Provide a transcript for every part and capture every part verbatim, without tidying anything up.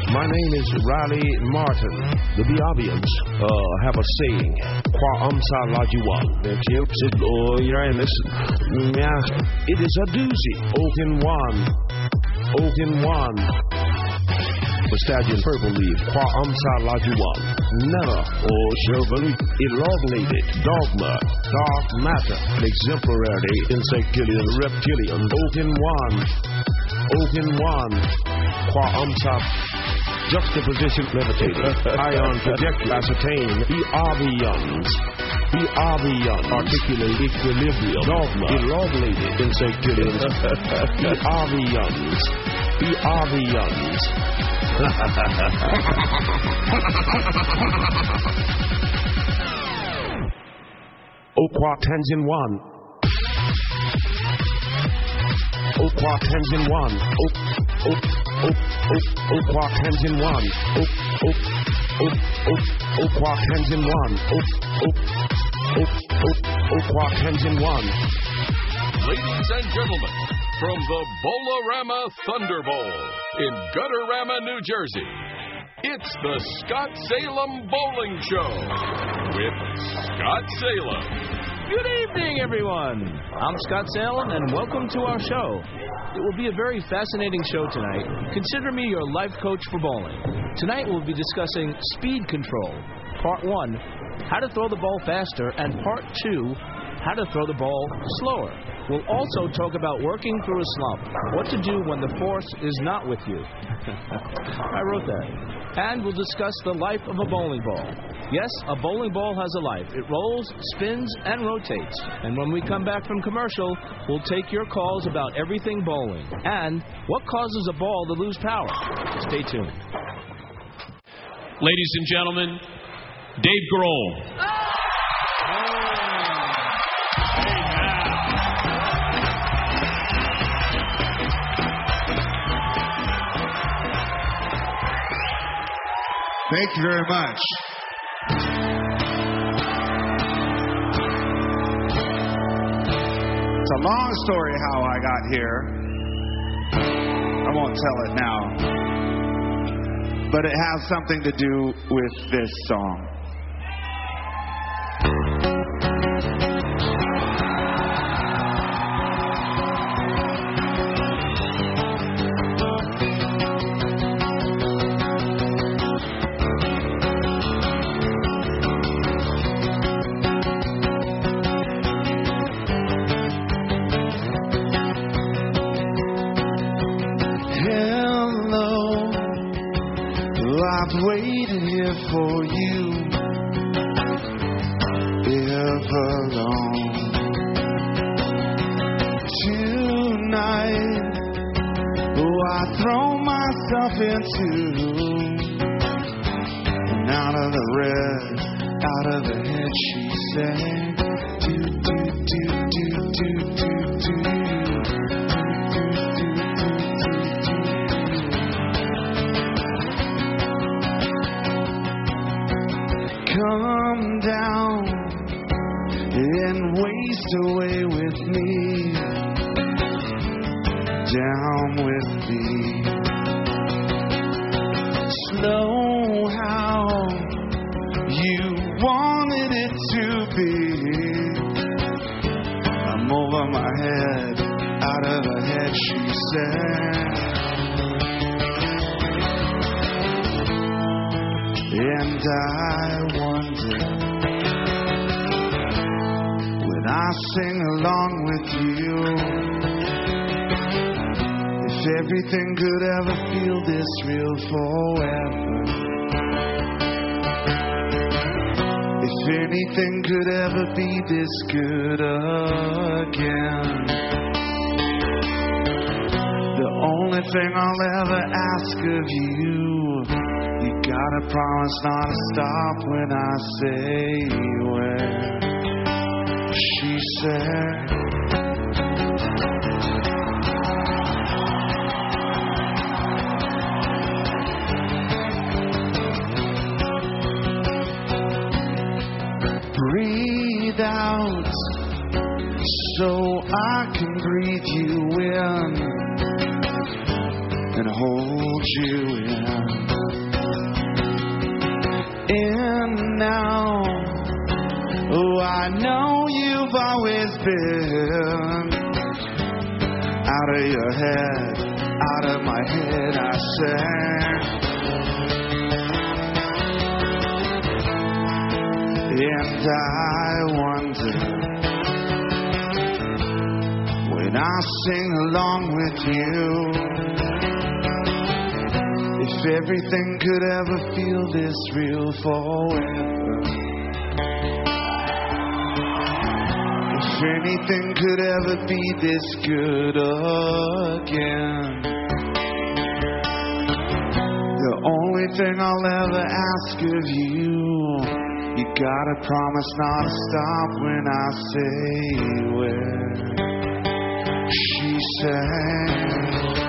My name is Riley Martin. The Biabians uh, have a saying, Kwa Amsa Lajuan. It is a doozy. Oaken one. Oaken one. The stallion purple leaf. Kwa Amsa Lajuan. Never. Or Shervely. Elongulated. Dogma. Dark matter. Exemplary. Insectilian. Reptilian. Oaken one. Oaken one. Qua Amsa. Juxtaposition levitated. Ion projected. Ascertain. The Avians. The Avian. Articulate equilibrium. Dogma. Elongulated. Insectilians. The Avians. The Avians. Okwa Tenzin one. Okwa Tenzin one. Ok ok ok ok Okwa Tenzin one. Ok ok ok ok Okwa Tenzin one. Ok ok ok ok Okwa Tenzin one. Ladies and gentlemen, from the Bolarama Thunder Bowl in Gutterama, New Jersey, it's the Scott Salem Bowling Show with Scott Salem. Good evening, everyone. I'm Scott Salem, and welcome to our show. It will be a very fascinating show tonight. Consider me your life coach for bowling. Tonight we'll be discussing speed control. Part one, how to throw the ball faster, and part two, how to throw the ball slower. We'll also talk about working through a slump, what to do when the force is not with you. I wrote that. And we'll discuss the life of a bowling ball. Yes, a bowling ball has a life. It rolls, spins, and rotates. And when we come back from commercial, we'll take your calls about everything bowling. And what causes a ball to lose power. Stay tuned. Ladies and gentlemen, Dave Grohl. Thank you very much. It's a long story how I got here. I won't tell it now. But it has something to do with this song. I've waited here for you ever long. Tonight, oh, I throw myself into and out of the red, out of the head, she said, do, do, do, do, do, do, do. Come down and waste away with me, down with me. Slow how you wanted it to be. I'm over my head, out of her head, she said. And I wonder, when I sing along with you, if everything could ever feel this real forever. If anything could ever be this good again. The only thing I'll ever ask of you, you gotta promise not to stop when I say where. She said, breathe out so I can breathe you in. and hold you in. In now, oh, I know you've always been out of your head, out of my head, I sang. And I wonder, when I sing along with you, if everything could ever feel this real forever. If anything could ever be this good again. The only thing I'll ever ask of you, you gotta promise not to stop when I say where she sang.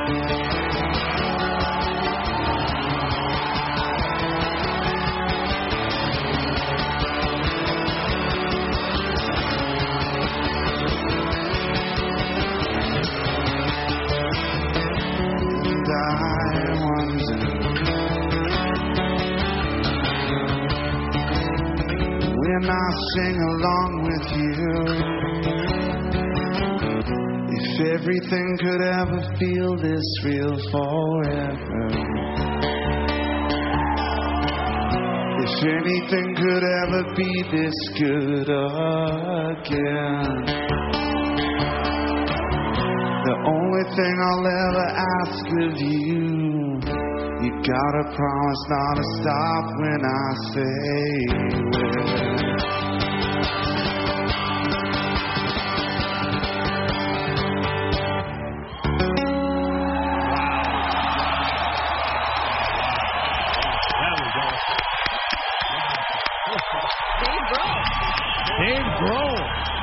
I sing along with you. If everything could ever feel this real forever. If anything could ever be this good again. The only thing I'll ever ask of you, you gotta promise not to stop when I say where. Dave Grohl.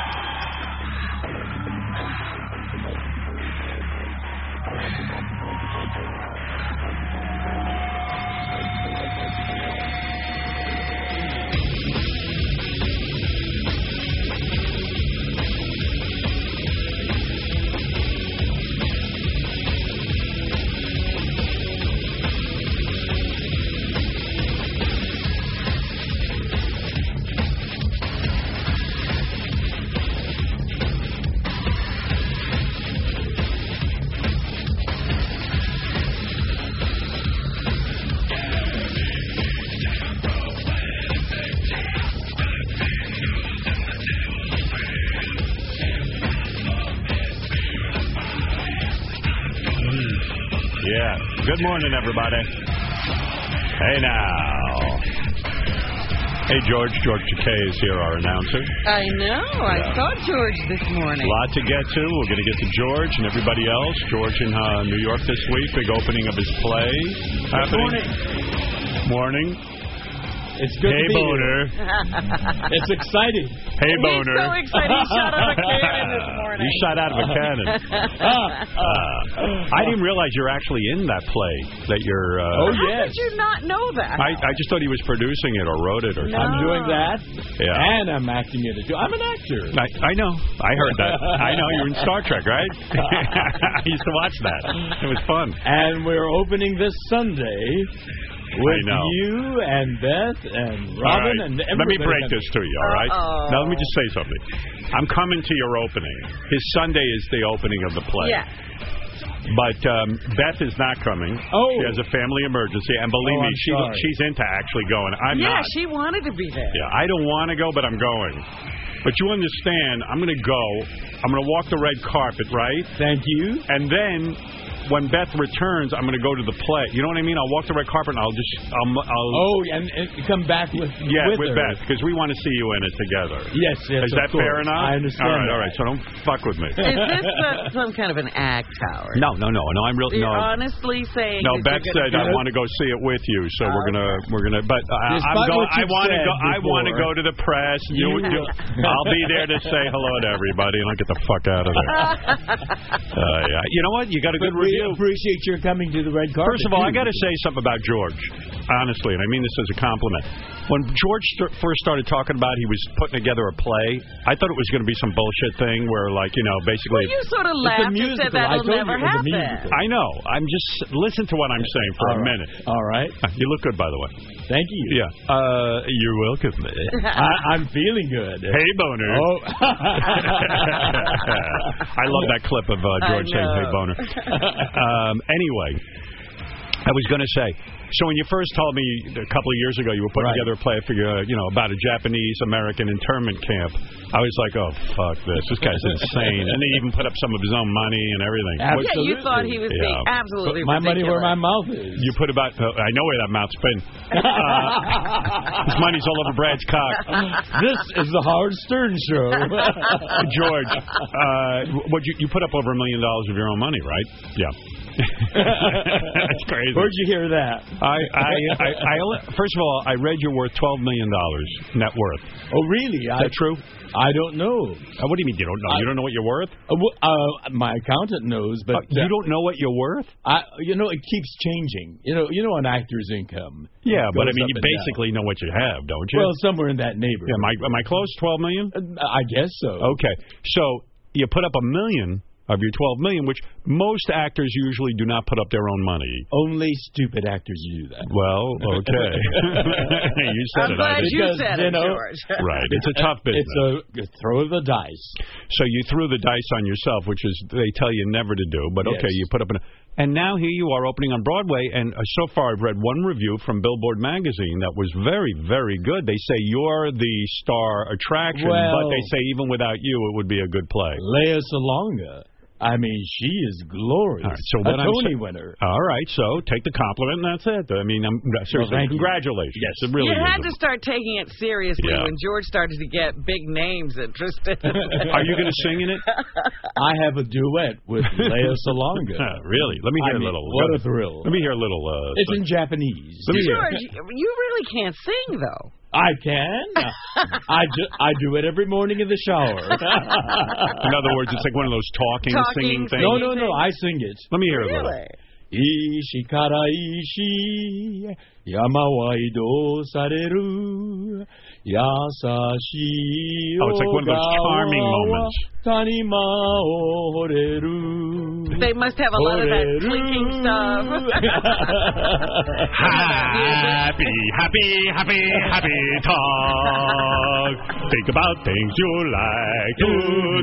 Good morning, everybody. Hey, now. Hey, George. George Takei is here, our announcer. I know. I Yeah. saw George this morning. A lot to get to. We're going to get to George and everybody else. George in uh, New York this week. Big opening of his play. Good happening. morning. Morning. It's good hey, to be Boner. Here. It's exciting. Hey, He's Boner. so excited. He shot out of a cannon this morning. You shot out of a cannon. uh, I didn't realize you're actually in that play. That you're. Uh, oh, How yes. did you not know that? I, I just thought he was producing it or wrote it or No. something. I'm doing that, Yeah. and I'm acting in it too. I'm an actor. I, I know. I heard that. I know. You're in Star Trek, right? I used to watch that. It was fun. And we're opening this Sunday with I know. you and Beth and All Robin right. and Let everybody. me break this to you, all right? Uh-oh. Now, let me just say something. I'm coming to your opening. His Sunday is the opening of the play. Yeah. But um, Beth is not coming. Oh. She has a family emergency. And believe Oh, me, I'm she sorry. she's into actually going. I'm yeah, not. she wanted to be there. Yeah, I don't want to go, but I'm going. But you understand, I'm going to go. I'm going to walk the red carpet, right? Thank you. And then when Beth returns, I'm going to go to the play. You know what I mean? I'll walk the red carpet and I'll just... I'll, I'll Oh, and, and come back with Yeah, with, with her. Beth, because we want to see you in it together. Yes, yes, Is of that course. fair enough? I understand. All right, that. all right. So don't fuck with me. Is this uh, some kind of an act, Howard? No, no, no, no. I'm real. You're No, honestly saying no. that Beth you're said gonna I go- want to go see it with you, so we're gonna we're gonna. But uh, I'm Despite going. what I you've want to said go. I want to before. go to the press. You, You- you, I'll be there to say hello to everybody, and I'll get the fuck out of there. uh, yeah. You know what? You got a good But we we appreciate your coming to the red carpet. First of all, I got to say something about George, honestly, and I mean this as a compliment. When George st- first started talking about he was putting together a play, I thought it was going to be some bullshit thing where, like, you know, basically... Well, you sort of laughed and said that'll never happen. I know. I'm just... Listen to what I'm saying for all a right. minute. All right. You look good, by the way. Thank you. Yeah. Uh, you're welcome. I, I'm feeling good. Hey, Boner. Oh. I love that clip of uh, George saying, hey, Boner. Um, anyway, I was going to say... So when you first told me a couple of years ago you were putting right. together a play for your, you know, about a Japanese-American internment camp, I was like, oh, fuck this. This guy's insane. And he even put up some of his own money and everything. Absolutely. Yeah, you thought he was being yeah. absolutely put my ridiculous. money where my mouth is. You put about, uh, I know where that mouth's been. Uh, his money's all over Brad's cock. This is the Howard Stern Show. George, uh, what you, you put up over a million dollars of your own money, right? Yeah. That's crazy. Where'd you hear that? I, I, I, I, first of all, I read you're worth twelve million dollars net worth. Oh, really? Is that I, true? I don't know. Uh, what do you mean you don't know? I, you don't know what you're worth? Uh, uh, my accountant knows, but... Uh, you uh, don't know what you're worth? I, you know, it keeps changing. You know, you know, an actor's income. Yeah, but I mean, you basically down. know what you have, don't you? Well, somewhere in that neighborhood. Yeah, am I, am I close? twelve million? Uh, I guess so. Okay, so you put up a million of your twelve million, which most actors usually do not put up their own money. Only stupid actors do that. Well, okay. You said I'm it. glad I you because, said you it, know, George. Right. It's a tough business. It's a throw of the dice. So you threw the dice on yourself, which is they tell you never to do. But okay, yes. you put up an. And now here you are opening on Broadway, and uh, so far I've read one review from Billboard magazine that was very, very good. They say you're the star attraction, well, but they say even without you it would be a good play. Lea Salonga. I mean, she is glorious. All right, so a Tony sa- winner. All right, so take the compliment, and that's it. I mean, I'm, seriously, well, congratulations. You. Yes, it really you is. had to start taking it seriously yeah. when George started to get big names interested. Are you going to sing in it? I have a duet with Lea Salonga. Uh, really? Let me hear I mean, a little. What a thrill. Let me hear a little. Uh, it's in Japanese. George, you really can't sing, though. I can. I, ju- I do it every morning in the shower. In other words, it's like one of those talking, talking singing things. No, no, no. I sing it. Let me hear really? it a little. Ishikara ishi yama wa ido sareru yasashi Oh, it's like one of those charming moments. Tanima o horeru. They must have a lot of that clinking stuff. Happy, happy, happy, happy talk. Think about things you like to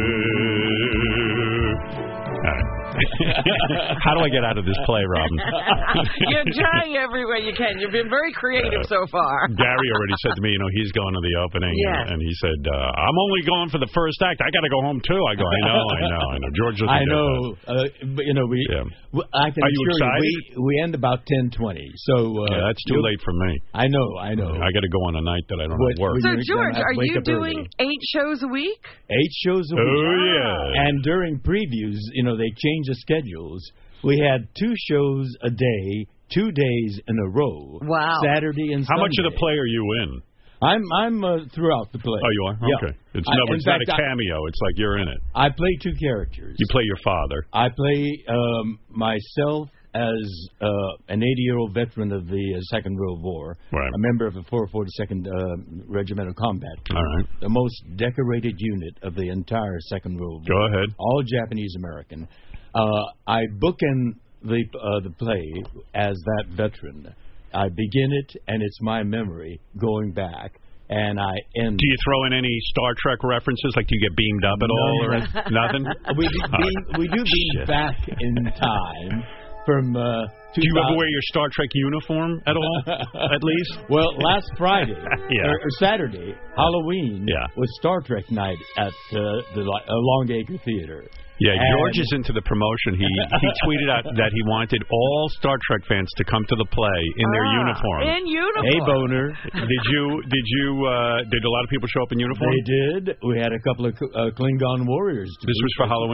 do. All right. How do I get out of this play, Robin? You're trying every way you can. You've been very creative uh, so far. Gary already said to me, you know, he's going to the opening. Yes. And, and he said, uh, I'm only going for the first act. I got to go home, too. I go, I know, I know, I know. George doesn't I get know. that. Uh, but, you know, we, yeah. we I can Are you assure excited? You, we, we end about ten twenty. So, uh, yeah, that's too late for me. I know, I know. I got to go on a night that I don't What, have work. So, George, are you doing early. eight shows a week? Eight shows a week. Oh, yeah. And during previews, you know, they change the schedules. We had two shows a day, two days in a row. Wow. Saturday and How Sunday. much of the play are you in? I'm I'm uh, throughout the play. Oh, you are? Yeah. Okay. It's, I, no, it's fact, not a cameo. It's like you're in it. I play two characters. You play your father. I play um, myself as uh, an eighty-year-old veteran of the uh, Second World War, right. a member of the four forty-second uh, Regimental Combat Group, all right. the most decorated unit of the entire Second World War. Go ahead. All Japanese-American. Uh, I bookend the uh, the play as that veteran. I begin it, and it's my memory going back, and I end. Do you throw in any Star Trek references? Like, do you get beamed up at no, all, or nothing? We do beam, we do beam Shit. back in time from. Uh, do you ever wear your Star Trek uniform at all? At least. Well, last Friday yeah. or, or Saturday, Halloween yeah. was Star Trek night at uh, the uh, Longacre Theater. Yeah, and George is into the promotion. He he tweeted out that he wanted all Star Trek fans to come to the play in their ah, uniform. In uniform. Hey, Boner. Did you did you uh, did a lot of people show up in uniform? They did. We had a couple of uh, Klingon warriors. To this was for Halloween.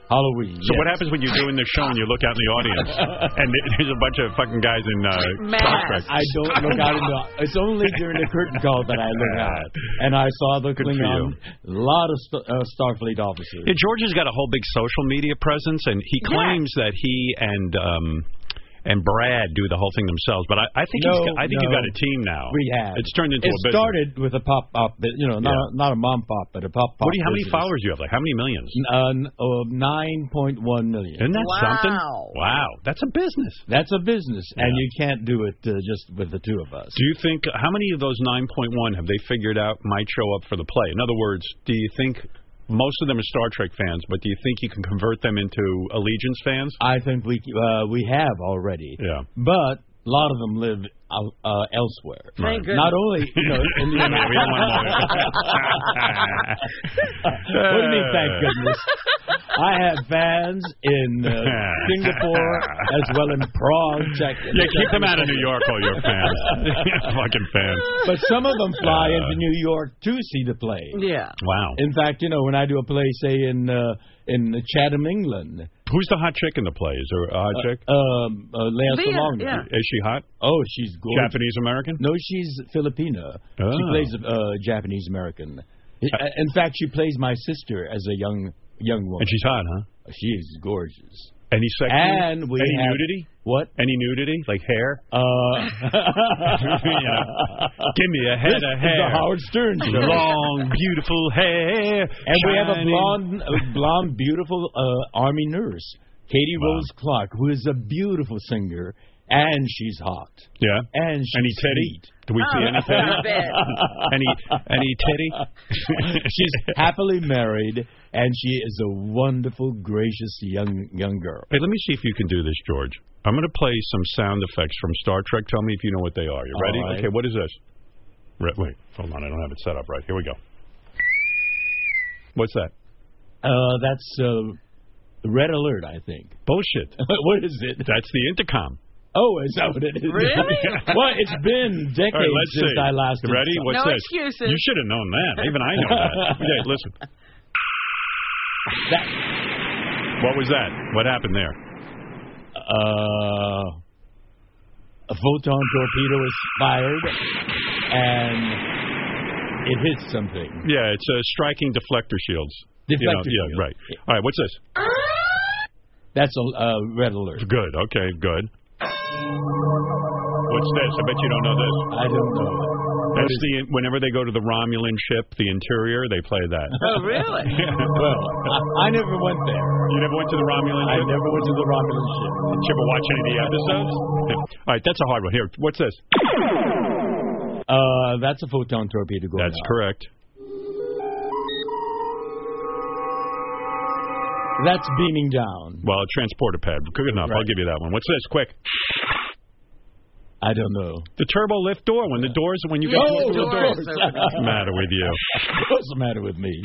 Halloween. So yes. what happens when you're doing the show and you look out in the audience and there's a bunch of fucking guys in uh, Star Trek? I don't look out in the. It's only during the curtain call that I look out, and I saw the Good for Klingon, a lot of st- uh, Starfleet officers. Yeah, George has got a whole big social media presence, and he claims that he and um, and Brad do the whole thing themselves. But I, I think No, he's got, I think no. you've got a team now. We have. It's turned into it a business. started with a pop up, you know, not Yeah. not a mom pop, but a pop pop. What do you, how many business. followers do you have? Like how many millions? Uh, oh, nine point one million. Isn't that Wow. something? Wow, that's a business. That's a business, and Yeah. you can't do it uh, just with the two of us. Do you think how many of those nine point one have they figured out might show up for the play? In other words, do you think most of them are Star Trek fans, but do you think you can convert them into Allegiance fans? I think we uh, we have already. Yeah. But a lot of them live out, uh, elsewhere. Thank goodness. Not only you know in the We don't want What do you mean, thank goodness? I have fans in uh, Singapore as well in Prague, Czech. Yeah, keep them out of New York, all your fans. Fucking fans. But some of them fly Uh, into New York to see the play. Yeah. Wow. In fact, you know, when I do a play, say in uh, in Chatham, England, Who's the hot chick in the play? Is there a hot chick? um, uh, Lea Leah, Salonga. yeah. Is she hot? Oh, she's gorgeous. Japanese American? No, she's Filipina. Oh. She plays a uh, Japanese American. In fact, she plays my sister as a young young woman. And she's hot, huh? She is gorgeous. Any sex? And we Any have, nudity? What? Any nudity? Like hair? Uh, Give me a head this of is hair. the Howard Stern show. Long, beautiful hair. And we have a shining. blonde, a blonde, beautiful uh, army nurse, Katie Wow. Rose Clark, who is a beautiful singer, and she's hot. Yeah. And she's Any titty? sweet. Do we see Oh, any titty? stop it. any any titty? She's happily married, and she is a wonderful, gracious young young girl. Hey, let me see if you can do this, George. I'm going to play some sound effects from Star Trek. Tell me if you know what they are. You ready? All right. Okay, what is this? Re- wait, hold on. I don't have it set up right. Here we go. What's that? Uh, that's uh, Red Alert, I think. Bullshit. What is it? That's the intercom. Oh, is that what it is? Really? Well, it's been decades All right, let's since see. I last. You ready? installed- What's No this? excuses. You should have known that. Even I know that. Okay, listen. That, What was that? What happened there? uh, a photon torpedo is fired, and it hits something. Yeah, it's uh, striking deflector shields. Deflector You know, shield. Yeah, right. All right, what's this? That's a uh, Red Alert. Good. Okay, good. What's this? I bet you don't know this. I don't know. That's the whenever they go to the Romulan ship, the interior, they play that. Oh, really? Well, I, I never went there. You never went to the Romulan I ship? never went to the Romulan ship. Did you ever watch any of the episodes? All right, that's a hard one. Here, what's this? Uh, that's a photon torpedo going That's out. correct. That's beaming down. Well, a transporter pad. Good enough. I'll Right. give you that one. What's this? Quick. I don't know. The turbo lift door. When the doors, when you Yeah, go the through the doors door. open. What's the matter with you? What's the matter with me?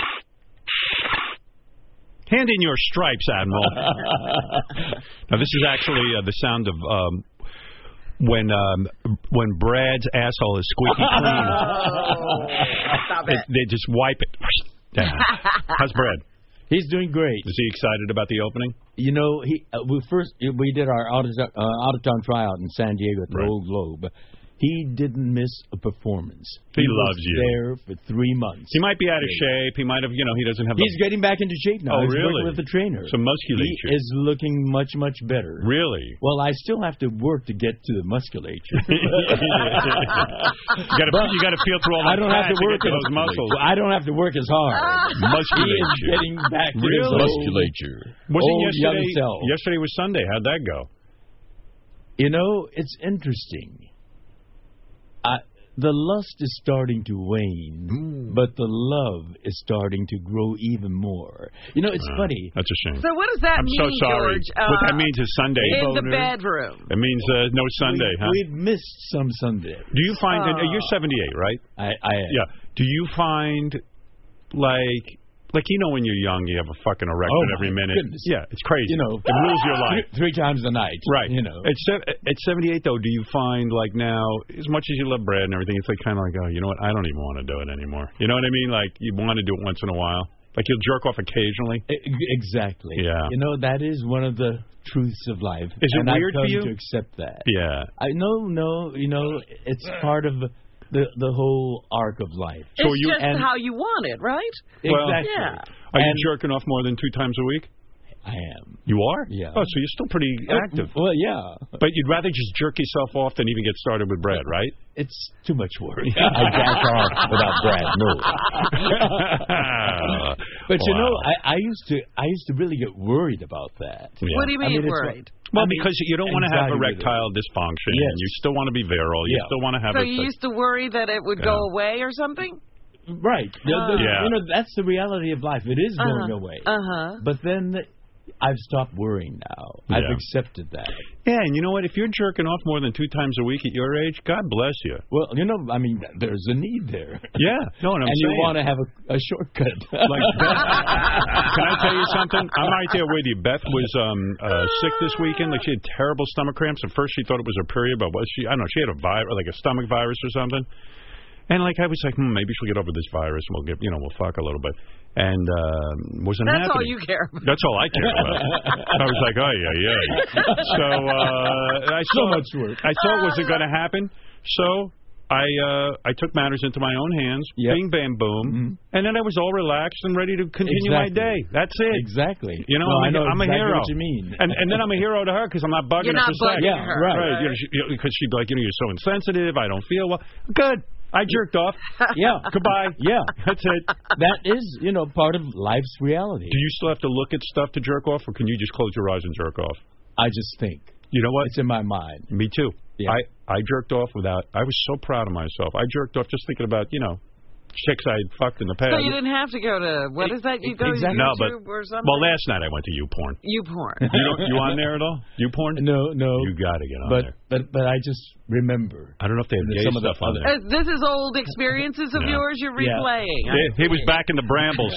Hand in your stripes, Admiral. Now, this is actually uh, the sound of um, when um, when Brad's asshole is squeaky clean. Oh, stop They, it. they just wipe it. Down. How's Brad? He's doing great. Is he excited about the opening? You know, he uh, we first we did our out of uh, out of town tryout in San Diego at the Right. Old Globe. He didn't miss a performance. He was loves you. There for three months. He might be out of shape. He might have, you know, he doesn't have. He's the, getting back into shape now. Oh, He's really? working with the trainer. Some musculature. He is looking much much better. Really? Well, I still have to work to get to the musculature. you got to you got to feel through all I that don't have fat to work get to as- those muscles. I don't have to work as hard. He is Musculature. getting back to Really? his musculature. Wasn't Old yesterday? young self. Yesterday was Sunday. How'd that go? You know, it's interesting. I, the lust is starting to wane, but the love is starting to grow even more. You know, it's Uh, funny. That's a shame. So what does that I'm mean, so sorry. George? Uh, what that means is Sunday. in the Boner. bedroom. It means uh, no Sunday, we, huh? We've missed some Sunday. Do you find that Oh. you're seventy-eight, right? I, I Yeah. Do you find like like you know when you're young you have a fucking erection Oh, every my minute? goodness. Yeah, it's crazy. You know, it rules your life. Three, three times a night. Right. You know. At, se- at seventy-eight, though, do you find, like, now, as much as you love Brad and everything, it's like kind of like, oh, you know what? I don't even want to do it anymore. You know what I mean? Like, you want to do it once in a while. Like you'll jerk off occasionally? Exactly. Yeah. You know, that is one of the truths of life. Is it and weird I've come for you? to accept that. Yeah. I No, no, you know, it's part of the the whole arc of life. It's So you, just and, how you want it, right? Well, exactly. Yeah. Are you And- jerking off more than two times a week? I am. You are? Yeah. Oh, so you're still pretty active. Well, yeah. But you'd rather just jerk yourself off than even get started with Brad, right? It's too much work. I jack off without Brad. No. But you Wow. know, I, I used to I used to really get worried about that. Yeah. What do you I mean, mean, it's worried? Well, I mean, because you don't want to have anxiety with it. erectile dysfunction. Yes. And you still want to be virile. You Yeah. still want to have So a... you used to worry that it would Yeah. go away or something? Right. The- the- Yeah. You know, that's the reality of life. It is going Uh-huh. away. Uh-huh. But then I've stopped worrying now. I've Yeah. accepted that. Yeah, and you know what? If you're jerking off more than two times a week at your age, God bless you. Well, you know, I mean, there's a need there. Yeah. No, what I'm and saying. you want to have a, a shortcut. Like, Beth, can I tell you something? I'm right there with you. Beth was um, uh, sick this weekend. Like she had terrible stomach cramps. At first, she thought it was her period, but was she? I don't know. She had a virus, like a stomach virus or something. And like I was like, hmm, maybe she'll get over this virus and we'll get, you know, we'll fuck a little bit. And um, wasn't That's happening. all you care about. That's all I care about. I was like, oh yeah, yeah. So uh, I So saw, much work. I saw it wasn't going to happen. So I uh, I took matters into my own hands. Yep. Bing, bam, boom. Mm-hmm. And then I was all relaxed and ready to continue my Exactly. day. That's it. Exactly. You know, No, I'm, I a, know I'm a exactly hero. what you mean. And and then I'm a hero to her because I'm not bugging You're her not for sex. bugging Yeah, her. right. Right. You know, she, you know, because she'd be like, you know, you're so insensitive. I don't feel well. Good. I jerked off. Yeah. Goodbye. Yeah. That's it. That is, you know, part of life's reality. Do you still have to look at stuff to jerk off, or can you just close your eyes and jerk off? I just think. You know what? It's in my mind. Me too. Yeah. I, I jerked off without, I was so proud of myself. I jerked off just thinking about, you know, chicks I had fucked in the past. So you didn't have to go to, what is that? You go Exactly. to No, but, YouTube or something? well, last night I went to YouPorn. YouPorn. You, don't, you on there at all? YouPorn? No, no. You got to get on but, there. but but I just remember. I don't know if they have There's gay some of the stuff on other- there. Uh, This is old experiences of Yeah. yours you're Yeah. replaying. He, he was back in the brambles.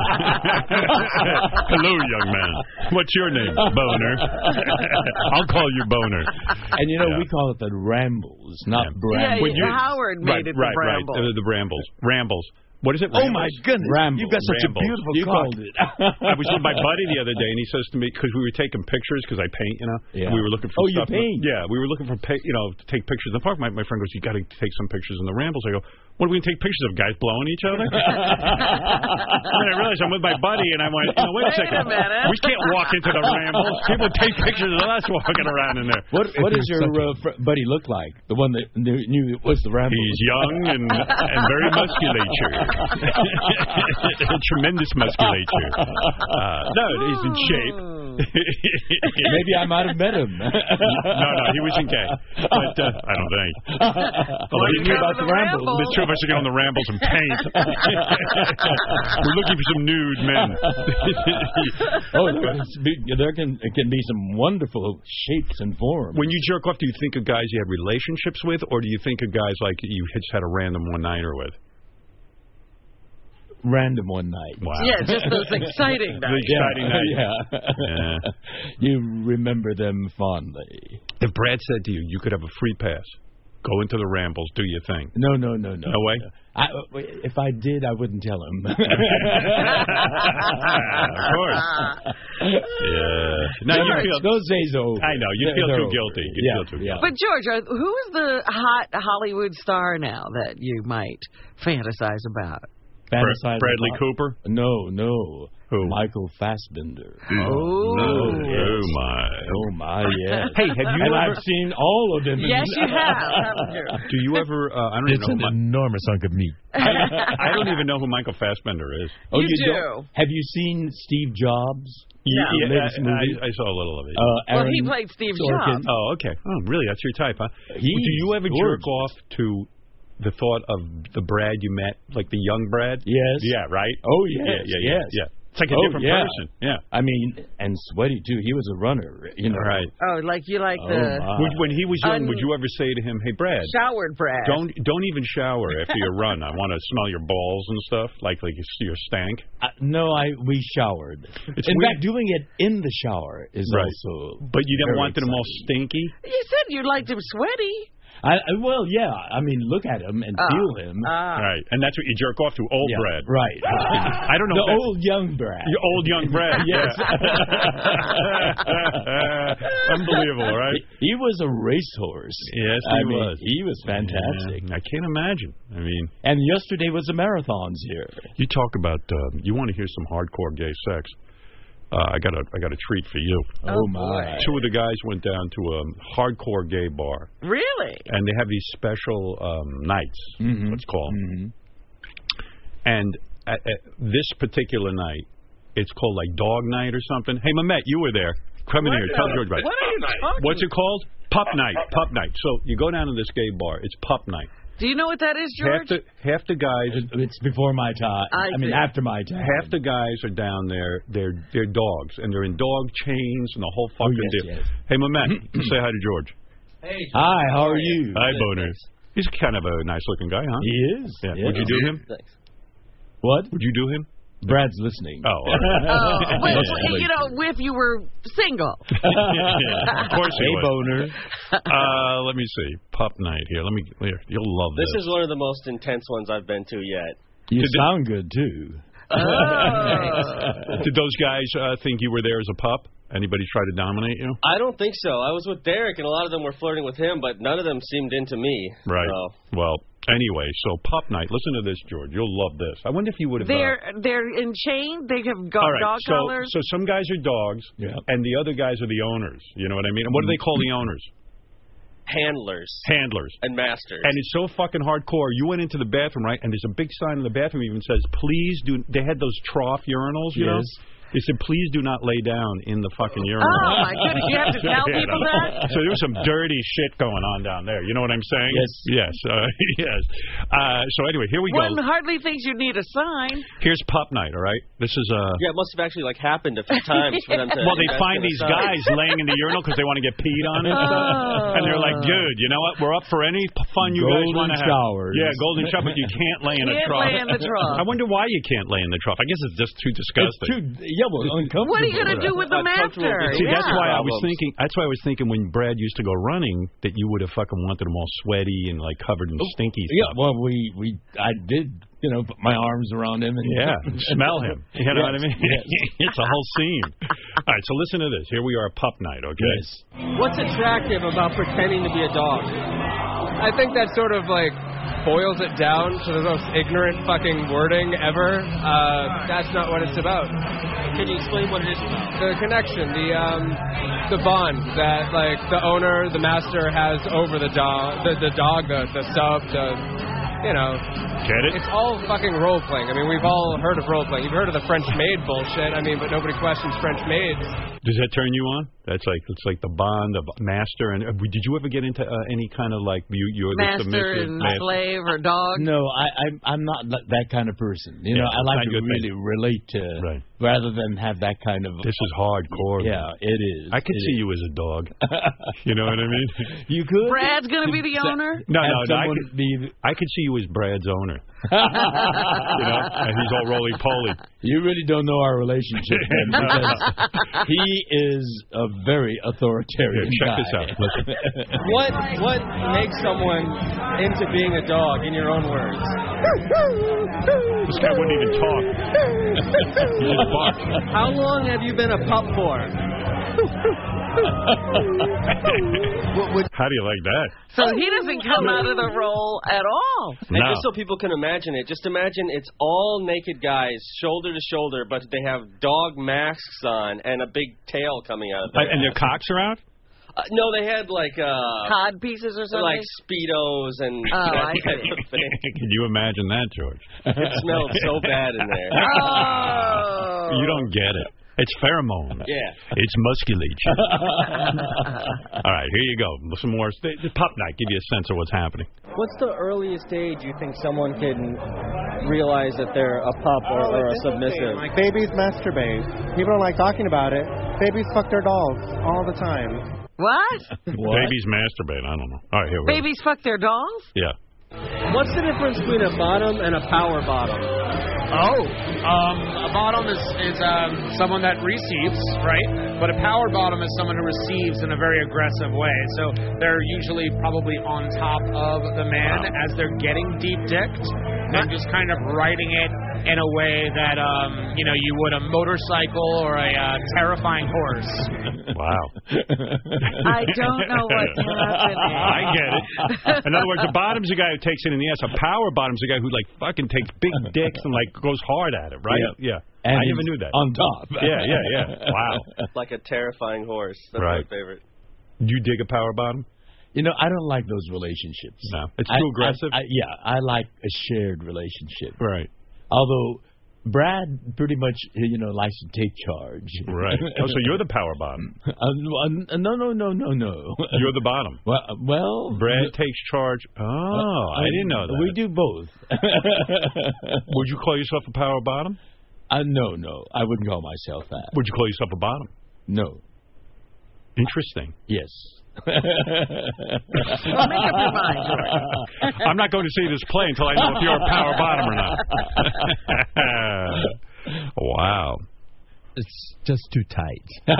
Hello, young man. What's your name? Boner. I'll call you Boner. And, you know, Yeah. we call it the rambles, not Yeah. Yeah, brambles. When you- Howard made right, it right, the bramble. right. Uh, the brambles. Rambles. What is it? Oh, Rambles? my goodness. Rambles. You've got such Rambles. a beautiful You cock. called it. I was with my buddy the other day, and he says to me, because we were taking pictures, because I paint, you know, Yeah. and we were looking for Oh, you stuff. paint? Yeah, we were looking for, pa- you know, to take pictures in the park. My, my friend goes, you got to take some pictures in the rambles. I go, what are we going to take pictures of? Guys blowing each other? And then I realized I'm with my buddy, and I went, you know, wait a Wait second. a minute. We can't walk into the rambles. People take pictures of us walking around in there. What What does your uh, fr- buddy look like? The one that knew, knew it was the ramble. He's young and, and very musculature. Tremendous musculature. Uh, no, he's in shape. Maybe I might have met him. no, no, he wasn't gay. But uh, I don't think. Well, he knew about the rambles. The two of us are going on the rambles and paint. We're looking for some nude men. Oh, it's be- there can it can be some wonderful shapes and forms. When you jerk off, do you think of guys you had relationships with, or do you think of guys like you just had a random one-nighter with? Random one night. Wow. Yeah, just those exciting The nights. exciting night. Yeah. Yeah. You remember them fondly. If Brad said to you, you could have a free pass, go into the rambles, do your thing. No, no, no, no. No way? I, if I did, I wouldn't tell him. Of course. Yeah. Now you Those- feel. those days are over. I know. You They're- feel they're too over. guilty. You Yeah, feel too yeah. guilty. But, George, are- who is the hot Hollywood star now that you might fantasize about? Fantasize Bradley about- Cooper? No, no. Who? Michael Fassbender. Oh. Oh, yes. my. Oh, my, yes. Hey, have you and ever- I've seen all of them. Yes, you have, haven't you? Do you ever? Uh, I don't It's even an know. Who, enormous hunk of meat. Mi- I don't even know who Michael Fassbender is. Oh, You do. don't? Have you seen Steve Jobs? Yeah. Yeah, latest I, movie? I, I saw a little of it. Uh, Well, Aaron he played Steve Sorkin. Jobs. Oh, okay. Oh, really? That's your type, huh? He's Do you ever jerk gorgeous. off to the thought of the Brad you met, like the young Brad? Yes. Yeah, right? Oh, Yeah, yes. yeah, yeah. yes. yeah. It's like a Oh, different yeah. person. Yeah. I mean, and sweaty, too. He was a runner, you know. Right. Oh, like you like Oh, the my. Would, when he was young, Un- would you ever say to him, "Hey, Brad, showered Brad. don't don't even shower after your run. I want to smell your balls and stuff, like like your stank." Uh, no, I we showered. It's in weird. fact, doing it in the shower is Right. also. But you didn't very want them all exciting. stinky. You said you liked him sweaty. I, well, yeah. I mean, look at him and uh, feel him. Uh, right, and that's what you jerk off to, old yeah, Brad. Right. I don't know. The old young Brad. Your old young Brad. Yes. Unbelievable, right? He, he was a racehorse. Yes, he I was. Mean, he was fantastic. Yeah, I can't imagine. I mean, and yesterday was the marathons here. You talk about. Uh, you want to hear some hardcore gay sex? Uh, I got a I got a treat for you. Oh my! Two of the guys went down to a hardcore gay bar. Really? And they have these special um, nights. Mm-hmm. Let's call them. Mm-hmm. And at, at this particular night, it's called like Dog Night or something. Hey, Mamet, you were there. Come in what here. The, Tell George about it. What are you talking? What's it called? Pup Night. Pup Night. So you go down to this gay bar. It's Pup Night. Do you know what that is, George? Half the, half the guys... It's before my time. I, I mean, after my time. Half the guys are down there. They're they're dogs, and they're in dog chains and the whole fucking oh, yes, deal. Yes. Hey, Mamet, say hi to George. Hey. Hi, how are you? Hi, Boner. He's kind of a nice-looking guy, huh? He is. Yeah. Yes. Would you do him? Thanks. What? Would you do him? Brad's listening. Oh, all right. oh wait, well, you know, if you were single. yeah, of course he Hey, would. Boner. Uh, let me see. Pup Night here. Let me. Here, you'll love this. This is one of the most intense ones I've been to yet. You Did sound good too. Oh. Did those guys uh, think you were there as a pup? Anybody try to dominate you? I don't think so. I was with Derek, and a lot of them were flirting with him, but none of them seemed into me. Right. So. Well, anyway, so Pup Night. Listen to this, George. You'll love this. I wonder if you would have. They're uh, they're in chain. They have got all right, dog so, collars. So some guys are dogs, yeah. and the other guys are the owners. You know what I mean? And what do they call the owners? Handlers. Handlers. And masters. And it's so fucking hardcore. You went into the bathroom, right? And there's a big sign in the bathroom even says, please do... They had those trough urinals, you yes. know? They said, please do not lay down in the fucking urinal. Oh, my goodness. You have to tell people that? So there was some dirty shit going on down there. You know what I'm saying? Yes. Yes. Uh, yes. Uh, so anyway, here we One go. hardly thinks you need a sign. Here's Pup Night, all right? This is... Uh, yeah, it must have actually, like, happened a few times for them to... Well, they find these guys laying in the urinal because they want to get peed on it. Oh. And they're like, dude, you know what? We're up for any fun you golden guys want to have. showers. Yeah, golden shower, but you can't lay in Can't a trough. lay in the trough. I wonder why you can't lay in the trough. I guess it's just too disgusting. It's too, yeah, well, uncomfortable. What are you going to do with the master? See, yeah. that's why I was thinking. That's why I was thinking when Brad used to go running that you would have fucking wanted them all sweaty and like covered in stinky stuff. Yeah, well, we we I did, you know, put my arms around him and yeah, smell him. You know yes. what I mean? Yes. It's a whole scene. All right, so listen to this. Here we are, Pup Night. Okay. Yes. What's attractive about pretending to be a dog? I think that sort of like boils it down to the most ignorant fucking wording ever. Uh, that's not what it's about. Can you explain what it is about? The connection, the um, the bond that like the owner, the master has over the dog, the, the dog, the the sub, the you know. Get it? It's all fucking role playing. I mean, we've all heard of role playing. You've heard of the French maid bullshit. I mean, but nobody questions French maids. Does that turn you on? That's like it's like the bond of master and uh, did you ever get into uh, any kind of like you you're the master submissive and master? slave or dog? No, I I'm I'm not that kind of person. You Yeah, know, I like not to your really thing. relate to Right. rather than have that kind of. This is hardcore. Yeah, man. it is. I could it see is. you as a dog. You know what I mean? You could. Brad's going to be the owner? No, Have no, no. I someone could, be- I could see you as Brad's owner. You know, and he's all roly poly. You really don't know our relationship, man, because he is a very authoritarian Here, check guy. this out. Listen. What what makes someone into being a dog? In your own words. This guy wouldn't even talk. He just barked. How long have you been a pup for? How do you like that? So he doesn't come out of the role at all. And No. just so people can imagine it, just imagine it's all naked guys, shoulder to shoulder, but they have dog masks on and a big tail coming out of Uh, there. and their cocks are out? Uh, no, they had like uh, Cod pieces or something? like Speedos and Oh, that I type see. of thing. Can you imagine that, George? It smelled so bad in there. Oh. You don't get it. It's pheromone. Yeah. It's musculature. All right, here you go. Some more. The the Pup Night. Give you a sense of what's happening. What's the earliest age you think someone can realize that they're a pup or, or a submissive? Like babies masturbate. People don't like talking about it. Babies fuck their dolls all the time. What? What? Babies masturbate. I don't know. All right, here we go. Babies fuck their dolls? Yeah. What's the difference between a bottom and a power bottom? Oh, um, a bottom is, is um, someone that receives, right? But a power bottom is someone who receives in a very aggressive way. So they're usually probably on top of the man wow. as they're getting deep dicked and just kind of riding it in a way that, um, you know, you would a motorcycle or a uh, terrifying horse. Wow. I don't know what's happening. I get it. In other words, the bottom's the guy who takes it in the ass. A power bottom's the guy who, like, fucking takes big dicks and, like, goes hard at it, right? Yeah. yeah. And I never knew that. On top. Yeah, yeah, yeah. Wow. Like a terrifying horse. That's right. my favorite. Do you dig a power bottom? You know, I don't like those relationships. No. It's too I, aggressive? I, I, yeah, I like a shared relationship. Right. Although Brad pretty much, you know, likes to take charge. Right. Oh, so you're the power bottom. Uh, uh, no, no, no, no, no. You're the bottom. Well, uh, well Brad takes charge. Oh, uh, I didn't know that. We do both. Would you call yourself a power bottom? Uh, no, no. I wouldn't call myself that. Would you call yourself a bottom? No. Interesting. Yes. Well, make up your mind, George. I'm not going to see this play until I know if you're a power bottom or not. Wow. It's just too tight.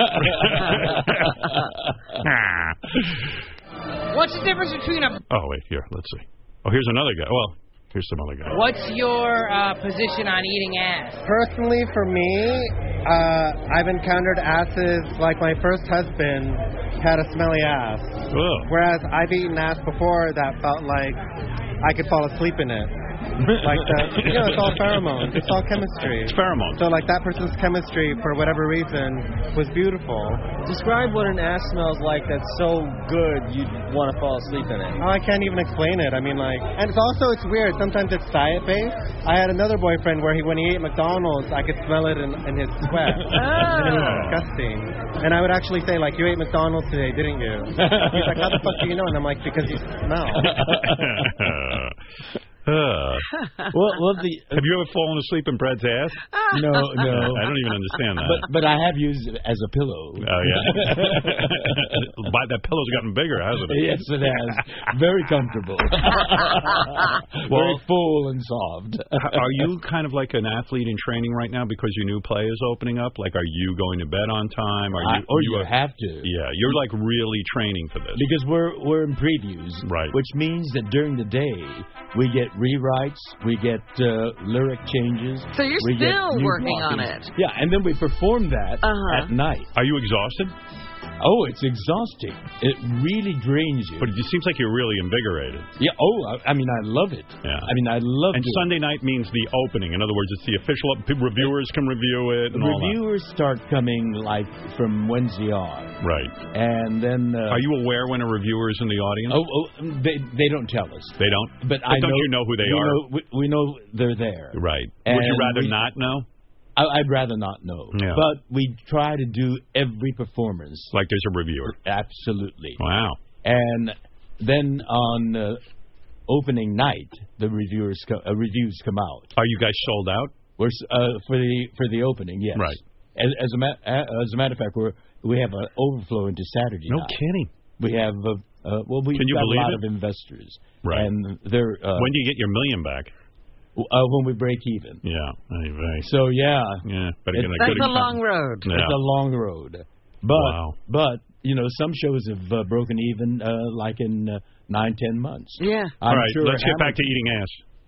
What's the difference between a... Oh, wait, here, let's see. Oh, here's another guy. Well, here's some other guy. What's your uh, position on eating ass? Personally, for me, uh, I've encountered asses like my first husband had a smelly ass. Ugh. Whereas I've eaten ass before that felt like I could fall asleep in it. Like the, you know, it's all pheromones. It's all chemistry. It's pheromones. So like that person's chemistry, for whatever reason, was beautiful. Describe what an ass smells like that's so good you'd want to fall asleep in it. Oh, I can't even explain it. I mean, like, and it's also, it's weird. Sometimes it's diet-based. I had another boyfriend where he, when he ate McDonald's, I could smell it in, in his sweat. Oh. And it was disgusting. And I would actually say, like, you ate McDonald's today, didn't you? He's like, how the fuck do you know? And I'm like, because you smell. Uh. well, well, the, uh, have you ever fallen asleep in Brad's ass? No, no. I don't even understand that. But but I have used it as a pillow. Oh, yeah? But that pillow's gotten bigger, hasn't it? Yes, it has. Very comfortable. Well, very full and soft. Are you kind of like an athlete in training right now because your new play is opening up? Like, are you going to bed on time? Are you? I, oh, you, you are, have to. Yeah, you're like really training for this. Because we're we're in previews, right? Which means that during the day we get rewrites, we get uh, lyric changes. So you're we still get working on blockings. it. Yeah, and then we perform that uh-huh. at night. Are you exhausted? Oh, it's exhausting. It really drains you. But it seems like you're really invigorated. Yeah. Oh, I, I mean, I love it. Yeah. I mean, I love it. And Sunday night means the opening. In other words, it's the official. Reviewers can review it. And reviewers all that. start coming like from Wednesday on. Right. And then. Uh, Are you aware when a reviewer is in the audience? Oh, oh they they don't tell us. They don't. But, but I don't know, you know who they we are? Know, we, we know they're there. Right. And Would you rather we, not know? I, I'd rather not know. Yeah. But we try to do every performance like there's a reviewer. Absolutely. Wow. And then on uh, opening night, the reviewers co- uh, reviews come out. Are you guys sold out? We're uh, for the for the opening, yes. Right. As, as a ma- as a matter of fact, we're we have an overflow into Saturday No night. kidding. We have uh, uh, well, we've Can you got believe a lot it? of investors. Right. And they're uh, when do you get your million back? Uh, when we break even. Yeah. Right. So yeah. Yeah. Better It's, get a that's good a long road. Yeah. It's a long road. But wow. but you know, some shows have uh, broken even uh, like in uh, nine, ten months. Yeah. I'm All right, sure let's get back to eating ass.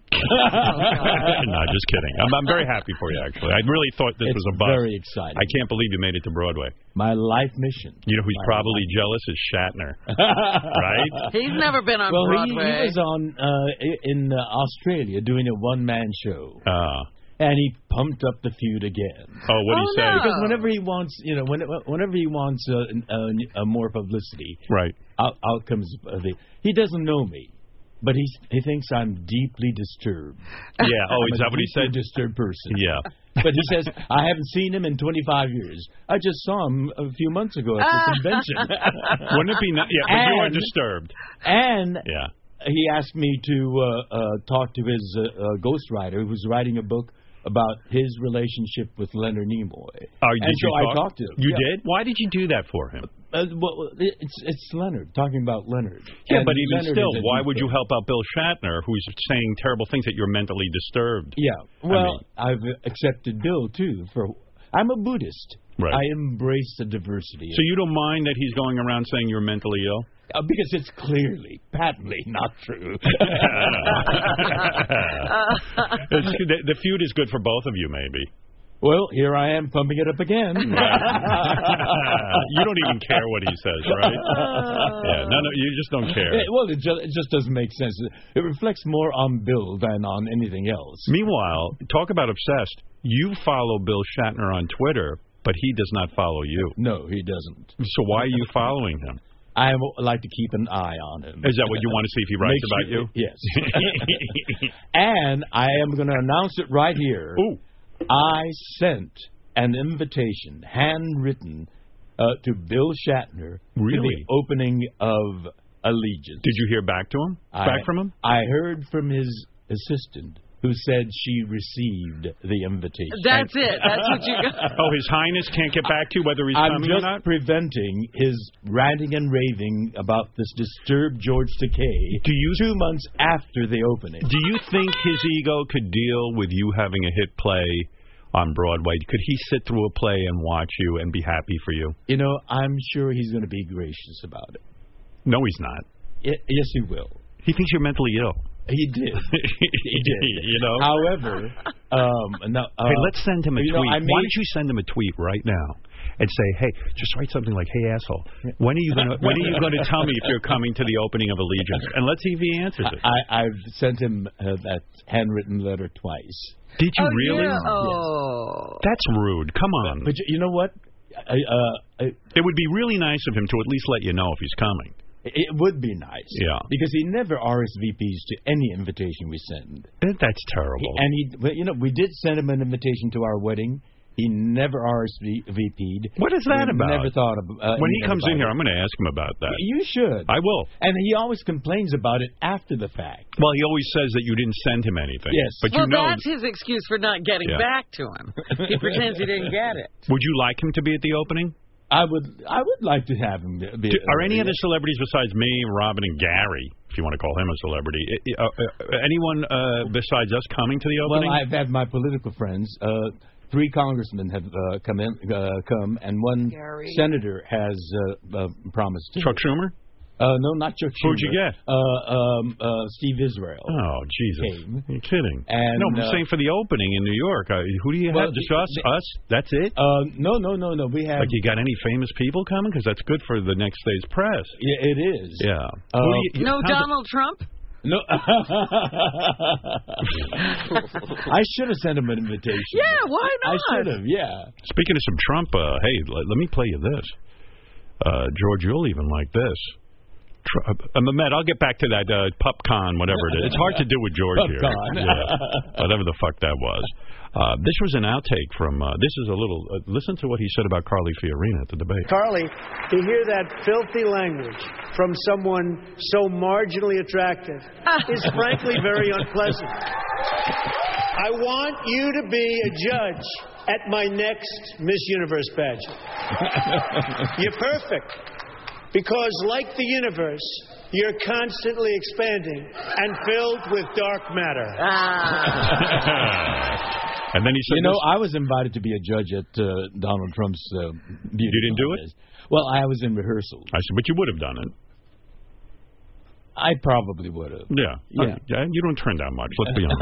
No, just kidding. I'm, I'm very happy for you, actually. I really thought this it's was a bust. very exciting. I can't believe you made it to Broadway. My life mission. You know who's My probably life. jealous is Shatner, right? He's never been on well, Broadway. He, he was on uh, in uh, Australia doing a one-man show. Uh, and he pumped up the feud again. Oh, what did oh, he say? No. Because whenever he wants, you know, when, whenever he wants uh, uh, uh, more publicity, right? Out, out comes uh, the. He doesn't know me. But he he thinks I'm deeply disturbed. Yeah. Oh, I'm is a that what he said? Disturbed person. Yeah. But he says I haven't seen him in twenty-five years. I just saw him a few months ago at the convention. Wouldn't it be nice? Yeah, but and, you are disturbed. And yeah. he asked me to uh, uh, talk to his uh, uh, ghostwriter who was writing a book about his relationship with Leonard Nimoy. Oh, and did so you I talk? talked to him. You yeah. did? Why did you do that for him? Uh, well, it's it's Leonard talking about Leonard. Yeah, And but even Leonard still, is a why deep would you thing. help out Bill Shatner, who's saying terrible things that you're mentally disturbed? Yeah. Well, I mean, I've accepted Bill too. For I'm a Buddhist. Right. I embrace the diversity. So you don't mind that he's going around saying you're mentally ill? Uh, because it's clearly, patently not true. It's, the, the feud is good for both of you, maybe. Well, here I am pumping it up again. You don't even care what he says, right? Yeah, no, no, you just don't care. Yeah, well, it just, it just doesn't make sense. It reflects more on Bill than on anything else. Meanwhile, talk about obsessed. You follow Bill Shatner on Twitter, but he does not follow you. No, he doesn't. So why are you following him? I like to keep an eye on him. Is that what you want to see if he writes Make about sure- you? Yes. And I am going to announce it right here. Ooh. I sent an invitation, handwritten, uh, to Bill Shatner Really? to the opening of Allegiance. Did you hear back to him? I, back from him? I heard from his assistant, who said she received the invitation. That's it. That's what you got. Oh, His Highness can't get back to you whether he's I'm coming just or not? preventing his ranting and raving about this disturbed George Takei Do you- two months after the opening. Do you think his ego could deal with you having a hit play on Broadway? Could he sit through a play and watch you and be happy for you? You know, I'm sure he's going to be gracious about it. No, he's not. Y- yes, he will. He thinks you're mentally ill. He did. He did. You know? However, um, no, uh, Hey, let's send him a you tweet. know, I Why made- don't you send him a tweet right now and say, "Hey, just write something like, hey, asshole, when are you gonna when are you gonna tell me if you're coming to the opening of Allegiance?" And let's see if he answers it. I, I've sent him uh, that handwritten letter twice. Did you Oh, really? yeah. Oh. That's rude. Come on. But you, you know what? I, uh, I, It would be really nice of him to at least let you know if he's coming. it would be nice. Yeah. Because he never R S V Ps to any invitation we send. That- That's terrible. He, and he, well, you know, we did send him an invitation to our wedding. He never R S V P'd. What is that we about? Never thought of. Uh, when he anything comes about in here, it. I'm going to ask him about that. You should. I will. And he always complains about it after the fact. Well, he always says that you didn't send him anything. Yes. But Well, you know, that's his excuse for not getting Yeah. back to him. He pretends he didn't get it. would you like him to be at the opening? I would. I would like to have him. Be, Do, are any other celebrities besides me, Robin, and Gary, if you want to call him a celebrity, uh, uh, anyone uh, besides us coming to the Well, opening? I've had my political friends. Uh, three congressmen have uh, come in, uh, come, and one Gary. senator has uh, uh, promised to. Chuck Schumer? Uh, no, not Chuck Schumer. Who'd you get? Uh, um, uh, Steve Israel. Oh, Jesus. Came. You're kidding. And, no, I'm uh, saying for the opening in New York. Uh, who do you Well, have? Just the- us? the- us? That's it? Uh, no, no, no, no. We have. Like, you got any famous people coming? Because that's good for the next day's press. Yeah, it is. Yeah. Uh, Who do you- No how's it- Donald Trump? No. I should have sent him an invitation. Yeah, why I not? should have. Yeah. Speaking of some Trump, uh, hey, let, let me play you this. Uh, George, you'll even like this. Tr- uh, Mehmet, I'll get back to that uh, PupCon, whatever it is. It's hard to do with George here. PupCon. Yeah, whatever the fuck that was. Uh, this was an outtake from, uh, this is a little, uh, listen to what he said about Carly Fiorina at the debate. Carly, to hear that filthy language from someone so marginally attractive is frankly very unpleasant. I want you to be a judge at my next Miss Universe pageant. You're perfect. Because, like the universe, you're constantly expanding and filled with dark matter. And then he said, You know, this- I was invited to be a judge at uh, Donald Trump's uh, beauty You didn't do it? contest. Well, I was in rehearsal. I said, but you would have done it. I probably would have. Yeah. Yeah. Uh, yeah. You don't turn down much, let's be honest.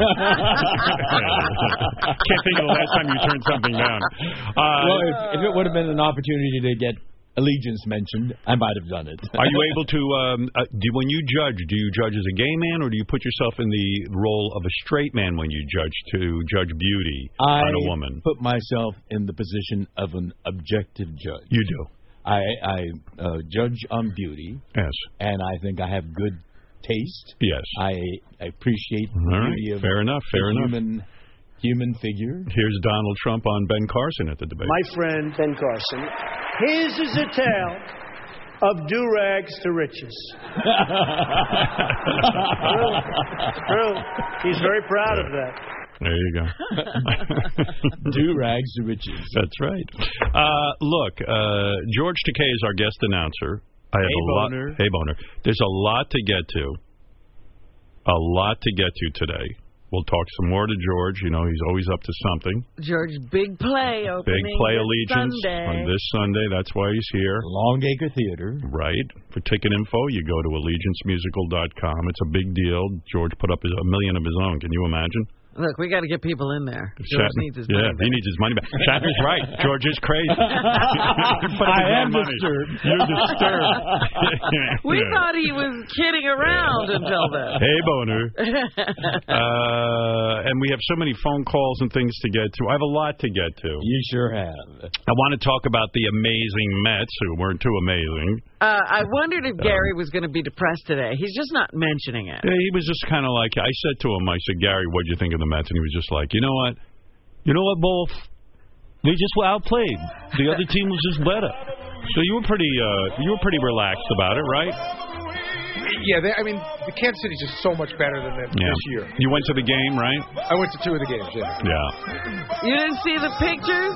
Can't think of the last time you turned something down. Uh, Well, if, if it would have been an opportunity to get Allegiance mentioned, I might have done it. Are you able to, um, uh, do, when you judge, do you judge as a gay man, or do you put yourself in the role of a straight man when you judge to judge beauty I on a woman? put myself in the position of an objective judge. You do. I, I uh, judge on beauty, Yes. and I think I have good taste. Yes. I, I appreciate the All right. beauty of Fair enough. the Fair enough. human human figure. Here's Donald Trump on Ben Carson at the debate. My friend Ben Carson, his is a tale of do-rags to riches. True. True. He's very proud of that. There you go. Do rags to riches. That's right. Uh, look, uh, George Takei is our guest announcer. I have hey, a lot. Boner. Hey, Boner. There's a lot to get to. A lot to get to today. We'll talk some more to George. You know, he's always up to something. George's big play opening Big play this Allegiance Sunday. on this Sunday. That's why he's here. Longacre Theater. Right. For ticket info, you go to allegiance musical dot com. It's a big deal. George put up his, a million of his own. Can you imagine? Look, we got to get people in there. George Shatner, needs his yeah, money back. he needs his money back. Shatner's right. George is crazy. I am money. disturbed. You're disturbed. We thought he was kidding around until then. Hey, Boner. Uh, and we have so many phone calls and things to get to. I have a lot to get to. You sure have. I want to talk about the amazing Mets, who weren't too amazing. Uh, I wondered if Gary was going to be depressed today. He's just not mentioning it. Yeah, he was just kind of like, I said to him, I said, Gary, what'd you think of the Mets? And he was just like, you know what? You know what, both? They just were outplayed. The other team was just better. So you were pretty, uh, you were pretty relaxed about it, right? Yeah, they, I mean, the Kansas City's just so much better than them Yeah. this year. You went to the game, right? I went to two of the games, yeah. Yeah. You didn't see the pictures?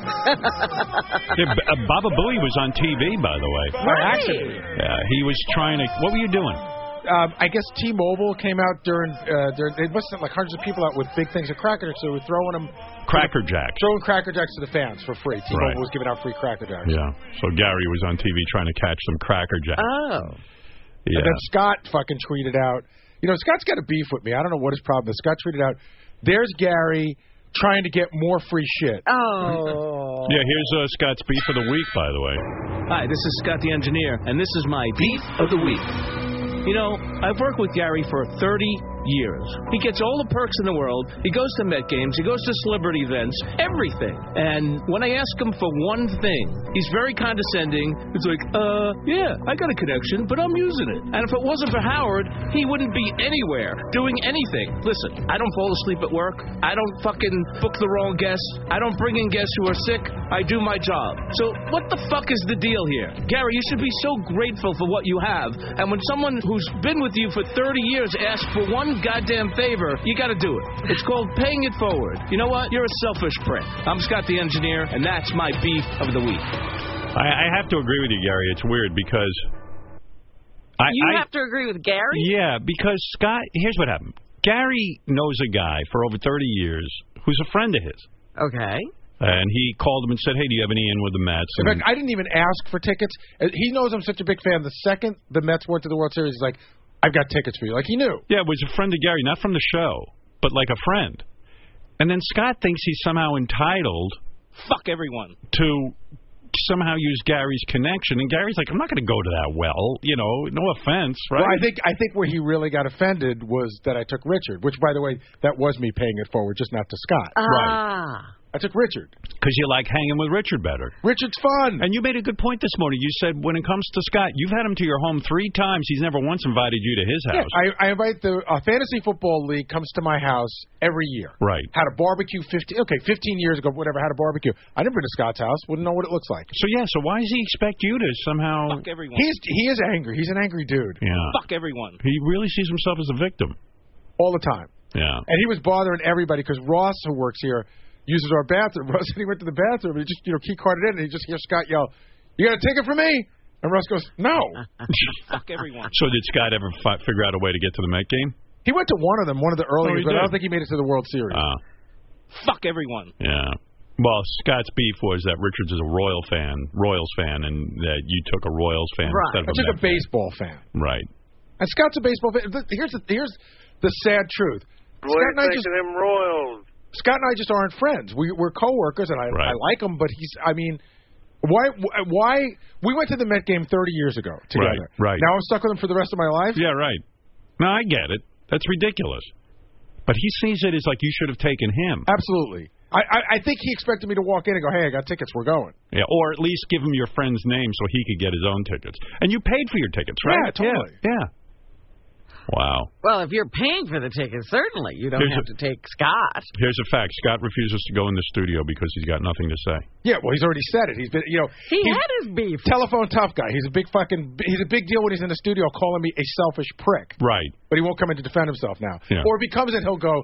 Yeah, B- uh, Baba Booey was on T V, by the way. By accident. Yeah, he was trying to. What were you doing? Um, I guess T-Mobile came out during, uh, during, they must have like hundreds of people out with big things of Cracker Jacks, so they were throwing them. Cracker Jacks. Throwing Cracker Jacks to the fans for free. T-Mobile Right. was giving out free Cracker Jacks. Yeah. So Gary was on T V trying to catch some Cracker Jacks. Oh. Yeah. And then Scott fucking tweeted out, you know, Scott's got a beef with me. I don't know what his problem is. Scott tweeted out, there's Gary trying to get more free shit. Oh. Yeah, here's uh, Scott's beef of the week, by the way. Hi, this is Scott the Engineer, and this is my beef of the week. You know, I've worked with Gary for thirty years. He gets all the perks in the world. He goes to Met games. He goes to celebrity events. Everything. And when I ask him for one thing, he's very condescending. It's like, uh, yeah, I got a connection, but I'm using it. And if it wasn't for Howard, he wouldn't be anywhere doing anything. Listen, I don't fall asleep at work. I don't fucking book the wrong guests. I don't bring in guests who are sick. I do my job. So what the fuck is the deal here? Gary, you should be so grateful for what you have. And when someone who's been with you for thirty years asks for one goddamn favor, you got to do it. It's called paying it forward. You know what? You're a selfish prick. I'm Scott the Engineer, and that's my beef of the week. I, I have to agree with you, Gary. It's weird because... I, You I, have to agree with Gary? Yeah, because Scott... Here's what happened. Gary knows a guy for over thirty years who's a friend of his. Okay. And he called him and said, hey, do you have any in with the Mets? In And fact, I didn't even ask for tickets. Uh, He knows I'm such a big fan. The second the Mets went to the World Series, he's like, I've got tickets for you. Like, he knew. Yeah, it was a friend of Gary, not from the show, but like a friend. And then Scott thinks he's somehow entitled Fuck everyone. to somehow use Gary's connection. And Gary's like, I'm not going to go to that well. You know, no offense, right? Well, I think I think where he really got offended was that I took Richard, which, by the way, that was me paying it forward, just not to Scott. Ah. I took Richard. Because you like hanging with Richard better. Richard's fun. And you made a good point this morning. You said when it comes to Scott, you've had him to your home three times. He's never once invited you to his house. Yeah, I, I invite the uh, Fantasy Football League comes to my house every year. Right. Had a barbecue fifteen okay, fifteen years ago, whatever, had a barbecue. I never been to Scott's house, wouldn't know what it looks like. So, yeah, so why does he expect you to somehow... Fuck everyone. He's he is angry. He's an angry dude. Yeah. Fuck everyone. He really sees himself as a victim. All the time. Yeah. And he was bothering everybody because Ross, who works here, uses our bathroom. Ross said he went to the bathroom and he just, you know, key carded in and he just hears Scott yell, you got a ticket for me? And Ross goes, no. Fuck everyone. So did Scott ever fi- figure out a way to get to the Met game? He went to one of them, one of the early Oh, he ones, but I did. don't think he made it to the World Series. Uh, Fuck everyone. yeah. Well, Scott's beef was that Richards is a Royal fan, Royals fan, and that you took a Royals fan Right. instead of I a took Met a baseball fan. fan. Right. And Scott's a baseball fan. Th- Here's the, here's the sad truth. Scott and I just them Royals. Scott and I just aren't friends. We, we're coworkers, and I, Right. I like him, but he's. I mean, why? Why? We went to the Met game thirty years ago together. Right, right. Now I'm stuck with him for the rest of my life. Yeah, right. No, I get it. That's ridiculous. But he sees it as like you should have taken him. Absolutely. I, I, I think he expected me to walk in and go, hey, I got tickets. We're going. Yeah, or at least give him your friend's name so he could get his own tickets. And you paid for your tickets, right? Yeah, totally. Yeah. yeah. Wow. Well, if you're paying for the ticket, certainly you don't Here's have a- to take Scott. Here's a fact. Scott refuses to go in the studio because he's got nothing to say. Yeah, well, he's already said it. He's been, you know, He he's had his beef. telephone tough guy. He's a big fucking. He's a big deal when he's in the studio, calling me a selfish prick. Right. but he won't come in to defend himself now. Yeah. Or if he comes in, he'll go,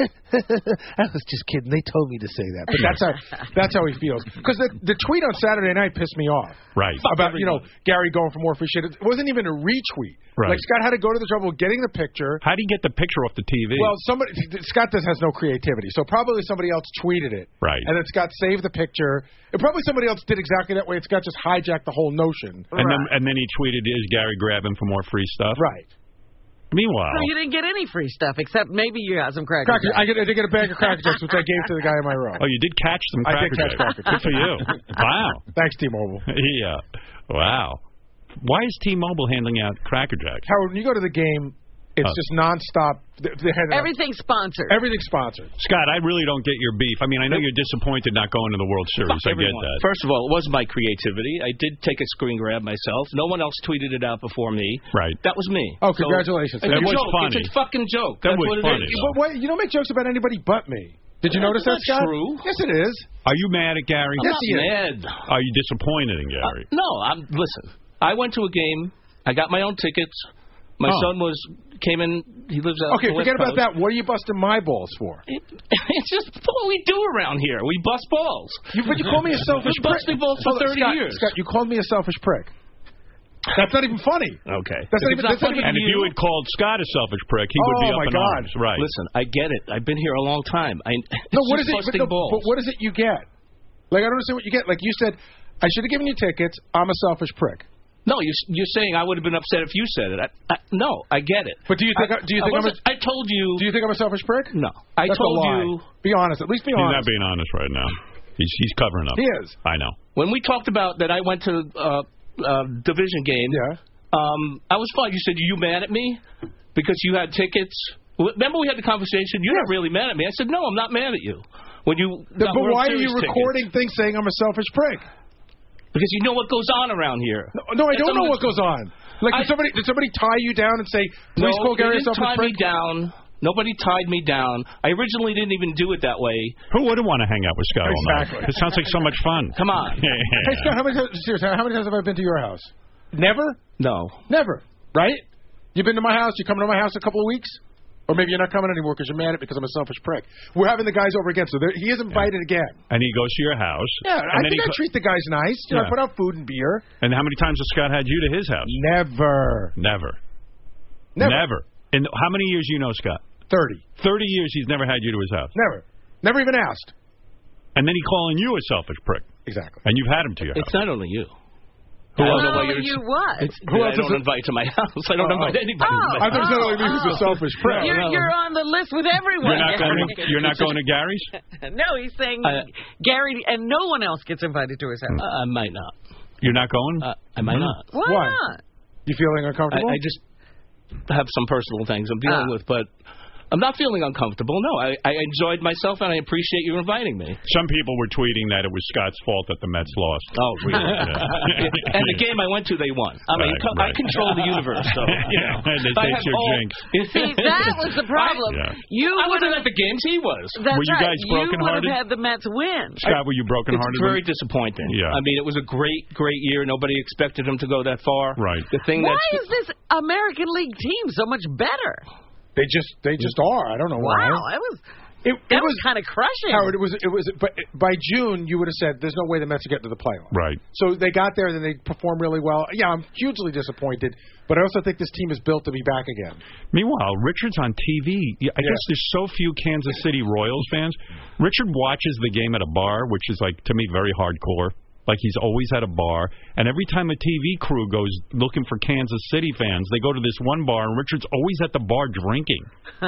I was just kidding. They told me to say that. But that's how that's how he feels. Because the, the tweet on Saturday night pissed me off. Right. About, you know, Gary going for more free shit. It wasn't even a retweet. Right. Like, Scott had to go to the trouble of getting the picture. How do you get the picture off the T V? Well, somebody Scott does has no creativity, so probably somebody else tweeted it. Right. And then Scott saved the picture. And probably somebody else did exactly that way, and Scott just hijacked the whole notion. And then and then he tweeted, "Is Gary grabbing for more free stuff?" Right. Meanwhile, so you didn't get any free stuff, except maybe you got some cracker Cracker, jacks. I, get, I did get a bag of Cracker Jacks, which I gave to the guy in my row. Oh, you did catch some I Cracker did catch Jacks. Cracker Good for you. Wow. Thanks, T-Mobile. Yeah. Wow. Why is T-Mobile handing out Cracker Jacks? Howard, when you go to the game, it's Oh. just nonstop. They, they had Everything's sponsored. Everything's sponsored. Scott, I really don't get your beef. I mean, I know you're disappointed not going to the World Series. I Fuck get everyone. that. First of all, it wasn't my creativity. I did take a screen grab myself. No one else tweeted it out before me. Right. That was me. Oh, So, congratulations. it's That a was joke. funny. It's a fucking joke. That That's was what it funny, is. But why, you don't make jokes about anybody but me. Did you Well, notice that's that, Scott? true. Yes, it is. Are you mad at Gary? I'm Yes, not he is. mad. Are you disappointed in Gary? Uh, no, I'm. Listen, I went to a game. I got my own tickets. My Oh. son was came in. He lives out. Okay, on the forget West about Coast. that. What are you busting my balls for? It, it's just what we do around here. We bust balls. You, but you call me a selfish We've prick. busted balls for Hold on, thirty Scott, years. Scott, you called me a selfish prick. That's not even funny. Okay. That's not If even, it's not that's not funny even And if you had called Scott a selfish prick, he would be Oh, up my in God. arms. Right. Listen, I get it. I've been here a long time. I No, it's what just is it? But, busting no, balls. but what is it you get? Like, I don't understand what you get. Like, you said, I should have given you tickets. I'm a selfish prick. No, you're, you're saying I would have been upset if you said it. I, I, no, I get it. But do you think? I, do you I, think I'm? A, wasn't- I told you. do you think I'm a selfish prick? No, I That's told a lie. you Be honest. At least be He's not honest. being honest right now. He's he's covering up. He is. I know. when we talked about that. I went to uh, uh, division game. Yeah. Um, I was fine. You said, "Are you mad at me because you had tickets?" Remember we had the conversation. You're not really mad at me. I said, "No, I'm not mad at you." When you The- got but World why are Series you tickets. recording things saying I'm a selfish prick? Because you know what goes on around here. No, no I That's don't know under- what goes on. Like, I- did somebody did somebody tie you down and say, No, please call they Gary a didn't selfish tie me prick? down. Nobody tied me down. I originally didn't even do it that way. Who wouldn't want to hang out with Scott all Exactly. night? It sounds like so much fun. Come on. Hey, Scott, how many times, seriously, how many times have I been to your house? Never? No. Never. Right? You've been to my house? You coming to my house a couple of weeks? Or maybe you're not coming anymore because you're mad at me because I'm a selfish prick. We're having the guys over again, so there, he is invited again. And he goes to your house. Yeah, and I then think he I co- treat the guys nice. You know, Yeah. I put out food and beer. And how many times has Scott had you to his house? Never. Never. Never. Never. In how many years you know Scott? Thirty. Thirty years he's never had you to his house. Never. Never even asked. And then he calling you a selfish prick. Exactly. And you've had him to your It's house. not only you. Who I else? don't know why Well, you're. you what? It's, Who I else is don't it? invite to my house. I don't Oh, invite anybody. Oh, to my I thought house. it only means he's a selfish prick. You're, no. you're on the list with everyone. You're not going to, you're not going to Gary's? No, he's saying I- Gary and no one else gets invited to his house. Uh, I might not. You're not going? Uh, I might not. Why, Why? not? You feeling I, uncomfortable? I just have some personal things I'm dealing Ah. with, but I'm not feeling uncomfortable. No, I, I enjoyed myself, and I appreciate you inviting me. Some people were tweeting that it was Scott's fault that the Mets lost. Oh, really? Yeah. And the game I went to, they won. I mean, Right, co- right. I control the universe, so you know. And they I take have your all- jinx. See, that was the problem. Yeah. You I would wasn't have. at the games. He was. That's Were you right. guys You would brokenhearted? have had the Mets win. Scott, were you brokenhearted? It's very disappointing. Yeah. I mean, it was a great, great year. Nobody expected him to go that far. Right. The thing Why that's is this American League team so much better? They just they just are. I don't know why. Wow, that was It, that it was was kind of crushing. Howard. It was it was. But by June, you would have said, "There's no way the Mets are getting to the playoffs." Right. So they got there, and then they performed really well. Yeah, I'm hugely disappointed, but I also think this team is built to be back again. Meanwhile, Richard's on T V. Yeah, I Yeah. guess there's so few Kansas City Royals fans. Richard watches the game at a bar, which is, like, to me, very hardcore. Like, he's always at a bar. And every time a T V crew goes looking for Kansas City fans, they go to this one bar, and Richard's always at the bar drinking.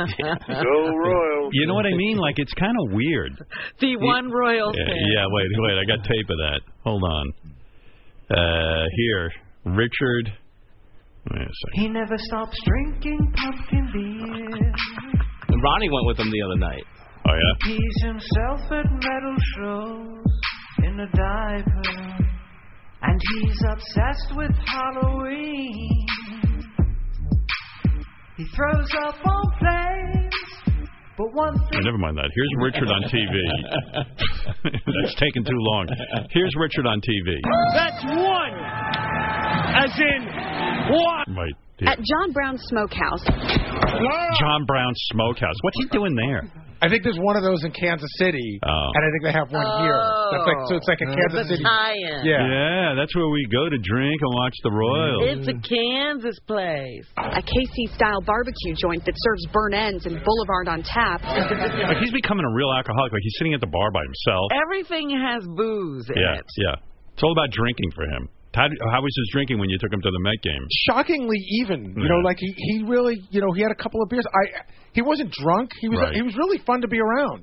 Go Royals. You know what I mean? Like, it's kind of weird. The one Royals Yeah, fan. yeah, wait, wait. I got tape of that. Hold on. Uh, here, Richard. Wait a second. He never stops drinking pumpkin beer. And Ronnie went with him the other night. Oh, yeah? He's himself at metal shows in a diaper. And he's obsessed with Halloween. He throws up on planes, but one Oh, thing... never mind that. Here's Richard on T V. That's taking too long. Here's Richard on T V. That's one. As in one. Wait. dear. At John Brown's Smokehouse. John Brown's Smokehouse. What's he doing there? I think there's one of those in Kansas City, oh. and I think they have one oh. here. That's like, so it's like a Kansas City. Tie-in. Yeah. Yeah, that's where we go to drink and watch the Royals. It's a Kansas place. A K C-style barbecue joint that serves burnt ends and Boulevard on tap. Like he's becoming a real alcoholic. Like he's sitting at the bar by himself. Everything has booze in yeah, it. Yeah, it's all about drinking for him. How, how was his drinking when you took him to the Met game? Shockingly even. You Yeah. know, like he, he really, you know, he had a couple of beers. I he wasn't drunk. He was Right. he was really fun to be around.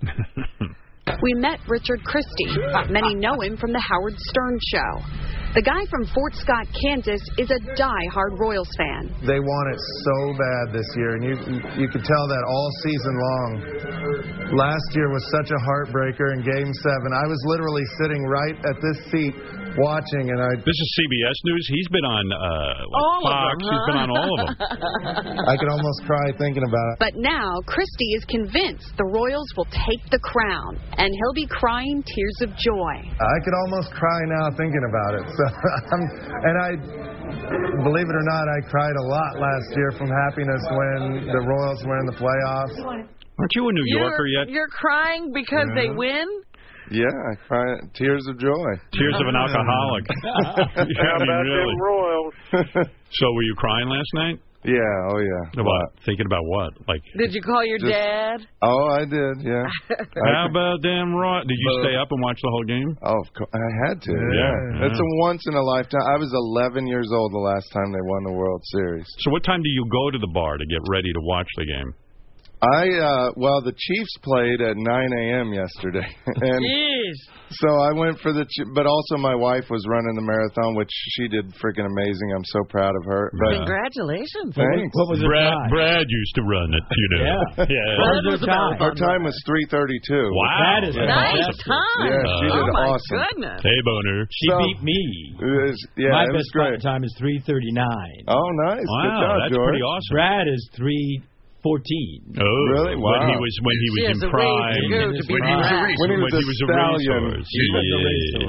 We met Richard Christie. Many know him from the Howard Stern Show. The guy from Fort Scott, Kansas, is a die-hard Royals fan. They want it so bad this year, and you you could tell that all season long. Last year was such a heartbreaker in Game seven. I was literally sitting right at this seat watching, and I... This is C B S News. He's been on uh, like All of Fox. them, huh? He's been on all of them. I could almost cry thinking about it. But now, Christie is convinced the Royals will take the crown, and he'll be crying tears of joy. I could almost cry now thinking about it. So, I'm, and I, believe it or not, I cried a lot last year from happiness when the Royals were in the playoffs. Aren't you a New You're, Yorker yet? You're crying because Yeah. they win? Yeah, I cry tears of joy. Tears of an alcoholic. How Yeah, I mean, about really. them Royals? So were you crying last night? Yeah, oh yeah. What? Thinking about what? Like. Did you call your Just- dad? Oh, I did, yeah. How about them Roy? Did you stay up and watch the whole game? Oh, of course. I had to. Yeah. It's a once in a lifetime. I was eleven years old the last time they won the World Series. So what time do you go to the bar to get ready to watch the game? I uh well, the Chiefs played at nine a.m. yesterday, and Jeez. so I went for the. Ch- but also my wife was running the marathon, which she did freaking amazing. I'm so proud of her. But Congratulations. thanks. What was it? Brad, time? Brad used to run it, you know. Yeah. yeah. What was their time? Our time was three thirty-two. Wow. That is Yeah. Nice fantastic. time. Yeah, she oh, did my awesome. goodness. Hey, Boner. She So- beat me. It was, yeah, My it was best great. time is three thirty-nine. Oh, nice. Wow, Good job, that's George. pretty awesome. Brad is three fourteen. Oh, Really? When Wow. he was when he was She in has a ways prime. to go to be When he was a Brad. When he was When a he was a stallion. racehorse. He was a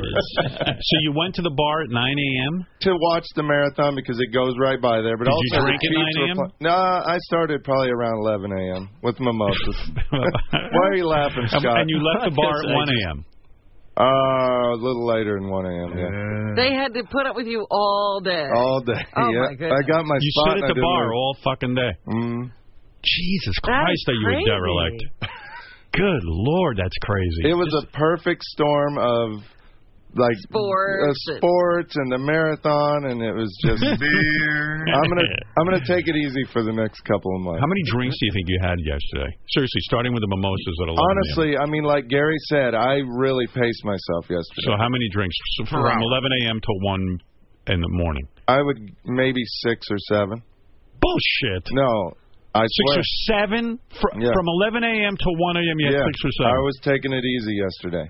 Yes. So you went to the bar at nine a.m.? To watch the marathon because it goes right by there. But Did also you drink the at Chiefs nine a.m.? were pl- No, I started probably around eleven a.m. with mimosas. Why are you laughing, Scott? And you left the bar at one a.m. Uh, a little later than one a.m. Yeah. They had to put up with you all day. All day. Oh, yeah. my goodness. I got my You spot. sit and at I the didn't bar leave. all fucking day. Mm. Jesus That Christ, is are you a crazy. derelict? Good Lord, that's crazy. It was a perfect storm of like Sports uh, sports and the marathon, and it was just beer. I'm gonna I'm gonna take it easy for the next couple of months. How many drinks do you think you had yesterday? Seriously, starting with the mimosas at eleven a.m. Honestly, I mean, like Gary said, I really paced myself yesterday. So how many drinks? So from eleven a.m. to one in the morning. I would maybe six or seven. Bullshit. No, I Six swear. or seven? Fr- Yeah. From eleven a.m. to one a.m. you had Yeah, six or seven? I was taking it easy yesterday.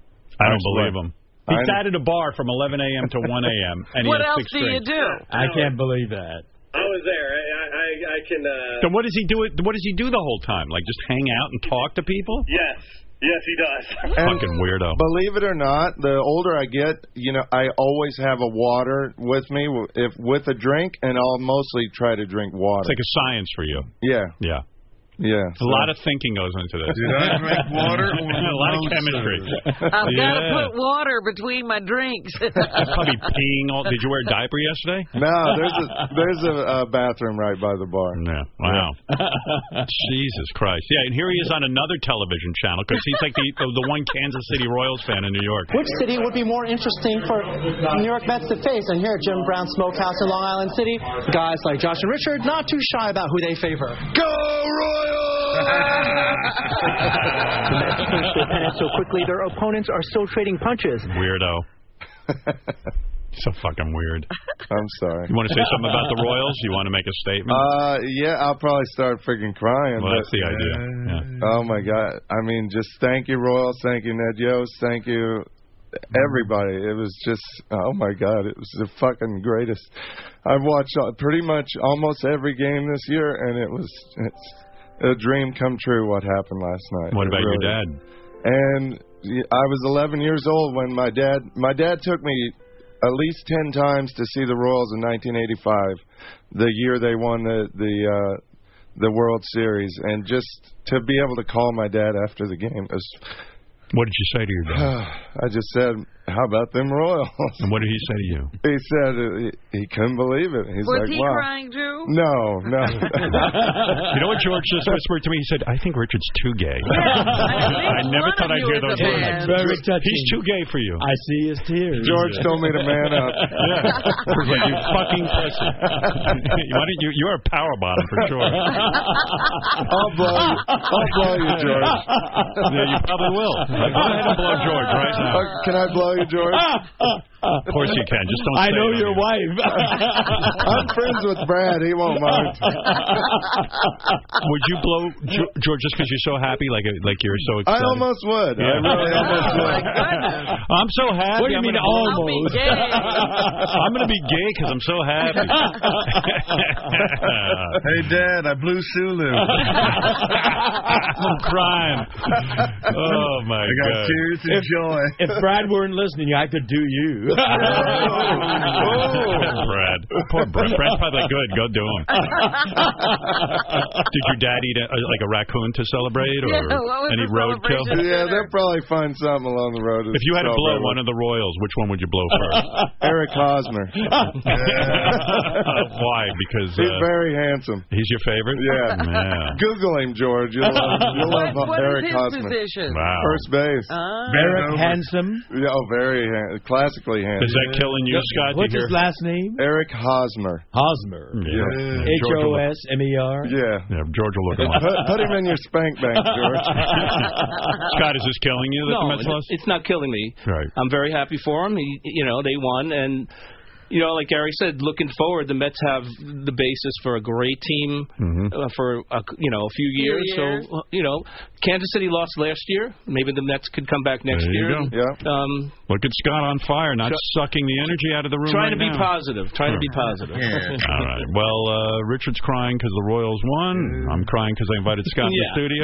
I don't I swear. believe him. He I- sat at a bar from eleven a.m. to one a.m. and he What had else six do you drinks. do? I can't believe that. I was there. I I, I can. Uh... Then what does he do? What does he do the whole time? Like just hang out and talk to people? Yes, yes, he does. And Fucking weirdo. Believe it or not, the older I get, you know, I always have a water with me, if with a drink, and I'll mostly try to drink water. It's like a science for you. Yeah, Yeah. yeah. A lot of thinking goes into this. Did I drink water or A lot of chemistry. I've got to Yeah. put water between my drinks. You're probably peeing all. Did you wear a diaper yesterday? No, there's a there's a, a bathroom right by the bar. Yeah. Wow. Jesus Christ. Yeah, and here he is on another television channel because he's like the, the the one Kansas City Royals fan in New York. Which city would be more interesting for New York Mets to face? And here at Jim Brown Smokehouse in Long Island City, guys like Josh and Richard not too shy about who they favor. Go Royals! The Mets clinched their pennant so quickly, their opponents are still trading punches. Weirdo. So fucking weird. I'm sorry. You want to say something about the Royals? You want to make a statement? Uh, yeah, I'll probably start freaking crying. well, but, that's the idea. Yeah. Oh my God! I mean, just thank you, Royals. Thank you, Ned Yost. Thank you, everybody. It was just, oh my God! It was the fucking greatest. I've watched uh, pretty much almost every game this year, and it was it's a dream come true. What happened last night? What It about really- your dad? And I was eleven years old when my dad my dad took me at least ten times to see the Royals in nineteen eighty-five, the year they won the the uh, the World Series, and just to be able to call my dad after the game was. What did you say to your dad? I just said, how about them Royals? And what did he say to you? He said uh, he, he couldn't believe it. He's Was like, he wow. crying, Drew? No, no. You know what George just whispered to me? He said, I think Richard's too gay. Yeah, I never thought I'd hear those words. Very touching. He's too gay for you. I see his tears. George told me to man up. Yeah. Like, you fucking pussy. Why don't you, you're a power bottom for sure. I'll blow you. I'll blow you, George. Yeah, you probably will. Go ahead and blow George right now. Uh, can I blow you, George? Of course you can. Just don't I say know it your on wife. I'm friends with Brad. He won't mind. Would you blow Jo- George just because you're so happy, like like you're so I excited? almost would. Yeah. I really almost Oh, would. my goodness. I'm so happy. What do you I'm mean gonna blow- I'll be almost? gay. I'm going to be gay because I'm so happy. Hey, Dad, I blew Sulu. I'm crying. Oh, my I got God. tears of joy. If Brad weren't listening, I could do you. Oh, Brad. Poor Brad. Brad's probably like, good. Go do him. Did your dad eat a, like a raccoon to celebrate, or Yeah, what was any the roadkill? celebration? Yeah, they'll probably find something along the road. If you had to blow one of the Royals, which one would you blow first? Eric Hosmer. Uh, why? Because uh, He's very handsome. he's your favorite? Yeah. Yeah. Google him, George. You'll love, you'll What, love what Eric is his Hosmer. position? Wow. First base. Ah. Very handsome. Yeah, oh, very han- classically handsome. Is that killing you, Scott? What's to his hear? last name? Eric Hosmer. Hosmer. Yeah. H George will O look- S M E R. Yeah. Yeah, George will look him up. Put, put him in your spank bank, George. Scott, is this killing you that the No, Mets lost? it's not killing me. Right. I'm very happy for them. He, you know, they won, and you know, like Gary said, looking forward, the Mets have the basis for a great team Mm-hmm. uh, for a, you know a few years. years. So uh, you know, Kansas City lost last year. Maybe the Mets could come back next There you year. go. Yeah. Um, Look at Scott on fire, not sucking the energy out of the room. trying right to be now. positive. Trying to be positive. All right. Well, uh, Richard's crying because the Royals won. I'm crying because I invited Scott in the Yeah. studio.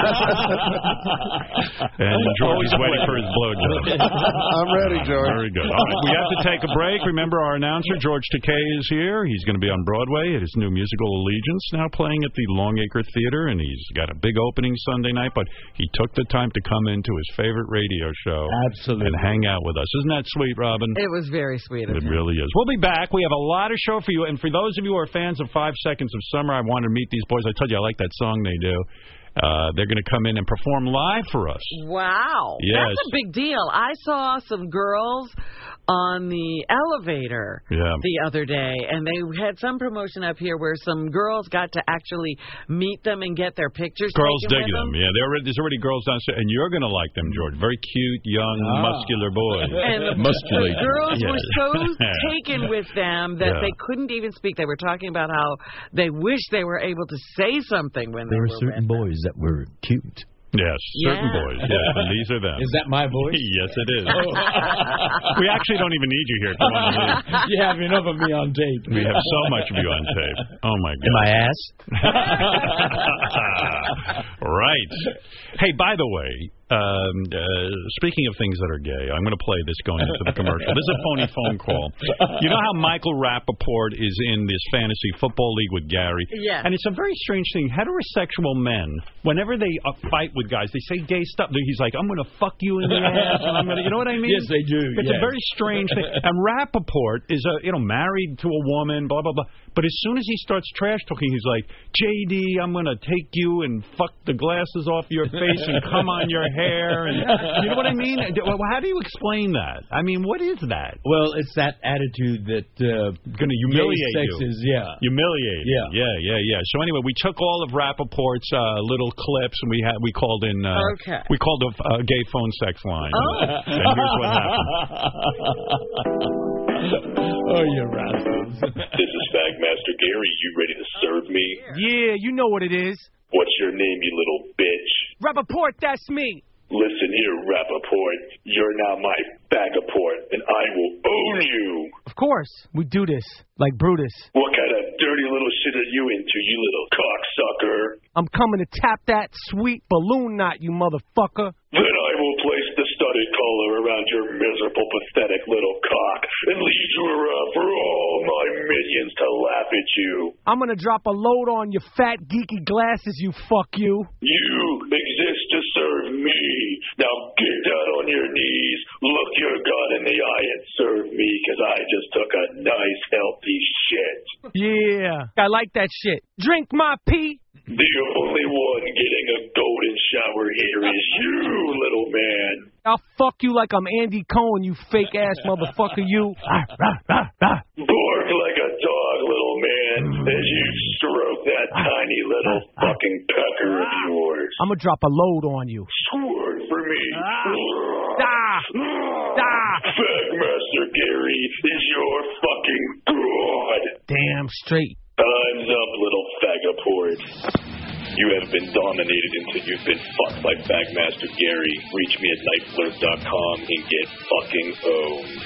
And George is waiting for his blowjob. I'm ready, George. Very good. All right. We have to take a break. Remember, our announcer, George Takei, is here. He's going to be on Broadway at his new musical Allegiance, now playing at the Longacre Theater, and he's got a big opening Sunday night, but he took the time to come into his favorite radio show Absolutely. and hang out with us. Isn't that sweet, Robin? It was very sweet of It him. really is. We'll be back. We have a lot of show for you. And for those of you who are fans of Five Seconds of Summer, I wanted to meet these boys. I told you I like that song they do. Uh, they're going to come in and perform live for us. Wow. Yes. That's a big deal. I saw some girls on the elevator Yeah. the other day, and they had some promotion up here where some girls got to actually meet them and get their pictures Girls taken dig with them. Yeah, there already, there's already girls downstairs, and you're going to like them, George. Very cute, young, Ah. muscular boys. And the Musculated. girls Yeah. were so taken with them that Yeah. they couldn't even speak. They were talking about how they wish they were able to say something when they There were were certain with them. boys that were cute. Yes, certain Yeah. boys. Yes, and these are them. Is that my voice? Yes, it is. We actually don't even need you here. Come on, leave. You have enough of me on tape. We have so much of you on tape. Oh, my God. In my ass? Right. Hey, by the way, um, uh, speaking of things that are gay, I'm going to play this going into the commercial. This is a phony phone call. You know how Michael Rappaport is in this fantasy football league with Gary? Yeah. And it's a very strange thing. Heterosexual men, whenever they uh, fight with guys, they say gay stuff. He's like, I'm going to fuck you in the ass. And I'm gonna, you know what I mean? Yes, they do. It's yes. a very strange thing. And Rappaport is, a, you know, married to a woman, blah, blah, blah. But as soon as he starts trash talking, he's like, J D, I'm going to take you and fuck the glasses off your face and come on your hair. And you know what I mean? How do you explain that? I mean, what is that? Well, it's that attitude that uh, Going to humiliate gay sex you. is, yeah. Humiliate. Yeah. Yeah, yeah, yeah. So anyway, we took all of Rappaport's uh, little clips and we had we called in. Uh, Okay. We called a uh, gay phone sex line. Oh. And here's what happened. Oh, you rascals. This is Fagmaster Gary. You ready to serve me? Yeah, you know what it is. What's your name, you little bitch? Rappaport, that's me. Listen here, Rappaport. You're now my Fagaport, and I will own you. Of course, we do this, like Brutus. What kind of dirty little shit are you into, you little cocksucker? I'm coming to tap that sweet balloon knot, you motherfucker. Then I will place the spotted collar around your miserable, pathetic little cock and lead you around for all my minions to laugh at you. I'm gonna drop a load on your fat, geeky glasses, you fuck you. You exist to serve me. Now get down on your knees, look your God in the eye, and serve me, because I just took a nice, healthy shit. Yeah, I like that shit. Drink my pee. The only one getting a golden shower here is you, little man. I'll fuck you like I'm Andy Cohen, you fake-ass motherfucker, you. Bark like a dog, little man, as you stroke that tiny little fucking pecker of yours. I'm gonna drop a load on you. Squirt for me. Ah. Ah. Fagmaster Gary is your fucking god. Damn straight. Time's up, little fagaport. You have been dominated until you've been fucked by Fagmaster Gary. Reach me at night flirt dot com and get fucking owned.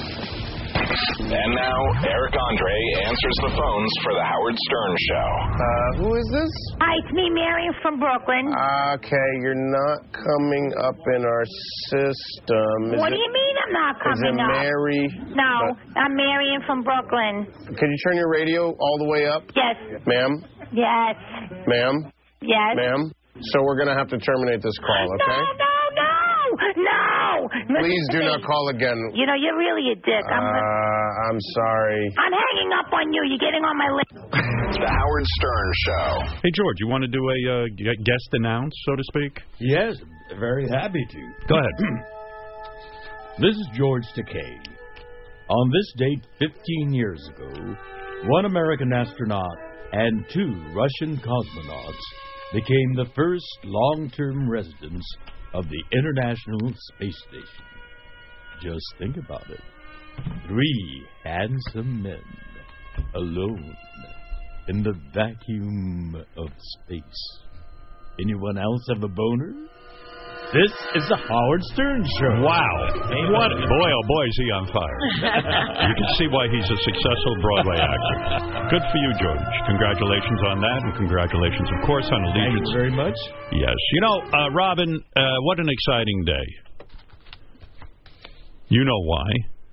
And now, Eric Andre answers the phones for the Howard Stern Show. Uh, who is this? Hi, it's me, Mary from Brooklyn. Okay, you're not coming up in our system. Is what it, do you mean I'm not coming is it up? Mary? No, I'm Marion from Brooklyn. Can you turn your radio all the way up? Yes. Ma'am? Yes. Ma'am? Yes. Ma'am? So we're going to have to terminate this call, okay? No, no, no! No! Please do not call again. You know, you're really a dick. I'm, uh, I'm sorry. I'm hanging up on you. You're getting on my list. The Howard Stern Show. Hey, George, you want to do a uh, guest announce, so to speak? Yes, very happy to. Go ahead. This is George Takei. On this date fifteen years ago, one American astronaut and two Russian cosmonauts became the first long-term residents of the International Space Station. Just think about it. Three handsome men alone in the vacuum of space. Anyone else have a boner? This is the Howard Stern Show. Wow. What? Boy, oh boy, is he on fire. You can see why he's a successful Broadway actor. Good for you, George. Congratulations on that, and congratulations, of course, on Allegiance. Thank you very much. Yes. You know, uh, Robin, uh, what an exciting day. You know why.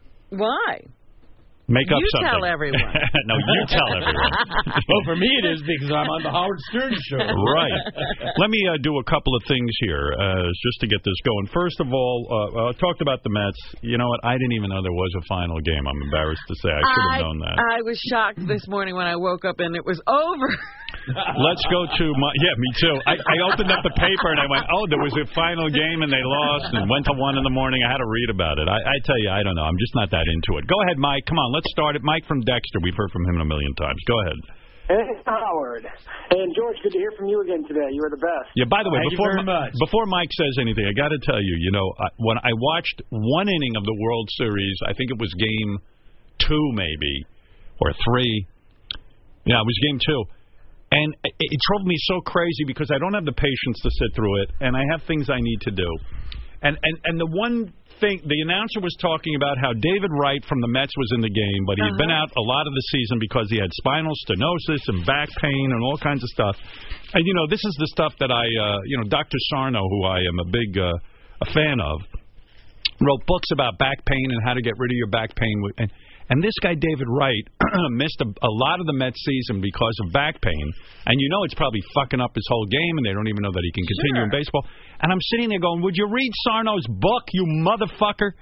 Why? Make up you something. You tell everyone. No, you tell everyone. Well, for me it is because I'm on the Howard Stern Show. Right. Let me uh, do a couple of things here uh, just to get this going. First of all, uh, I talked about the Mets. You know what? I didn't even know there was a final game. I'm embarrassed to say. I should have I, known that. I was shocked this morning when I woke up and it was over. Let's go to my... Yeah, me too. I, I opened up the paper and I went, oh, there was a final game and they lost and went to one in the morning. I had to read about it. I, I tell you, I don't know. I'm just not that into it. Go ahead, Mike. Come on, let's start it. Mike from Dexter. We've heard from him a million times. Go ahead. Hey, Howard. And George, good to hear from you again today. You were the best. Yeah, by the way, Thank before you very much. before Mike says anything, I got to tell you, you know, I, when I watched one inning of the World Series, I think it was game two maybe, or three. Yeah, it was game two. And it, it drove me so crazy because I don't have the patience to sit through it, and I have things I need to do. And and, and the one thing, the announcer was talking about how David Wright from the Mets was in the game, but he had uh-huh. been out a lot of the season because he had spinal stenosis and back pain and all kinds of stuff. And, you know, this is the stuff that I, uh, you know, Doctor Sarno, who I am a big uh, a fan of, wrote books about back pain and how to get rid of your back pain. And, And this guy, David Wright, missed a, a lot of the Mets season because of back pain. And you know it's probably fucking up his whole game, and they don't even know that he can continue sure. in baseball. And I'm sitting there going, would you read Sarno's book, you motherfucker?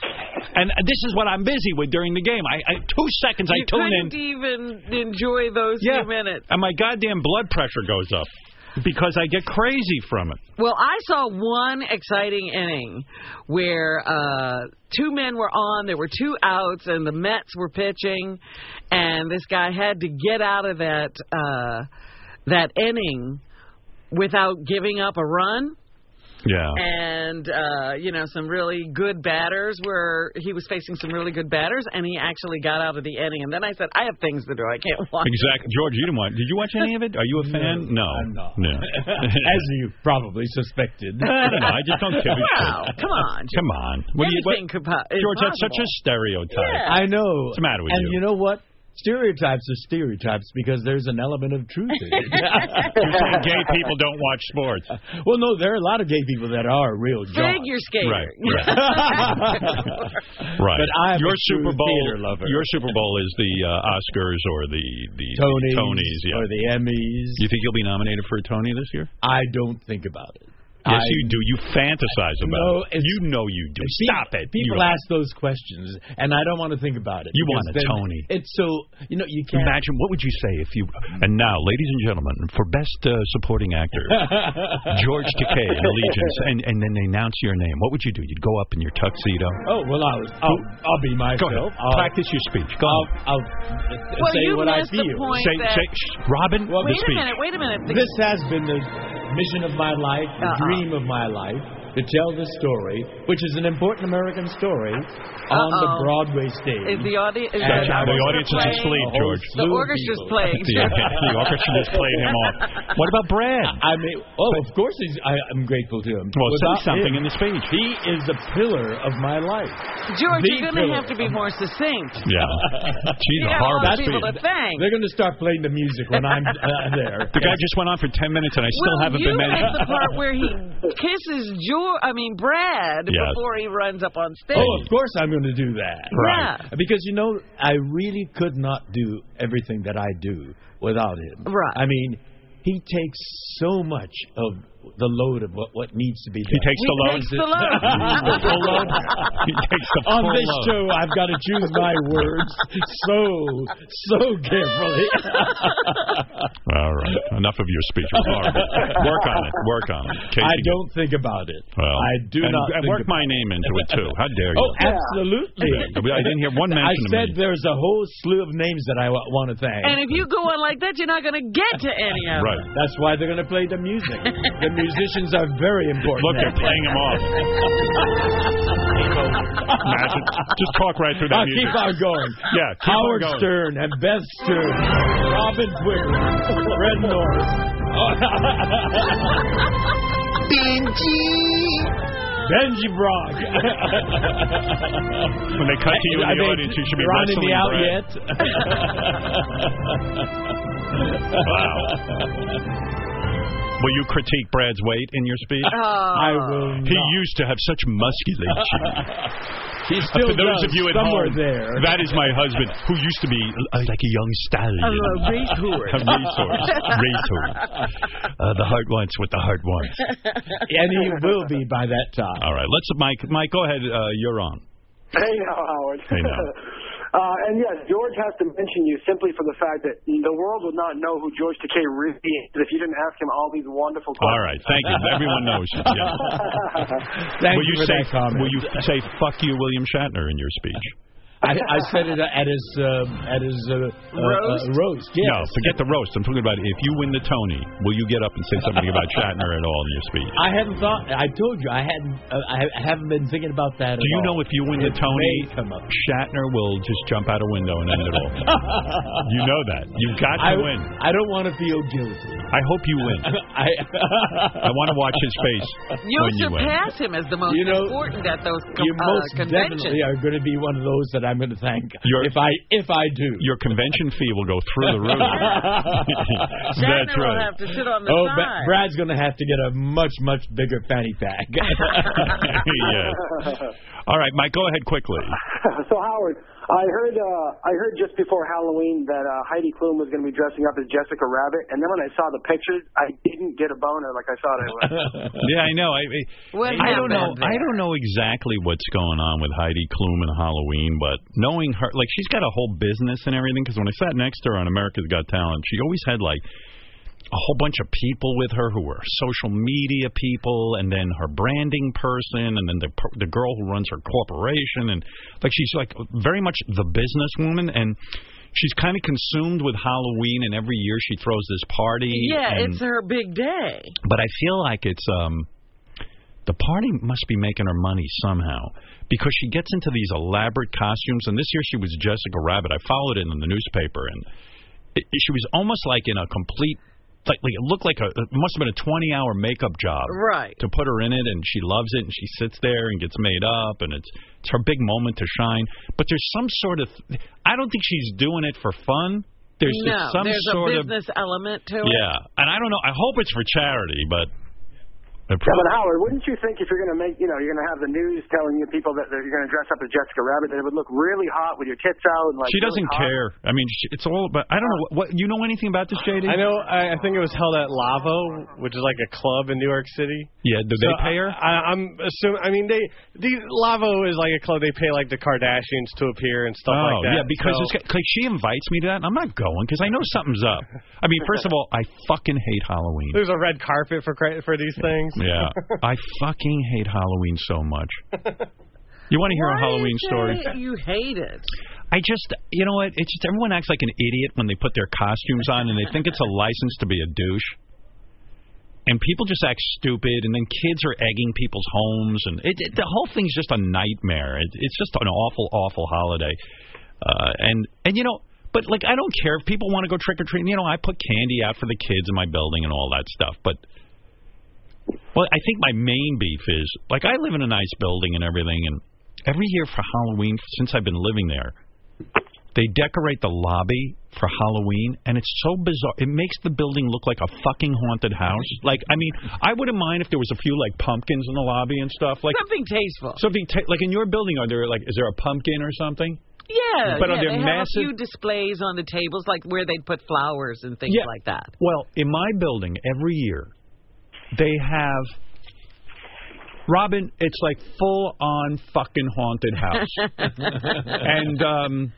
And this is what I'm busy with during the game. I, I Two seconds you I tune in. You couldn't even enjoy those yeah, few minutes. And my goddamn blood pressure goes up. Because I get crazy from it. Well, I saw one exciting inning where uh, two men were on, there were two outs, and the Mets were pitching, and this guy had to get out of that uh, that inning without giving up a run. Yeah. And, uh, you know, some really good batters where he was facing some really good batters, and he actually got out of the inning. And then I said, I have things to do. I can't watch Exactly. it. George, you didn't watch. Did you watch any of it? Are you a fan? No. No. I'm not. No. As you probably suspected. I don't know. I just don't give a Wow. shit. Come on. George. Come on. What do you, what, Anything could po- is George, that's such a possible. stereotype. Yeah. I know. What's the matter with and you? And you know what? Stereotypes are stereotypes because there's an element of truth in it. You're saying all gay people don't watch sports. Well, no, there are a lot of gay people that are real jocks. Figure skater. Right. Right. Right. But I'm your a Super true Bowl. theater lover. Your Super Bowl is the uh, Oscars or the the Tonys, the Tonys, yeah. or the Emmys. You think you'll be nominated for a Tony this year? I don't think about it. Yes, I, you do. You fantasize about no, it. You know you do. Stop it. People you ask those questions, and I don't want to think about it. You want a then Tony. It's so, you know, you can't. Imagine, what would you say if you... And now, ladies and gentlemen, for Best uh, Supporting Actor, George Takei in Allegiance, and, and then they announce your name. What would you do? You'd go up in your tuxedo? Oh, well, I'll, I'll, I'll be myself. Go ahead. I'll, Practice your speech. Go I'll, ahead. I'll well, say you what I missed feel. the point Say, that... say, shh, Robin, well, the wait speech. a minute, wait a minute. The... This has been the mission of my life, the uh-uh. dream of my life, to tell this story, which is an important American story, on Uh-oh. the Broadway stage. Is the audience... Is the, the, the audience is asleep, George. The orchestra's playing. the, the orchestra just played him off. What about Brad? I mean, oh, of course he's, I, I'm grateful to him. Well, Without say something him, in the speech. He is the pillar of my life. George, the you're going to have to be more succinct. Yeah. She's you a horrible people speech. to thank. They're going to start playing the music when I'm uh, there. The guy just went on for ten minutes, and I still well, haven't you been mentioned. missed the part where he kisses George, I mean, Brad, yes. before he runs up on stage. Oh, of course I'm going to do that. Right. Yeah. Because, you know, I really could not do everything that I do without him. Right. I mean, he takes so much of the load of what, what needs to be done. He takes the load? He takes the load. the full load? He takes the On full this load. show, I've got to choose my words so, so carefully. All right. Enough of your speech. It's horrible. Work on it. Work on it. Casey, I don't think about it. well, I do and, not and think work about my name into it, too. How dare you? Oh, absolutely. I didn't hear one mention I of said me. there's a whole slew of names that I w- want to thank. And if you go on like that, you're not going to get to any of them. Right. That's why they're going to play the music. The musicians are very important. Look, they're playing him off. Imagine. Just talk right through that I'll music. keep on going. Yeah, keep Howard on going. Stern and Beth Stern, Robin Quigley, Fred Norris, Benji, Benji Brock. When they cut to you in I the mean, audience, you should be rounding wrestling me out Brad. yet? Wow. Will you critique Brad's weight in your speech? Oh. I will not. He used to have such musculature. He still For those does, of you at somewhere home, there. that is my husband, who used to be uh, like a young stallion. A racehorse. A racehorse. Racehorse. Uh, the heart wants what the heart wants. And he will be by that time. All right, let's, Mike. Mike, go ahead. Uh, you're on. Hey now, Howard. Hey now. Uh, and yes, George has to mention you simply for the fact that the world would not know who George Takei really is if you didn't ask him all these wonderful questions. All right, thank you. Everyone knows you. Yeah. Thank will you you for say, that comment. Will you say "fuck you, William Shatner" in your speech? I, I said it at his uh, at his uh, roast. Uh, roast. Yes. No, forget the roast. I'm talking about if you win the Tony, will you get up and say something about Shatner at all in your speech? I hadn't thought. I told you I hadn't. Uh, I haven't been thinking about that. Do you know if you win the It Tony, may come up. Shatner will just jump out a window and end it all? You know that. You've got I, to win. I don't want to feel guilty. I hope you win. I I want to watch his face You'll when you win. surpass him as the most You know, important at those com- You uh, most conventions. definitely are going to be one of those that I'm going to thank. Your- if I if I do. Your convention fee will go through the roof. That's Shatner will right. have to sit on the Oh, side. Ba- Brad's going to have to get a much much bigger fanny pack. Yes. All right, Mike, go ahead quickly. So Howard, I heard uh, I heard just before Halloween that uh, Heidi Klum was going to be dressing up as Jessica Rabbit, and then when I saw the pictures, I didn't get a boner like I thought I would. Yeah, I know. I, What I don't know. happened I there? don't know exactly what's going on with Heidi Klum and Halloween, but knowing her, like she's got a whole business and everything. Because when I sat next to her on America's Got Talent, she always had like a whole bunch of people with her who were social media people, and then her branding person, and then the the girl who runs her corporation, and like she's like very much the businesswoman, and she's kind of consumed with Halloween, and every year she throws this party. Yeah, and, it's her big day. But I feel like it's um the party must be making her money somehow, because she gets into these elaborate costumes, and this year she was Jessica Rabbit. I followed it in the newspaper, and it, she was almost like in a complete. Like, like it looked like a it must have been a twenty hour makeup job, Right. to put her in it, and she loves it, and she sits there and gets made up, and it's it's her big moment to shine. But there's some sort of I don't think she's doing it for fun. there's no, some there's sort a business of, element to it. Yeah, and I don't know. I hope it's for charity, but. Yeah, but Howard, wouldn't you think if you're going to make, you know, you're going to have the news telling you people that you're going to dress up as Jessica Rabbit, that it would look really hot with your tits out and like. She doesn't really care. I mean, she, it's all. But I don't know. What, what you know anything about this, J D? I know. I, I think it was held at Lavo, which is like a club in New York City. Yeah. Do so they pay her? I, I'm assuming. I mean, they. The Lavo is like a club. They pay like the Kardashians to appear and stuff oh, like that. yeah, because so. it's, like she invites me to that, and I'm not going because I know something's up. I mean, first of all, I fucking hate Halloween. There's a red carpet for for these things. Yeah, I fucking hate Halloween so much. You want to hear Why a Halloween is story? it you hate it. I just, you know what? It's just everyone acts like an idiot when they put their costumes on, and they think it's a license to be a douche. And people just act stupid, and then kids are egging people's homes, and it, it, the whole thing's just a nightmare. It, it's just an awful, awful holiday. Uh, and and you know, but like I don't care if people want to go trick or treating. You know, I put candy out for the kids in my building and all that stuff, but. Well, I think my main beef is, like, I live in a nice building and everything, and every year for Halloween, since I've been living there, they decorate the lobby for Halloween, and it's so bizarre. It makes the building look like a fucking haunted house. Like, I mean, I wouldn't mind if there was a few, like, pumpkins in the lobby and stuff. Like Something tasteful. Something, ta- like, in your building, are there, like, is there a pumpkin or something? Yeah, but yeah, are there they massive... have a few displays on the tables, like where they'd put flowers and things yeah. like that. Well, in my building, every year, they have... Robin, it's like full-on fucking haunted house. and um,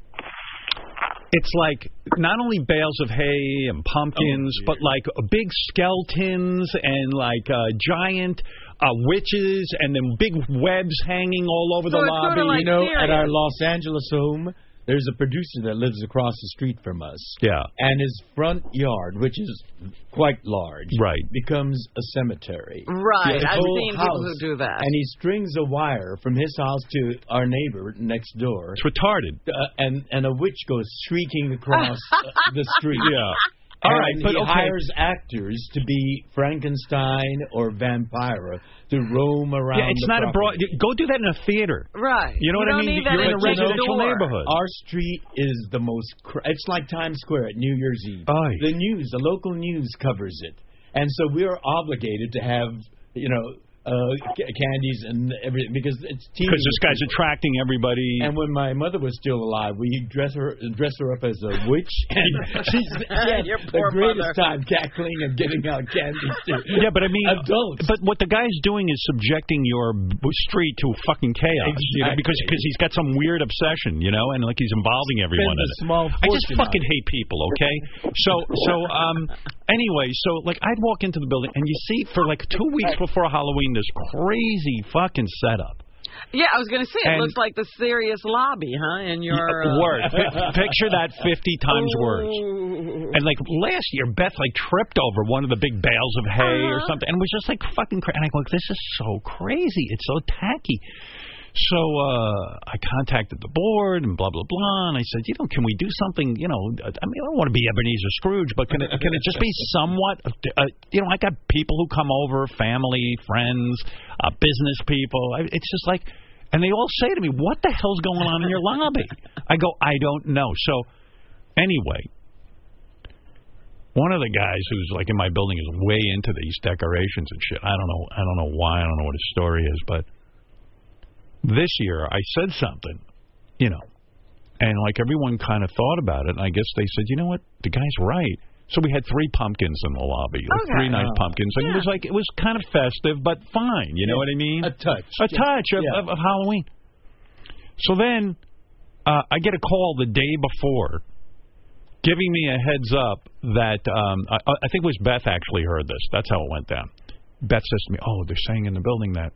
it's like not only bales of hay and pumpkins, oh, but like big skeletons and like uh, giant uh, witches and then big webs hanging all over so the it's lobby. Sort of like you know, serious. At our Los Angeles home, there's a producer that lives across the street from us. Yeah. And his front yard, which is quite large, right, becomes a cemetery. Right. His I've whole seen house, people who do that. And he strings a wire from his house to our neighbor next door. It's retarded. Uh, and, and a witch goes shrieking across uh, the street. Yeah. All and right, but he okay. hires actors to be Frankenstein or Vampira to roam around. Yeah, it's the not property. a broad. Go do that in a theater. Right. You know you what I don't mean? Need that You're in a at your residential door. neighborhood. Our street is the most. Cr- it's like Times Square at New Year's Eve. Aye. The news, the local news covers it, and so we are obligated to have, you know, uh, c- candies and everything because it's because this guy's attracting everybody. And when my mother was still alive, we dress her dress her up as a witch, and she's she had Your the poor greatest mother. time cackling and giving out candies to yeah, but I mean, adults. But what the guy's doing is subjecting your b- street to fucking chaos, Exactly. you know, because because he's got some weird obsession, you know, and like he's involving everyone in Spends a it. small I just fortune fucking on it. hate people, okay? So so um anyway, so like I'd walk into the building and you see for like two weeks before Halloween this crazy fucking setup. Yeah, I was going to say, And- it looks like the serious lobby, huh? In your uh... Worse. P- Picture that fifty times worse. Ooh. And like last year, Beth like tripped over one of the big bales of hay or Uh-huh. something, and was just like fucking crazy. And I go, this is so crazy. It's so tacky. So uh, I contacted the board and blah blah blah, and I said, you know, can we do something? You know, I mean, I don't want to be Ebenezer Scrooge, but can it can it just be somewhat? Uh, you know, I got people who come over, family, friends, uh, business people. I, it's just like, and they all say to me, what the hell's going on in your lobby? I go, I don't know. So anyway. One of the guys who's like in my building is way into these decorations and shit. I don't know. I don't know why. I don't know what his story is, but this year I said something, you know, and like everyone kind of thought about it, and I guess they said, you know what, the guy's right. So we had three pumpkins in the lobby, like Okay. three nice Oh. pumpkins, and Yeah. it was like it was kind of festive, but fine. You know what I mean? A touch. A touch of, Yeah. of, of Halloween. So then uh, I get a call the day before, giving me a heads up that um, I, I think it was Beth actually heard this. That's how it went down. Beth says to me, "Oh, they're saying in the building that."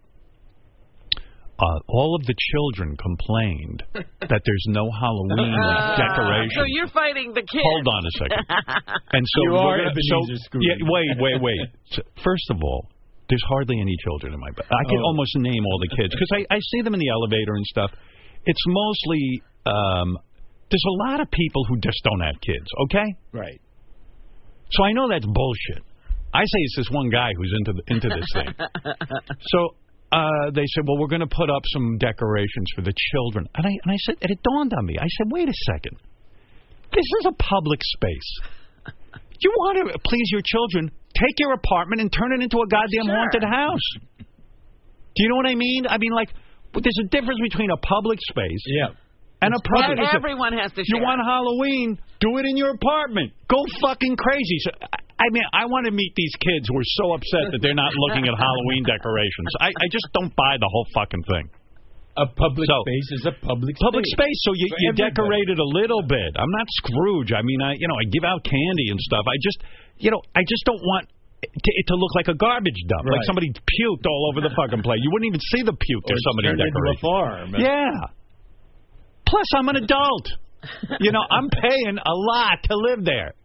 Uh, all of the children complained that there's no Halloween Uh, decoration. So you're fighting the kids. Hold on a second. And so You we're are gonna, Ebenezer so, Scrooge. yeah, wait, wait, wait. So, first of all, there's hardly any children in my bed. I can Oh. almost name all the kids because I, I see them in the elevator and stuff. It's mostly um, there's a lot of people who just don't have kids. Okay, Right. so I know that's bullshit. I say it's this one guy who's into the, into this thing. So. Uh, they said, well, we're going to put up some decorations for the children. And I and I said, and it dawned on me. I said, wait a second. This is a public space. You want to please your children, take your apartment and turn it into a goddamn Sure. haunted house. Do you know what I mean? I mean, like, there's a difference between a public space yeah. and a private space. Everyone has to share. You want Halloween, do it in your apartment. Go fucking crazy. So, I mean, I want to meet these kids who are so upset that they're not looking at Halloween decorations. I, I just don't buy the whole fucking thing. A public so, space is a public public space. space. So you, you decorate it a little bit. I'm not Scrooge. I mean, I you know I give out candy and stuff. I just you know I just don't want it to, it to look like a garbage dump, right. like somebody puked all over the fucking place. You wouldn't even see the puke or if somebody decorated. Into a farm. Yeah. Plus, I'm an adult. You know, I'm paying a lot to live there.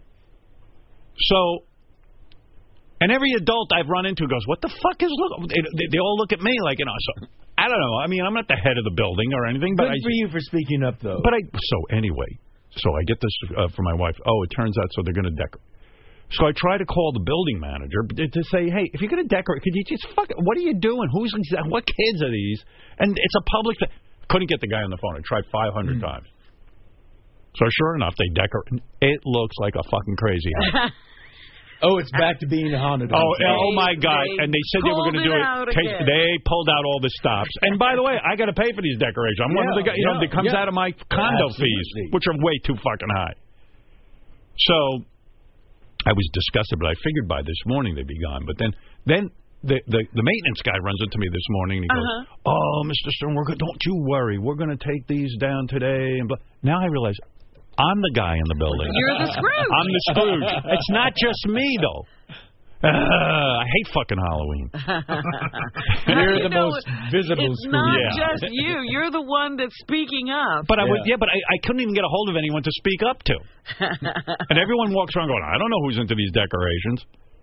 So. And every adult I've run into goes, what the fuck is look? They, they, they all look at me like, you know, so, I don't know. I mean, I'm not the head of the building or anything. But Good I, for you for speaking up, though. But I, so anyway, so I get this uh, from my wife. Oh, it turns out so they're going to decorate. So I try to call the building manager to say, hey, if you're going to decorate, could you just fuck it? What are you doing? Who's what kids are these? And it's a public. Couldn't get the guy on the phone. I tried five hundred mm. times. So sure enough, they decorate. It looks like a fucking crazy house. Oh, it's back to being haunted. Oh, oh my God! They and they said they were going to do it. Take, they pulled out all the stops. And by the way, I got to pay for these decorations. I'm yeah, one of the guys. You yeah, know, that comes yeah. out of my condo Absolutely. fees, which are way too fucking high. So I was disgusted, but I figured by this morning they'd be gone. But then, then the the, the maintenance guy runs into me this morning and he goes, uh-huh. "Oh, Mister Stern, we're go- don't you worry. We're going to take these down today." And blah. Now I realize. I'm the guy in the building. You're the Scrooge. I'm the Scrooge. It's not just me, though. Uh, I hate fucking Halloween. You're the you know, most visible it's Scrooge. Not yeah. just you. You're the one that's speaking up. But I yeah. would, yeah, but I, I couldn't even get a hold of anyone to speak up to. And everyone walks around going, I don't know who's into these decorations.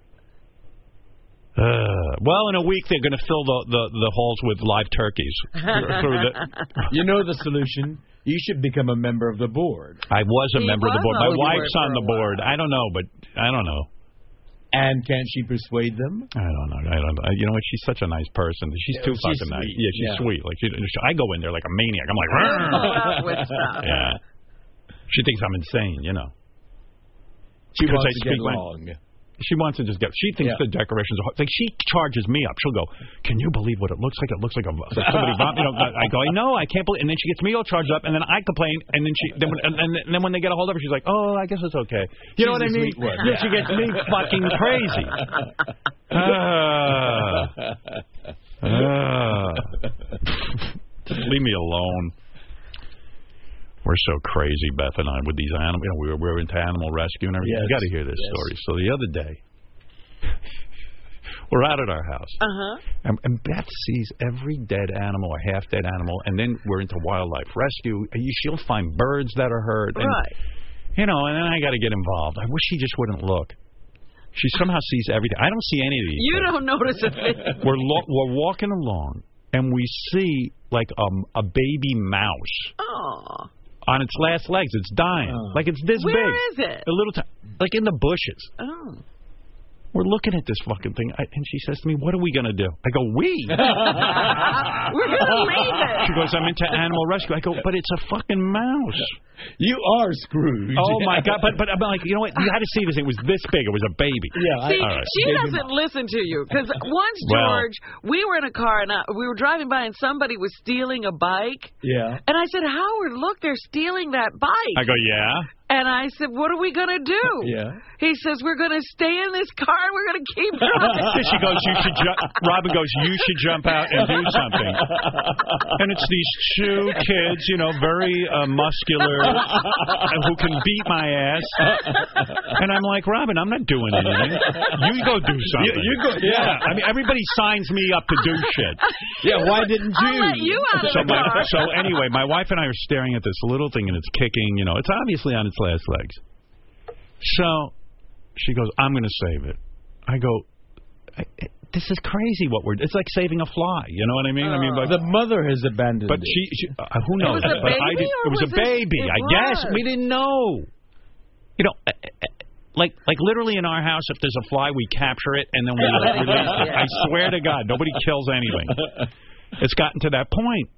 Uh, well, in a week they're going to fill the, the, the halls with live turkeys. through the... You know the solution. You should become a member of the board. I was a he member was of the board. My on wife's board on the board. I don't know, but I don't know. And can't she persuade them? I don't know. I don't know. You know what? She's such a nice person. She's yeah, too she's fucking sweet. nice. Yeah, she's yeah. sweet. Like she, I go in there like a maniac. I'm like, with stuff. yeah. She thinks I'm insane. You know. She wants I to get my, along. She wants to just get. She thinks yeah. the decorations are like. She charges me up. She'll go. Can you believe what it looks like? It looks like a like somebody vom-" You know. I go. I know. I can't believe. And then she gets me all charged up, and then I complain, and then she. Then when, and, and then when they get a hold of her, she's like, "Oh, I guess it's okay." You she's know what I mean? One. Yeah. She gets me fucking crazy. Uh, uh, just leave me alone. We're so crazy, Beth and I, with these animals. You know, we were, we were into animal rescue and everything. Yes. You got to hear this yes. story. So the other day, we're out at our house, uh-huh. and, and Beth sees every dead animal or half-dead animal, and then we're into wildlife rescue. And you, she'll find birds that are hurt. And, right. You know, and then I got to get involved. I wish she just wouldn't look. She somehow sees everything. I don't see any of these You things. don't notice a thing. We're, lo- we're walking along, and we see, like, um, a baby mouse. Oh. On its last legs, it's dying. Oh. Like it's this Where big. Where is it? A little time, like in the bushes. Oh. We're looking at this fucking thing, I, and she says to me, "What are we gonna do?" I go, "We." We're gonna leave it. She goes, "I'm into animal rescue." I go, "But it's a fucking mouse." You are Scrooge. Oh my God! But but I'm like, you know what? You had to see this. It was this big. It was a baby. Yeah. See, I, right. she doesn't listen to you because once George, well, we were in a car and I, we were driving by and somebody was stealing a bike. Yeah. And I said, Howard, look, they're stealing that bike. I go, yeah. And I said, what are we going to do? Yeah. He says, we're going to stay in this car and we're going to keep driving. She goes, you should ju- Robin goes, you should jump out and do something. And it's these two kids, you know, very uh, muscular, who can beat my ass. And I'm like, Robin, I'm not doing anything. You go do something. You, you go, yeah. I mean, everybody signs me up to do shit. Yeah, why didn't you? I'll let you out of so, the my, car. so anyway, my wife and I are staring at this little thing, and it's kicking. You know, it's obviously on its last legs. So she goes, I'm going to save it. I go, I, this is crazy what we're... It's like saving a fly. You know what I mean? Uh, I mean, but, the mother has abandoned but it. she... she uh, who knows? It was a but baby I did, or it was, was a baby, it, it I was. guess. We didn't know. You know... Uh, uh, Like, like literally in our house, if there's a fly, we capture it and then we release it. I swear to God, nobody kills anything. It's gotten to that point.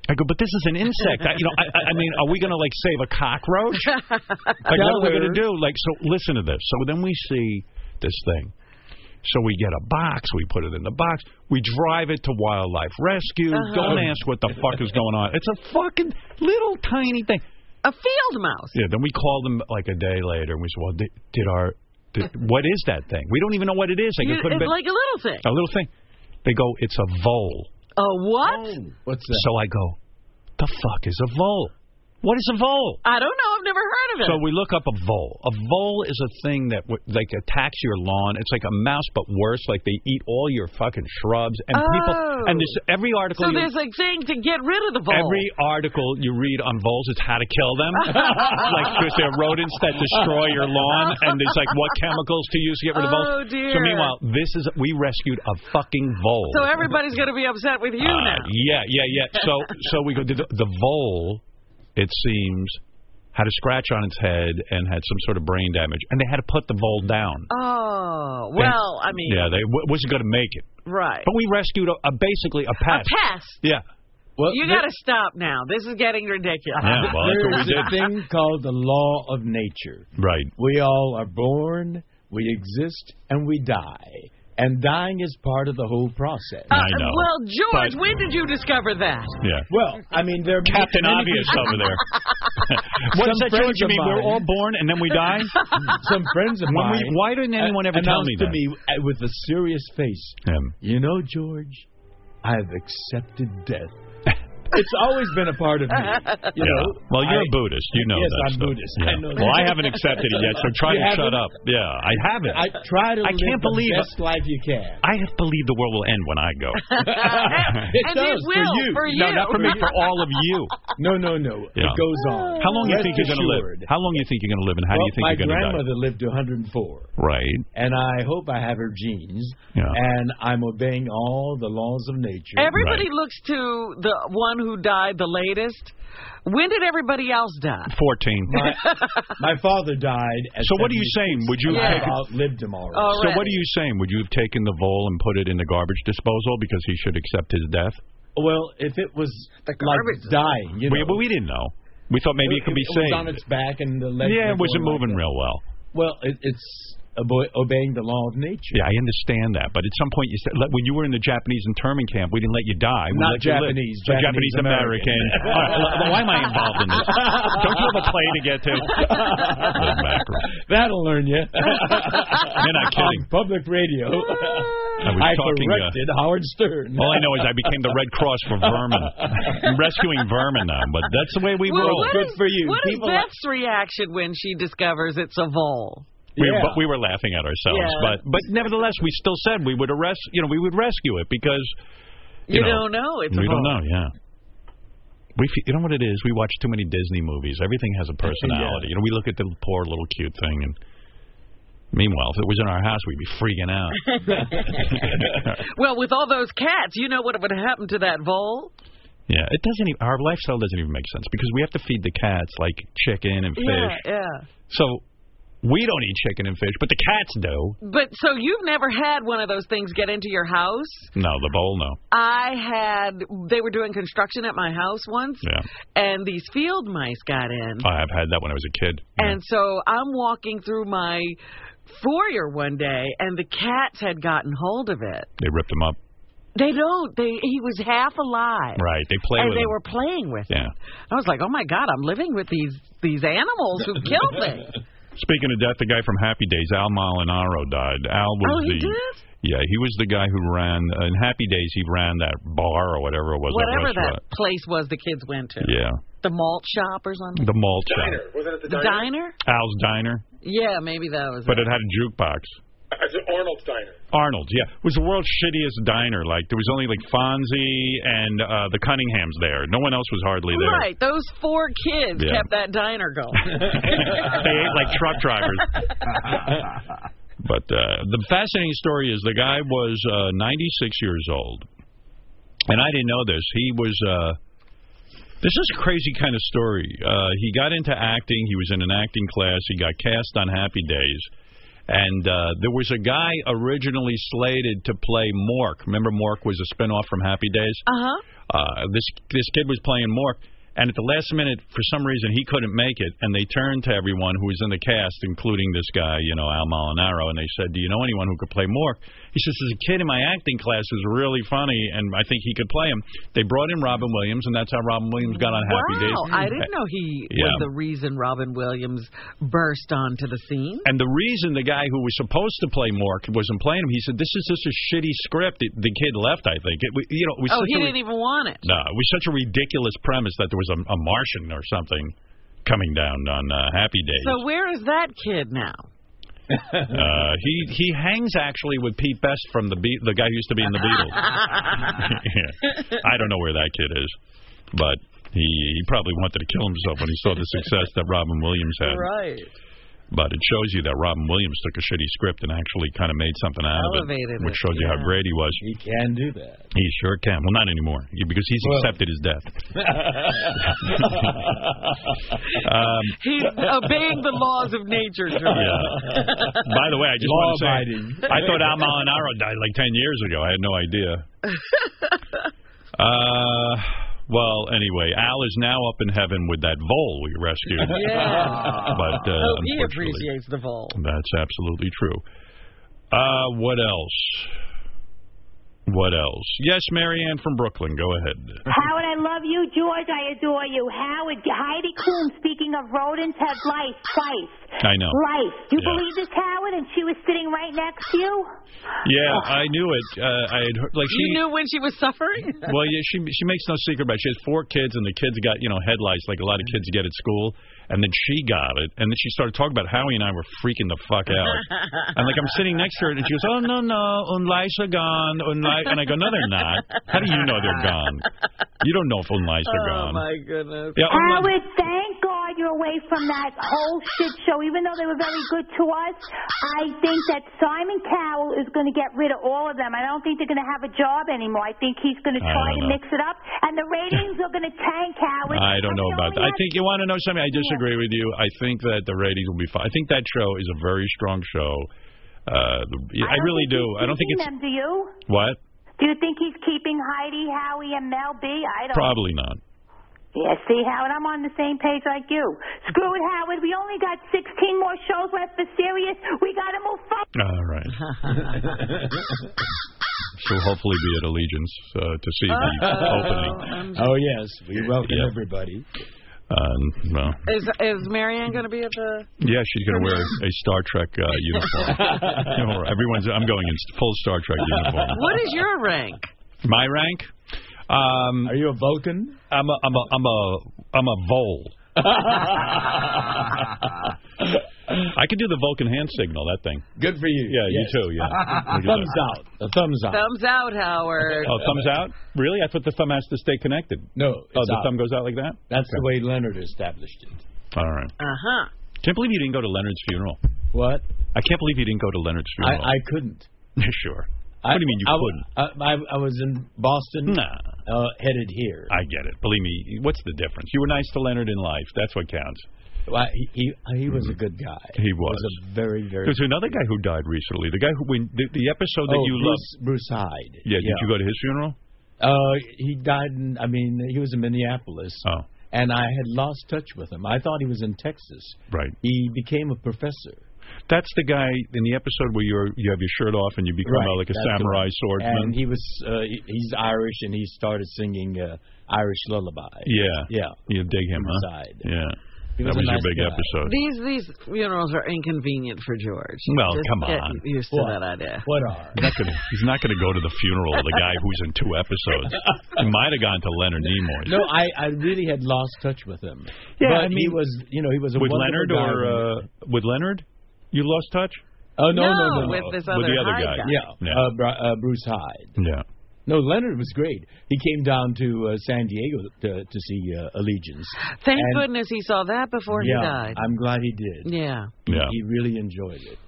I go, but this is an insect. I, you know, I, I mean, are we going to, like, save a cockroach? Like, what are we going to do? Like, so listen to this. So then we see this thing. So we get a box. We put it in the box. We drive it to Wildlife Rescue. Uh-huh. Don't ask what the fuck is going on. It's a fucking little tiny thing. A field mouse. Yeah, then we called them, like, a day later, and we said, well, did, did our... Did, what is that thing? We don't even know what it is. Like, you, it could have it's been, like a little thing. A little thing. They go, it's a vole. A what? Oh, what's that? So I go, the fuck is a vole? What is a vole? I don't know. I've never heard of it. So we look up a vole. A vole is a thing that w- like attacks your lawn. It's like a mouse, but worse. Like they eat all your fucking shrubs. And oh. people. And this every article. So you, there's a thing to get rid of the vole. Every article you read on voles is how to kill them. Like because they're rodents that destroy your lawn, and there's like what chemicals to use to get rid of voles. Oh dear. So meanwhile, this is we rescued a fucking vole. So everybody's going to be upset with you uh, now. Yeah, yeah, yeah. So so we go the, the vole. It seems, had a scratch on its head and had some sort of brain damage, and they had to put the vole down. Oh, well, and, I mean... Yeah, they w- wasn't going to make it. Right. But we rescued, a, a basically, a pest. A pest? Yeah. Well, you got to stop now. This is getting ridiculous. Yeah, well, that's what we There's a thing called the law of nature. Right. We all are born, we exist, and we die. And dying is part of the whole process. Uh, I know. Well, George, but, when did you discover that? Yeah. Well, I mean, there are Captain many Obvious people. over there. What is that, George? You mean we're all born and then we die? Some friends of when mine. We, why didn't anyone ever tell me to that? me uh, with a serious face. Um, you know, George, I've accepted death. It's always been a part of me. You yeah. know, well, you're I, a Buddhist. You know yes, that I'm stuff. Buddhist. Yeah. I know well, that. I haven't accepted it yet, so try You to haven't? shut up. Yeah, I haven't. I try to I live can't the believe best life you can. I have believed the world will end when I go. It and does it will, for you. for you. No, not for me, for all of you. No, no, no. Yeah. It goes on. How long do you Rest think you're going to live? assured. How long do you think you're going to live, and how well, do you think my you're going to die? My grandmother lived to one hundred four. Right. And I hope I have her genes. Yeah. And I'm obeying all the laws of nature. Everybody Right. looks to the one who died the latest. When did everybody else die? Fourteen. My, my father died at So what are you saying? Would you have Yeah. taken? I've outlived him already. Already. So what are you saying? Would you have taken the vole and put it in the garbage disposal because he should accept his death? Well, if it was The like garbage- dying, you know. We, but we didn't know. We thought maybe it, could be it saved. was on its back and the legs Yeah, were it wasn't going moving like real well. that. Well, it, it's obe- obeying the law of nature. Yeah, I understand that, but at some point you said like, when you were in the Japanese internment camp, we didn't let you die. We Not let you live. Japanese, So Japanese Japanese American. American. All right, well, why am I involved in this? Don't you have a plane to get to? Little mackerel. That'll learn you. You're not kidding. On public radio. I was I talking, uh, corrected Howard Stern. All I know is I became the Red Cross for vermin. I'm rescuing vermin now, but that's the way we Well, roll. what Good is- for you. What is People Beth's reaction when she discovers it's a vole? We, Yeah. but we were laughing at ourselves, Yeah. but but nevertheless, we still said we would arrest. You know, we would rescue it because You, you, know, don't know it's we a vole. don't know. Yeah, we fe- you know what it is. We watch too many Disney movies. Everything has a personality. Yeah. You know, we look at the poor little cute thing, and meanwhile, if it was in our house, we'd be freaking out. Well, with all those cats, you know what would have happened to that vole? Yeah, it doesn't even. Our lifestyle doesn't even make sense because we have to feed the cats like chicken and fish. Yeah, yeah. So we don't eat chicken and fish, but the cats do. But so you've never had one of those things get into your house? No, the bowl, no. I had, they were doing construction at my house once, Yeah. and these field mice got in. I have had that when I was a kid. Yeah. And so I'm walking through my foyer one day, and the cats had gotten hold of it. They ripped him up. They don't. They He was half alive. Right. They play And with they him. were playing with Yeah. it. I was like, oh, my God, I'm living with these, these animals who killed me. Speaking of death, the guy from Happy Days, Al Molinaro, died. Al was Oh, he the did? yeah, he was the guy who ran uh, in Happy Days. He ran that bar or whatever it was. Whatever that, that place was the kids went to. Yeah, The malt shop or something? the malt Diner. shop, Wasn't it the The diner? diner? Al's Diner, Yeah, maybe that was but it. it had a jukebox. It's Arnold's Diner. Arnold's, yeah, it was the world's shittiest diner. Like there was only like Fonzie and uh, the Cunninghams there. No one else was hardly there. Right, those four kids Yeah. kept that diner going. They ate like truck drivers. But uh, the fascinating story is the guy was uh, ninety-six years old, and I didn't know this. He was. Uh, this is a crazy kind of story. Uh, he got into acting. He was in an acting class. He got cast on Happy Days. And uh, there was a guy originally slated to play Mork. Remember Mork was a spinoff from Happy Days? Uh-huh. Uh, this this kid was playing Mork. And at the last minute, for some reason, he couldn't make it, and they turned to everyone who was in the cast, including this guy, you know, Al Molinaro, and they said, do you know anyone who could play Mork? He says, as a kid in my acting class who's really funny, and I think he could play him. They brought in Robin Williams, and that's how Robin Williams got on Happy wow, Days. Wow, I didn't know he yeah. was the reason Robin Williams burst onto the scene. And the reason the guy who was supposed to play Mork wasn't playing him, he said, this is just a shitty script. The, the kid left, I think. It, you know, it was oh, he a, didn't even want it. No, it was such a ridiculous premise that there was a, a Martian or something coming down on uh, Happy Days. So where is that kid now? uh, he he hangs actually with Pete Best from the Be- the guy who used to be in the Beatles. Yeah. I don't know where that kid is, but he he probably wanted to kill himself when he saw the success that Robin Williams had. Right. But it shows you that Robin Williams took a shitty script and actually kind of made something out Elevated of it, which it, shows you yeah. how great he was. He can do that. He sure can. Well, not anymore, because he's well. accepted his death. um, he's obeying the laws of nature, George. Yeah. By the way, I just want to say, I thought Al Molinaro died like ten years ago. I had no idea. uh... Well, anyway, Al is now up in heaven with that vole we rescued. Yeah. But, uh, oh, he appreciates the vole. That's absolutely true. Uh, what else? What else? Yes, Marianne from Brooklyn. Go ahead. Howard, I love you. George, I adore you. Howard, Heidi Klum, speaking of rodents, have life twice. I know. Life. Do you yeah. believe this, Howard? And she was sitting right next to you? Yeah, oh. I knew it. Uh, I had heard, like You she, knew when she was suffering? Well, yeah, she she makes no secret about it. She has four kids, and the kids got, you know, headlights like a lot of kids get at school. And then she got it, and then she started talking about Howie and I were freaking the fuck out. And like I'm sitting next to her, and she goes, "Oh no, no, Unlights are gone." Unlight, and I go, "No, they're not. How do you know they're gone? You don't know if Unlights are oh, gone." Oh my goodness! Yeah, Howard, thank God you're away from that whole shit show. Even though they were very good to us, I think that Simon Cowell is going to get rid of all of them. I don't think they're going to have a job anymore. I think he's going to try to know. mix it up, and the ratings are going to tank, Howard. I don't know about that. I think you want to know something. I disagree. Agree with you. I think that the ratings will be fine. I think that show is a very strong show. Uh, the, I, I really do. I don't think it's. Them, do you? What? Do you think he's keeping Heidi, Howie, and Mel B? I don't. Probably not. Yeah, see, Howard, I'm on the same page like you. Screw it, Howard. We only got sixteen more shows left for Sirius. We got to move forward. All right. She'll hopefully be at Allegiance uh, to see the Uh-oh. opening. Oh yes, we welcome yep. everybody. Um, well, is is Marianne going to be at the? Yeah, she's going to wear a Star Trek uh, uniform. You know, everyone's. I'm going in full Star Trek uniform. What is your rank? My rank? Um, Are you a Vulcan? I'm a. I'm a. I'm a. I'm a vole. I could do the Vulcan hand signal. That thing. Good for you. Yeah, yes. you too. Yeah. Thumbs out. A thumbs out. Thumbs out, Howard. Oh, thumbs out? Really? I thought the thumb has to stay connected. No. Oh, the out. thumb goes out like that? That's okay. the way Leonard established it. All right. Uh huh. Can't believe you didn't go to Leonard's funeral. What? I can't believe you didn't go to Leonard's funeral. I, I couldn't. Sure. I, what do you mean you I, couldn't? I, I, I was in Boston. Nah. Uh, headed here. I get it. Believe me. What's the difference? You were nice to Leonard in life. That's what counts. Well, he, he he was a good guy. He was. He was a very very. There's another guy who died recently. The guy who when the, the episode that oh, you Bruce, loved. Bruce Hyde. Yeah. Did yeah. you go to his funeral? Uh, he died in. I mean, he was in Minneapolis. Oh. And I had lost touch with him. I thought he was in Texas. Right. He became a professor. That's the guy in the episode where you're you have your shirt off and you become right. uh, like a That's samurai swordsman. And he was uh, he's Irish and he started singing uh, Irish lullaby. Yeah. Yeah. You dig him, huh? Side. Yeah. He that was was a your nice big guy. episode. These these funerals are inconvenient for George. Well, Just come get on. used to what? that idea. What are? He's not gonna, he's not going to go to the funeral of the guy who's in two episodes. He might have gone to Leonard Nimoy. No, I, I really had lost touch with him. Yeah, but I mean, he was, you know, he was a with wonderful Leonard guy or uh, with Leonard, you lost touch. Oh no, no, No, no, no, with this With other the other Hyde guy. guy. Yeah, Yeah. Uh, Bru- uh, Bruce Hyde. Yeah. No, Leonard was great. He came down to uh, San Diego to, to see uh, Allegiance. Thank And- goodness he saw that before yeah, he died. I'm glad he did. Yeah. He, Yeah. he really enjoyed it.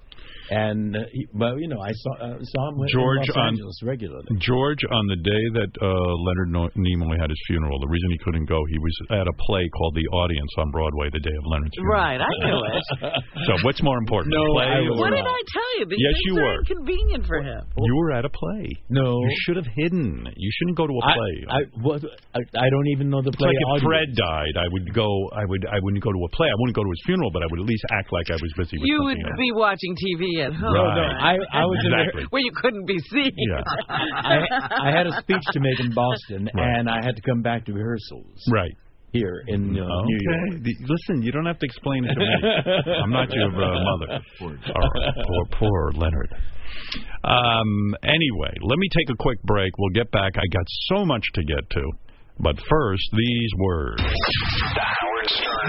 And, uh, he, well, you know, I saw uh, saw him George in Los on, Angeles regularly. George, on the day that uh, Leonard Nimoy had his funeral, the reason he couldn't go, he was at a play called The Audience on Broadway the day of Leonard's funeral. Right, I knew it. So what's more important, no, the play? I or... What did I tell you? These yes, things you are were. inconvenient for him. You were at a play. No. You should have hidden. You shouldn't go to a play. I, I, what, I, I don't even know the It's play like if audience. Fred died, I would go. I would. I wouldn't go to a play. I wouldn't go to his funeral, but I would at least act like I was busy with You would something else. be watching T V at home. Right. No, I, I was exactly. in where you couldn't be seen. Yeah. I, I had a speech to make in Boston, Right. and I had to come back to rehearsals. Right. Here in uh, okay. New York. The, listen, you don't have to explain it to me. I'm not your uh, mother. Poor, poor, poor Leonard. Um, anyway, let me take a quick break. We'll get back. I got so much to get to. But first, these words. The Howard Stern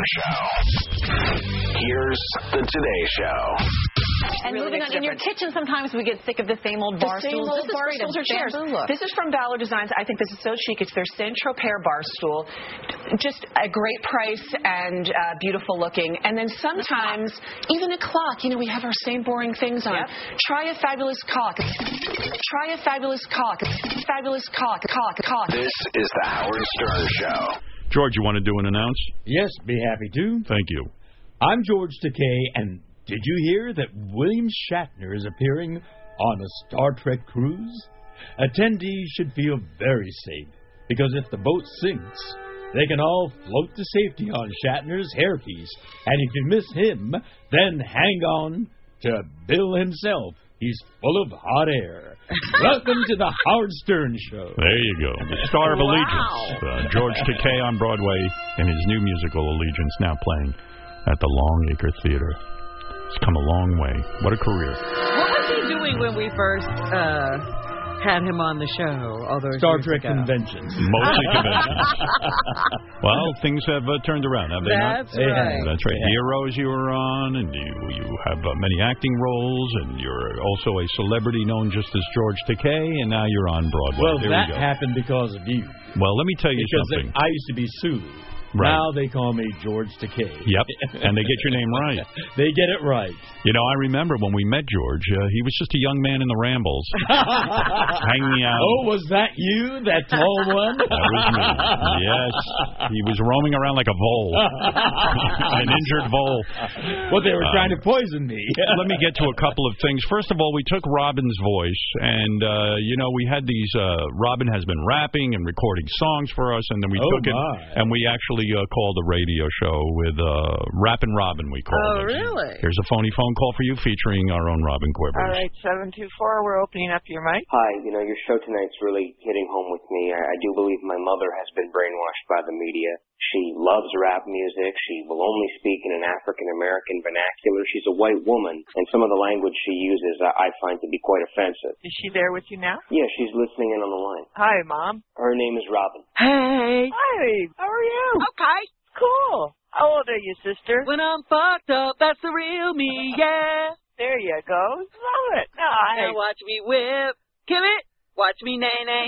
Show. Here's the Today Show. And really moving on, in your kitchen, sometimes we get sick of the same old bar the same stools. old This bar is stools or chairs. look. This is from Valor Designs. I think this is so chic. It's their Saint-Tropez bar stool. Just a great price and uh, beautiful looking. And then sometimes, even a clock. You know, we have our same boring things on. Yep. Try a fabulous cock. Try a fabulous cock. Fabulous cock. Cock. Cock. This is the Howard Stern Show. George, you want to do an announce? Yes, be happy to. Thank you. I'm George Takei, and did you hear that William Shatner is appearing on a Star Trek cruise? Attendees should feel very safe, because if the boat sinks, they can all float to safety on Shatner's hairpiece. And if you miss him, then hang on to Bill himself. He's full of hot air. Welcome to the Howard Stern Show. There you go. The Star of Wow. Allegiance. Uh, George Takei on Broadway in his new musical Allegiance, now playing at the Longacre Theater. It's come a long way. What a career. What was he doing when we first uh, had him on the show? All those Star years Trek ago? conventions. Mostly conventions. Well, things have uh, turned around, have they That's not? right. That's right. Yeah. Heroes you were on, and you you have uh, many acting roles, and you're also a celebrity known just as George Takei, and now you're on Broadway. Well, there that we go. happened because of you. Well, let me tell you Because something. I used to be Sue. Right. Now they call me George Takei. Yep, and they get your name right. They get it right. You know, I remember when we met George, uh, he was just a young man in the Rambles, hanging out. Oh, was that you, that tall one? That was me. Yes. He was roaming around like a vole. An injured vole. Well, they were Um, trying to poison me. Let me get to a couple of things. First of all, we took Robin's voice, and, uh, you know, we had these, uh, Robin has been rapping and recording songs for us, and then we Oh, took it, my. and we actually uh, called a radio show with uh, Rappin' Robin, we called Oh, it. really? Here's a phony phone call for you featuring our own Robin Quivers. All right, seven two four, we're opening up your mic. Hi, you know, your show tonight's really hitting home with me. I, I do believe my mother has been brainwashed by the media. She loves rap music. She will only speak in an African-American vernacular. She's a white woman, and some of the language she uses I, I find to be quite offensive. Is she there with you now? Yeah, she's listening in on the line. Hi, Mom. Her name is Robin. Hey. Hi, how are you? Okay. Cool. How old are you, sister? When I'm fucked up, that's the real me, yeah. There you go. Love it. No, I, Now watch me whip. Kill it. Watch me nay-nay.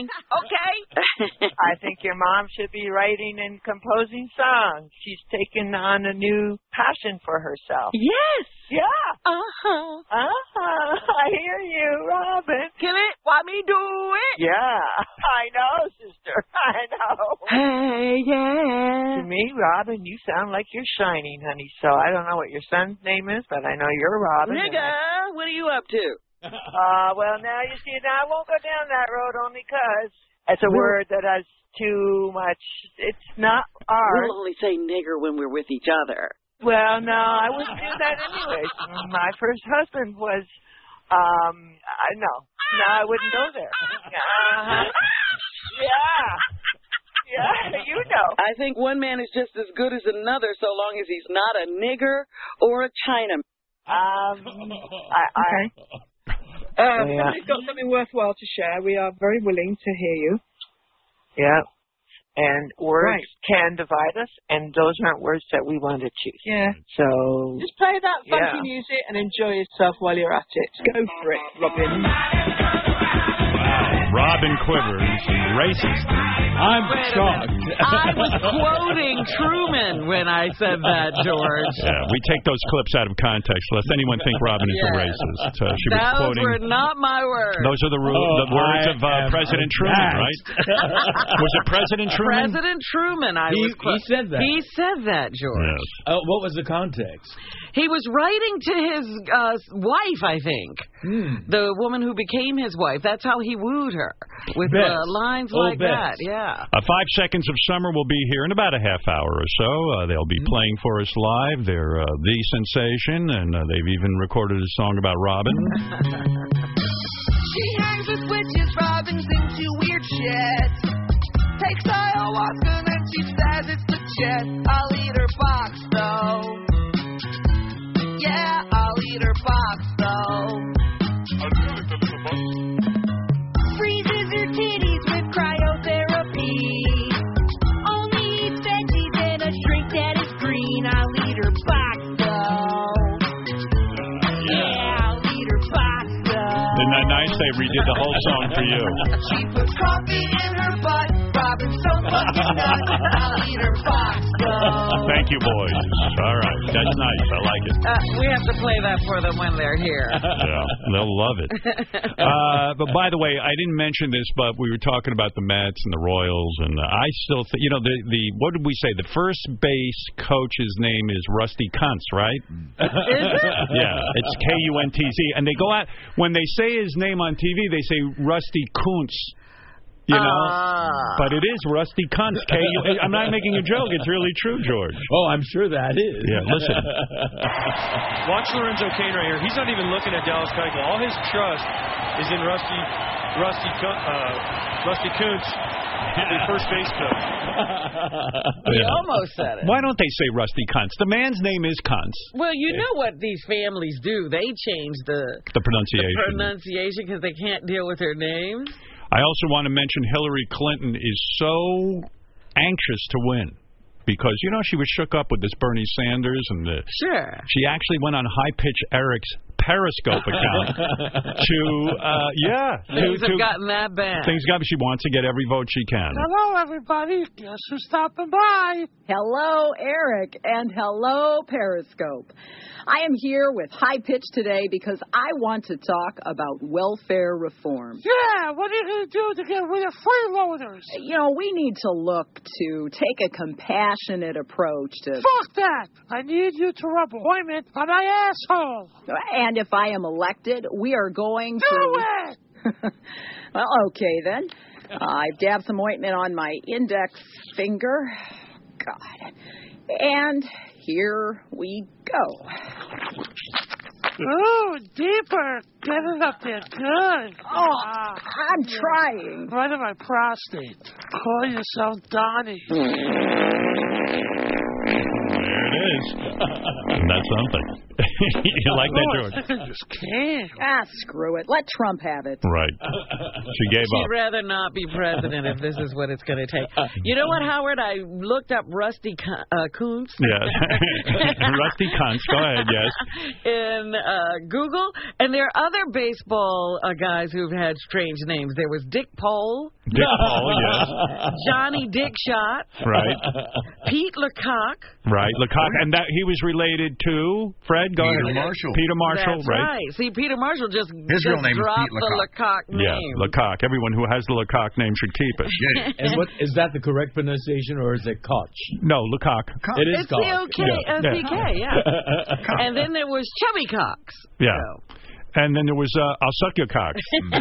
Okay. I think your mom should be writing and composing songs. She's taken on a new passion for herself. Yes. Yeah. Uh-huh. Uh-huh. I hear you, Robin. Kill it. Why me do it? Yeah. I know, sister. I know. Hey, yeah. To me, Robin, you sound like you're shining, honey. So I don't know what your son's name is, but I know you're Robin. Nigga, what are you up to? Uh, well, now you see, now I won't go down that road only because it's a word that has too much. It's not ours. We'll only say nigger when we're with each other. Well, no, I wouldn't do that anyway. My first husband was, um, I no, no, I wouldn't go there. Uh-huh. Yeah. Yeah, you know. I think one man is just as good as another so long as he's not a nigger or a Chinaman. Um, I, I, Uh, Yeah. If you've got something worthwhile to share, we are very willing to hear you. yeah. And words Right. can divide us, and those aren't words that we want to choose. Yeah. So, Just play that funky Yeah. music and enjoy yourself while you're at it. Go for it, Robin. Robin. Robin Quivers, racist. I'm shocked. I was quoting Truman when I said that, George. Yeah, we take those clips out of context, lest anyone think Robin is Yes. a racist. Uh, she was Those quoting. were not my words. Those are the, ru- Oh, the words I of uh, President Truman, aghast. right? Was it President Truman? President Truman. I He, was quote- he said that. He said that, George. Yes. Uh, what was the context? He was writing to his uh, wife, I think. Hmm. The woman who became his wife. That's how he wooed her. With Bess. uh, lines Oh, like Bess. that, yeah. Uh, Five Seconds of Summer will be here in about a half hour or so. Uh, they'll be playing for us live. They're uh, the sensation, and uh, they've even recorded a song about Robin. She hangs with witches, Robin's into weird shit. Takes ayahuasca and then she says it's legit. I'll eat her box though. Yeah, I'll eat her box though. Freezes your titties with cryotherapy. Only eats veggies and a drink that is green. I'll eat her box though. Yeah, I'll eat her box though. Isn't that nice? They redid the whole song for you. She puts coffee in her butt. Robin's so fucking nuts. I'll eat her box though. Thank you, boys. All right. That's nice. I like it. Uh, we have to play that for them when they're here. Yeah, they'll love it. Uh, but by the way, I didn't mention this, but we were talking about the Mets and the Royals, and uh, I still think, you know, the, the, what did we say? The first base coach's name is Rusty Kuntz, right? Is it? Yeah, it's K U N T Z. And they go out, when they say his name on T V, they say Rusty Kuntz. You know, Ah. but it is Rusty Kuntz. K U I'm not making a joke. It's really true, George. Oh, I'm sure that is. Yeah, listen. Watch Lorenzo Cain right here. He's not even looking at Dallas Keuchel. All his trust is in Rusty, Rusty, Kun- uh, Rusty Kuntz, the first base coach. We Yeah. almost said it. Why don't they say Rusty Kuntz? The man's name is Kuntz. Well, you know what these families do. They change the, The pronunciation. the pronunciation because they can't deal with their names. I also want to mention Hillary Clinton is so anxious to win because, you know, she was shook up with this Bernie Sanders and the, Sure. she actually went on High Pitch Eric's Periscope account to, uh, yeah. Things to, have to, gotten that bad. Things got, she wants to get every vote she can. Hello, everybody. Guess who's stopping by? Hello, Eric, and hello, Periscope. I am here with High Pitch today because I want to talk about welfare reform. Yeah, what are you going to do to get rid of freeloaders? You know, we need to look to take a compassionate approach to... Fuck that! I need you to rub ointment on my asshole. And if I am elected, we are going to... Do it! Well, okay, then. Uh, I've dabbed some ointment on my index finger. God. And here we go. Ooh, deeper. Get it up there. Good. Oh, Ah, I'm trying. right in my prostate. Call yourself Donnie. There it is. And that's something. You like that, Oh, George? I think I just came. Ah, screw it. Let Trump have it. Right. She gave She'd up. rather not be president if this is what it's going to take. You know what, Howard? I looked up Rusty Kun- uh, Kuntz. Yeah. Rusty Kuntz. Go ahead, yes. In uh, Google, and there are other baseball uh, guys who've had strange names. There was Dick Pole, Dick Paul, yes. Johnny Dickshot, Right. Pete Lecoq. Right. Lecoq. And that he was related to, Fred, go Peter ahead. Marshall. Peter Marshall, That's right? right. See, Peter Marshall just, His just real name is dropped Pete the Lecoq name. Yeah, Lecoq. Everyone who has the Lecoq name should keep it. Yeah. And what is that the correct pronunciation or is it Koch? No, Lecoq. It is It's Koch. C O K S C K, yeah. And then there was Chubby Cox. Yeah. So. And then there was uh, I'll Suck Your Cock. A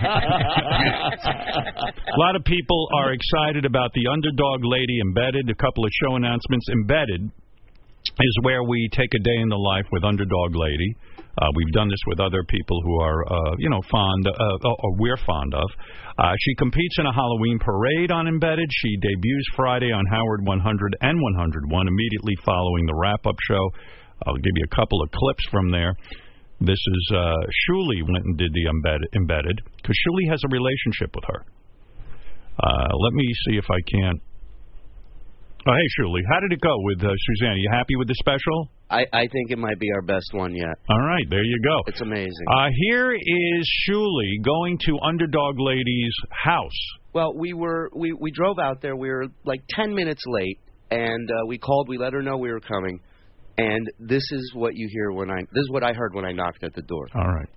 lot of people are excited about the Underdog Lady Embedded. A couple of show announcements. Embedded is where we take a day in the life with Underdog Lady. Uh, we've done this with other people who are, uh, you know, fond, uh, or we're fond of. Uh, she competes in a Halloween parade on Embedded. She debuts Friday on Howard one hundred and one oh one, immediately following the wrap-up show. I'll give you a couple of clips from there. This is uh, Shuli went and did the Embedded, embedded because Shuli has a relationship with her. Uh, let me see if I can't. Oh, hey, Shuli, how did it go with uh, Suzanne? Are you happy with the special? I, I think it might be our best one yet. All right, there you go. It's amazing. Uh, here is Shuli going to Underdog Lady's house. Well, we were we, we drove out there. We were like ten minutes late, and uh, we called. We let her know we were coming, and this is what you hear when I. This is what I heard when I knocked at the door. All right.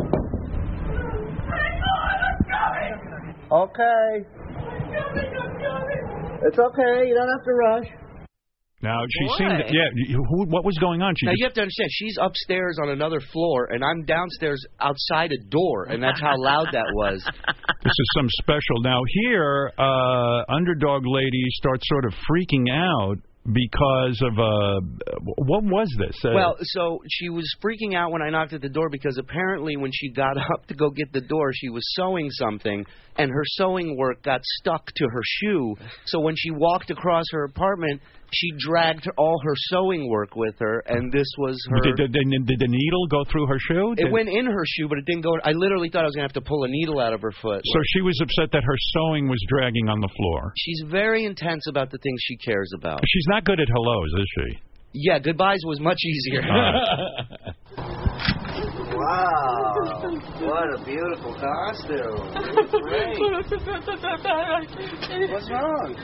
Okay. It's okay. You don't have to rush. Now, she Boy. seemed... Yeah, you- who, what was going on? She Now, just, you have to understand, she's upstairs on another floor, and I'm downstairs outside a door, and that's how loud that was. This is some special. Now, here, uh, Underdog Lady starts sort of freaking out because of... Uh, what was this? Uh, Well, so she was freaking out when I knocked at the door because apparently when she got up to go get the door, she was sewing something, and her sewing work got stuck to her shoe. So when she walked across her apartment, she dragged all her sewing work with her, and this was her... Did, did, did, did the needle go through her shoe? It Did- went in her shoe, but it didn't go... I literally thought I was going to have to pull a needle out of her foot. So she was upset that her sewing was dragging on the floor. She's very intense about the things she cares about. She's not good at hellos, is she? Yeah, goodbyes was much easier. Wow, what a beautiful costume. Great. What's wrong?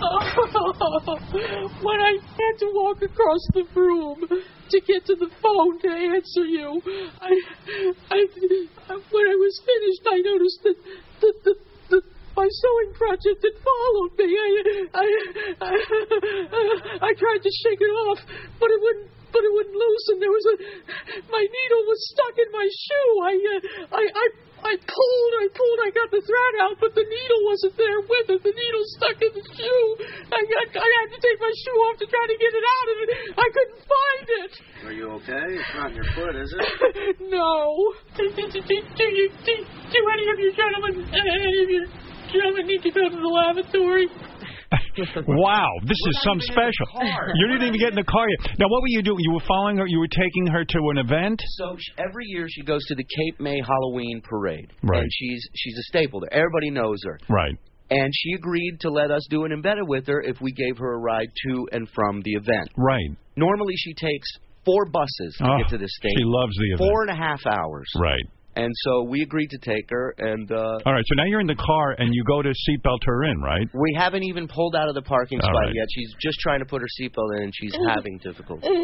When I had to walk across the room to get to the phone to answer you, I, I, when I was finished, I noticed that the, the, the, my sewing project had followed me. I, I, I, I tried to shake it off, but it wouldn't. But it wouldn't loosen. There was a, my needle was stuck in my shoe. I, uh, I, I, I pulled, I pulled, I got the thread out, but the needle wasn't there with it. The needle stuck in the shoe. I got, I had to take my shoe off to try to get it out, and I couldn't find it. Are you okay? It's not in your foot, is it? No. Do, do, do, do, do, you, do, do any of you gentlemen, any of you gentlemen need to go to the lavatory? Wow, this is some special. You didn't even get in the car yet. Now, what were you doing? You were following her? You were taking her to an event? So she, every year she goes to the Cape May Halloween Parade. Right. And she's she's a staple there. Everybody knows her. Right. And she agreed to let us do an embedded with her if we gave her a ride to and from the event. Right. Normally she takes four buses to Oh, get to this state. she loves the event. Four and a half hours. Right. And so we agreed to take her, and... Uh, All right, so now you're in the car, and you go to seatbelt her in, right? we haven't even pulled out of the parking All spot right. yet. She's just trying to put her seatbelt in, and she's having difficulty. I,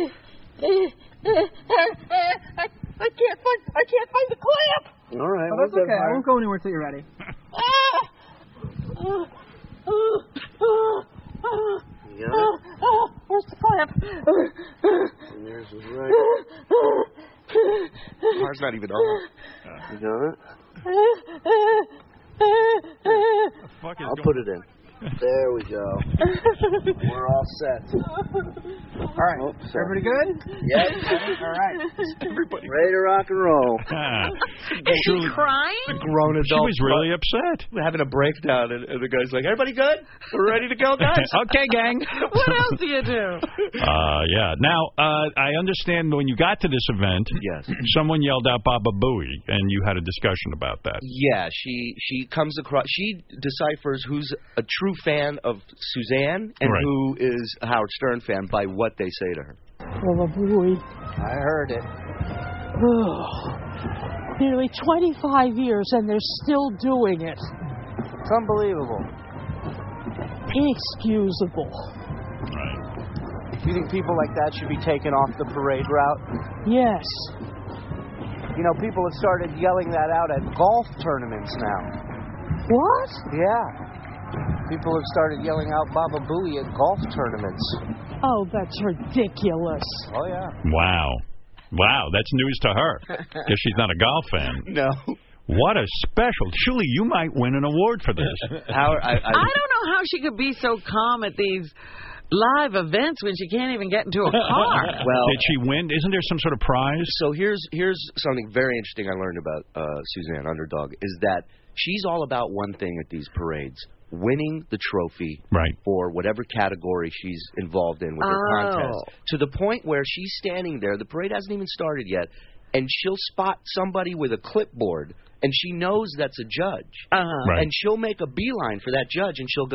I can't find I can't find the clamp. All right. Oh, that's okay. I won't go anywhere until you're ready. You got it? Where's the clamp? And there's his right. Car's not even on. You got it? Fuck is I'll going- put it in. There we go. We're all set. All right. Oh, sorry. Everybody good? Yep. All right. Everybody. Ready to rock and roll. Ah. Is she Shuli- crying? The grown She adult. was really upset. We're having a breakdown, and, and the guy's like, "Everybody good? We're ready to go, guys." Okay, gang. What else do you do? Uh, yeah. Now, uh, I understand when you got to this event, Yes. someone yelled out Baba Booey, and you had a discussion about that. Yeah, she she comes across. She deciphers who's a true fan of Suzanne and Right. who is a Howard Stern fan by what they say to her. Oh, boy. I heard it. Oh, nearly twenty-five years, and they're still doing it. It's unbelievable. Inexcusable. Right. Do you think people like that should be taken off the parade route? Yes. You know, people have started yelling that out at golf tournaments now. What? Yeah. People have started yelling out Baba Booey at golf tournaments. Oh, that's ridiculous. Oh, yeah. Wow. Wow, that's news to her, because she's not a golf fan. No. What a special. Shuli, you might win an award for this. Howard, I, I, I don't know how she could be so calm at these live events when she can't even get into a car. well, Did she win? Isn't there some sort of prize? So here's here's something very interesting I learned about uh, Suzanne Underdog, is that she's all about one thing at these parades: winning the trophy right. for whatever category she's involved in with her Oh. contest. To the point where she's standing there, the parade hasn't even started yet, and she'll spot somebody with a clipboard, and she knows that's a judge. Uh-huh. Right. And she'll make a beeline for that judge, and she'll go,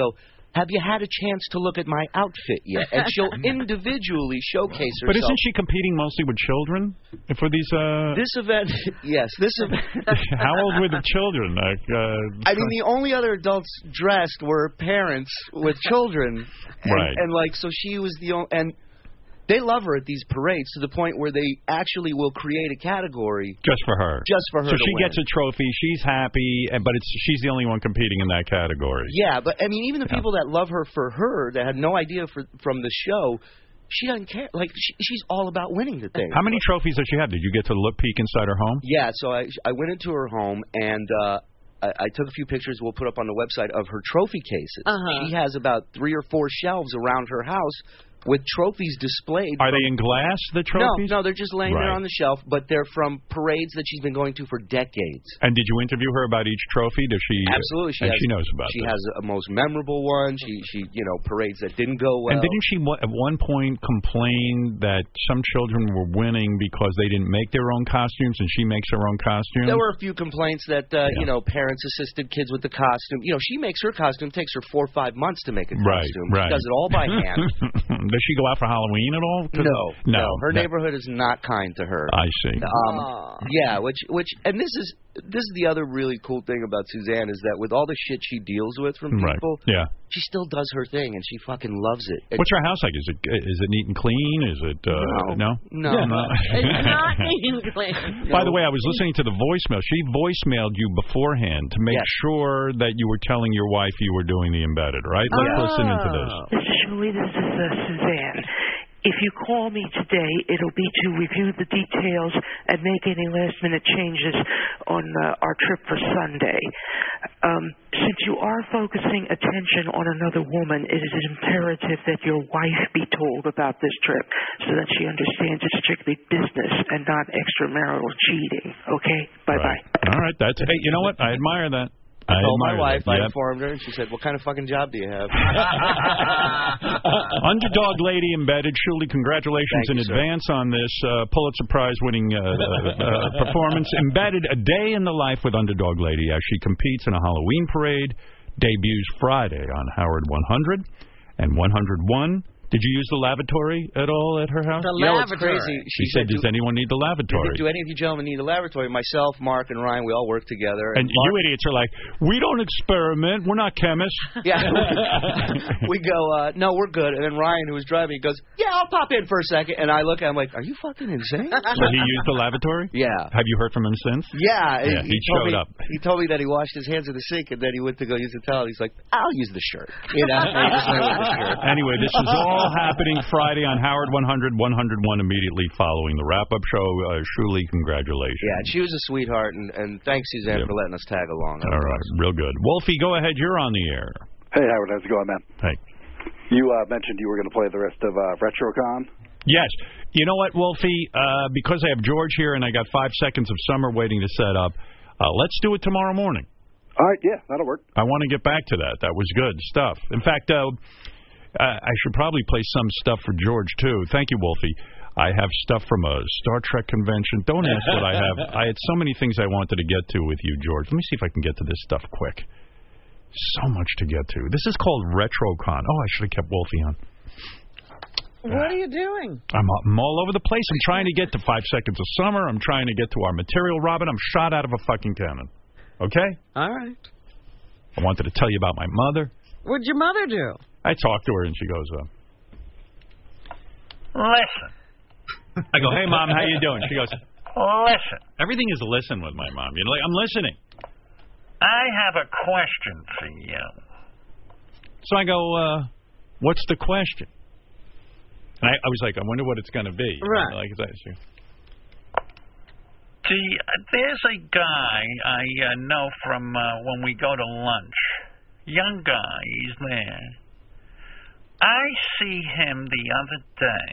have you had a chance to look at my outfit yet? And she'll individually showcase herself. But isn't she competing mostly with children for these? Uh... This event, yes, this event. How old were the children? Like, uh... I mean, the only other adults dressed were parents with children, and, right? And like, so she was the only and. They love her at these parades to the point where they actually will create a category just for her. Just for her. So to she win. gets a trophy. She's happy, but it's she's the only one competing in that category. Yeah, but I mean, even the yeah. people that love her for her, that had no idea for, from the show, she doesn't care. Like she, she's all about winning the thing. How many trophies does she have? Did you get to look peek inside her home? Yeah, so I I went into her home and. uh I, I took a few pictures we'll put up on the website of her trophy cases. Uh-huh. She has about three or four shelves around her house with trophies displayed. Are they in glass, the trophies? No, no, they're just laying right. there on the shelf, but they're from parades that she's been going to for decades. And did you interview her about each trophy? Does she? Absolutely. She and has, she knows about She this. has a most memorable one. She, she, you know, parades that didn't go well. And didn't she at one point complain that some children were winning because they didn't make their own costumes and she makes her own costumes? There were a few complaints that, uh, yeah. you know, parents assisted kids with the costume. You know, she makes her costume. It takes her four or five months to make a right, costume. Right. She does it all by hand. Does she go out for Halloween at all? No, no, no. Her no. neighborhood is not kind to her. I see. Um, yeah, which, which, and this is this is the other really cool thing about Suzanne is that with all the shit she deals with from people, right. yeah. she still does her thing and she fucking loves it. it What's her house like? Is it is it neat and clean? Is it uh, no, no, no, yeah, no. It's not neat and clean. By the way, I was listening to the voicemail. She voicemailed you beforehand to make yes. sure that you were telling your wife you were doing the embedded. Right? Let's oh. listen into this. This is Julie. This is uh, Suzanne. If you call me today, it'll be to review the details and make any last-minute changes on uh, our trip for Sunday. Um, since you are focusing attention on another woman, it is imperative that your wife be told about this trip so that she understands it's strictly business and not extramarital cheating. Okay? Bye-bye. Right. All right. That's hey. You know what? I admire that. I told my wife, that. I yep. informed her, and she said, what kind of fucking job do you have? Underdog Lady Embedded. Shuli, congratulations Thank in you, advance sir. on this uh, Pulitzer Prize-winning uh, uh, performance. Embedded, a day in the life with Underdog Lady as she competes in a Halloween parade, debuts Friday on Howard one hundred and one oh one. Did you use the lavatory at all at her house? The you know, lavatory. it's crazy. She, she said, does anyone need the lavatory? Do any of you gentlemen need a lavatory? Myself, Mark, and Ryan, we all work together. And, and Mark, you idiots are like, we don't experiment. We're not chemists. Yeah. we go, uh, no, we're good. And then Ryan, who was driving, goes, yeah, I'll pop in for a second. And I look at him like, are you fucking insane? So he used the lavatory? Yeah. Have you heard from him since? Yeah. yeah he, he showed me, up. He told me that he washed his hands in the sink, and then he went to go use the towel. He's like, I'll use the shirt. You know? So he just went with the shirt. Anyway, this is all happening Friday on Howard one hundred, one oh one immediately following the wrap-up show. Uh, Shuli, congratulations. Yeah, she was a sweetheart, and, and thanks, Suzanne, yep. for letting us tag along. All right, real good. Wolfie, go ahead. You're on the air. Hey, Howard. How's it going, man? Hey. You uh, mentioned you were going to play the rest of uh, RetroCon. Yes. You know what, Wolfie? Uh, because I have George here and I got five seconds of Summer waiting to set up, uh, let's do it tomorrow morning. All right, yeah, that'll work. I want to get back to that. That was good stuff. In fact, uh, Uh, I should probably play some stuff for George, too. Thank you, Wolfie. I have stuff from a Star Trek convention. Don't ask what I have. I had so many things I wanted to get to with you, George. Let me see if I can get to this stuff quick. So much to get to. This is called RetroCon. Oh, I should have kept Wolfie on. What are you doing? I'm, I'm all over the place. I'm trying to get to Five Seconds of Summer. I'm trying to get to our material, Robin. I'm shot out of a fucking cannon. Okay? All right. I wanted to tell you about my mother. What'd your mother do? I talked to her, and she goes, uh, listen. I go, hey, Mom, how you doing? She goes, listen. Everything is listen with my mom. You know, like, I'm listening. I have a question for you. So I go, uh, what's the question? And I, I was like, I wonder what it's going to be. Right. Like, that, she, See, there's a guy I uh, know from uh, when we go to lunch. Young guy, he's there. I see him the other day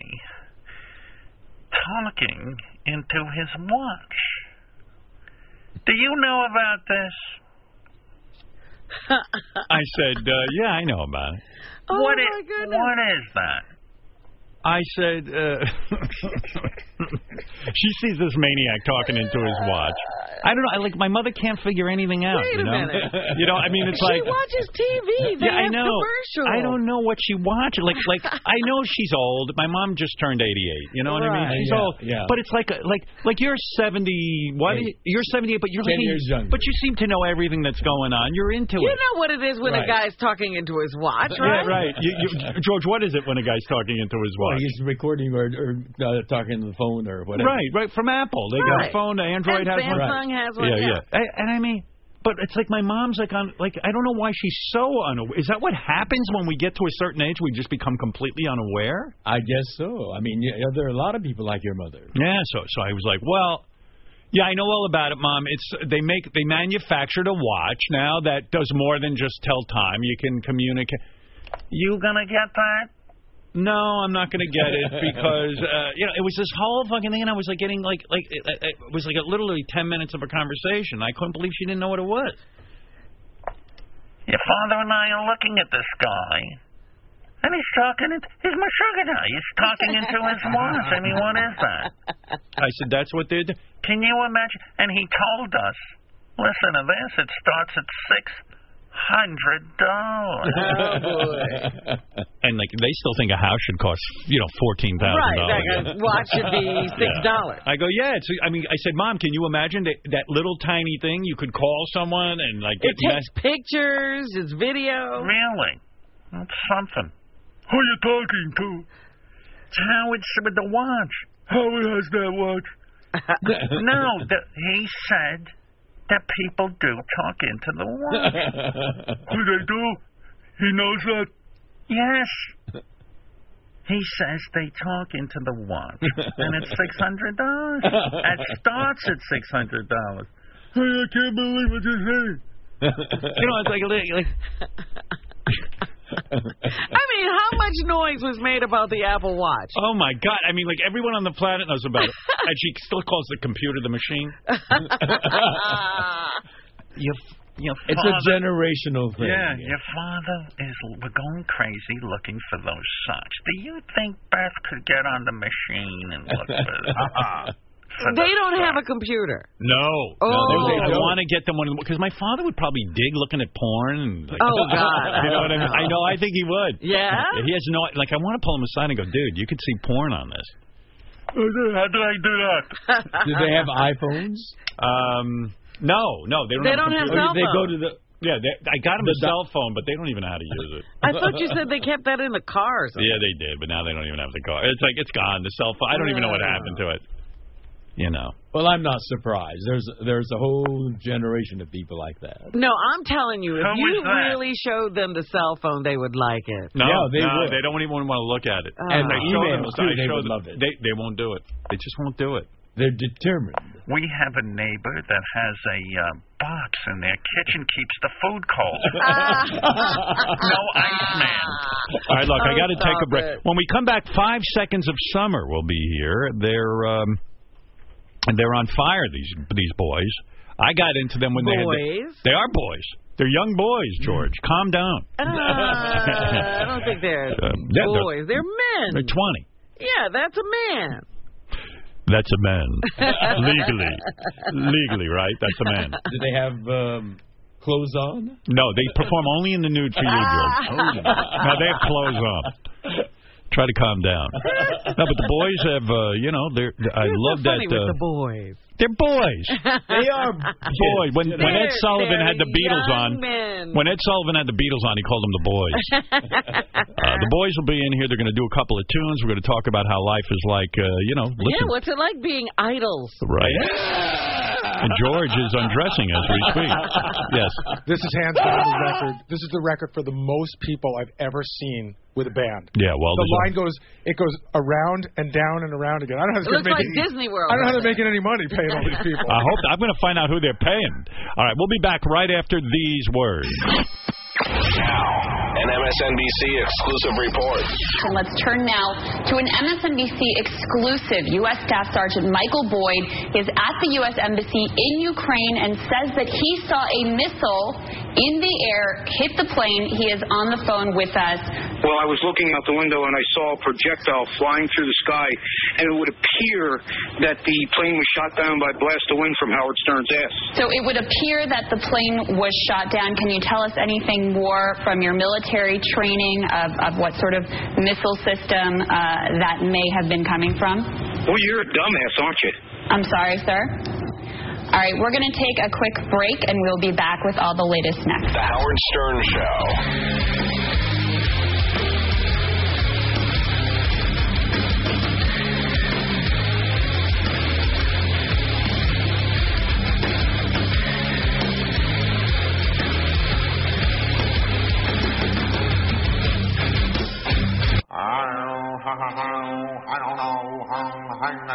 talking into his watch. Do you know about this? I said, uh, yeah, I know about it. Oh, what my is, goodness. What is that? I said, uh, she sees this maniac talking into his watch. I don't know. I, like, my mother can't figure anything out. Wait you a know? minute. You know, I mean, it's she like... She watches T V. They yeah, have I know. commercials. I don't know what she watches. Like, like I know she's old. My mom just turned eighty-eight. You know what right. I mean? She's yeah, old. Yeah. But it's like, like, like you're seventy. What? Eight. You're seventy-eight, but you're ten looking, years younger. But you seem to know everything that's going on. You're into you it. You know what it is when right. a guy's talking into his watch, right? Yeah, right. You, you, George, what is it when a guy's talking into his watch? Well, he's recording or, or uh, talking to the phone or whatever. Right, right. From Apple, they right. got a phone. Android and has Samsung one. Samsung has one. Yeah, yeah. yeah. And, and I mean. But it's like my mom's like on, like, I don't know why she's so unaware. Is that what happens when we get to a certain age? We just become completely unaware? I guess so. I mean, yeah, there are a lot of people like your mother. Yeah, so so I was like, well, yeah, I know all about it, Mom. It's they make they manufactured a watch now that does more than just tell time. You can communicate. You gonna get that? No, I'm not going to get it because uh, you know it was this whole fucking thing, and I was like getting like like it, it was like a, literally ten minutes of a conversation. I couldn't believe she didn't know what it was. Your father and I are looking at this guy, and he's talking. He's my sugar daddy. He's talking into his watch. I mean, what is that? I said, that's what they're doing. Can you imagine? And he told us, listen to this. It starts at six. Hundred dollars. Oh boy! And like they still think a house should cost, you know, fourteen thousand dollars. Right, like a watch should be six dollars. Yeah. I go, yeah. It's. I mean, I said, Mom, can you imagine that that little tiny thing? You could call someone and like. It takes pictures. It's video. Really? That's something. Who are you talking to? It's Howard with the watch. Howard has that watch. No, the, he said. That people do talk into the watch. Who they do? He knows that? Yes. He says they talk into the watch, and it's six hundred dollars. It starts at six hundred dollars. Hey, I can't believe what you're saying. You know, it's like... like I mean, how much noise was made about the Apple Watch? Oh, my God. I mean, like, everyone on the planet knows about it. And she still calls the computer the machine. your, your it's father, a generational thing. Yeah, your father is we're going crazy looking for those socks. Do you think Beth could get on the machine and look for it? Uh-uh. They don't have a computer. No. Oh. no they, I want to get them one because my father would probably dig looking at porn. And like, oh God! You know what I mean? I know. I think he would. Yeah. He has no. Like, I want to pull him aside and go, dude, you could see porn on this. How did I do that? Do they have iPhones? Um. No. No. They don't. They have don't have computers. cell They phones. go to the. Yeah, they, I got them a cell phone, but they don't even know how to use it. I thought you said they kept that in the car or something. Yeah, they did, but now they don't even have the car. It's like it's gone. The cell phone. I don't even know what happened to it. You know. Well, I'm not surprised. There's there's a whole generation of people like that. No, I'm telling you, if Who you was that? really showed them the cell phone, they would like it. No, Yeah, they no, would. they don't even want to look at it. Oh. And I the show them, emails, I too, they show would them- love it. They they won't do it. They just won't do it. They're determined. We have a neighbor that has a uh, box in their kitchen keeps the food cold. No Iceman. All right, look, I got to Oh, take a stop break. it. When we come back, Five Seconds of Summer will be here. They're um, they're on fire. These these boys. I got into them when they had. Boys? The, they are boys. They're young boys, George. Calm down. Uh, I don't think they're Um, yeah, they're- boys. They're men. They're twenty. Yeah, that's a man. That's a man. Legally. Legally, right? That's a man. Do they have um, clothes on? No, they perform only in the nude for you, George. No, they have clothes on. Try to calm down. No, but the boys have, uh, you know, they're. I You're love so that. funny Uh, with the boys. they're boys. They are Boy, when when Ed They're- Sullivan they're had the Beatles young on, men. when Ed Sullivan had the Beatles on, he called them the boys. uh, the boys will be in here. They're going to do a couple of tunes. We're going to talk about how life is like. Uh, you know, listen. Yeah, what's it like being idols? Right. And George is undressing as we speak. Yes. This is hands down the record. This is the record for the most people I've ever seen with a band. Yeah, well, The there's a- line goes, it goes around and down and around again. I don't know how It this looks gonna like make it, Disney World. I don't know how doesn't they're making any money paying all these people. I hope I'm going to find out who they're paying. All right, we'll be back right after these words. Now, An M S N B C exclusive report. And let's turn now to an M S N B C exclusive. U S Staff Sergeant Michael Boyd is at the U S Embassy in Ukraine and says that he saw a missile in the air hit the plane. He is on the phone with us. Well, I was looking out the window and I saw a projectile flying through the sky, and it would appear that the plane was shot down by a blast of wind from Howard Stern's ass. So it would appear that the plane was shot down. Can you tell us anything more from your military training of, of what sort of missile system uh, that may have been coming from? Well, you're a dumbass, aren't you? I'm sorry, sir. All right, we're going to take a quick break, and we'll be back with all the latest next. The Howard Stern Show. I don't know. I don't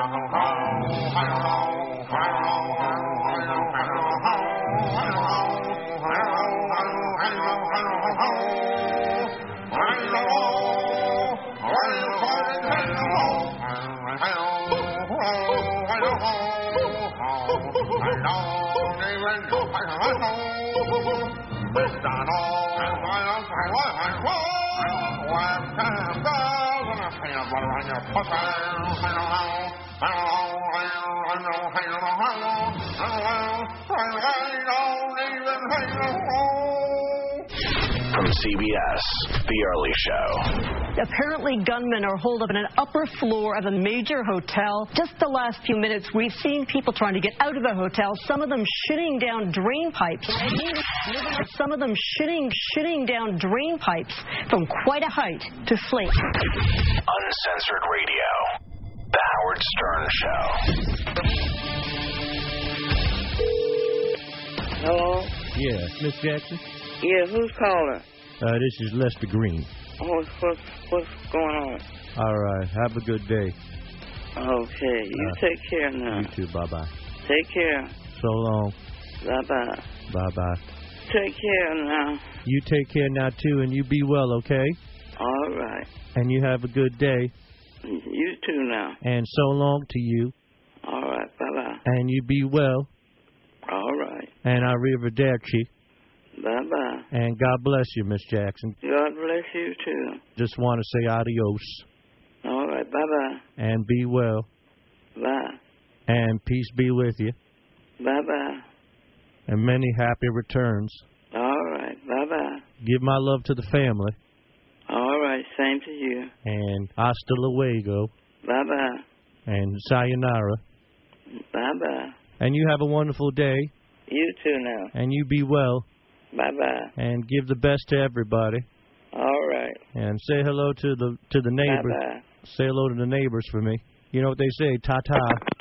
From C B S, The Early Show. Apparently, gunmen are holed up in an upper floor of a major hotel. Just the last few minutes, we've seen people trying to get out of the hotel, some of them shooting down drain pipes. Some of them shooting, shooting down drain pipes from quite a height to slate. Uncensored radio. The Howard Stern Show. Hello? Yeah, Miss Jackson? Yeah, who's calling? Uh, this is Lester Green. Oh, what's, what's going on? All right, have a good day. Okay, you uh, take care now. You too, bye-bye. Take care. So long. Bye-bye. Bye-bye. Take care now. You take care now, too, and you be well, okay? All right. And you have a good day. You too now. And so long to you. All right, bye-bye. And you be well. All right. And arrivederci. Bye-bye. And God bless you, Miss Jackson. God bless you, too. Just want to say adios. All right, bye-bye. And be well. Bye. And peace be with you. Bye-bye. And many happy returns. All right, bye-bye. Give my love to the family. All right, same to you. And hasta luego. Bye-bye. And sayonara. Bye-bye. And you have a wonderful day. You too now. And you be well. Bye-bye. And give the best to everybody. All right. And say hello to the to the neighbors. Bye-bye. Say hello to the neighbors for me. You know what they say, ta-ta.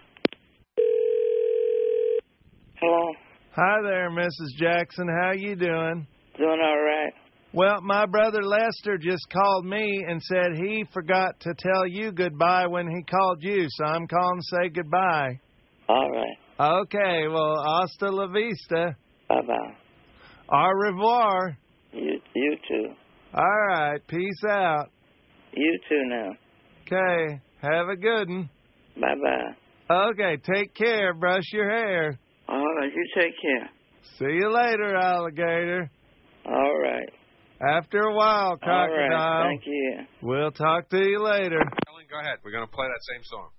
Hello. Hi there, Missus Jackson. How you doing? Doing all right. Well, my brother Lester just called me and said he forgot to tell you goodbye when he called you, so I'm calling to say goodbye. All right. Okay, well, hasta la vista. Bye-bye. Au revoir. You, you too. All right, peace out. You too now. Okay, have a good one. Bye-bye. Okay, take care. Brush your hair. All right, you take care. See you later, alligator. All right. After a while, crocodile. All right, thank you. We'll talk to you later. Ellen, go ahead. We're going to play that same song.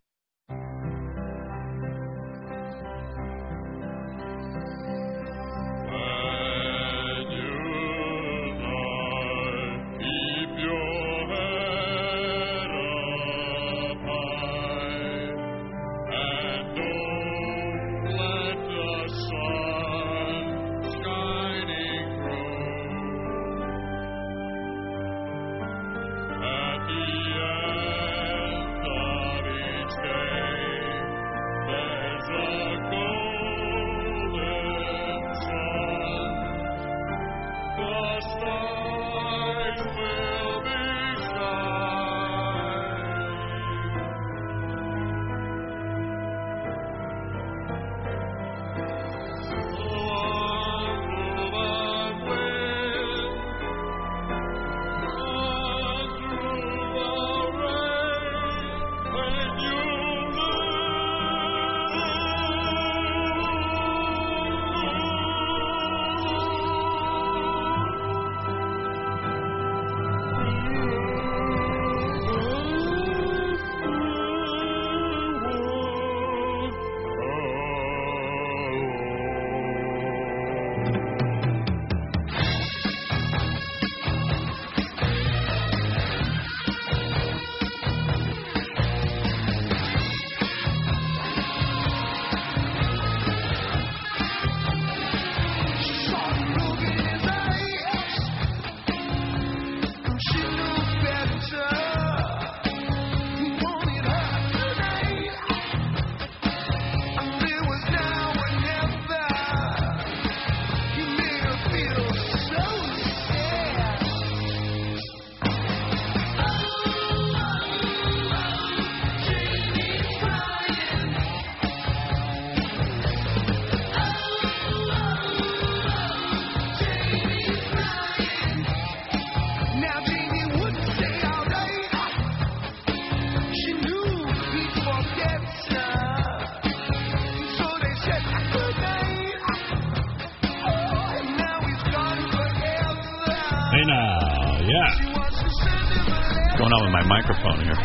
Hey now, yeah. What's going on with my microphone here?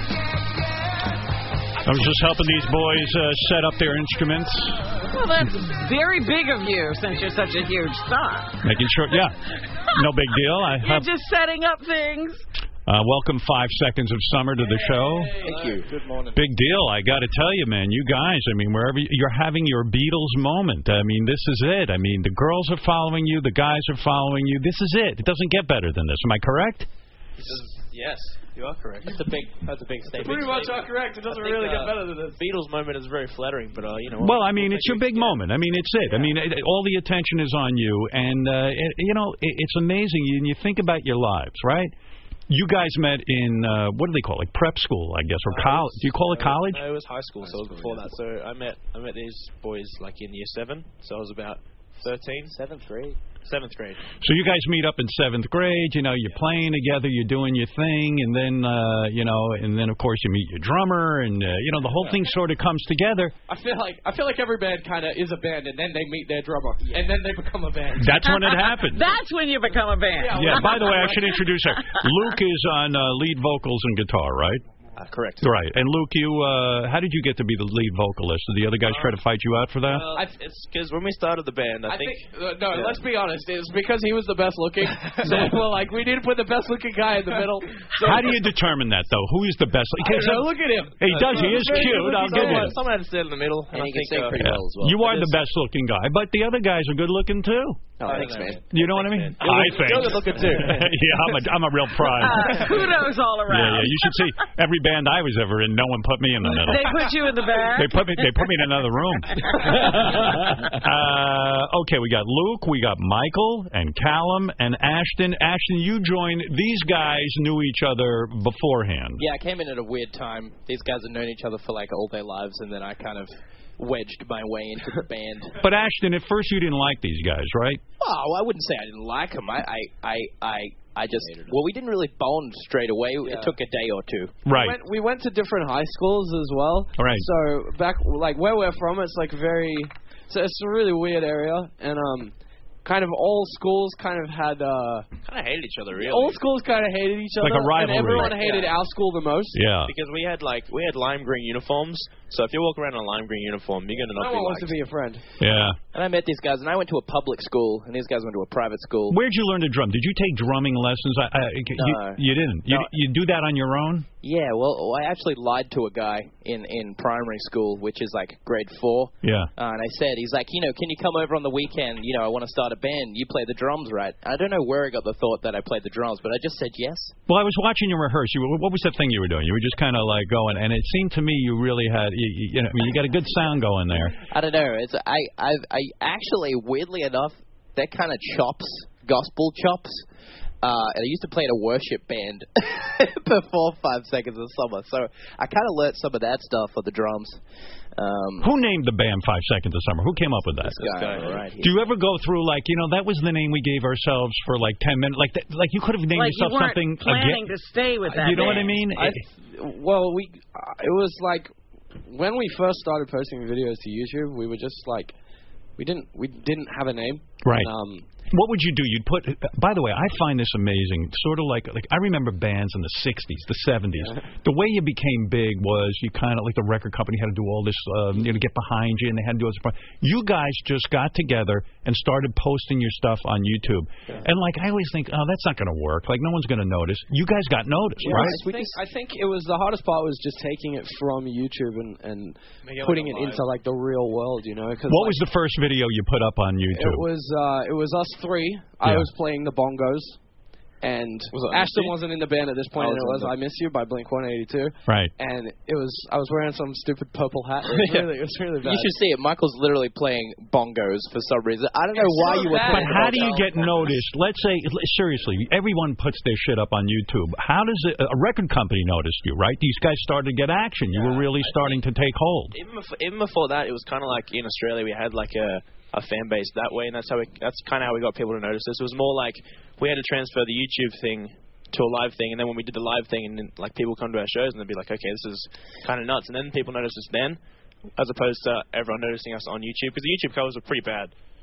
I was just helping these boys uh, set up their instruments. Well, that's very big of you since you're such a huge star. Making sure, yeah. No big deal. I You're have, just setting up things. uh, welcome Five Seconds of Summer to the show. Thank you. Good morning. Big deal. I got to tell you, man, you guys, I mean, wherever you, you're having your Beatles moment. I mean, this is it. I mean, the girls are following you. The guys are following you. This is it. It doesn't get better than this. Am I correct? Yes, you are correct. That's a big, that's a big statement. Pretty much are correct. It doesn't think, really uh, get better than this. Beatles moment is very flattering, but uh, you know. Well, I mean, it's your big moment. I mean, it's it. I mean, it, all the attention is on you, and uh, it, you know, it, it's amazing. And you think about your lives, right? You guys met in uh, what do they call it? Like prep school, I guess, or college? Do you call it college? No, it was high school, so it was before that. So I met, I met these boys like in year seven. So I was about thirteen. Seventh grade. Seventh grade. So you guys meet up in seventh grade. You know, you're playing together, you're doing your thing, and then uh, you know, and then of course you meet your drummer, and uh, you know, the whole thing sort of comes together. I feel like I feel like every band kind of is a band, and then they meet their drummer, yeah. and then they become a band. That's when it happens. That's when you become a band. Yeah. By the way, I should introduce her. Luke is on uh, lead vocals and guitar, right? Uh, correct. Right. And Luke, you, uh, how did you get to be the lead vocalist? Did the other guys try to fight you out for that? Uh, it's because when we started the band, I, I think. think uh, no, yeah. let's be honest. It's because he was the best looking. So well, like we need to put the best looking guy in the middle. So, how do you determine that, though? Who is the best? I don't know, look at him. He does. He is cute. I'll give you. Someone had to sit in the middle, and, And I he can think sing uh, pretty yeah. well as well. You are the best looking guy, but the other guys are good looking too. Oh, thanks, man. You know what I mean? You're I good- think. You're good looking too. yeah, I'm a, I'm a real pride. Uh, kudos all Yeah, around. yeah. You should see every band I was ever in. No one put me in the middle. They put you in the back. They put me. They put me in another room. uh, okay, we got Luke, we got Michael, and Callum, and Ashton. Ashton, you joined. These guys knew each other beforehand. Yeah, I came in at a weird time. These guys had known each other for like all their lives, and then I kind of wedged my way into the band. But Ashton, at first you didn't like these guys, right? Oh, I wouldn't say I didn't like them. I, I, I, I, I just well, we didn't really bond straight away. Yeah. It took a day or two. Right. We went, we went to different high schools as well. Right. So back like where we're from, it's like very. So it's a really weird area, and um, kind of all schools kind of had. Uh, kind of hated each other, really. all schools kind of hated each Like other. a rivalry. And everyone hated Yeah. our school the most. Yeah. Because we had like we had lime green uniforms, so if you walk around in a lime green uniform, you're gonna not No be one wants liked. to be a friend. Yeah. And I met these guys, and I went to a public school, and these guys went to a private school. Where'd you learn to drum? Did you take drumming lessons? I, I, you, No. you didn't. You, No. you do that on your own? Yeah, well, I actually lied to a guy in, in primary school, which is like grade four. Yeah. Uh, and I said, he's like, you know, can you come over on the weekend? You know, I want to start a band. You play the drums, right? I don't know where I got the thought that I played the drums, but I just said yes. Well, I was watching you rehearse. You, were- what was that thing you were doing? You were just kind of like going, and it seemed to me you really had, you, you, you know, I mean, you got a good sound going there. I don't know. It's I I I actually, weirdly enough, they're kind of chops, gospel chops. Uh, and I used to play in a worship band before Five Seconds of Summer, so I kind of learnt some of that stuff for the drums. Um, Who named the band Five Seconds of Summer? Who came up with that? this guy, right here. Do you ever go through like, you know, that was the name we gave ourselves for like ten minutes? Like, that, like you could have named Like you yourself weren't something planning again. to stay with that. You know what I name. mean? I, well, we uh, it was like when we first started posting videos to YouTube, we were just like we didn't we didn't have a name. Right. And, um, What would you do? You'd put. By the way, I find this amazing. Sort of like, like I remember bands in the sixties, the seventies. Yeah. The way you became big was you kind of like the record company had to do all this, um, you know, get behind you, and they had to do all this. You guys just got together and started posting your stuff on YouTube. Yeah. And like I always think, oh, that's not going to work. Like no one's going to notice. You guys got noticed, yeah, right? I think, I think it was the hardest part was just taking it from YouTube and, and putting it into like the real world, you know. Cause, What like, was the first video you put up on YouTube? It was uh, it was us three. I Yeah. was playing the bongos, and Was it I Miss Ashton You? wasn't in the band at this point. I And it was was on "I Miss You" by Blink one eighty-two. Right. And it was I was wearing some stupid purple hat. It was really, it was really bad. You should see it. Michael's literally playing bongos for some reason. I don't know It's why so you were bad. But playing how do bongos. you get noticed? Let's say, seriously, everyone puts their shit up on YouTube. How does it, a record company notice you, right? These guys started to get action. You were really starting to take hold. Even before, even before that, it was kind of like in Australia we had like a, a fan base that way, and that's how we, that's kind of how we got people to notice us. It was more like we had to transfer the YouTube thing to a live thing, and then when we did the live thing, and then, like people come to our shows and they'd be like, okay, this is kind of nuts, and then people noticed us then, as opposed to everyone noticing us on YouTube, because the YouTube covers were pretty bad.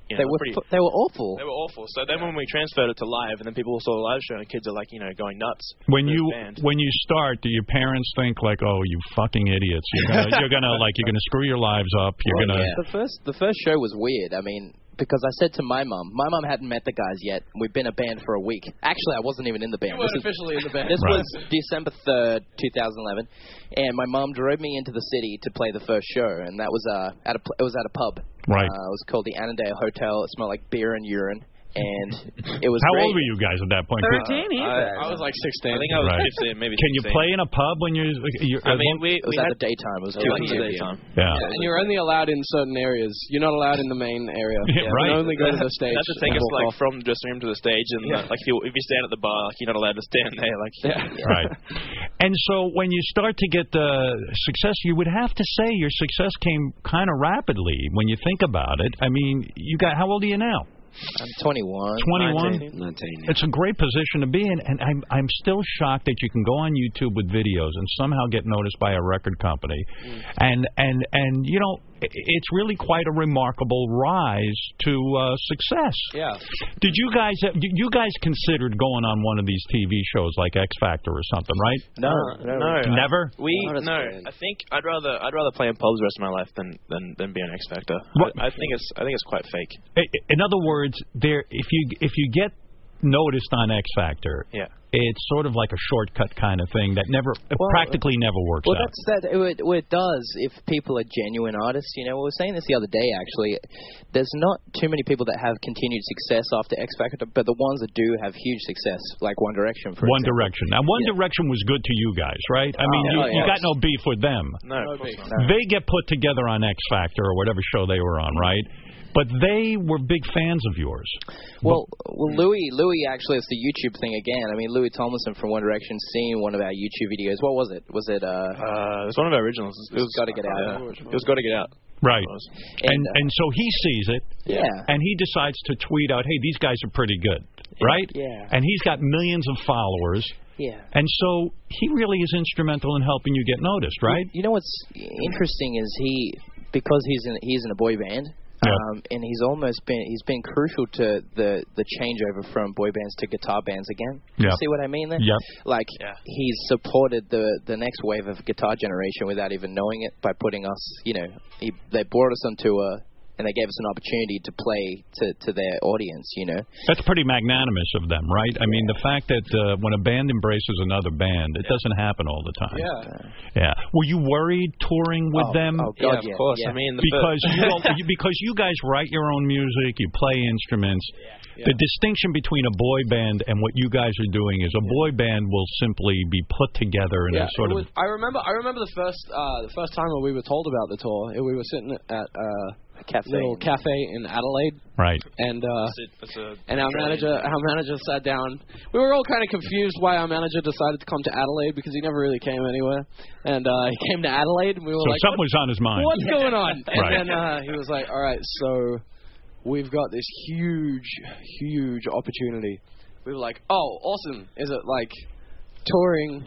You know, they were pretty, they were awful. They were awful. So then when we transferred it to live, and then people saw the live show, and kids are like, you know, going nuts. When you when you start, do your parents think like, oh, you fucking idiots? You're gonna you're gonna like you're gonna screw your lives up. You're well, gonna. Yeah. The first the first show was weird. I mean. Because I said to my mum, my mum hadn't met the guys yet. We've been a band for a week. Actually, I wasn't even in the band. You weren't this officially was, in the band. This right. was December third, two thousand eleven, and my mum drove me into the city to play the first show, and that was uh, at a it was at a pub. Right. Uh, it was called the Annandale Hotel. It smelled like beer and urine. And it was How great. old were you guys at that point? thirteen, uh, I, I was like sixteen. I think I was right. fifteen, maybe Can sixteen. you play in a pub when you're... you're I mean, we, it was we at had, the daytime. It was it two was p.m. the daytime. Yeah. yeah. And you're only allowed in certain areas. You're not allowed in the main area. Yeah, you right. can only go to the stage. They have to take us like off. from the dressing room to the stage, and Yeah. uh, like if you, if you stand at the bar, like you're not allowed to stand there. Like yeah. Right. And so when you start to get the success, you would have to say your success came kind of rapidly when you think about it. I mean, you got how old are you now? I'm twenty-one. twenty-one? nineteen. It's a great position to be in, and I'm I'm still shocked that you can go on YouTube with videos and somehow get noticed by a record company, mm. and and and you know it's really quite a remarkable rise to uh, success. Yeah. Did you guys you guys considered going on one of these T V shows like X Factor or something, right? No, uh, no, no, never. We no. I think I'd rather I'd rather play in pubs the rest of my life than than, than be on X Factor. I, I think it's I think it's quite fake. In other words, there if you if you get noticed on X Factor, yeah. it's sort of like a shortcut kind of thing that never well, practically never works well, out. Well, that's that. It, well, it does if people are genuine artists. You know, we were saying this the other day. Actually, there's not too many people that have continued success after X Factor, but the ones that do have huge success, like One Direction, for One example. Direction. Now, One yeah. Direction was good to you guys, right? I mean, oh, you, oh, you yes. got no beef with them. No, no beef. No. They get put together on X Factor or whatever show they were on, right? But they were big fans of yours. Well, well, Louis, Louis actually, it's the YouTube thing again. I mean, Louis Tomlinson from One Direction seen one of our YouTube videos. What was it? Was it? Uh, uh, it was one of our originals. It was Got to Get Out. Uh, it was Got to Get Out. Right. And and, uh, and so he sees it. Yeah. And he decides to tweet out, "Hey, these guys are pretty good." Right? Yeah. And he's got millions of followers. Yeah. And so he really is instrumental in helping you get noticed, right? You know what's interesting is he, because he's in he's in a boy band. Yeah. Um, and he's almost been he's been crucial to the, the changeover from boy bands to guitar bands again. Yeah. You see what I mean there? Yep. Like yeah. he's supported the the next wave of guitar generation without even knowing it by putting us, you know, he, they brought us onto a and they gave us an opportunity to play to, to their audience, you know. That's pretty magnanimous of them, right? I mean, the fact that uh, when a band embraces another band, it yeah. doesn't happen all the time. Yeah. Yeah. Were you worried touring with oh, them? Oh, God, yeah, yeah, of course. Yeah. I mean, the because you don't, you, because you guys write your own music, you play instruments. Yeah. Yeah. The distinction between a boy band and what you guys are doing is a boy band will simply be put together in yeah, a sort was, of. I remember. I remember the first uh, the first time when we were told about the tour. We were sitting at uh, a cafe. little cafe in Adelaide. Right. And uh, that's it, that's a and our manager, our manager sat down. We were all kind of confused why our manager decided to come to Adelaide because he never really came anywhere. And uh, he came to Adelaide, and we were So like, something was on his mind. "What's going on?" And Right. then uh, he was like, "All right, so we've got this huge, huge opportunity." We were like, "Oh, awesome! Is it like touring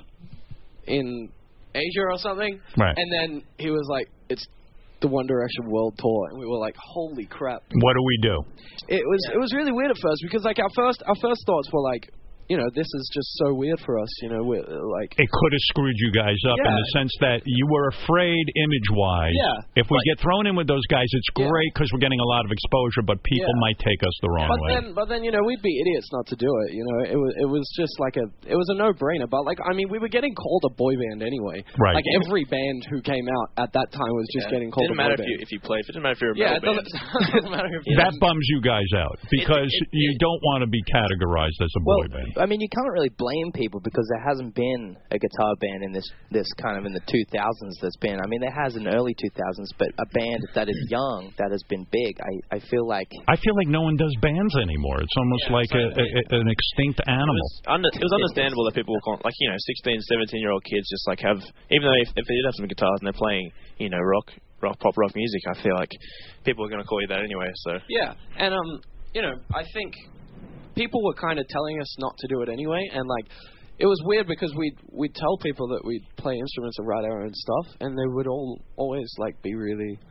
in Asia or something?" Right. And then he was like, "It's the One Direction World Tour," and we were like, "Holy crap!" What do we do? It was it was really weird at first because like our first our first thoughts were like, you know, this is just so weird for us, you know, we're like... It could have screwed you guys up Yeah. in the sense that you were afraid image-wise. Yeah. If we But- get thrown in with those guys, it's Yeah. great because we're getting a lot of exposure, but people Yeah. might take us the wrong But way. then, but then, you know, we'd be idiots not to do it. You know, it was it was just like a it was a no-brainer. But like, I mean, we were getting called a boy band anyway. Right. Like every band who came out at that time was just yeah. getting called Didn't a boy matter band. if you if you played. It didn't matter if you're a yeah, it metal doesn't, band. it doesn't matter if That bums you guys out because it- you it- don't want to be categorized as a Well, boy band. I mean, you can't really blame people because there hasn't been a guitar band in this this kind of in the two thousands that's been. I mean, there has in the early two thousands, but a band that is young that has been big. I, I feel like I feel like no one does bands anymore. It's almost Yeah, like a, a, an extinct It animal. was, under, it was understandable that people were con- like you know sixteen, seventeen year old kids just like have even though if, if they did have some guitars and they're playing you know rock rock pop rock music, I feel like people are going to call you that anyway. So Yeah, and um, you know, I think people were kind of telling us not to do it anyway, and like, it was weird because we'd we'd tell people that we'd play instruments and write our own stuff, and they would all always like be really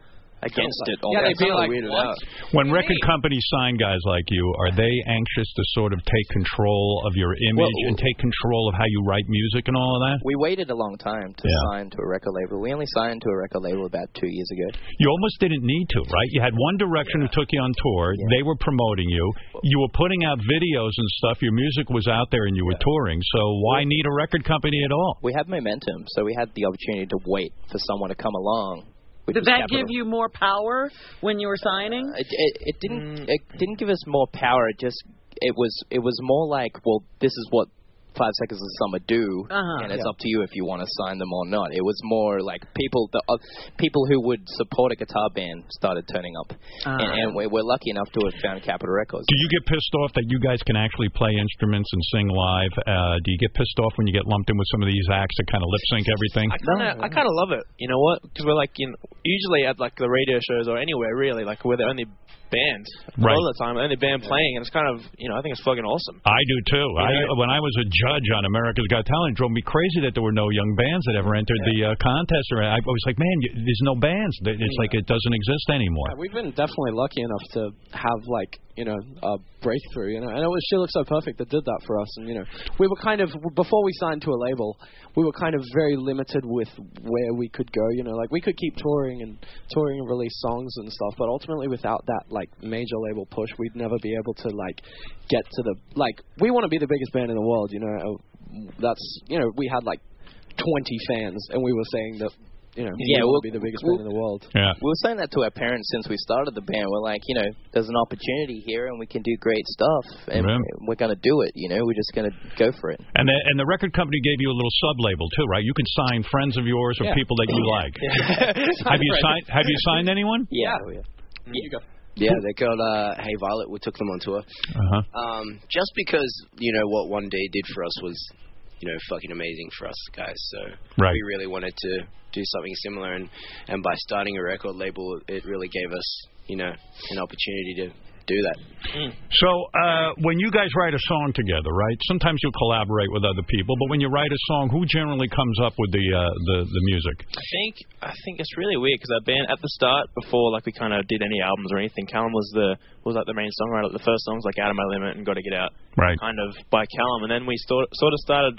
against it. Yeah, they'd be like, what? When record companies sign guys like you, are they anxious to sort of take control of your image Well, and take control of how you write music and all of that? We waited a long time to Yeah. sign to a record label. We only signed to a record label about two years ago. You almost didn't need to, right? You had One Direction who took you on tour. They were promoting you. You were putting out videos and stuff. Your music was out there and you were touring. So why need a record company at all? We had momentum, so we had the opportunity to wait for someone to come along. which Did was that Capitol. give you more power when you were signing? It, it, it didn't. It didn't give us more power. It just. It was. It was more like, well, this is what Five Seconds of Summer do, Uh-huh. and it's Yeah. up to you if you want to sign them or not. It was more like people, the uh, people who would support a guitar band started turning up, Uh-huh. and, and we, we're lucky enough to have found Capitol Records. Do you get pissed off that you guys can actually play instruments and sing live? Uh, do you get pissed off when you get lumped in with some of these acts that kind of lip sync everything? I kind of, I kind of love it. You know what? Because we're like, you know, usually at like the radio shows or anywhere really, like we're the only band Right. all the time, only band playing, and it's kind of, you know, I think it's fucking awesome. I do too. I, Yeah. when I was a judge on America's Got Talent, it drove me crazy that there were no young bands that ever entered the uh, contest. Or I was like, man, you, there's no bands. It's like it doesn't exist anymore. Yeah, we've been definitely lucky enough to have like you know a breakthrough. You know, and it was She Looks So Perfect that did that for us. And you know, we were kind of before we signed to a label, we were kind of very limited with where we could go. You know, like we could keep touring and touring and release songs and stuff, but ultimately without that like major label push, we'd never be able to like get to the like we want to be the biggest band in the world. You know, that's you know we had like twenty fans, and we were saying that. You know, Yeah, we we'll- want to be the biggest we'll- band in the world. Yeah. We were saying that to our parents since we started the band. We're like, you know, there's an opportunity here, and we can do great stuff, and Yeah. we're going to do it. You know, we're just going to go for it. And the, and the record company gave you a little sub label too, right? You can sign friends of yours or Yeah. people that you like. Have you signed? Have you signed anyone? Yeah. You go. Yeah, they got uh, Hey Violet. We took them on tour. Uh-huh. Um, just because, you know, what One Day did for us was, you know, fucking amazing for us guys. So Right. we really wanted to do something similar. And, and by starting a record label, it really gave us, you know, an opportunity to do that. So uh, when you guys write a song together, right? Sometimes you'll collaborate with other people, but when you write a song, who generally comes up with the uh, the, the music? I think I think it's really weird because our band at the start, before like we kind of did any albums or anything, Callum was the was like the main songwriter. The first song was like Out of My Limit and Got to Get Out, Right. kind of by Callum, and then we sort sort of started.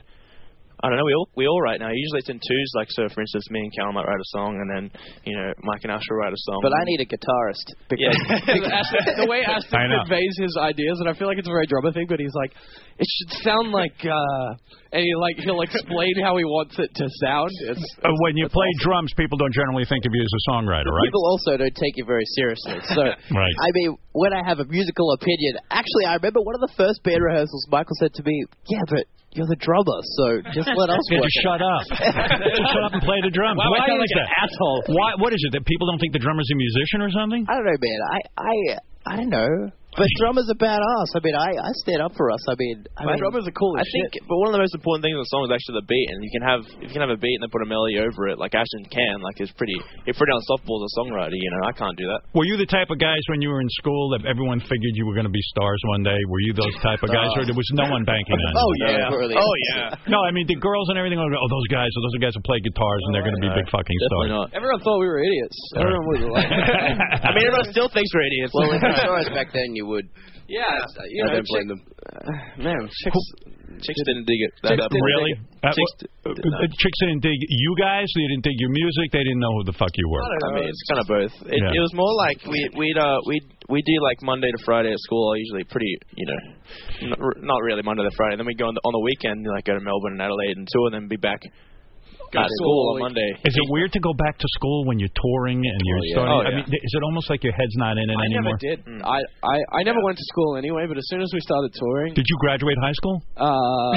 I don't know. We all we all write now. Usually it's in twos. Like so, for instance, me and Callum might write a song, and then you know Mike and Ash will write a song. But I need a guitarist. Because Yeah. Ashton, the way Ashton I know. conveys his ideas, and I feel like it's a very drummer thing, but he's like, it should sound like, uh, and he like he'll explain how he wants it to sound. It's, Uh, when you play drums, people don't generally think of you as a songwriter, right? People also don't take you very seriously. So, Right. I mean, when I have a musical opinion, actually, I remember one of the first band rehearsals, Michael said to me, yeah, but you're the drummer, so just let us Yeah, work just it." shut up. Just shut up and play the drums. Wow, I Why sound is like an that? asshole. Why? What is it that people don't think the drummer's a musician or something? I don't know, man. I, I, I don't know. But drummers are badass. I mean, I, I stand up for us. I mean, I mean, drummers are cool I think, but one of the most important things in the song is actually the beat, and you can have if you can have a beat and then put a melody over it, like Ashton can, like it's pretty, it's pretty unstoppable as a songwriter. You know, I can't do that. Were you the type of guys when you were in school that everyone figured you were going to be stars one day? Were you those type of guys, or there was no one banking on you? Oh yeah. Yeah. Oh yeah. No, I mean the girls and everything. Go, oh, those guys, those are guys who play guitars, and they're going to be no, big fucking Definitely stars. not. Everyone thought we were idiots. Everyone was like, I mean, everyone still thinks we're idiots. Well, if you saw us back then, you would. yeah, you I know, don't blame them. man, chicks. Chicks didn't dig it. That Chicks up. didn't Really? Uh, Chicks uh, uh, chicks didn't dig you guys. They didn't dig your music. They didn't know who the fuck you were. I mean, it's kind of both. It, Yeah. it was more like we we'd uh we we do like Monday to Friday at school. Usually pretty, you know, not, not really Monday to Friday. Then we go on the, on the weekend, like go to Melbourne and Adelaide and tour, and then be back Go at to school school on Monday. Is it weird to go back to school when you're touring and you're Oh, yeah. starting? Oh, I yeah. mean, is it almost like your head's not in it I anymore? never did. I, I, I never went to school anyway, but as soon as we started touring, Did you graduate high school? uh,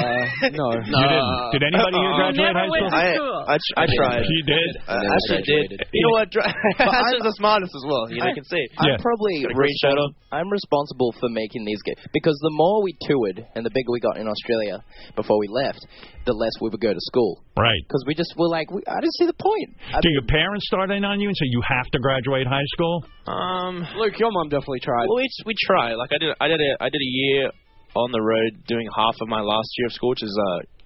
no. You didn't. Did anybody here Uh, graduate never high went school? to I, school. I, I tried. She did. I never actually did. graduated. You know what? Ashton's the smartest as well. You know, you can see. Yeah. I'm probably Got a green shirt on. I'm responsible for making these games because the more we toured and the bigger we got in Australia before we left, the less we would go to school Right. because we just were like, we, I didn't see the point. I Do mean, your parents start in on you and say you have to graduate high school? Um, Luke, your mom definitely tried. well, we we try. Like I did, I did a I did a year on the road doing half of my last year of school, which is uh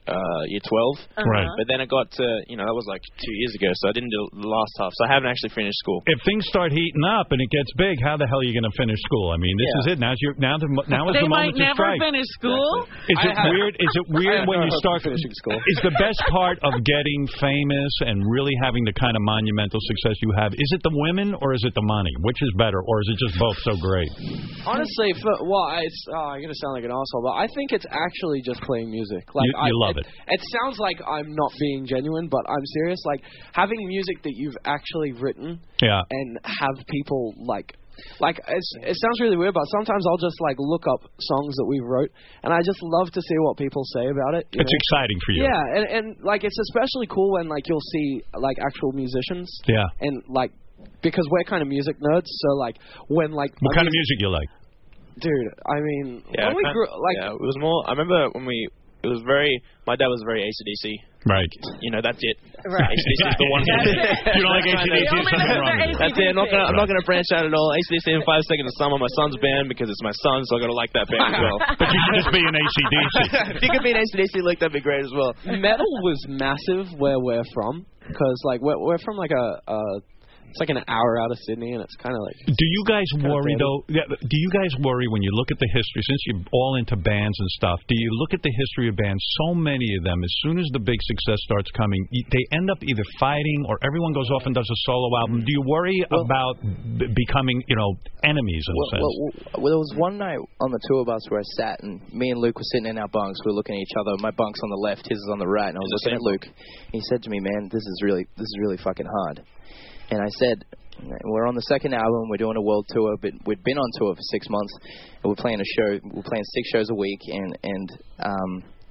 uh, year twelve. Uh-huh. Right. But then I got to, you know, that was like two years ago, so I didn't do the last half. So I haven't actually finished school. If things start heating up and it gets big, how the hell are you going to finish school? I mean, this Yeah. is it. Now's your, now, the, now is They the moment might to never strike. finish school. Is it I have- weird? Is it weird I have when no you hope start of finishing school? Is the best part of getting famous and really having the kind of monumental success you have? Is it the women or is it the money? Which is better, or is it just both so great? Honestly, for, well, it's oh, I'm gonna sound like an asshole, but I think it's actually just playing music. Like You- you I, love it. It sounds like I'm not being genuine, but I'm serious. Like having music that you've actually written Yeah. and have people like. Like it's, it sounds really weird, but sometimes I'll just like look up songs that we wrote, and I just love to see what people say about it. You It's know? exciting for you. Yeah, and, and like it's especially cool when like you'll see like actual musicians. Yeah. And like because we're kind of music nerds, so like when like What I kind of mean- music you like? Dude, I mean, Yeah, when we kind- grew like yeah, it was more. I remember when we. It was very. My dad was very A C D C. Right. You know, that's it. Right. A C D C is the one. That's it. You don't like A C D C? They only Something listen wrong to with it. That's it. I'm not gonna. I'm not gonna branch out at all. A C D C in Five Seconds of Summer. My son's band because it's my son, so I gotta like that band as well. But you should just be an A C D C. If you could be an A C D C, like that'd be great as well. metal was massive where we're from, because like we're we're from like a. a It's like an hour out of Sydney, and it's kind of like. Do you guys kinda worry dirty. though? Yeah, do you guys worry when you look at the history? Since you're all into bands and stuff, do you look at the history of bands? So many of them, as soon as the big success starts coming, y- they end up either fighting or everyone goes off and does a solo album. Do you worry Well- about b- becoming, you know, enemies in Well, a sense? well, well, well, there was one night on the tour bus where I sat, and me and Luke were sitting in our bunks. We were looking at each other. My bunk's on the left, his is on the right, and I was looking at Luke. He said to me, "Man, this is really, this is really fucking hard." And I said, "We're on the second album. We're doing a world tour, but we'd been on tour for six months, and we're playing a show. We're playing six shows a week, and and um,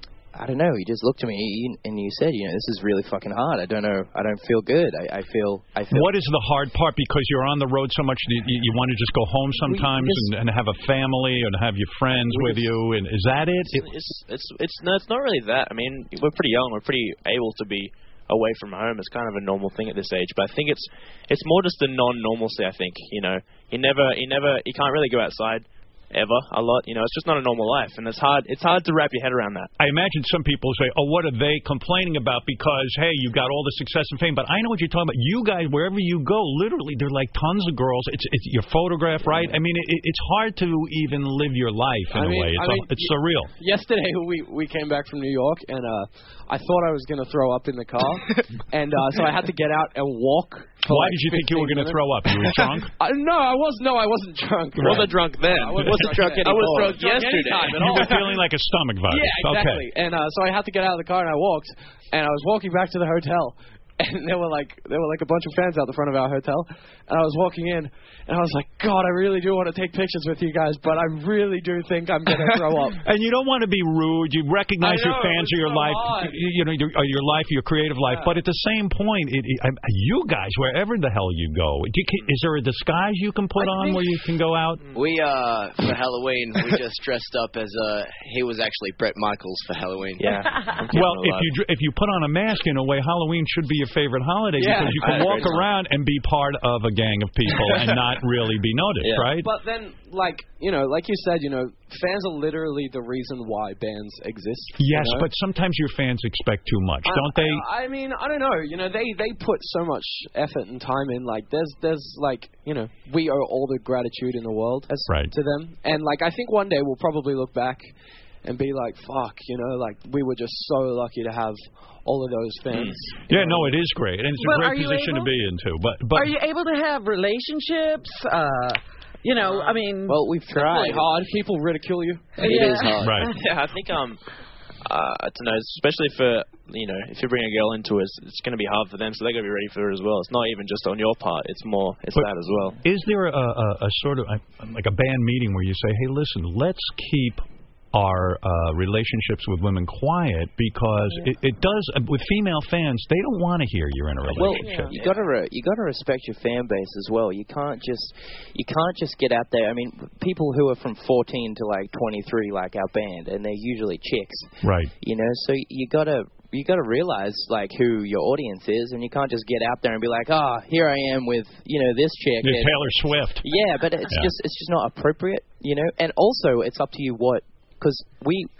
I don't know. You just looked at me and you said, you know, this is really fucking hard. I don't know. I don't feel good. I, I feel. I feel. What is the hard part? Because you're on the road so much, you, you want to just go home sometimes just- and, and have a family and have your friends with you. And is that it? It's, it's it's it's no, it's not really that. I mean, we're pretty young. We're pretty able to be away from home. It's kind of a normal thing at this age. But I think it's it's more just the non-normalcy. I think you know, you never you never you can't really go outside ever a lot. You know, it's just not a normal life, and it's hard it's hard to wrap your head around that. I imagine some people say, oh, what are they complaining about? Because, hey, you got all the success and fame. But I know what you're talking about. You guys, wherever you go, literally, there are like tons of girls. It's it's your photograph, right? I mean, it, it's hard to even live your life in I a mean- way. It's, I mean, a, it's surreal. Yesterday we we came back from New York, and uh, I thought I was gonna throw up in the car, and uh, so I had to get out and walk. for Why like did you think you were fifteen going to minutes. throw up? You were drunk? I, no, I was no, I wasn't drunk. I wasn't drunk then. I wasn't drunk I was anymore. drunk yesterday. anytime at You all. were feeling like a stomach virus. Yeah, exactly. Okay. And uh, so I had to get out of the car, and I walked, and I was walking back to the hotel, and there were like there were like a bunch of fans out the front of our hotel, and I was walking in, and I was like, God, I really do want to take pictures with you guys, but I really do think I'm gonna throw up. And you don't want to be rude. You recognize I know, your fans it's are your so life, hard. you, you know, your, uh, your life, your creative life. Yeah. But at the same point, it, it, I- you guys, wherever the hell you go, do you, can- is there a disguise you can put I on think- where you can go out? We, uh, for Halloween, we just dressed up as, uh, he was actually Brett Michaels for Halloween. Yeah. Well, if you dr- if you put on a mask in a way, Halloween should be your favorite holiday Yeah. because you I can agree. walk around and be part of a gang of people and not really be noticed, Yeah. right? But then, like you know, like you said, you know, fans are literally the reason why bands exist. you Yes, know? but sometimes your fans expect too much, don't they? I, I mean, I don't know. You know, they they put so much effort and time in. Like, there's there's like, you know, we owe all the gratitude in the world as, Right. to them. And like, I think one day we'll probably look back and be like, fuck, you know, like we were just so lucky to have all of those fans. you Yeah, know? no, it is great, and it's Well, a are great you position able- to be into. But but Are you able to have relationships? Uh, you know, I mean, Well, we've It's tried. really hard. People ridicule you. It yeah. is hard. right. Yeah, I think um, uh, I don't know, especially for you know, if you bring a girl into it, it's, it's going to be hard for them, so they got to be ready for it as well. It's not even just on your part; it's more, it's But- that as well. Is there a, a, a sort of a, like a band meeting where you say, "Hey, listen, let's keep our uh, relationships with women quiet because it, it does with female fans. They don't want to hear you're in a Well, relationship." you gotta re- you gotta respect your fan base as well. You can't just you can't just get out there. I mean, people who are from fourteen to like twenty-three, like our band, and they're usually chicks. Right. You know, so you gotta you gotta realize like who your audience is, and you can't just get out there and be like, oh, here I am with you know this chick. You're and- Taylor Swift. Yeah, but it's Yeah. just it's just not appropriate, you know. And also, it's up to you what because we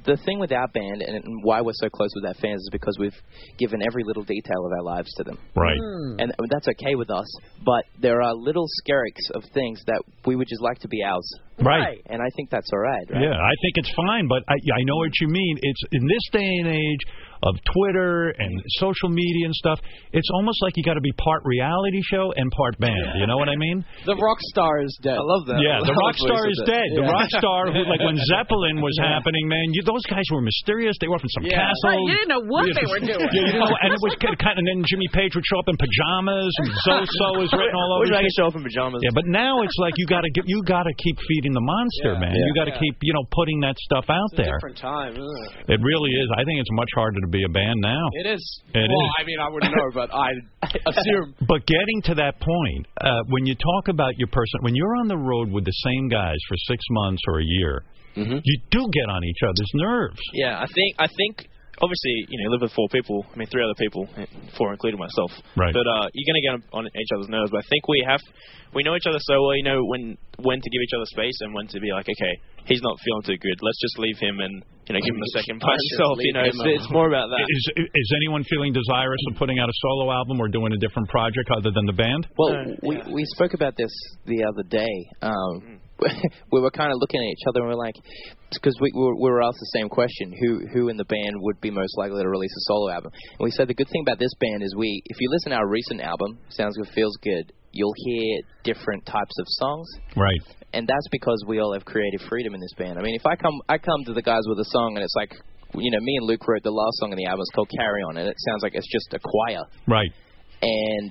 the thing with our band and why we're so close with our fans is because we've given every little detail of our lives to them. Right. Mm. And that's okay with us, but there are little skerricks of things that we would just like to be ours. Right. And I think that's all right, right? Yeah, I think it's fine, but I, I know what you mean. It's in this day and age of Twitter and social media and stuff, it's almost like you got to be part reality show and part band. You know what I mean? The rock star is dead. I love that. Yeah, the rock star is dead. The yeah. rock star, who, like when Zeppelin was yeah. happening, man, you, those guys were mysterious. They were from some yeah. castle. Right, you didn't know what they were doing. Yeah, you know, and it was kind of, and then Jimmy Page would show up in pajamas, and So-So was written all over. I can show up in pajamas. Yeah, but now it's like you got to you got to keep feeding the monster, yeah. man. Yeah. You got to yeah. keep you know putting that stuff out it's a there. Different time. Isn't it? It really is. I think it's much harder to be a band now. It is. It well, is. I mean, I wouldn't know, but I assume. But getting to that point, uh, when you talk about your person, when you're on the road with the same guys for six months or a year, mm-hmm. you do get on each other's nerves. Yeah, I think I think. Obviously, you know, you live with four people. I mean, three other people, four including myself. Right. But uh, you're going to get on each other's nerves. But I think we have, we know each other so well. You know when when to give each other space and when to be like, okay, he's not feeling too good. Let's just leave him and you know give him a second by himself. You know, it's, it's more about that. Is is anyone feeling desirous of putting out a solo album or doing a different project other than the band? Well, no, we yeah. we spoke about this the other day. Um, we were kind of looking at each other and we we're like, because we, we, were, we were asked the same question, who who in the band would be most likely to release a solo album? And we said the good thing about this band is we, if you listen to our recent album, Sounds Good, Feels Good, you'll hear different types of songs. Right. And that's because we all have creative freedom in this band. I mean, if I come I come to the guys with a song and it's like, you know, me and Luke wrote the last song in the album, it's called Carry On, and it sounds like it's just a choir. Right. And,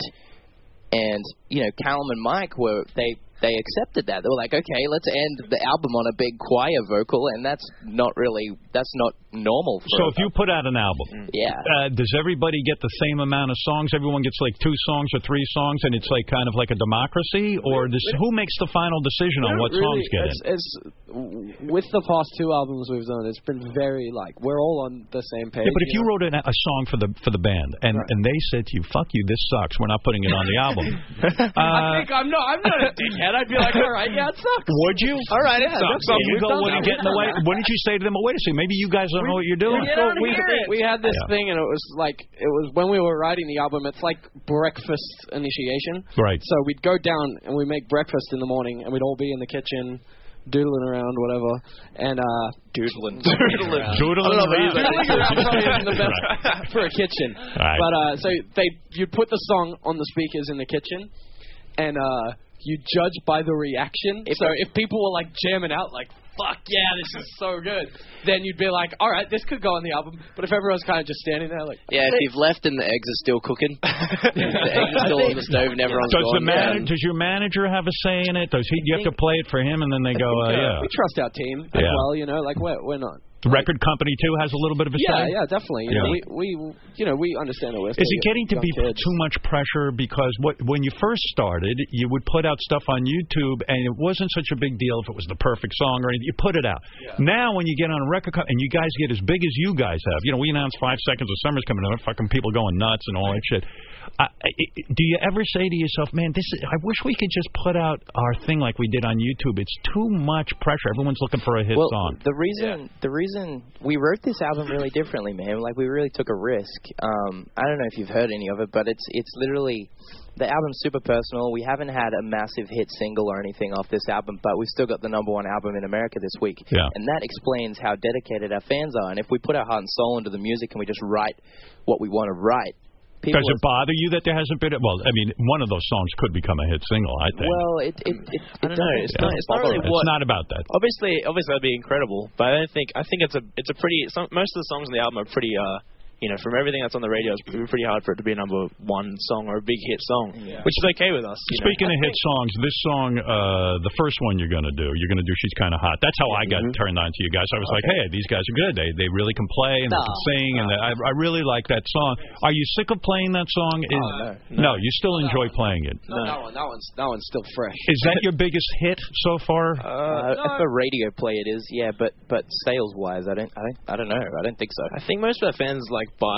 and you know, Callum and Mike were, they... They accepted that. They were like, okay, let's end the album on a big choir vocal, and that's not really, that's not normal. For so if you put out an album, yeah, uh, does everybody get the same amount of songs? Everyone gets like two songs or three songs, and it's like kind of like a democracy? Or does, who makes the final decision on what really, songs get it's, in? It's, with the past two albums we've done, it's been very, like, we're all on the same page. Yeah, but if you, you know? wrote a, a song for the for the band, and, right. and they said to you, fuck you, this sucks, we're not putting it on the album. uh, I think I'm not, I'm not a dickhead. I'd be like, all right, yeah, it sucks. Would you? All right, it sucks. So you go, wouldn't get in the way. Wouldn't you say to them, well, wait a second, maybe you guys don't we, know what you're doing? So we, we, we had this yeah. thing, and it was like, it was when we were writing the album, it's like breakfast initiation. Right. So we'd go down, and we'd make breakfast in the morning, and we'd all be in the kitchen, doodling around, whatever, and uh, doodling, doodling, doodling around. Doodling around probably isn't the best right. for a kitchen. Right. But uh, so they, you'd put the song on the speakers in the kitchen, and uh, you judge by the reaction. If so if people were like jamming out, like, fuck yeah, this is so good, then you'd be like, all right, this could go on the album. But if everyone's kind of just standing there, like, yeah, if you've left and the eggs are still cooking, the eggs are still on the stove and everyone's does gone. The man- does your manager have a say in it? Does he? You have to play it for him, and then they go, uh, yeah. We trust our team as yeah. well, you know, like we're we're not. The record company too has a little bit of a yeah, say. Yeah, definitely. You yeah. know, we, we, you know, we understand that we're. Is it getting to be kids. too much pressure? Because what, when you first started, you would put out stuff on YouTube, and it wasn't such a big deal if it was the perfect song or anything. You put it out. Yeah. Now, when you get on a record company and you guys get as big as you guys have, you know, we announced Five Seconds of Summer's coming out, fucking people going nuts and all that shit. I, I, do you ever say to yourself, man, this is, I wish we could just put out our thing like we did on YouTube. It's too much pressure. Everyone's looking for a hit well, song. The reason, yeah. the reason we wrote this album really differently, man. Like, we really took a risk. Um, I don't know if you've heard any of it, but it's it's literally, the album's super personal. We haven't had a massive hit single or anything off this album, but we've still got the number one album in America this week. Yeah. And that explains how dedicated our fans are. And if we put our heart and soul into the music and we just write what we want to write, does it bother you that there hasn't been? Well, I mean, one of those songs could become a hit single, I think. Well, it it it, I don't know. It's, yeah. not, it's not really what. It's not about that. Obviously, obviously that'd be incredible, but I don't think. I think it's a it's a pretty. Some, most of the songs on the album are pretty. Uh, You know, from everything that's on the radio, it's pretty hard for it to be a number one song or a big hit song, yeah. which is okay with us. You Speaking know? of hit songs, this song, uh, the first one you're going to do, you're going to do She's Kinda Hot. That's how I got mm-hmm. turned on to you guys. I was okay. like, hey, these guys are good. They they really can play and no. they can sing, no. and they, I, I really like that song. Are you sick of playing that song? Is, oh, no. no, you still enjoy playing it. No, no. That, one, that, one's, that one's still fresh. Is that your biggest hit so far? Uh, no. For radio play, it is, yeah, but but sales-wise, I don't, I don't, I don't know. I don't think so. I think most of our fans like buy.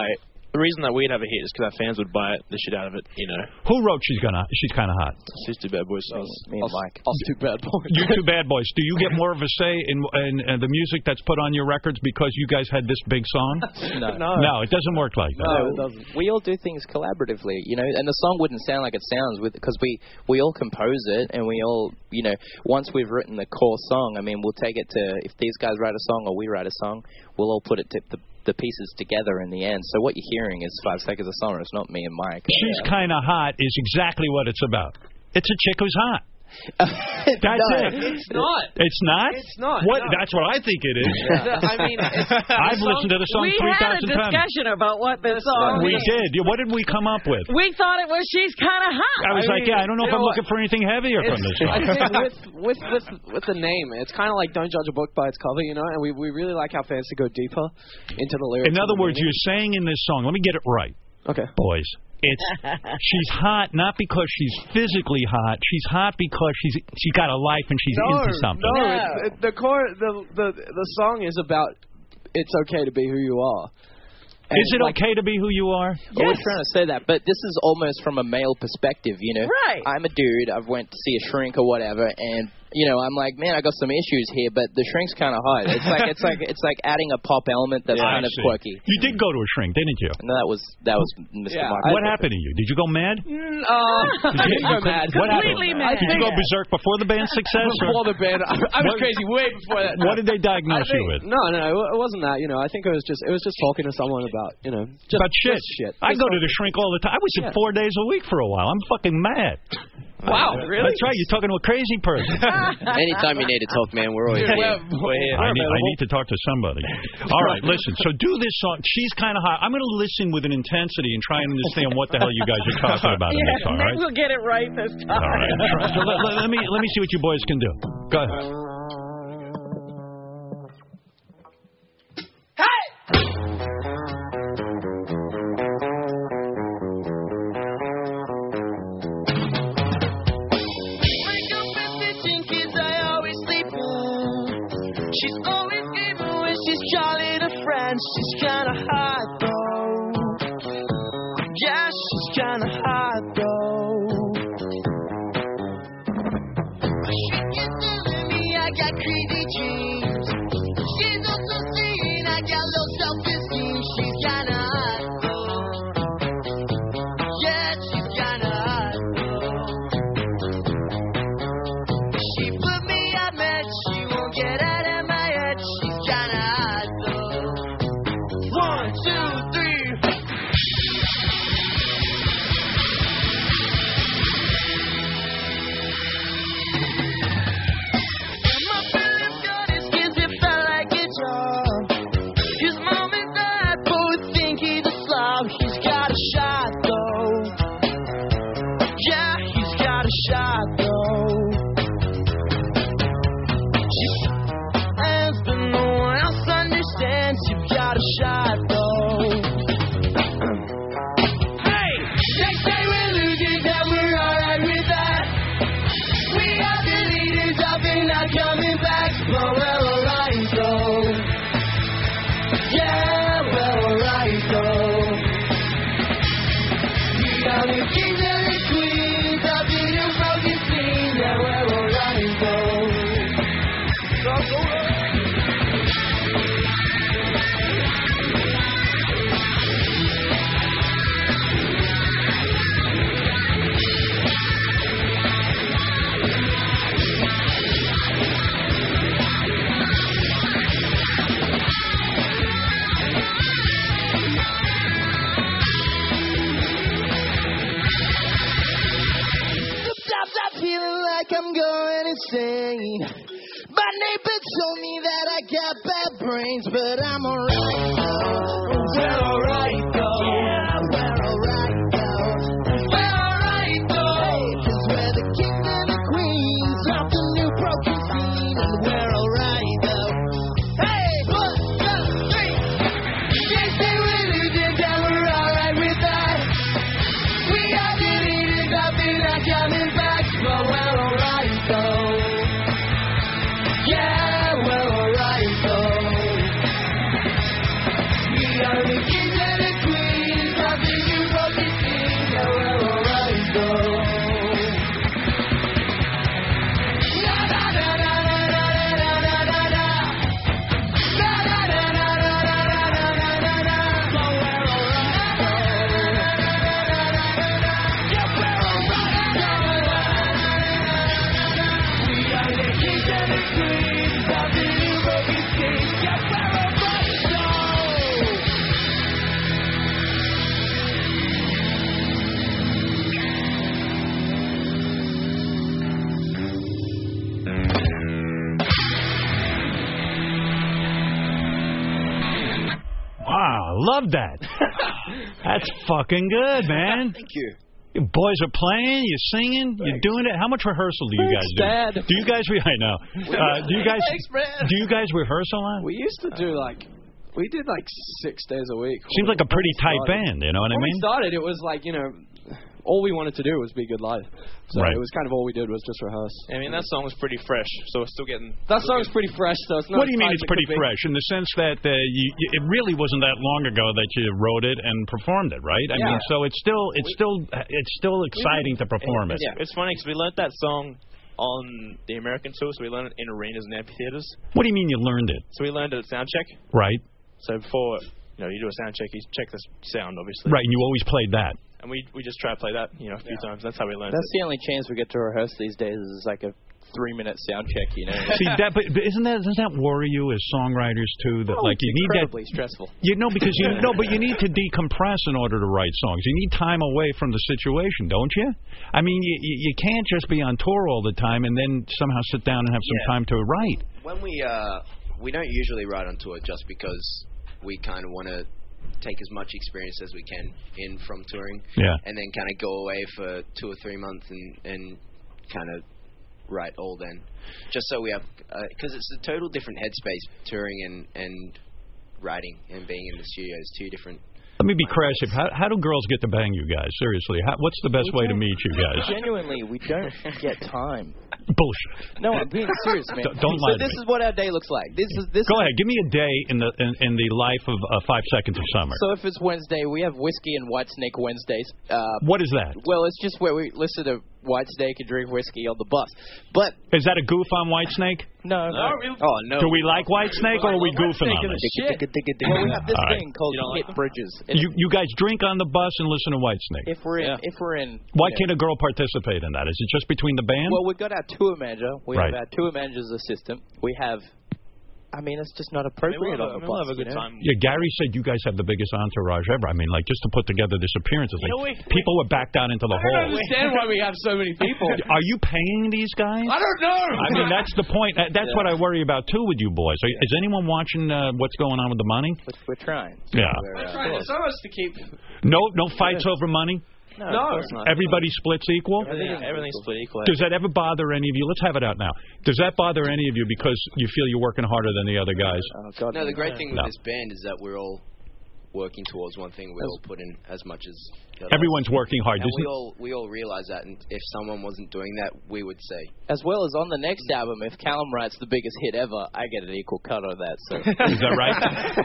The reason that we'd have a hit is because our fans would buy it, the shit out of it, you know. Who wrote She's Gonna? She's Kind of Hot? She's Two Bad Boys. Me, me and Mike. Us two bad boys. You two bad boys. Do you get more of a say in, in, in the music that's put on your records because you guys had this big song? No. no. No, it doesn't work like that. No, it doesn't. We all do things collaboratively, you know, and the song wouldn't sound like it sounds with because we, we all compose it and we all, you know, once we've written the core song, I mean, we'll take it to, if these guys write a song or we write a song, we'll all put it to the the pieces together in the end. So what you're hearing is Five Seconds of Summer. It's not me and Mike. She's yeah. Kind of Hot is exactly what it's about. It's a chick who's hot. That's no, it. It's not. It's not? It's not. What? No. That's what I think it is. Yeah. I mean, it's, I've listened to the song three thousand times. We had a discussion times. about what this song We is. did. What did we come up with? We thought it was She's Kind of Hot. I was I like, mean, yeah, I don't know if I'm know looking for anything heavier it's, from this song. I think with, with, with, with the name, it's kind of like Don't Judge a Book by its cover, you know, and we, we really like our fans to go deeper into the lyrics. In other words, meaning. you're saying in this song, let me get it right. Okay. Boys. It's she's hot not because she's physically hot. She's hot because she's she's got a life and she's no, into something. No, it's, it, the core the, the the song is about it's okay to be who you are. And is it like, okay to be who you are? Yes. I was trying to say that, but this is almost from a male perspective, you know. Right. I'm a dude. I've went to see a shrink or whatever, and you know, I'm like, man, I got some issues here, but the shrink's kind of hot. It's like it's like it's like adding a pop element that's Yeah, kind I of see. quirky. You did go to a shrink, didn't you? No, that was that was Mister Yeah, Mark. What happened to you? Did you go mad? Mm, uh, I didn't go mad. What Completely happened? mad. Did you go berserk before the band's success? Before or? the band, I, I was What- crazy way before that. What did they diagnose I think- you with? No, no, no, it wasn't that. You know, I think it was just it was just talking to someone about you know just About shit. just shit. I Just go to talking- the shrink all the time. I was in Yeah. four days a week for a while. I'm fucking mad. Wow, really? That's right. You're talking to a crazy person. Anytime you need to talk, man, we're always Yeah, here. we're- we're here. I need, I need to talk to somebody. All right, listen. So do this song. She's Kind of Hot. I'm going to listen with an intensity and try and understand what the hell you guys are talking about in this. Yeah, All maybe right. we'll get it right this time. All right. So let, let, let me let me see what you boys can do. Go ahead. She's always giving when she's jolly to friends. She's kinda hot though. Yeah, she's kinda hot though. She keeps telling me I got crazy dreams. She's also saying I got low self-esteem. She's kinda hot though. Yeah, she's kinda hot though. She put me on med. She won't get out. One, two, three. My feelings got his kids, it felt like a job. His mom and dad both think he's a slob. He's got a shot though. Yeah, he's got a shot though. She has been no one else understands. You've got a shot though. Hey, they say we're losers and we're alright with that. We are the leaders of it, not coming back. But we're alright though. Yeah, we're alright though. We are the kings and the queens of the new broken scene. Yeah, we're alright though. Go, go, go. Sometimes I'm feeling like I'm going insane. My neighbor told me that I got bad brains, but I'm alright though. We're alright though. Yeah, we're alright though. We're alright though. Cause we're the kings and the queens of the new broken scene, and we're alright though. Hey, one, two, three. They say we're losers and we're alright with that. We are the leaders of it, not coming back, but we're alright though. Yeah, we're alright though. We are the kings and the love that. That's fucking good, man. Thank you. You boys are playing, you're singing, Thanks. You're doing it. How much rehearsal do you Thanks, guys do? Dad. Do you guys? Re- I know. Uh, do you guys? Thanks, man. Do you guys rehearse a lot? We used to do like, we did like six days a week. Seems like a pretty tight band. You know what I mean? When we started, it was like you know, all we wanted to do was be good live. So right. it was kind of all we did was just rehearse. I mean, that song was pretty fresh, so we're still getting... That song's pretty fresh, though. It's not what do you mean it's pretty fresh? In the sense that uh, you, it really wasn't that long ago that you wrote it and performed it, right? I yeah. mean, so it's still it's still it's still exciting to perform it. Yeah, it's funny because we learned that song on the American tour, so we learned it in arenas and amphitheaters. What do you mean you learned it? So we learned it at soundcheck. Right. So before, you know, you do a soundcheck, you check the sound, obviously. Right, and you always played that. And we we just try to play that, you know, a few yeah. times. That's how we learned That's it. the only chance we get to rehearse these days is like a three-minute sound check, you know. See, that, but, but isn't that, doesn't that worry you as songwriters, too? That, oh, like, it's you need incredibly that, stressful. You know, because you no, but you need to decompress in order to write songs. You need time away from the situation, don't you? I mean, you, you can't just be on tour all the time and then somehow sit down and have some yeah. time to write. When we, uh, we don't usually write on tour just because we kind of want to take as much experience as we can in from touring, yeah. and then kind of go away for two or three months and, and kind of write all then, just so we have, because uh, it's a total different headspace, touring and, and writing and being in the studio is two different. Let me be crass. How, how do girls get to bang you guys? Seriously, how, what's the best we way to meet you guys? Genuinely, we don't get time. Bullshit. No, I'm being serious, man. D- don't lie so to this me. is what our day looks like. This is this. Go is ahead. Give me a day in the in, in the life of uh, Five Seconds of Summer. So if it's Wednesday, we have Whiskey and Whitesnake Wednesdays. Uh, what is that? Well, it's just where we listen to Whitesnake and drink whiskey on the bus. But is that a goof on Whitesnake? No. no. Oh no. Do we like Whitesnake or are we goofing on it? Shit. Well, we have this All thing right. called Hit like Bridges. You you guys drink on the bus and listen to Whitesnake. If we're in, yeah. if we're in. Why know, can't a girl participate in that? Is it just between the band? Well, we've got our tour manager. We right. have our tour manager's assistant. We have. I mean, it's just not appropriate I mean, we'll have, on the we'll bus. have a good you know? time. Yeah, Gary said you guys have the biggest entourage ever. I mean, like, just to put together this appearance, it's like, know, we, people were backed out into the I hall. don't understand why we have so many people. Are you paying these guys? I don't know. I mean, that's the point. That- That's Yeah. what I worry about, too, with you boys. Are, is anyone watching uh, what's going on with the money? We're, we're trying. Yeah. We're, We're uh, trying so much to keep. No no fights over money? No, No. of course not. Everybody splits equal? Everything, everything's split equal. Does that ever bother any of you? Let's have it out now. Does that bother any of you because you feel you're working harder than the other guys? Oh, God, No, the great thing with No. this band is that we're all working towards one thing. We all put in as much as the others. Everyone's working hard. And Doesn't- we all we all realize that, and if someone wasn't doing that, we would say. As well as on the next album, if Callum writes the biggest hit ever, I get an equal cut of that. So. Is that right?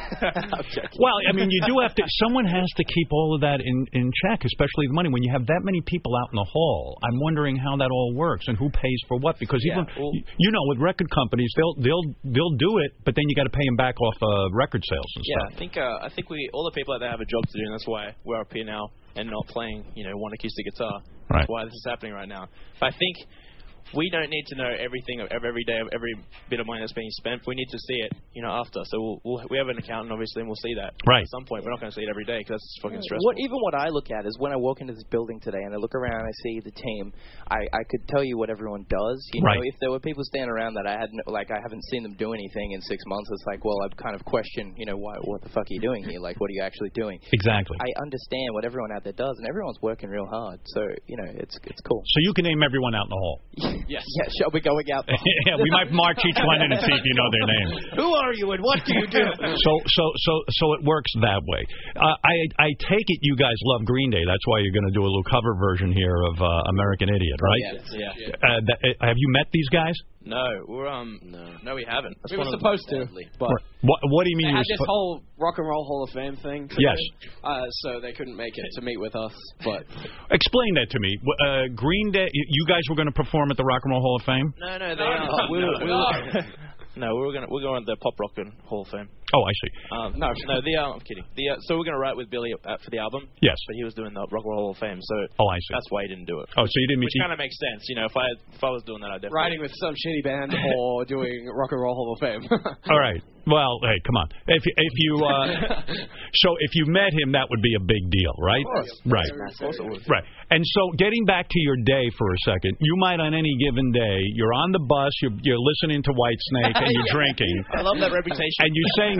I'm joking. Well, I mean, you do have to. Someone has to keep all of that in, in check, especially the money. When you have that many people out in the hall, I'm wondering how that all works and who pays for what. Because Yeah, even well, you know, with record companies, they'll they'll they'll do it, but then you got to pay them back off uh, record sales and Yeah, stuff. I think uh, I think we all the people out there have a job to do, and that's why we're up here now and not playing, you know, one acoustic guitar. Right. That's why this is happening right now. But I think we don't need to know everything of every day of every bit of money that's being spent. We need to see it, you know, after. So we'll, we'll we have an accountant, obviously, and we'll see that Right. at some point. We're not going to see it every day because that's fucking stressful. What even what I look at is when I walk into this building today and I look around and I see the team, I, I could tell you what everyone does. You know, Right. if there were people standing around that I hadn't like I haven't seen them do anything in six months, it's like, well, I'd kind of question, you know, why what the fuck are you doing here? Like, what are you actually doing? Exactly. I understand what everyone out there does, and everyone's working real hard. So you know, it's it's cool. So you can name everyone out in the hall. Yes. Yeah, shall we going out? Yeah, we might march each one in and see if you know their name. Who are you and what do you do? So, so, so, so it works that way. Uh, I, I take it you guys love Green Day. That's why you're going to do a little cover version here of uh, American Idiot, right? Yes, yeah. Uh, that, uh, have you met these guys? No, we're um No. no we haven't. That's We one were of the- supposed to, but What, what do you mean? they You had were this suppo- whole Rock and Roll Hall of Fame thing. Yes. Uh, so they couldn't make it to meet with us, but Explain that to me. Uh, Green Day. You guys were going to perform at the Rock and Roll Hall of Fame? No, no, they are. We were, we were, no, we were gonna we're going to the Pop Rock and Hall of Fame. Oh, I see. Um, no, no, the uh, I'm kidding. The uh, so we're going to write with Billy uh, for the album. Yes. But he was doing the Rock and Roll Hall of Fame, so Oh, I see. that's why he didn't do it. Oh, so you didn't meet. Which kind of makes sense, you know. If I if I was doing that, I'd definitely riding with some shitty band or doing Rock and Roll Hall of Fame. All right. Well, hey, come on. If if you uh, so if you met him, that would be a big deal, right? Of course. Right. Of course it would. Right. And so getting back to your day for a second, you might on any given day, you're on the bus, you're, you're listening to Whitesnake and you're Yeah. drinking. I love that reputation. And you're saying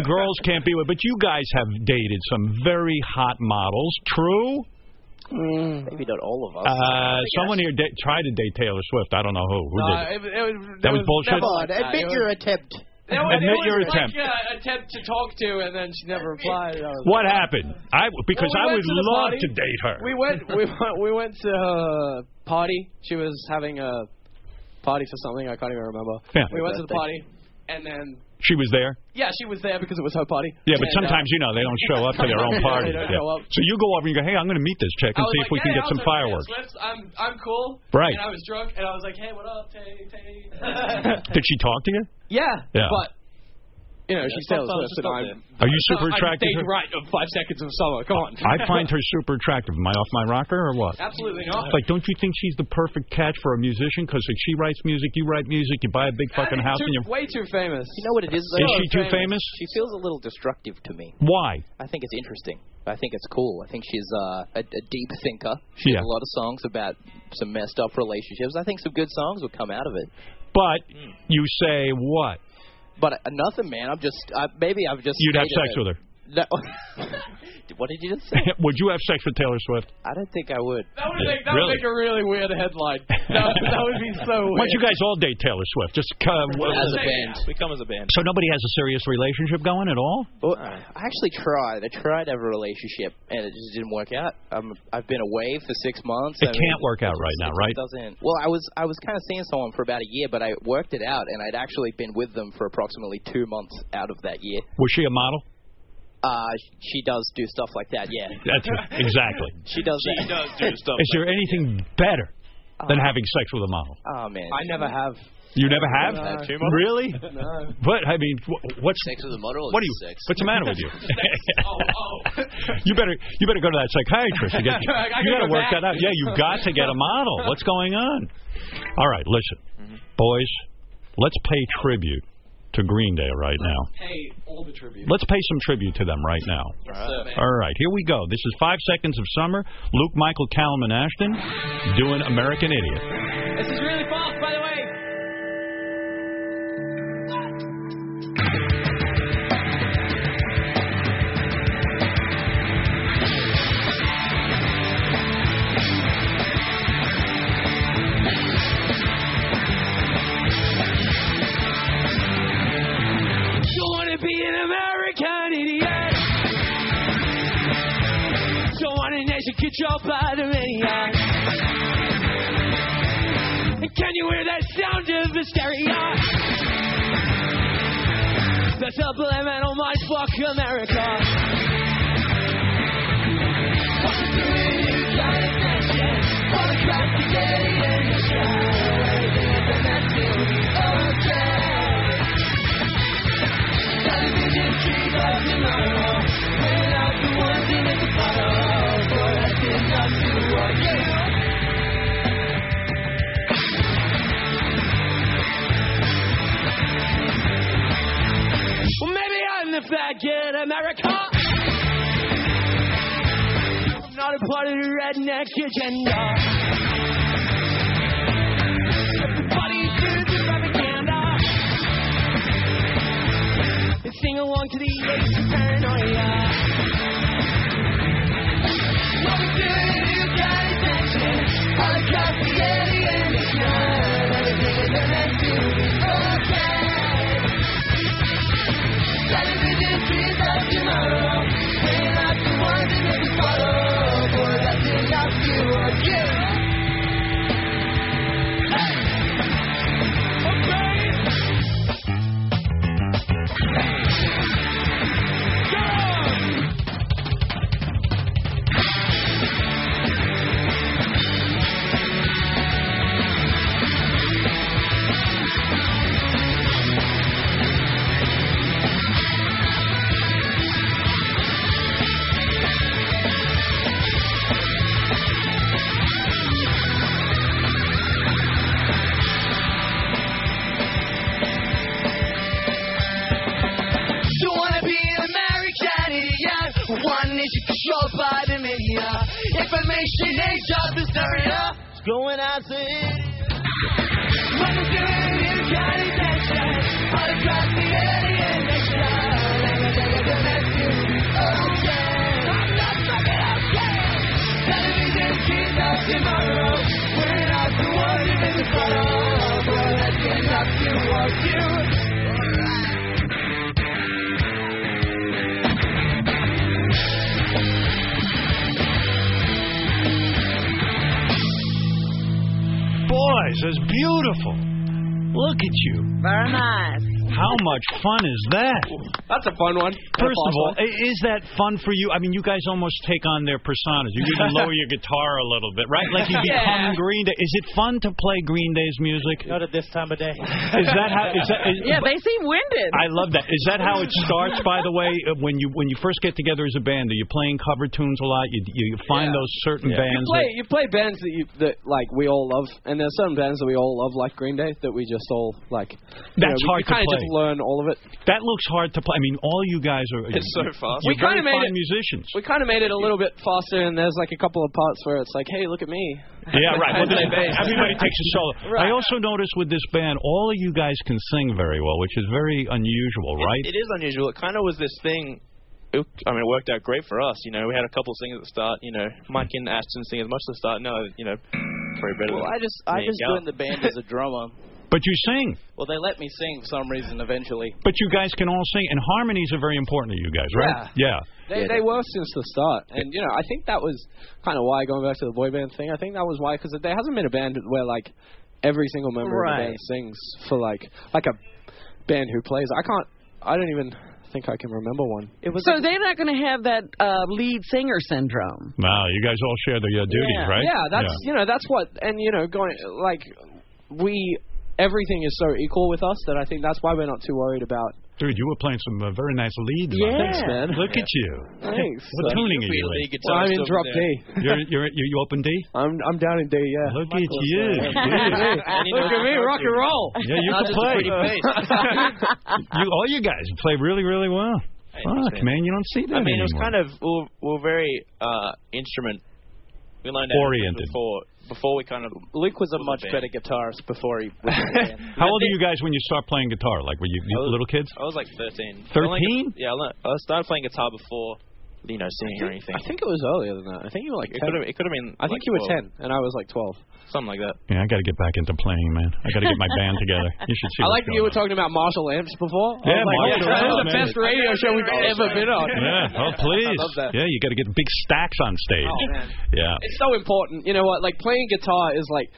girls can't be with, but you guys have dated some very hot models. True? Mm. Maybe not all of us. Uh, someone here da- tried to date Taylor Swift. I don't know who. Who No, did it? it, it was, That was was bullshit? Come on, admit your attempt. It was, Admit it was your like attempt. an attempt to talk to, and then she never replied. I was What like, happened? I because Well, we I went would to the love party. to date her. We went. We went. We went to her party. She was having a party for something. I can't even remember. Yeah. We went to the party, and then She was there. yeah, she was there because it was her party. Yeah, but And, sometimes you know they don't show up to their own Yeah, party. they don't Yeah. show up. So you go over and you go, hey, I'm going to meet this chick and I was see like, if we hey, can get how's some everything? fireworks. Swift? I'm I'm cool. Right. And I was drunk, and I was like, hey, what up, Tay Tay? Did she talk to you? Yeah. Yeah. But you know, she's Taylor Swift, and I'm. Are you super I'm attracted to Dave her? Wright of Five Seconds of Summer. Come on. I find her super attractive. Am I off my rocker or what? Absolutely not. Like, don't you think she's the perfect catch for a musician? Because if she writes music, you write music, you buy a big fucking house, too, and you're... way too famous. You know what it is, though? Is she too famous? She feels a little destructive to me. Why? I think it's interesting. I think it's cool. I think she's uh, a, a deep thinker. She Yeah. has a lot of songs about some messed up relationships. I think some good songs will come out of it. But you say what? But uh, nothing, man. I'm just uh, maybe I've just. You'd have stated sex it. with her. No. What did you just say? Would you have sex with Taylor Swift? I don't think I would. That would make that Really? would make a really weird headline. That, would- that would be so Why weird. don't you guys all date Taylor Swift? Just uh, As a band. We come as a band. So nobody has a serious relationship going at all? Well, I actually tried. I tried to have a relationship, and it just didn't work out. Um, I've been away for six months. It I mean, can't work out it right just- now, it right? Doesn't. Well, I was I was kind of seeing someone for about a year, but I worked it out, and I'd actually been with them for approximately two months out of that year. Was she a model? Uh, she does do stuff like that. Yeah. That's exactly. She does. She that. does do stuff. Is there anything better than having sex with a model? Oh man. I never have. You never have? No. Really? No. But I mean, wh- what's Sex with a model? what do you? Sex. What's the matter with you? Oh, oh. you better you better go to that psychiatrist. You, get, I you gotta got to go work back. that out. Yeah, you've got to get a model. What's going on? All right, listen, Mm-hmm. boys, let's pay tribute to Green Day right now. Hey, all the tribute. Let's pay some tribute to them right now. Yes, sir, man. All right, here we go. This is Five Seconds of Summer. Luke Michael Callum and Ashton doing American Idiot. This is really fast, by the way. Don't wanna be an American idiot. Don't want a nation controlled by the maniac. And can you hear that sound of hysteria? The subliminal mind fuck America. Well, maybe I'm the faggot America. I'm not a part of the redneck agenda. Everybody do the propaganda and sing along to the Ace of Paranoia. What we do, you got attention. All across the alien nation. Everything is meant to be okay. Television trees of tomorrow. We're not the ones in every photo. Boy, that's enough to work you. Hey! Don't wanna be an American idiot. One nation controlled by the media. Information age of hysteria. It's going as it is. What we're doing, you got attention. All across the alien nation. says, beautiful. Look at you. Very nice. How much fun is that? That's a fun one. First of all, is that fun for you? I mean, you guys almost take on their personas. You even lower your guitar a little bit, right? Like you become Yeah. Green Day. Is it fun to play Green Day's music? Not at this time of day. Is that how? Is that, is, Yeah, they seem winded. I love that. Is that how it starts? By the way, when you when you first get together as a band, are you playing cover tunes a lot? You you find Yeah. those certain Yeah. bands. You play, that, you play bands that you that like we all love, and there's certain bands that we all love, like Green Day, that we just all like. That's you know, hard we, to kind of play. just learn all of it. That looks hard to play. I mean, all you guys are. It's so fast. You're We kinda very made fine it- musicians. We kind of made it a little bit faster, and there's like a couple of parts where it's like, hey, look at me. Yeah, right. Well, Play then bass. everybody takes a solo. Right. I also noticed with this band, all of you guys can sing very well, which is very unusual, right? It, it is unusual. It kind of was this thing. It, I mean, it worked out great for us. You know, we had a couple of singers at the start. You know, Mike and Ashton sing as much at the start. No, you know, probably better. Well, than I just me I and just Gal. joined the band as a drummer. But you sing. Well, they let me sing for some reason eventually. But you guys can all sing, and harmonies are very important to you guys, right? Yeah. They Yeah, they were since the start, and you know I think that was kind of why, going back to the boy band thing. I think that was why, because there hasn't been a band where like every single member of Right. the band sings for like like a band who plays. I can't. I don't even think I can remember one. It was So they're not going to have that uh, lead singer syndrome. Wow, you guys all share the uh, duties, Yeah. right? Yeah, that's you know that's what, and you know going like we everything is so equal with us that I think that's why we're not too worried about. Dude, you were playing some uh, very nice leads. Yeah. man. Thanks, man. Look at you. Thanks. What So- tuning are you Really in? good Well, I'm in stuff drop there. D. You're, you're, you you open D? I'm I'm down in D. Yeah. Look at you. Look dude. at me. Look at me, rock and roll. Yeah, you Not can just a play. pretty face. you, all you guys play really, really well. Hey, Fuck, thanks, man, you don't see that I mean, it was anymore. kind of we were, we were very uh, instrument. We learned that Oriented. before before we kind of. Luke was a was a much band. better guitarist before he was in the band. How old are you guys when you start playing guitar? Like, were you, you I was- little kids? I was like thirteen. thirteen? Yeah, I, learned, I started playing guitar before, you know, singing or anything. I think it was earlier than that. I think you were like it ten. could have. It could have been. I think like you were twelve, ten, and I was like twelve. something like that. Yeah, I got to get back into playing, man. I got to get my band together. You should see. I what's like that going you were on. talking about Marshall amps before. I Yeah, was like, Marshall yeah, this is amps, the man. best radio show we've ever been on. Yeah, oh please. I love that. Yeah, you got to get big stacks on stage. Oh, man. Yeah. It's so important. You know what? Like playing guitar is like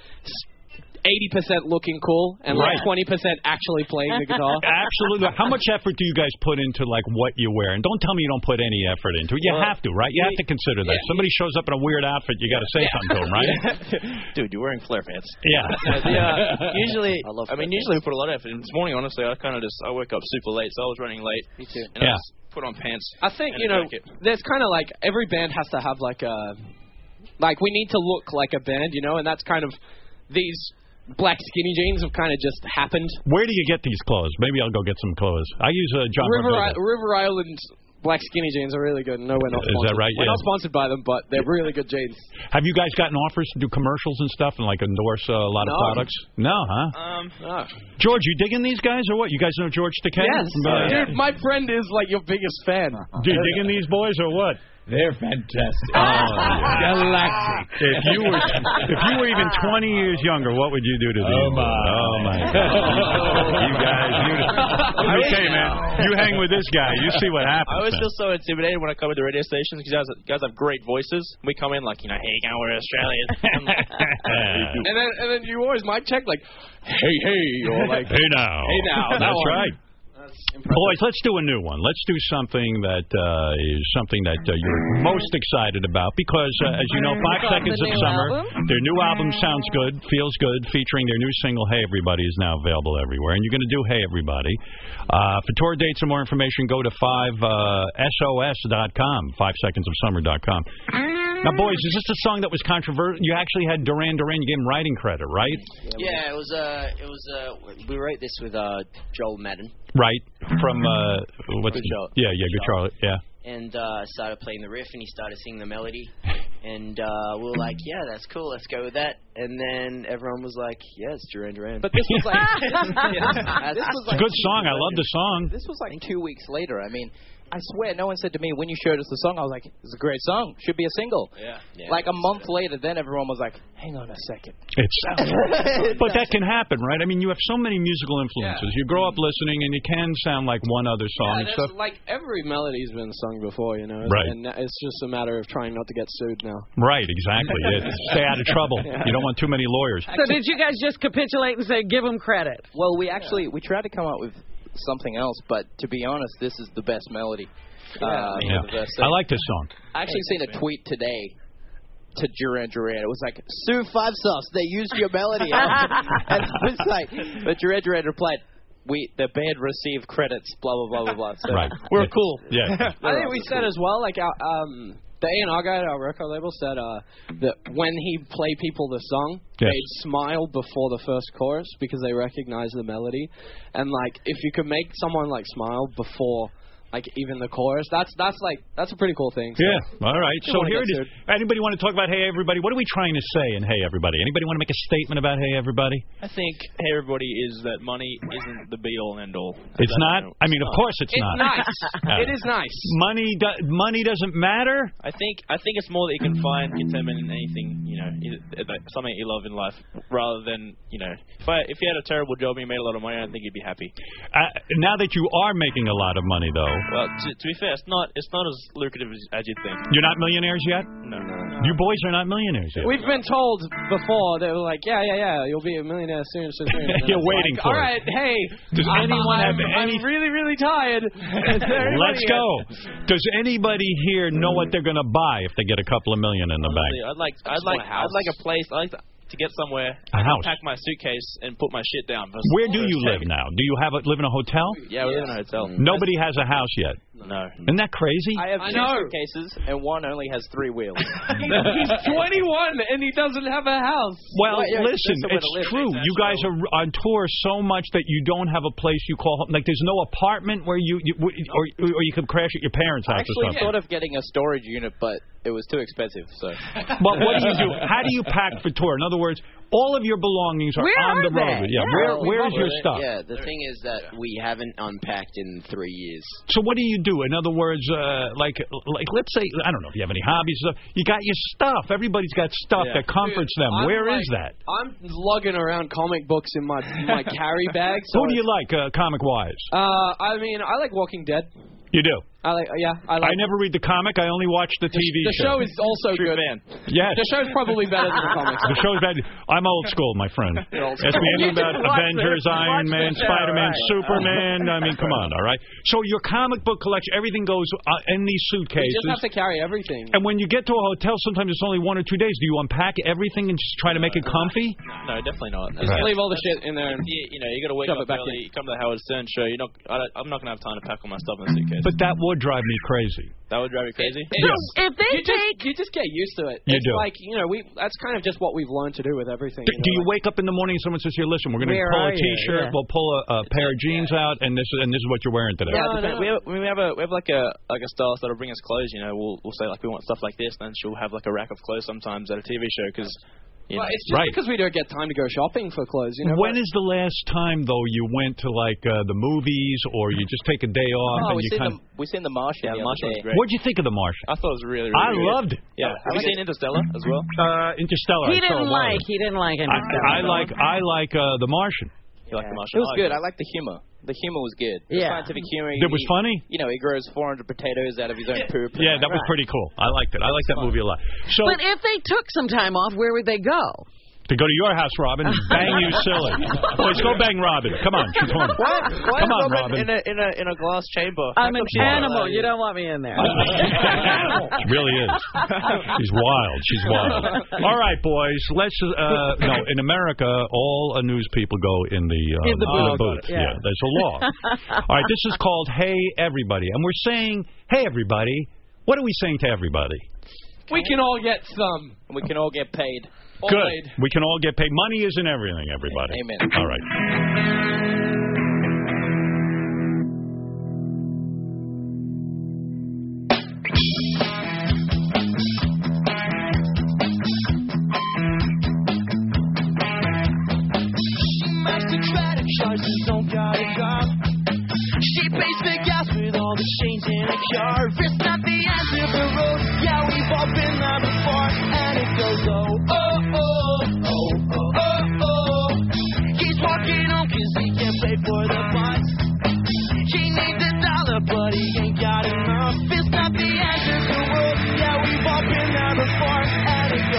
eighty percent looking cool and Right. like twenty percent actually playing the guitar. Absolutely. How much effort do you guys put into like what you wear? And don't tell me you don't put any effort into it. You Well, have to, right? You yeah, have to consider that. yeah. Somebody shows up in a weird outfit, you got to say something to them, right? Dude, you're wearing flare pants. Yeah. Yeah. Usually, I love I mean, flare usually we put a lot of effort. in. This morning, honestly, I kind of just I woke up super late, so I was running late. Me too. And Yeah. I just put on pants. I think and you a know jacket. there's kind of like every band has to have like a like we need to look like a band, you know, and that's kind of these black skinny jeans have kind of just happened. Where do you get these clothes? Maybe I'll go get some clothes. I use uh, John River Rodriguez. I- River Island black skinny jeans are really good. No, we're not Is that sponsored. right? We're Yeah. not sponsored by them, but they're really good jeans. Have you guys gotten offers to do commercials and stuff and like endorse uh, a lot No. of products? No, huh? Um, Oh. George, you digging these guys or what? You guys know George Takei? Yes, From, uh, dude, my friend is like your biggest fan. Do you digging these boys or what? They're fantastic. Oh, yeah. Galactic. If you were if you were even twenty years younger, what would you do to these? Oh, my. Oh my God! You guys, you, okay, man. You hang with this guy, you see what happens. I always man. feel so intimidated when I come to the radio stations because guys, guys have great voices. We come in like, you know, hey, gang, we're Australian. I'm like, And then and then you always mic check like, hey hey, or like, Hey now. Hey now, that That's one. right. Boys, let's do a new one. Let's do something that uh, is something that uh, you're most excited about because, uh, as you know, Five From Seconds the of new Summer, album? their new album sounds good, feels good, featuring their new single, Hey Everybody, is now available everywhere. And you're going to do Hey Everybody. Uh, for tour dates and more information, go to five S O S dot com, five seconds of summer dot com. Now, boys, is this a song that was controversial? You actually had Duran Duran. You gave him writing credit, right? Yeah, it was. Uh, it was. Uh, we wrote this with uh, Joel Madden, Right. From, uh, what's Good the, Charlotte. Yeah, yeah, Good Charlotte, yeah. and uh, I started playing the riff, and he started singing the melody, and uh, we were like, "Yeah, that's cool. Let's go with that." And then everyone was like, "Yeah, it's Duran Duran." But this was like, this, Yeah. this was It's like a good two song. I weeks love the later. song. This was like two weeks later. I mean, I swear, no one said to me, when you showed us the song, I was like, it's a great song. Should be a single. Yeah. yeah like a month later, then everyone was like, hang on a second. It's, but that can happen, right? I mean, you have so many musical influences. Yeah. You grow up listening, and you can sound like one other song yeah, and stuff. Like, every melody's been sung before, you know? Right. And it's just a matter of trying not to get sued now. Right, exactly. Yeah, stay out of trouble. Yeah. You don't want too many lawyers. So did you guys just capitulate and say, give them credit? Well, we actually, we tried to come up with something else, but to be honest, this is the best melody. Yeah. Uh, yeah. the best I like this song. I actually seen a tweet today to Duran Duran. It was like, sue Five Sauce, they used your melody. And it was like, but Duran Duran replied, we, the band received credits, blah, blah, blah, blah, blah. So right. we're yeah. cool. Yeah. I think we said as well, like, our, um, the A and R guy at our record label said uh, that when he played people the song, yes. they'd smile before the first chorus because they recognize the melody. And, like, if you could make someone, like, smile before... like even the chorus, that's that's like that's a pretty cool thing. So. Yeah. All right. So here it is. Anybody want to talk about Hey Everybody? What are we trying to say in Hey Everybody? Anybody want to make a statement about Hey Everybody? I think Hey Everybody is that money isn't the be all and end all. It's not. I mean, of course it's, it's not. Nice. uh, it is nice. Money. Do, money doesn't matter. I think. I think it's more that you can find contentment in anything. You know, something you love in life, rather than you know. If I if you had a terrible job and you made a lot of money, I don't think you'd be happy. Uh, now that you are making a lot of money, though. Well, to, to be fair, it's not it's not as lucrative as, as you'd think. You're not millionaires yet? No, no, no. You boys are not millionaires yet. We've been told before, they were like, yeah, yeah, yeah, you'll be a millionaire soon, soon, soon. You're waiting like, for all it. right, hey. Does I'm, anyone I'm, have any... I'm really, really tired. Let's go. Does anybody here know what they're going to buy if they get a couple of million in the Honestly, bank? I'd like, I'd like, I'd like a place. I'd like to, to get somewhere. A house. Pack my suitcase and put my shit down. Where do you live now? Do you have a, live in a hotel? Yeah, we live in a hotel. Nobody has a house yet. No. Isn't that crazy? I have I two know. suitcases, and one only has three wheels. He's twenty-one, and he doesn't have a house. Well, well yeah, listen, it's true. You guys are on tour so much that you don't have a place you call home. Like, there's no apartment where you, you or, or you could crash at your parents' house I actually or something. thought of getting a storage unit, but it was too expensive. So. But what do you do? How do you pack for tour? In other words, all of your belongings are where on are the road. they? Yeah. yeah. Where Where's your the, stuff? Yeah. The thing is that we haven't unpacked in three years. So what do you do? In other words, uh, like, like let's say, I don't know if you have any hobbies. Stuff. You got your stuff. Everybody's got stuff Yeah. that comforts Dude, them. I'm Where like, is that? I'm lugging around comic books in my my carry bag. So Who do you like, uh, comic-wise? Uh, I mean, I like Walking Dead. You do? I like, yeah, I like. I never read the comic. I only watch the T V the show. The show is also True good. fan. Yes. The show's probably better than the comics. The show's bad. I'm old school, my friend. old Ask me anything about Watch Avengers, the- Iron watch Man, the show, Spider-Man, right. Superman. I mean, come on, all right? So your comic book collection, everything goes uh, in these You suitcases. just have to carry everything. And when you get to a hotel, sometimes it's only one or two days. Do you unpack everything and just try to make it comfy? No, definitely not. Just Right. leave all the shit in there. And You, you know, you got to wake Shove up it back early. in. You come to the Howard Stern show. You're not. I don't, I'm not gonna have time to pack all my stuff in a suitcase. But that would drive me crazy. that would drive you crazy. Yeah. If they you take... just you just get used to it. You it's do. like, you know, we that's kind of just what we've learned to do with everything. Do, you know, do you like, wake up in the morning and someone says, "Here, listen, we're going to Where pull are a you?" T-shirt, Yeah. we'll pull a, a pair of jeans out, and this and this is what you're wearing today." Yeah, No, depend- no. we have we have a we have like a like a stylist that'll bring us clothes. You know, we'll we'll say like we want stuff like this, then she'll have like a rack of clothes sometimes at a T V show because. You Well, know, it's just Right. because we don't get time to go shopping for clothes. You know. When but- is the last time though you went to like uh, the movies, or you just take a day off Oh, and we you seen kind the we seen the Martian yeah, the Martian other was day. great. What'd you think of The Martian? I thought it was really really. I good. loved it. Yeah, have you seen Interstellar as well? Uh, Interstellar. He I saw didn't a while like. ago. He didn't like I, Interstellar. I like I like uh, The Martian. You like the It Martian? was good. I like the humor. The humor was good. The Yeah. scientific humor. It was he- funny. You know, he grows four hundred potatoes out of his own poop. Yeah, that was pretty cool. I liked it. I liked that movie a lot. So But if they took some time off, where would they go? to go to your house, Robin, and bang you silly. Boys, go bang Robin. Come on, she's horny. Why, why Come is on, Robin, Robin. in a in a in a glass chamber? I'm How an come she's not animal. allowed You in? don't want me in there. She really is. She's wild. She's wild. All right, boys. Let's. Uh, no, in America, all uh, news people go in the uh, In the booth. booth. Yeah. Yeah, there's a law. All right, this is called Hey Everybody, and we're saying, Hey Everybody. What are we saying to everybody? we can all get some. We can all get paid. All Good. paid. We can all get paid. Money isn't everything, everybody. Amen. All right. She pays big gas with all the chains in a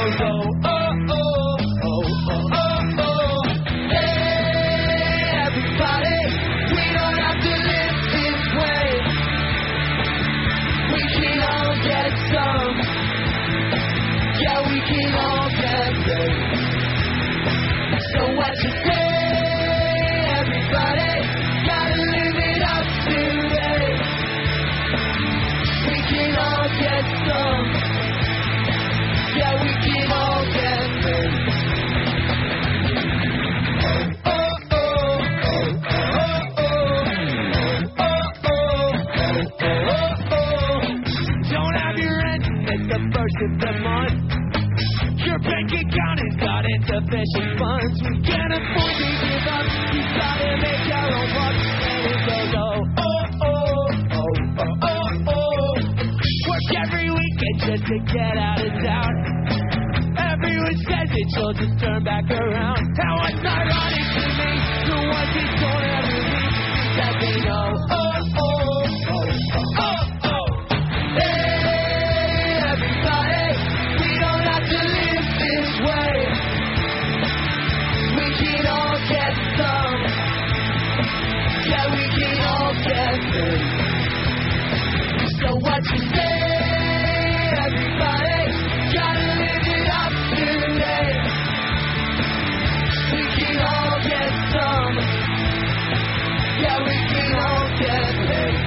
goes, oh, oh, oh, oh, oh, oh, oh. Hey, everybody, we don't have to live this way. We can all get some. Yeah, we can all get paid. So what you say, everybody? Gotta live it up today. We can all get some. Yeah, we can all get paid. Oh, oh, oh, oh, oh, oh, oh, oh, oh, oh. Don't have your rent at the first of the month. Your bank account has got insufficient funds. We can't afford to give up. We gotta make our own bucks. And it goes, oh, oh, oh, oh, oh, oh, oh. Work every weekend just to get out of town. Everyone says it, you'll just turn back around. How it's ironic to me, the ones who don't ever leave, that they know, oh, oh, oh, oh, oh, oh. Hey, everybody, we don't have to live this way. We can all get some. Yeah, we can all get some. So what you say, everybody? Gotta live it up today. We can all get some. Yeah, we can all get paid.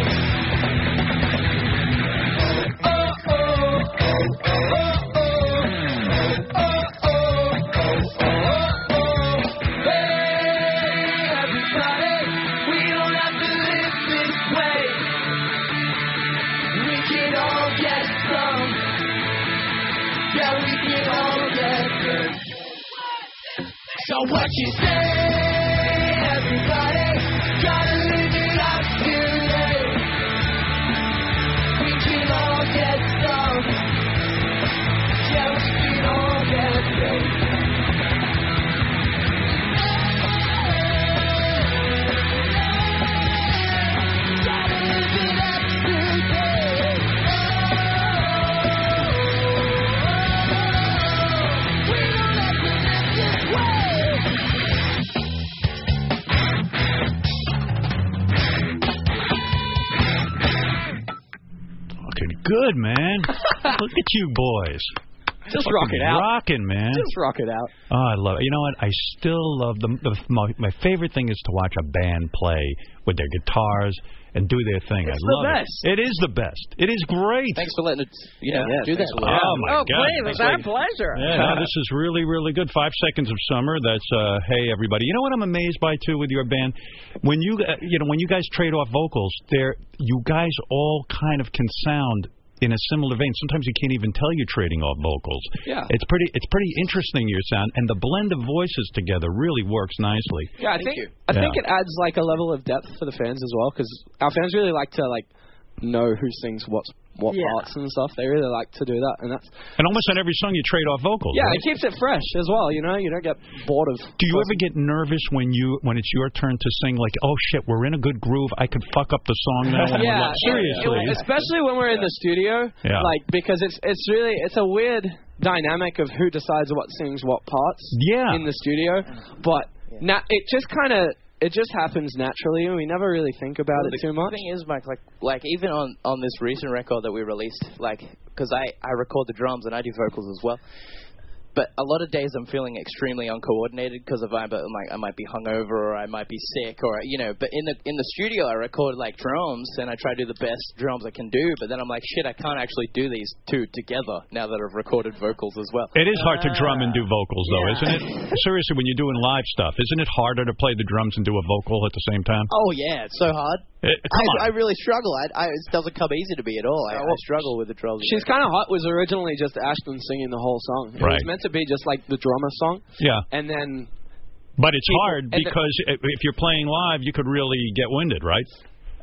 Oh, oh, oh, oh, oh, oh, oh, oh, oh, oh. Hey, everybody, we don't have to live this way. We can all get some. Yeah, we can all get good. So what you say, everybody? Gotta live it up today. We can all get some. Yeah, we can all get good. Gotta live it up today. We don't have to live this way. Looking good, man. Look at you boys. Just rock it out. Rocking, man. Just rock it out. Oh, I love it. You know what? I still love them. The, my, my favorite thing is to watch a band play with their guitars and do their thing. It's I the love best. it. It is the best. It is great. Thanks for letting it, you know, Yeah, do that. Oh, my Oh, God. please, it's our pleasure. Yeah, no, this is really, really good. Five Seconds of Summer. That's uh, hey everybody. You know what I'm amazed by too with your band? When you uh, you know when you guys trade off vocals, there you guys all kind of can sound in a similar vein. Sometimes you can't even tell you're trading off vocals. Yeah. It's pretty it's pretty interesting your sound, and the blend of voices together really works nicely. Yeah, I Thank think you. I Yeah. think it adds like a level of depth for the fans as well, because our fans really like to like know who sings what what Yeah. parts and stuff. They really like to do that, and that's And almost on every song you trade off vocals. yeah, right? it keeps it fresh as well. You know, you don't get bored of. Do you ever get nervous when you when it's your turn to sing? Like, oh shit, we're in a good groove. I could fuck up the song now. And Yeah, I'm like, seriously. it- especially when we're in the studio, Yeah. like because it's it's really it's a weird dynamic of who decides what sings what parts Yeah. in the studio, but na- it just kind of it just happens naturally, and we never really think about Well, it the too much. thing is, Mike, like, like even on, on this recent record that we released, like, because I, I record the drums and I do vocals as well. But a lot of days I'm feeling extremely uncoordinated because of I, but like I might be hungover or I might be sick or you know. But in the in the studio I record like drums and I try to do the best drums I can do. But then I'm like, shit, I can't actually do these two together now that I've recorded vocals as well. It is hard to drum and do vocals, though, Yeah. isn't it? Seriously, when you're doing live stuff, isn't it harder to play the drums and do a vocal at the same time? Oh yeah, it's so hard. It, come on. I, I really struggle. I, I, it doesn't come easy to me at all. I, I struggle with the drums. She's Kind of Hot was originally just Ashton singing the whole song. It Right. was meant to be just like the drummer song. Yeah. And then But it's People- hard and the- because if you're playing live, you could really get winded, right?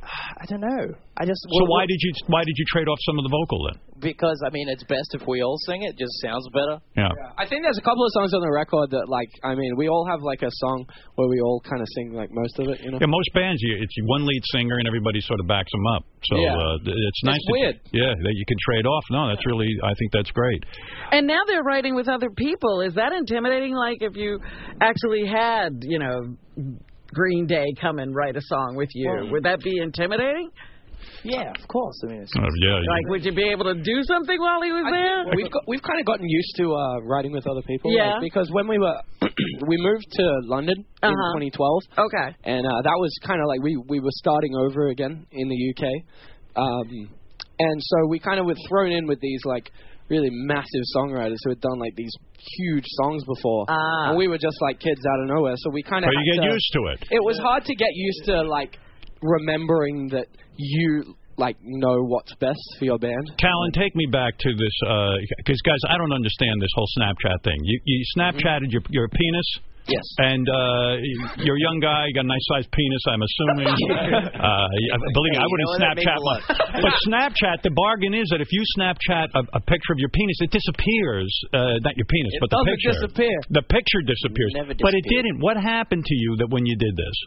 I don't know. I just. So why did you why did you trade off some of the vocal then? Because I mean, it's best if we all sing it. It just sounds better. Yeah. yeah. I think there's a couple of songs on the record that, like, I mean, we all have like a song where we all kind of sing like most of it. You know. Yeah, most bands, you, it's one lead singer and everybody sort of backs them up. So yeah. uh, it's nice. It's weird. To, yeah, that you can trade off. No, that's really. I think that's great. And now they're writing with other people. Is that intimidating? Like if you actually had, you know, Green Day come and write a song with you, well, would that be intimidating? Yeah, of course. I mean, it's uh, yeah, like, would you be able to do something while he was I there? We've got, we've kind of gotten used to uh, writing with other people. Yeah. Like, because when we were we moved to London uh-huh. in twenty twelve. Okay. And uh, that was kind of like we we were starting over again in the U K, um, and so we kind of were thrown in with these like really massive songwriters who had done like these huge songs before, ah. and we were just like kids out of nowhere. So we kind of. But you get to, used to it. It was hard to get used to like remembering that you like know what's best for your band. Callan, take me back to this because uh, guys, I don't understand this whole Snapchat thing. You, you Snapchatted mm-hmm. your your penis. Yes. And uh, you're a young guy, you got a nice sized penis, I'm assuming. uh, believe me, I wouldn't Snapchat one. But Snapchat, the bargain is that if you Snapchat a, a picture of your penis, it disappears. Uh, not your penis, it but the doesn't picture. disappear. The picture disappears. Never but it didn't. What happened to you that when you did this?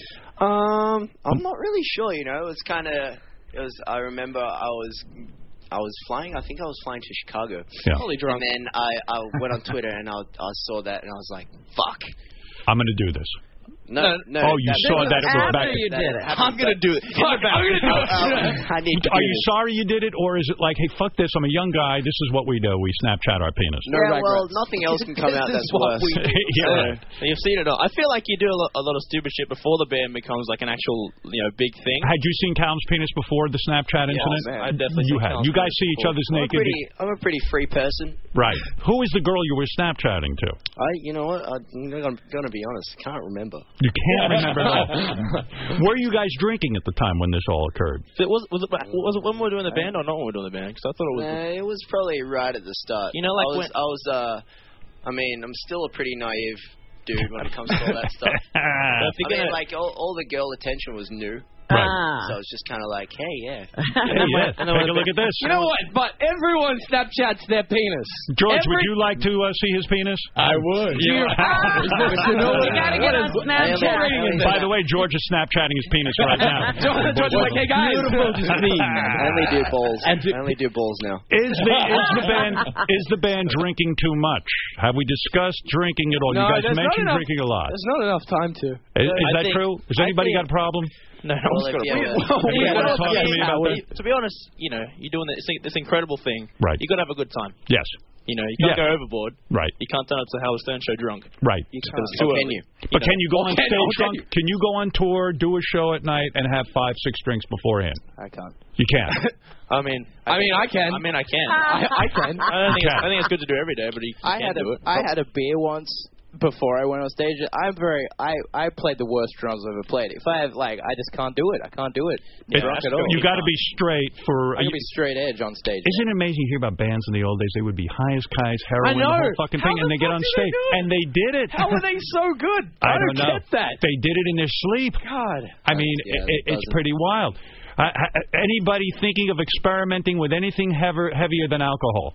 Um, I'm not really sure, you know. It was kind of, it was, I remember I was... I was flying. I think I was flying to Chicago. Yeah. Totally drunk. And then I, I went on Twitter and I, I saw that and I was like, "Fuck, I'm going to do this." No, no. Oh, you saw that it was back. After you did it. I'm gonna do it. Fuck, I'm gonna do it. I need to Are do you this. sorry you did it, or is it like, hey, fuck this, I'm a young guy, this is what we do, we Snapchat our penis? No, Yeah, well, regrets. nothing else can come out that's worse. Yeah, right. You've seen it all. I feel like you do a lot, a lot of stupid shit before the band becomes like an actual, you know, big thing. Had you seen Callan's penis before the Snapchat incident? man. I definitely You seen have. Callan's You guys penis see each before. other's I'm a naked? pretty, I'm a pretty free person. Right. Who is the girl you were Snapchatting to? I, you know what? I'm gonna, gonna be honest. Can't remember. You can't remember that. Were you guys drinking at the time when this all occurred? So it was, was, it, was it when we were doing the band or not when we were doing the band? Because I thought it was... Uh, it was probably right at the start. You know, like I was, when- I was, uh, I mean, I'm still a pretty naive dude when it comes to all that stuff. if I you're mean, gonna- like, all, all the girl attention was new. Right. Ah. So I was just kind of like, hey, yeah. Hey, yeah. Take a look at this. You know what? But everyone Snapchats their penis. George, Every... would you like to uh, see his penis? I would. Yeah. You gotta get on Snapchat. By the way, George is Snapchatting his penis right now. George, George is like, hey guys. Beautiful to see. I only do balls. I only do balls now. Is the is the band is the band drinking too much? Have we discussed drinking at all? No, you guys there's not mentioned enough- drinking a lot. There's not enough time to. Is, is I that think- true? Has I anybody think- got a problem? No, no Well, one's if got a you problem. ever- You Yeah, want to well, talk to me yeah, about but that? To be honest, you know, you're doing this, this incredible thing. Right. You got to have a good time. Yes. You know, you can't Yeah. go overboard. Right. You can't turn up to the Howard Stern show drunk. Right. You can't. It's too Or early. can you? But know. can you go on Can- stage or can drunk? you? Can you go on tour, do a show at night, and have five, six drinks beforehand? I can't. You can't. I mean, I mean, I can. I mean, I can. I, I can. I don't think it's, Okay. I think it's good to do every day, but you, you I can't had a do it. I had a beer once before I went on stage. I'm very I I played the worst drums I've ever played. If I have like I just can't do it. I can't do it. It- Drunk at all. you got to be straight for. I can be straight edge on stage. Isn't it amazing to hear about bands in the old days? They would be high as kites, heroin, I know. the whole fucking How thing, and the they get fuck on do they stage, do it? and they did it. How are they so good? I, I don't know. get that. They did it in their sleep. God. I mean, Yeah, it, it it's doesn't. pretty wild. Uh, uh, anybody thinking of experimenting with anything heavier, heavier than alcohol?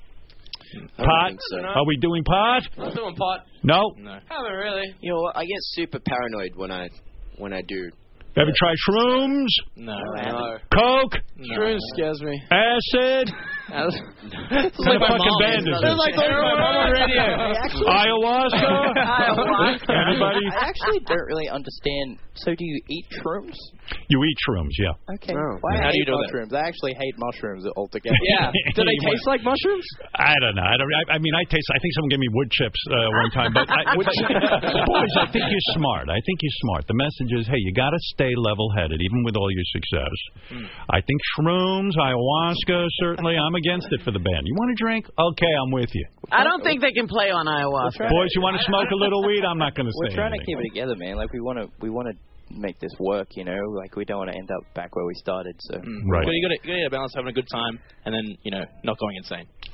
I don't Pot? think so. Are we doing pot? I'm doing pot. No. No. Haven't really. You know what? I get super paranoid when I when I do. Ever try shrooms? No. No. Coke? Shrooms scares me. Acid? That's What kind of fucking band is They're this? like heroin on the radio. Ayahuasca? Ayahuasca. Anybody? I actually don't really understand. So do you eat shrooms? You eat shrooms, yeah. Okay. Oh. Why How I do you hate do that? mushrooms. I actually hate mushrooms altogether. Yeah. Do they taste like mushrooms? I don't know. I don't. I, I mean, I taste. I think someone gave me wood chips uh, one time. But, I, but boys, I think you're smart. I think you're smart. The message is, hey, you got to stay level-headed, even with all your success. Mm. I think shrooms, ayahuasca, certainly. I'm against it for the band. You want to drink? Okay, I'm with you. I don't think they can play on ayahuasca. Boys, you want to smoke a little weed? I'm not going to We're say trying to anything. keep it together, man. Like we want to, we want to make this work. You know, like we don't want to end up back where we started. So. Mm. Right. You got to balance having a good time and then, you know, not going insane.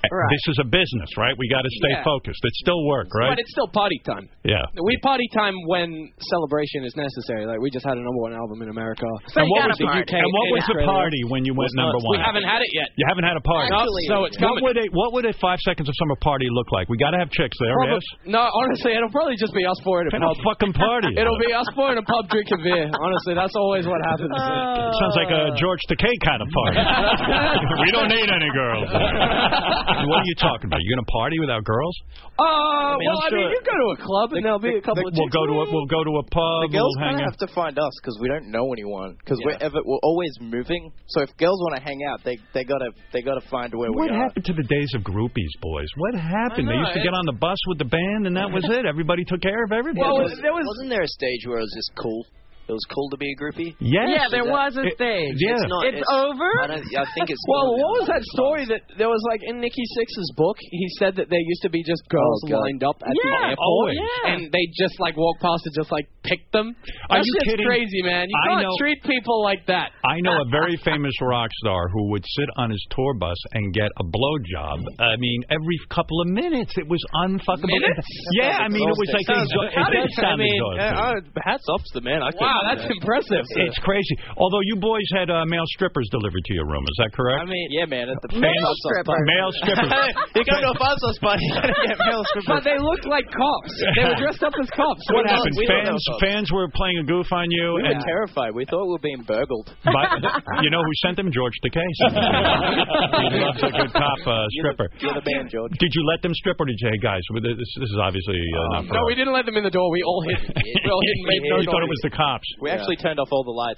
Right. This is a business, right? We got to stay Yeah. focused. It's still work, right? But it's still party time. Yeah. We party time when celebration is necessary. Like, we just had a number one album in America. And what was, the the, U K and what was the Australia. party when you went Well, number we one? haven't had it yet. You haven't had a party. Actually, so it's coming. What would a what would a five seconds of summer party look like? We got to have chicks there. Probably- Yes. No, honestly, it'll probably just be us four in a Kind pub. of fucking party. It'll be us four in a pub drinking beer. Honestly, that's always what happens. Sounds like a George Takei kind of party. We don't need any girls. What are you talking about? You gonna party without girls? Uh, I mean, well, I'm I mean, sure- you go to a club and there'll be a couple of We'll chicks go to a there. we'll go to a pub. The girls we'll hang kind of out. have to find us because we don't know anyone. Because Yeah. we're ever we're always moving. So if girls want to hang out, they they gotta they gotta find where What we are. happened to the days of groupies, boys? What happened? I They know, used to get on the bus with the band, and that was it. Everybody took care of everything. Well, was, there was, wasn't there a stage where it was just cool? It was cool to be a groupie. Yes. Yeah, there Is that- was a It- stage. yeah. It's not. It's It's, over? I, don't, I think it's. Well, what was that story that there was like in Nikki Sixx's book? He said that there used to be just girls Oh, God. lined up at Yeah, the airport, always. Yeah. and they just like walk past and just like pick them. Are That you shit's kidding? crazy, man. You I can't know- treat people like that. I know a very famous rock star who would sit on his tour bus and get a blowjob. I mean, every couple of minutes. It was unfuckable. Minutes? Yeah, I mean, it was like Sounds exo- How it did- does sound I mean, exhausting. uh, hats off to the man. I wow, that's impressive. It's crazy. Although you boys had uh, male strippers delivered to your room, is that correct? I mean, yeah, man. At the Male fans- strippers. Male strippers. you go to a fast sauce party, you gotta get male strippers. But they looked like cops. They were dressed up as cops. What We don't- happened? we don't Fans, know. fans were playing a goof on you, We and were terrified. We thought we were being burgled. but you know who sent them? George Takei. sent them. He loves a good cop uh, stripper. You're the man, George. Did you let them strip, or did you say, hey guys, this, this is obviously uh, not for No, us. we didn't let them in the door. We all hid. We all hid and made no You thought it noise. was the cops. We actually turned off all the lights.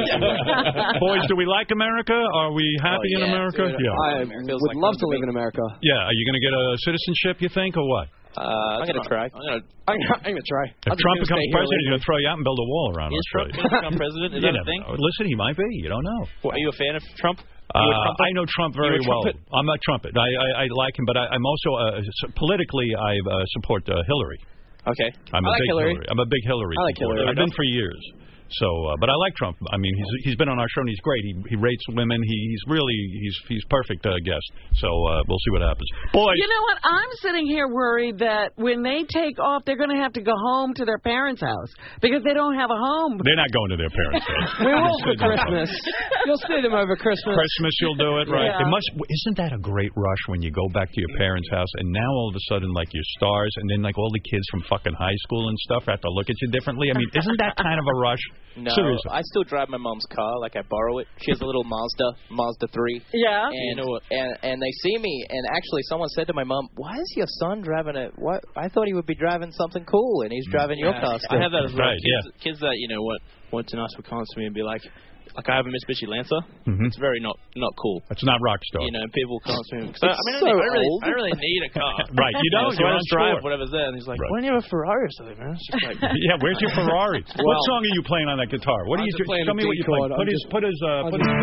Boys, do we like America? Are we happy Oh, in yeah, America? dude. Yeah. I Feels would like love home to to live me. in America. Yeah. Are you going to get a citizenship, you think, or what? Uh, I'm gonna try. I'm gonna. I'm gonna, I'm gonna try. If I'm just Trump gonna becomes stay here president, he's going to throw you out and build a wall around Is Trump Australia. going to become president? Is You that a never thing? know. Listen, he might be. You don't know. What, are you a fan of Trump? Uh, You a Trumper? I know Trump very You a well. trumpet? I'm not trumpet. I, I, I like him, but I, I'm also uh, s- politically I uh, support uh, Hillary. Okay. I'm I a like big Hillary. I'm a big Hillary. I like supporter. Hillary. I've been for years. So, uh, but I like Trump. I mean, he's he's been on our show and he's great. He he rates women. He, he's really he's he's perfect uh, guest. So uh, we'll see what happens. Boys, You know what? I'm sitting here worried that when they take off, they're going to have to go home to their parents' house because they don't have a home. they're not going to their parents' house. We will for Christmas. You'll see them over Christmas. Christmas, you'll do it, right? Yeah. It must. Isn't that a great rush when you go back to your parents' house and now all of a sudden, like, you're stars, and then like all the kids from fucking high school and stuff have to look at you differently? I mean, isn't that kind of a rush? No, Seriously. I still drive my mom's car. Like I borrow it. She has a little Mazda, Mazda three. Yeah. And, You know what? and and they see me, and actually someone said to my mom, "Why is your son driving a? What? I thought he would be driving something cool, and he's driving your Yeah, car." I Still. have that as well. Right, kids, kids that you know what want to ask for comments to me and be like, like I have a Mitsubishi Lancer. Mhm. It's very not not cool. That's not rock star. You know, people come to me. 'cause I, I mean, I, so don't, I, don't really, old. I don't really need a car. Right, you don't. So You're I on just drive tour. whatever's there, and he's like, Right. "Why don't you have a Ferrari or something, man?" It's just like, Yeah, where's your Ferrari? what Well- song are you playing on that guitar? What are I'm you just playing Show a me what D you play. chord. Put I'm his, just- put his, uh, I'm put his.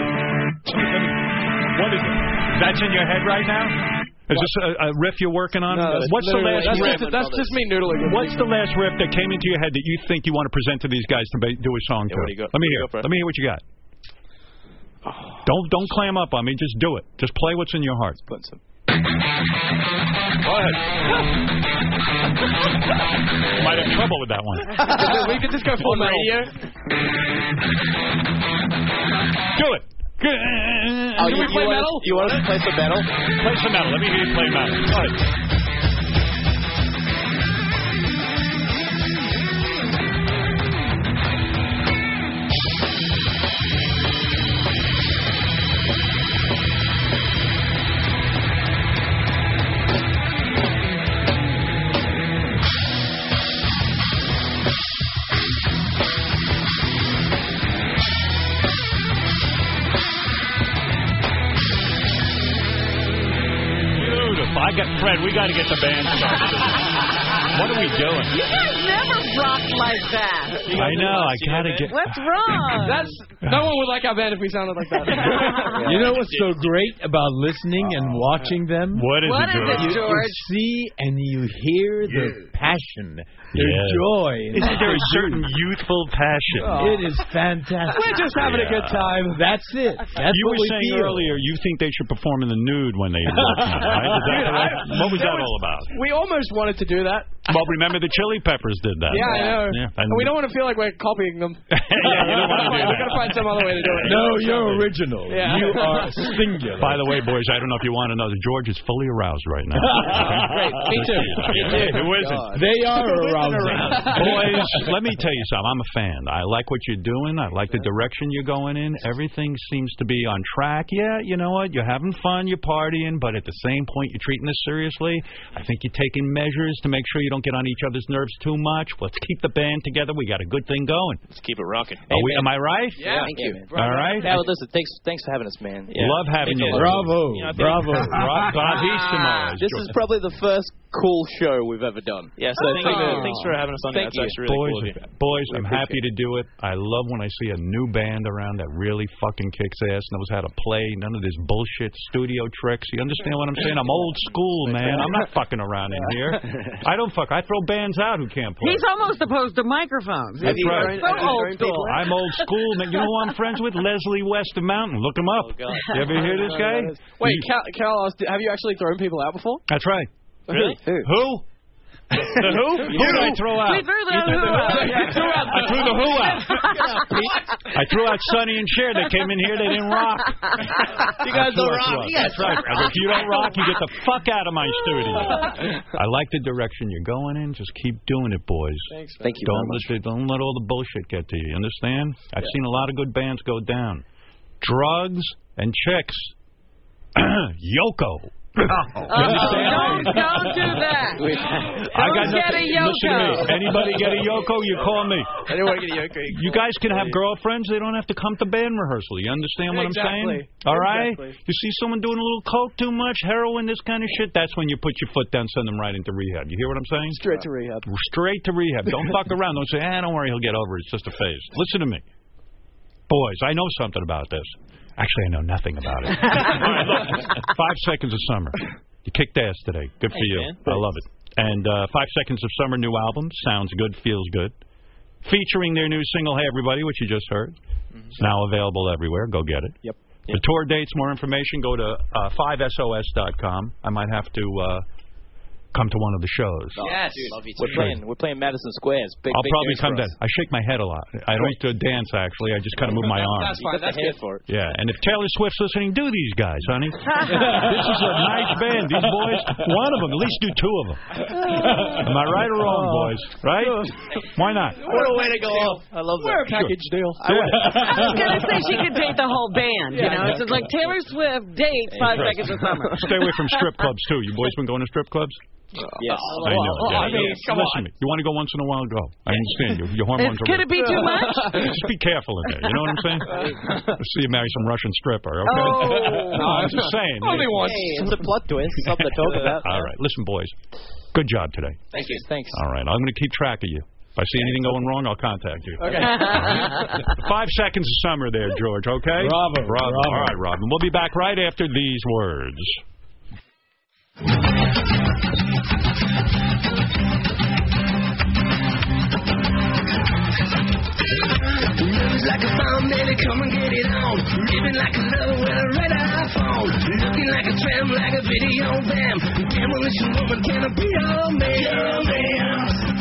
What is it? That's in your head right now? Is this a, a riff you're working on? No, that's What's the literally- last that's riff? Just, that's just me noodling. What's the last riff that came into your head that you think you want to present to these guys to ba- do a song Yeah, to? what do you got? Let me What do you hear. got for it? Let me hear what you got. Don't don't clam up on me. Just do it. Just play what's in your heart. Put some. Go ahead. Might have trouble with that one. We could just go full on metal. radio. Do it. Oh, Do we play want metal? Us, you want us to play some metal? Play some metal. Let me hear you play metal. Go ahead. Beautiful. I got Fred. We got to get the band started. What are we doing? You guys never rock like that. I know. I gotta get. What's wrong? That's no one would like our band if we sounded like that. You know what's so great about listening and watching them? What is What it, is George? it, You, George? you see and you hear the passion, their Yeah. joy. Isn't there a certain youthful passion? It is fantastic. We're just having a good time. That's it. That's you what were we saying feel. earlier you think they should perform in the nude when they work now, right? Is that correct? What was that all about? We almost wanted to do that. Well, remember the Chili Peppers did that. Yeah, I know. Yeah, And we don't want to feel like we're copying them. yeah, you don't want to do We're that. going to find some other way to do it. No, you're original. Yeah. You are singular. By the way, boys, I don't know if you want to know that George is fully aroused right now. Great. Me too. Me too. Who isn't? They are arousing. Boys, let me tell you something. I'm a fan. I like what you're doing. I like the direction you're going in. Everything seems to be on track. Yeah, you know what? You're having fun. You're partying. But at the same point, you're treating this seriously. I think you're taking measures to make sure you don't get on each other's nerves too much. Let's keep the band together. We got a good thing going. Let's keep it rocking. Are we, am I right? Yeah, thank you. All right. Yeah, well, listen, thanks, thanks for having us, man. Yeah. Love having you. Bravo. You know, I think- Bravo. Bravissimo. This is probably the first cool show we've ever done. Yeah, so thank you. Thanks for having us on. Thank That's you. actually really boys, cool of you. boys, I'm appreciate happy to do it. I love when I see a new band around that really fucking kicks ass, knows how to play, none of this bullshit studio tricks. You understand what I'm saying? I'm old school, man. I'm not fucking around in here. I don't fuck. I throw bands out who can't play. He's almost opposed to microphones. That's He's right. so old school. I'm old school, man. You know who I'm friends with? Leslie West of Mountain. Look him up. God. You ever hear this guy? Wait, You- Cal, Cal asked, have you actually thrown people out before? That's right. Really? Who? Who? The who? Who did I throw out? We threw the who out. I threw out. I threw the who out. I threw out Sonny and Cher. They came in here. They didn't rock. You guys don't rock. You That's right. If you don't rock, you get the fuck out of my studio. I like the direction you're going in. Just keep doing it, boys. Thanks. Thank you. Don't let, don't let all the bullshit get to you. You understand? I've seen a lot of good bands go down. Drugs and chicks. Yoko. Oh, don't, don't do that. I got Don't get nothing. a Listen to me. Yoko. Anybody get a Yoko, you call me. I didn't want to get a Yoko. You guys can have girlfriends. They don't have to come to band rehearsal. You understand what Exactly. I'm saying? All right? Exactly. You see someone doing a little coke too much, heroin, this kind of shit, that's when you put your foot down, send them right into rehab. You hear what I'm saying? Straight to rehab. Straight to rehab. Don't fuck around. Don't say, ah, don't worry, he'll get over it. It's just a phase. Listen to me. Boys, I know something about this. Actually, I know nothing about it. All right, look. Five Seconds of Summer. You kicked ass today. Good for Thanks, you. man. I love it. And uh, Five Seconds of Summer, new album. Sounds good, feels good. Featuring their new single, Hey Everybody, which you just heard. Mm-hmm. It's now available everywhere. Go get it. Yep. The tour dates, more information, go to uh, five S O S dot com. I might have to uh, come to one of the shows. Yes. We're playing. We're playing Madison Square. It's big. I'll big probably news come for down. us. I shake my head a lot. I don't do dance, actually. I just kind of move my arms. That's fine. That's Head good. for it. Yeah, and if Taylor Swift's listening, do these guys, honey. This is a nice band. These boys, one of them, at least do two of them. Am I right or wrong, boys? Right? Why not? What a way to go off. I love that. We're a package deal. I was going to say she could date the whole band. You know, it's just like Taylor Swift dates Five Seconds of Summer. Stay away from strip clubs, too. You boys been going to strip clubs? Yes. I know. Oh, yeah, I mean, yeah. come Listen to me. You want to go once in a while, go. I understand. Your, your hormones are... Could it be too much? Just be careful in there. You know what I'm saying? Let's see you marry some Russian stripper, okay? Oh. No, I'm just saying. Only once. Hey, it's a plot twist. Something to talk about. All right. Listen, boys. Good job today. Thank you. Thanks. All right. I'm going to keep track of you. If I see anything going wrong, I'll contact you. Okay. Five Seconds of Summer there, George, okay? Bravo. Bravo. Bravo. All right, Robin. We'll be back right after these words. Love's like a bomb, baby, come and get it on. Living like a lover with a red iPhone. Looking like a tramp, like a video bam. Demolition woman, can I be your man? Your man.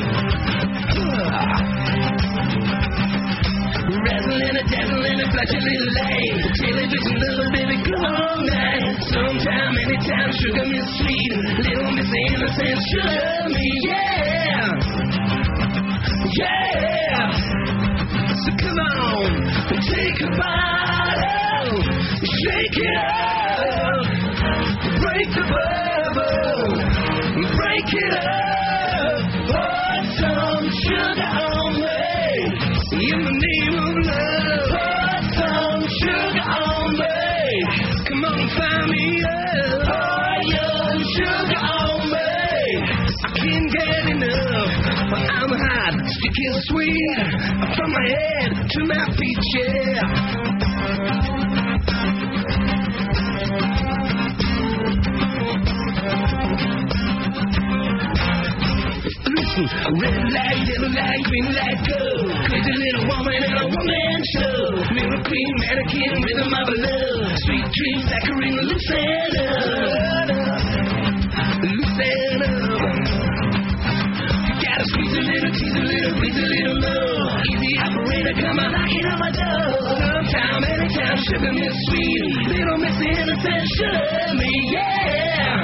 Razzling and dazzling and flash a little lane. Television, little baby, come on, man. Sometime, anytime, sugar miss sweet. Little miss innocent, sugar me, yeah. Yeah. So come on, take a bottle, shake it up, break the bubble, break it up, pour some sugar on me, in the name of love, pour some sugar on me, come on, find me up, pour your sugar hot, sticky sweet. From my head to my feet, yeah. Listen, red light, yellow light, green light, go. Crazy little woman in a woman show. Mirror queen, mannequin, rhythm of love. Sweet dreams, saccharine, loosen up. Loosen up. You gotta squeeze a little, tease a little, breathe a little love. Easy operator, come on, knocking on my door. Sometime, anytime, sugar me sweet. Little miss innocent, sugar me, yeah.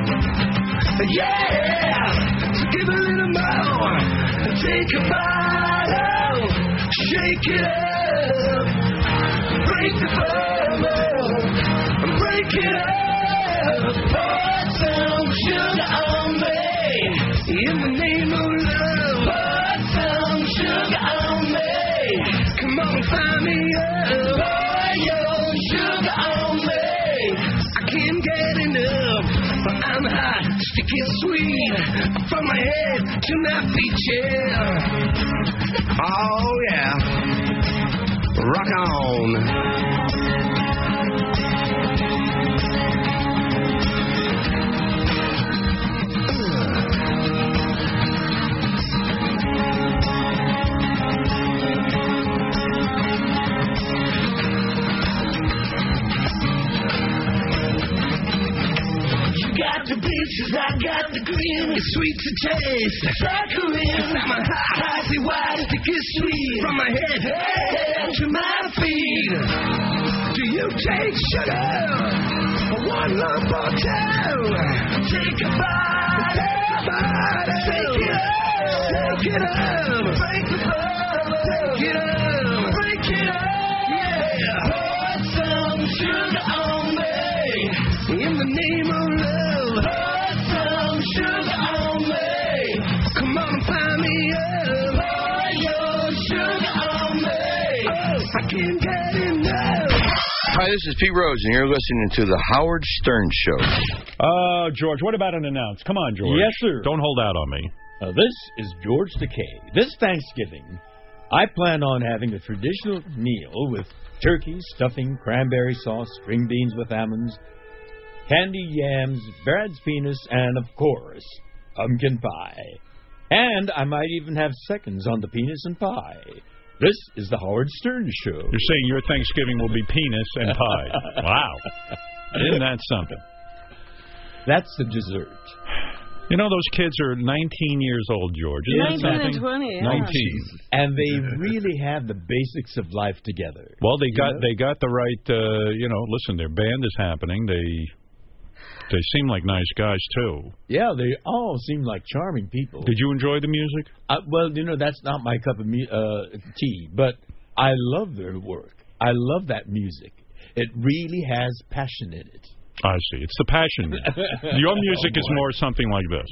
Yeah. So give a little more. Take a bottle. Shake it up. Break the bubble. Break it up. Pour some sugar on me. In the name of love. Pour some sugar on me. Come on, find me up. Pour your sugar on me. I can't get enough. But I'm hot, sticky sweet. From my head to my feet, yeah. Oh, yeah. Rock on. The peaches, I got the green. It's sweet to taste. Saccharine. I'm a hot, icy white, sticky sweet. From my head, head to my feet. Do you take sugar? One lump or two? Take a bite. Take it up. Take it up. Break the bubble. Take it up. Break it up. Yeah. Pour some sugar on me. In the name of love. Sugar on me. Come on and find me up. Pour your sugar on me. Oh, I can't get enough. Hi, this is Pete Rose, and you're listening to the Howard Stern Show. Uh, George, what about an announce? Come on, George. Yes, sir. Don't hold out on me. Uh, this is George Takei. This Thanksgiving, I plan on having a traditional meal with turkey, stuffing, cranberry sauce, string beans with almonds, candied yams, Brad's penis, and, of course, pumpkin pie. And I might even have seconds on the penis and pie. This is the Howard Stern Show. You're saying your Thanksgiving will be penis and pie. Wow. Isn't that something? That's the dessert. You know, those kids are nineteen years old, George. Isn't nineteen and twenty, yeah. nineteen. And they really have the basics of life together. Well, they got know? they got the right, uh, you know, listen, their band is happening. They... They seem like nice guys, too. Yeah, they all seem like charming people. Did you enjoy the music? Uh, well, you know, that's not my cup of me- uh, tea, but I love their work. I love that music. It really has passion in it. I see. It's the passion. Your music oh, is more something like this.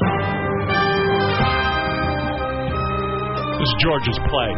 This is George's play.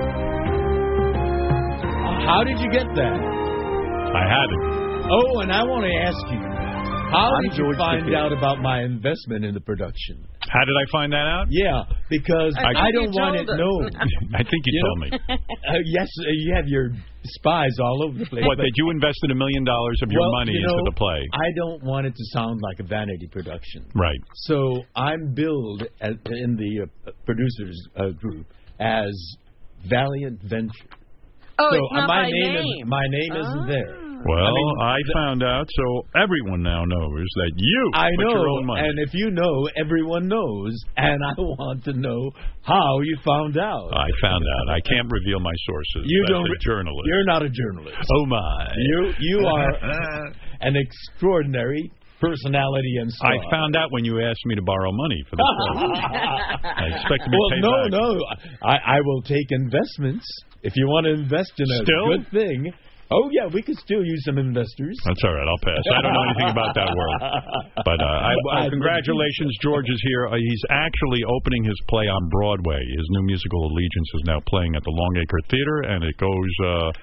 How did you get that? I had it. Oh, and I want to ask you, how I'm did you George find Takei. out about my investment in the production? How did I find that out? Yeah, because I, I, I don't want it known. I think you, you told know? me. Uh, yes, uh, you have your spies all over the place. What, that you invested a million dollars of your well, money you know, into the play? I don't want it to sound like a vanity production. Right. So I'm billed as, in the uh, producers uh, group as Valiant Venture. Oh, so it's not my by name, name. Is, my name oh. isn't there. Well, I, mean, I found out, so everyone now knows that you I put know, your own money. And if you know, everyone knows, and I want to know how you found out. I found out. I can't reveal my sources. You That's don't. a journalist. You're not a journalist. Oh my! You you are an extraordinary personality and star. I found out when you asked me to borrow money for the show. I expect to be well, paid no, back. no. I, I will take investments if you want to invest in a Still? good thing. Oh, yeah, we could still use some investors. That's all right. I'll pass. I don't know anything about that world. But uh, I, uh, congratulations. George is here. Uh, he's actually opening his play on Broadway. His new musical, Allegiance, is now playing at the Longacre Theater, and it goes... Uh,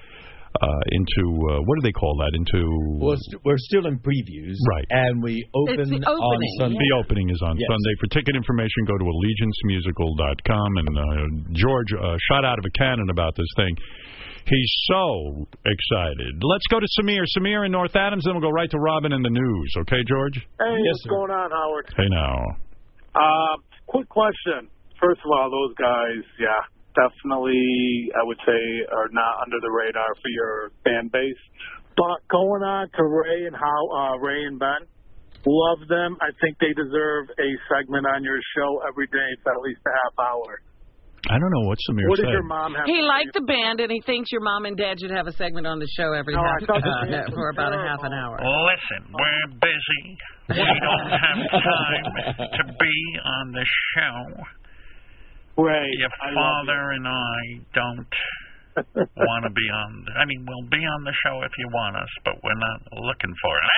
uh, into uh, what do they call that? Into we're, st we're still in previews, right? And we open on Sunday. The opening is on yes. Sunday. For ticket information, go to allegiance musical dot com. And uh, George uh, shot out of a cannon about this thing. He's so excited. Let's go to Samir. Samir in North Adams, then we'll go right to Robin in the news. Okay, George? Hey, yes, what's sir. going on, Howard? Hey, now. Uh, quick question. First of all, those guys, yeah, definitely, I would say, are not under the radar for your fan base. But going on to Ray and how uh, Ray and Ben, love them. I think they deserve a segment on your show every day for at least a half hour. I don't know what Samir what said. What did your mom have He liked the band, and he thinks your mom and dad should have a segment on the show every no, half, uh, for about a half an hour. Listen, we're busy. We don't have time to be on the show. Right. Your father and I don't want to be on. I mean, we'll be on the show if you want us, but we're not looking for it.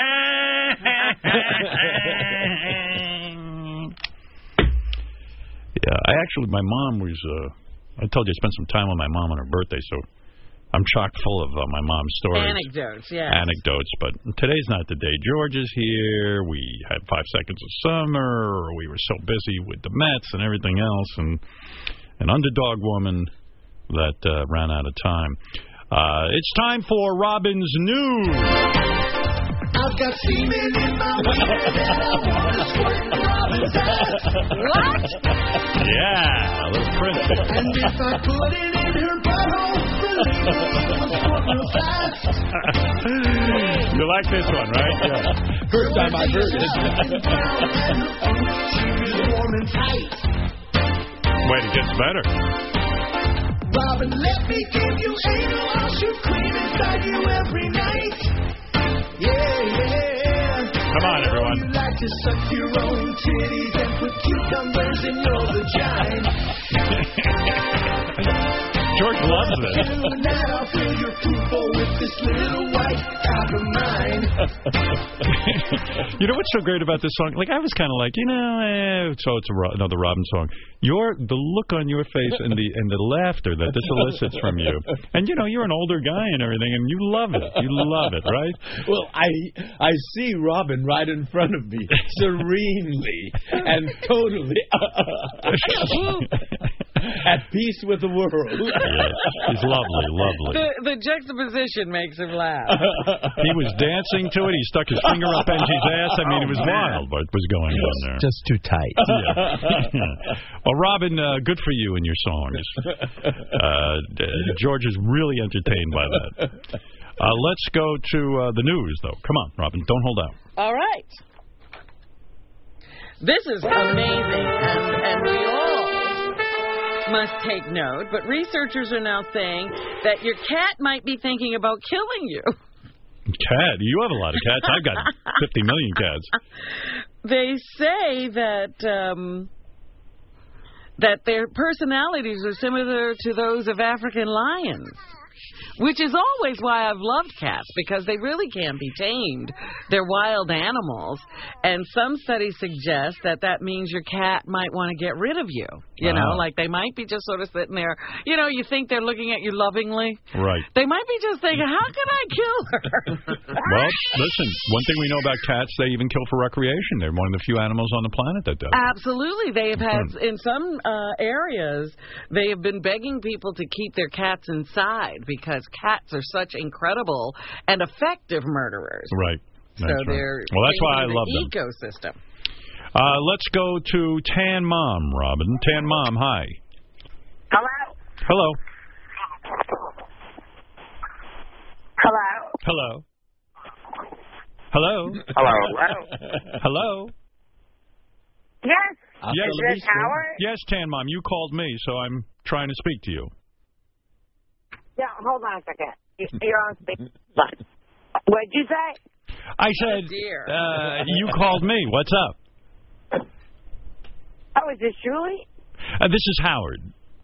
Yeah, I actually, my mom was, uh, I told you I spent some time with my mom on her birthday, so I'm chock full of uh, my mom's stories. Anecdotes, yeah. Anecdotes, but today's not the day. George is here. We had five seconds of summer. We were so busy with the Mets and everything else, and an underdog woman that uh, ran out of time. Uh, it's time for Robin's News. I've got semen in my wiener that I want to squirt in Robin's ass. What? Yeah, a little princess. And if I put it in her butthole, believe me, it'll squirt real fast. You like this one, right? Yeah. First time I've heard it. She's warm and tight. Wait, it gets better. Robin, let me give you anal. I'll shoot cream inside you every night. Yeah, yeah. Come on, everyone. You like to suck your own titties and put cucumbers in your vagina. George loves this. Tonight I'll fill your poop bowl with this little white cock of mine. You know what's so great about this song? Like, I was kind of like, you know, eh, so it's a, another Robin song. Your the look on your face and the and the laughter that this elicits from you, and you know, you're an older guy and everything, and you love it. You love it, right? Well, I I see Robin right in front of me, serenely and totally at peace with the world. Yes, he's lovely, lovely. The, the juxtaposition makes him laugh. He was dancing to it. He stuck his finger up Angie's ass. I mean, it was wild what was going on there. Just too tight. Yeah. Well, Robin, uh, good for you and your songs. Uh, George is really entertained by that. Uh, let's go to uh, the news, though. Come on, Robin, don't hold out. All right. This is amazing, and, and we all must take note, but researchers are now saying that your cat might be thinking about killing you. Cat? You have a lot of cats. I've got fifty million cats. They say that um, that their personalities are similar to those of African lions. Which is always why I've loved cats, because they really can be tamed. They're wild animals. And some studies suggest that that means your cat might want to get rid of you. You wow. know, like they might be just sort of sitting there. You know, you think they're looking at you lovingly. Right. They might be just thinking, how can I kill her? Well, listen, one thing we know about cats, they even kill for recreation. They're one of the few animals on the planet that does. Absolutely. They have had, in some uh, areas, they have been begging people to keep their cats inside because cats are such incredible and effective murderers. Right. That's so right. they're well, that's why I the love them. Ecosystem. Uh, let's go to Tan Mom, Robin. Tan Mom, hi. Hello. Hello. Hello. Hello. Hello. Hello. Hello. Yes. Yes. Is this Howard? Yes, Tan Mom. You called me, so I'm trying to speak to you. Yeah, hold on a second. You're on speaker. What'd you say? I said, oh, uh, you called me. What's up? Oh, is this Julie? Uh, this is Howard.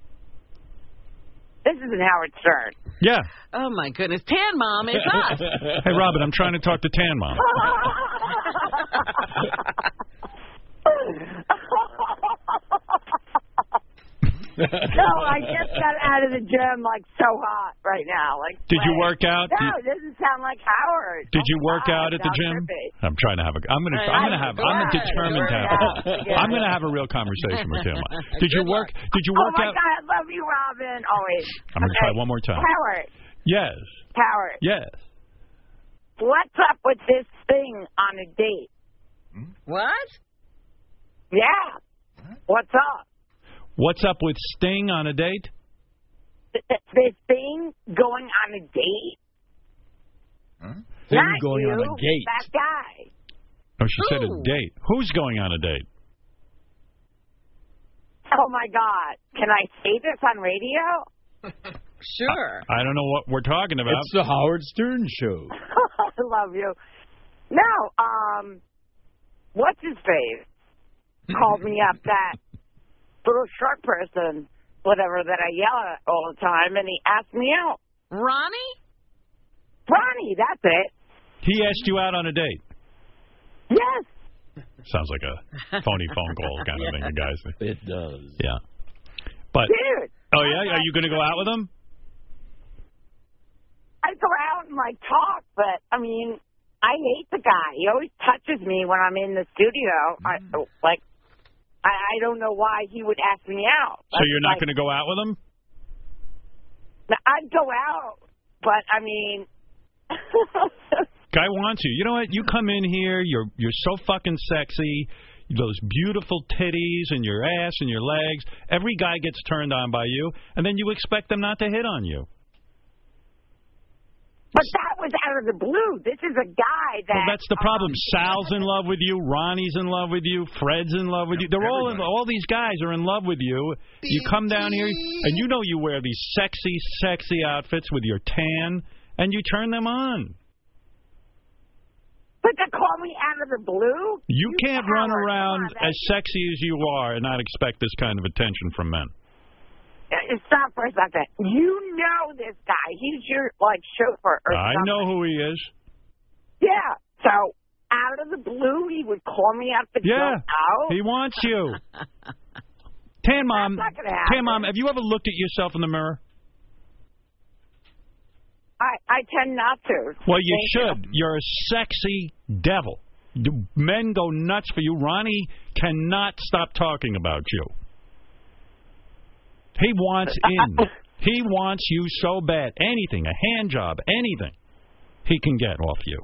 This isn't Howard Stern. Yeah. Oh, my goodness. Tan Mom, it's us. Hey, Robin, I'm trying to talk to Tan Mom. No, I just got out of the gym like so hot right now. Like, did you like, work out? No, did, it doesn't sound like Howard. Did oh you work God, out at the gym? Trippy. I'm trying to have a. I'm gonna. I'm gonna have. I'm determined to have. A, I'm gonna have a real conversation with him. Did you work? Did you work out? Oh my out? God, I love you, Robin. Always. I'm gonna okay. try one more time. Howard. Yes. Howard. Yes. What's up with this thing on a date? What? Yeah. What's up? What's up with Sting on a date? This thing going on a date? Huh? Thing Not going you, on a date. that guy. Oh, she Who? said a date. Who's going on a date? Oh, my God. Can I say this on radio? Sure. I, I don't know what we're talking about. It's the Howard Stern Show. I love you. No, um, what's his face? Called me up, that little short person, whatever, that I yell at all the time, and he asked me out. Ronnie? Ronnie, that's it. He asked you out on a date. Yes. Sounds like a phony phone call kind of thing, you guys. It does. Yeah. But. Dude. Oh, yeah? Are you going to go out with him? I go out and, like, talk, but, I mean, I hate the guy. He always touches me when I'm in the studio. Mm. I, like, I, I don't know why he would ask me out. So you're not like, going to go out with him? I'd go out, but, I mean... Guy wants you. You know what? You come in here, you're you're so fucking sexy, those beautiful titties and your ass and your legs. Every guy gets turned on by you, and then you expect them not to hit on you. But that was out of the blue. This is a guy that... Well, that's the problem. Um, Sal's in love with you. Ronnie's in love with you. Fred's in love with you. They're all in, all these guys are in love with you. You come down here, and you know you wear these sexy, sexy outfits with your tan, and you turn them on. But to call me out of the blue? You, you can't run Howard, around on, as sexy as you are and not expect this kind of attention from men. Stop for a second. You know this guy. He's your, like, chauffeur or I something. know who he is. Yeah. So, out of the blue, he would call me out to yeah, go out? he wants you. Tan Mom, That's not gonna happen. Tan Mom, have you ever looked at yourself in the mirror? I, I tend not to. Well, you Thank should. You. You're a sexy devil. Men go nuts for you. Ronnie cannot stop talking about you. He wants in. He wants you so bad. Anything, a hand job, anything he can get off you.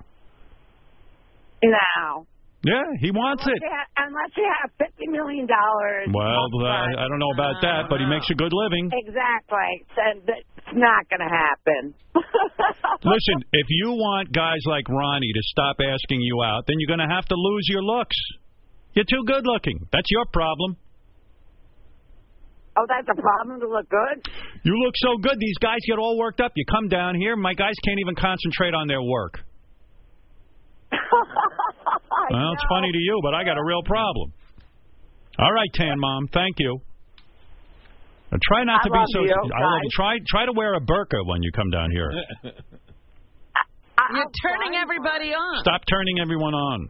No. Yeah, he wants unless it. You have, unless you have fifty million dollars. Well, uh, I don't know about that, but he makes a good living. Exactly. So that's not going to happen. Listen, if you want guys like Ronnie to stop asking you out, then you're going to have to lose your looks. You're too good looking. That's your problem. Oh, that's a problem to look good? You look so good. These guys get all worked up. You come down here, my guys can't even concentrate on their work. Well, it's funny to you, but I got a real problem. All right, Tan Mom, thank you. Now, try not I to be love so. You, I love you. Try try to wear a burqa when you come down here. You're turning everybody on. Stop turning everyone on.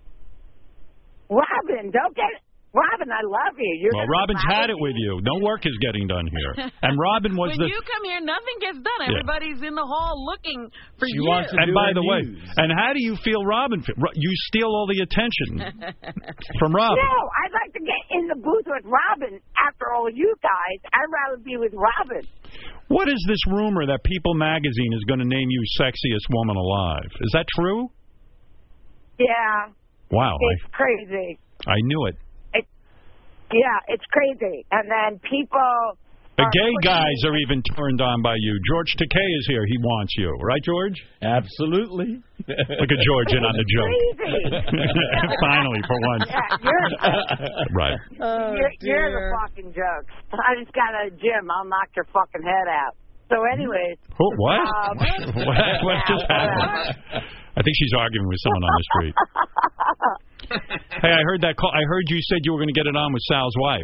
Robin, don't get Robin, I love you. You're well, Robin's had it with you. No work is getting done here. And Robin was when the... When you come here, nothing gets done. Yeah. Everybody's in the hall looking for she you. Wants to and do by the news. way, and how do you feel Robin feel? You steal all the attention from Robin. No, I'd like to get in the booth with Robin. After all you guys, I'd rather be with Robin. What is this rumor that People magazine is going to name you sexiest woman alive? Is that true? Yeah. Wow. It's I, crazy. I knew it. Yeah, it's crazy. And then people... The gay guys are even turned on by you. George Takei is here. He wants you. Right, George? Absolutely. Look at George in on the joke. Finally, for once. Yeah, you're, right. Oh, you're, you're the fucking joke. I just got out of the gym. I'll knock your fucking head out. So anyways... Oh, what? Um, what? What just happened? I think she's arguing with someone on the street. Hey, I heard that call. I heard you said you were going to get it on with Sal's wife.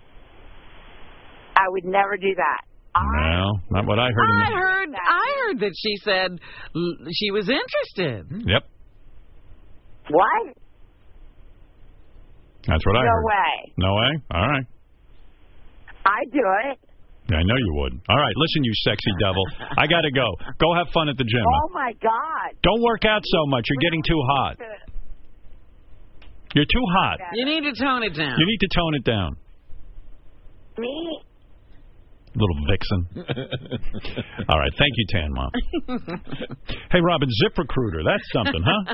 I would never do that. No, not what I heard. I in the... heard. I heard that she said she was interested. Yep. What? That's what I no heard. way. No way. All right. I'd do it. Yeah, I know you would. All right, listen, you sexy devil. I got to go. Go have fun at the gym. Oh, my God. Don't work out so much. You're getting too hot. You're too hot. You need to tone it down. You need to tone it down. Me? Little vixen. All right, thank you, Tan Mom. Hey, Robin, ZipRecruiter, that's something, huh?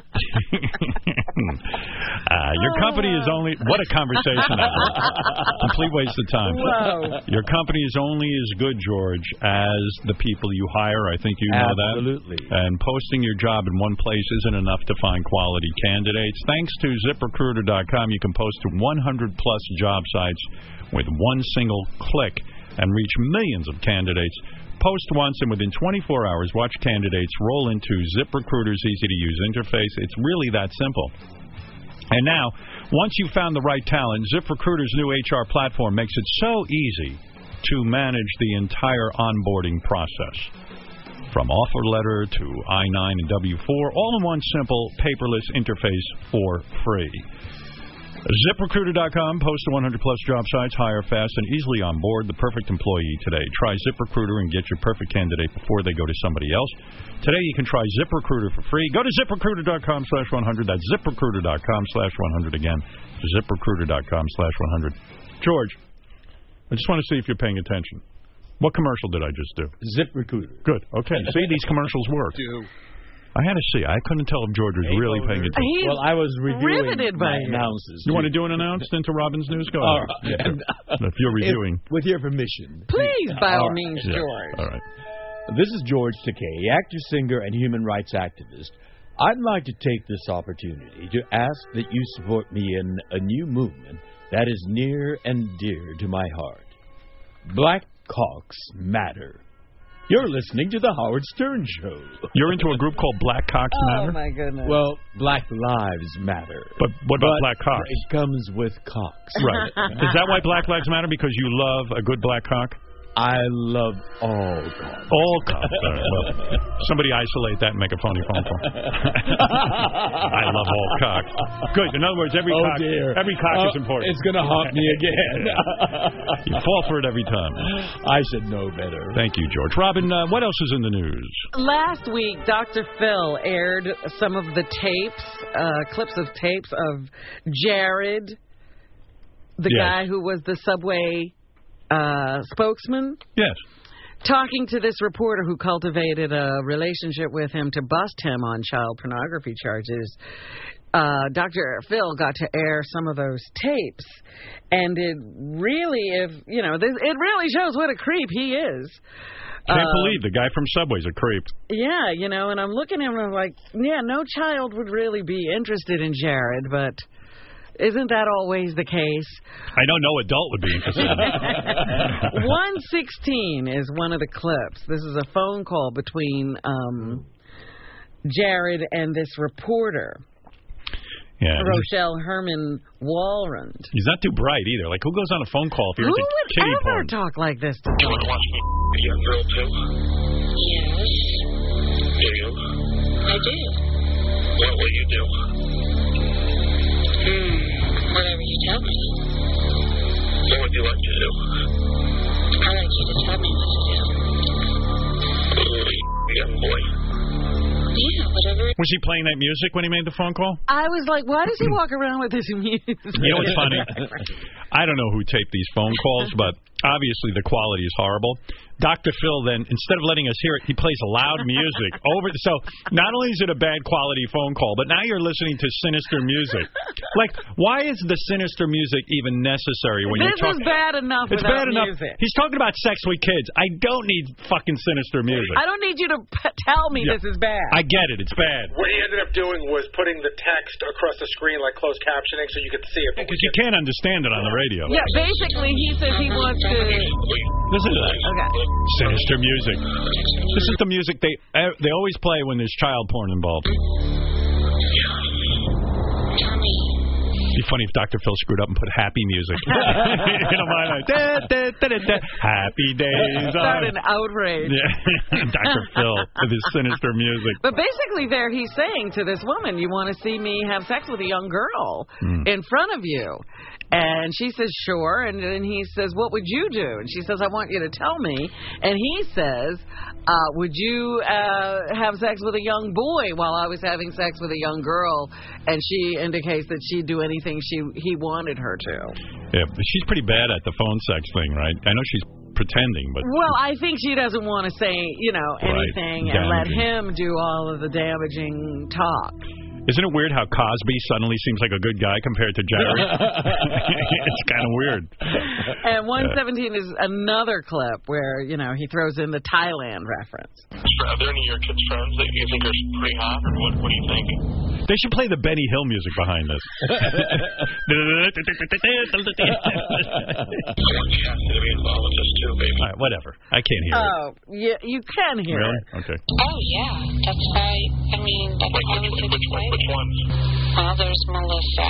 uh, your company is only... What a conversation that was. Complete waste of time. Whoa. Your company is only as good, George, as the people you hire. I think you know that. Absolutely. And posting your job in one place isn't enough to find quality candidates. Thanks to zip recruiter dot com, you can post to one hundred plus job sites with one single click and reach millions of candidates. Post once, and within twenty-four hours, watch candidates roll into ZipRecruiter's easy-to-use interface. It's really that simple. And now, once you've found the right talent, ZipRecruiter's new H R platform makes it so easy to manage the entire onboarding process. From offer letter to I nine and W four, all in one simple, paperless interface for free. zip recruiter dot com, post to one hundred plus job sites, hire fast and easily on board the perfect employee today. Try ZipRecruiter and get your perfect candidate before they go to somebody else. Today you can try ZipRecruiter for free. Go to zip recruiter dot com slash one hundred. That's zip recruiter dot com slash one hundred again. zip recruiter dot com slash one hundred. George, I just want to see if you're paying attention. What commercial did I just do? ZipRecruiter. Good. Okay. See, these commercials work. I had to see. I couldn't tell if George was really paying attention. He's well, I was reviewing riveted by my announcers. You want to do an announce into Robin's news? Go All ahead. right. Yeah, if you're reviewing. If, with your permission. Please, by all right. means, Yeah. George. All right. This is George Takei, actor, singer, and human rights activist. I'd like to take this opportunity to ask that you support me in a new movement that is near and dear to my heart. Black Cocks Matter. You're listening to The Howard Stern Show. You're into a group called Black Cocks Matter? Oh, my goodness. Well, Black Lives Matter. But what about But Black Cocks? It comes with cocks. Right. Is that why Black Lives Matter? Because you love a good black cock? I love all cocks. All cocks. All right, well, somebody isolate that and make a phony phone call. I love all cocks. Good. In other words, every oh cock, dear. every cock oh, is important. It's going to haunt me again. You fall for it every time. I should know better. Thank you, George. Robin, uh, what else is in the news? Last week, Doctor Phil aired some of the tapes, uh, clips of tapes of Jared, the Yes. guy who was the Subway uh, spokesman. Yes. Talking to this reporter who cultivated a relationship with him to bust him on child pornography charges. Uh, Doctor Phil got to air some of those tapes, and it really, if you know, this, it really shows what a creep he is. Can't Uh, believe the guy from Subway's a creep. Yeah, you know, and I'm looking at him and I'm like, yeah, no child would really be interested in Jared, but isn't that always the case? I know no adult would be interested in it. one sixteen is one of the clips. This is a phone call between um, Jared and this reporter, Yeah, Rochelle Herman Walrand. he's not too bright either. Like, who goes on a phone call if you're Who into would kitty ever porn? talk like this to You want to watch me be a girl too? Yes, Do you? I do. What will you do? Hmm, whatever you tell me. What would you like to do? I like you to tell me what to do. Ooh, young boy. Yeah, whatever. Was he playing that music when he made the phone call? I was like, why does he walk around with this music? You know what's funny? I don't know who taped these phone calls, but obviously the quality is horrible. Doctor Phil then, instead of letting us hear it, he plays loud music over. So not only is it a bad quality phone call, but now you're listening to sinister music. Like, why is the sinister music even necessary when This you're talking? is bad enough It's without bad enough. music. He's talking about sex with kids. I don't need fucking sinister music. I don't need you to p- tell me Yeah. this is bad. I get it. It's bad. What he ended up doing was putting the text across the screen like closed captioning so you could see it. Because you can't understand it on the radio. Yeah, basically he says he wants to... Listen to that. Okay. Sinister music. This is the music they uh, they always play when there's child porn involved. It'd be funny if Doctor Phil screwed up and put happy music. You know, my like, da, da, da, da, da, happy days. Start are- an outrage. Yeah. Doctor Phil with his sinister music. But basically there he's saying to this woman, you want to see me have sex with a young girl Mm. in front of you. And she says, sure. And then he says, what would you do? And she says, I want you to tell me. And he says, uh, would you uh, have sex with a young boy while I was having sex with a young girl? And she indicates that she'd do anything she he wanted her to. Yeah, she's pretty bad at the phone sex thing, right? I know she's pretending, but... Well, I think she doesn't want to say, you know, anything right. and let him do all of the damaging talk. Isn't it weird how Cosby suddenly seems like a good guy compared to Jared? It's kind of weird. And one seventeen is another clip where, you know, he throws in the Thailand reference. Are there any of your kids' friends that you think are pretty hot, or what, what do you think? They should play the Benny Hill music behind this. All right, whatever. I can't hear oh, it. Oh, yeah, you can hear really? it. Okay. Oh, yeah. That's why, I mean, that's Wait, how we which, did which, play. which ones? Well, there's Melissa.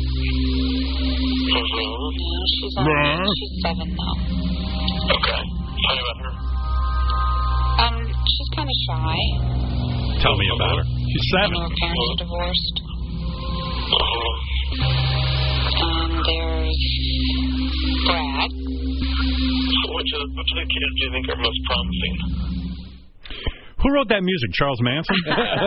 Mm-hmm. Yeah, she's, on, she's seven now. Okay. Tell me about her. Um, she's kind of shy. Tell me about her. She's seven. Her parents are divorced. Uh-huh. Um, there's Brad. Which of, which of the kids do you think are most promising? Who wrote that music? Charles Manson?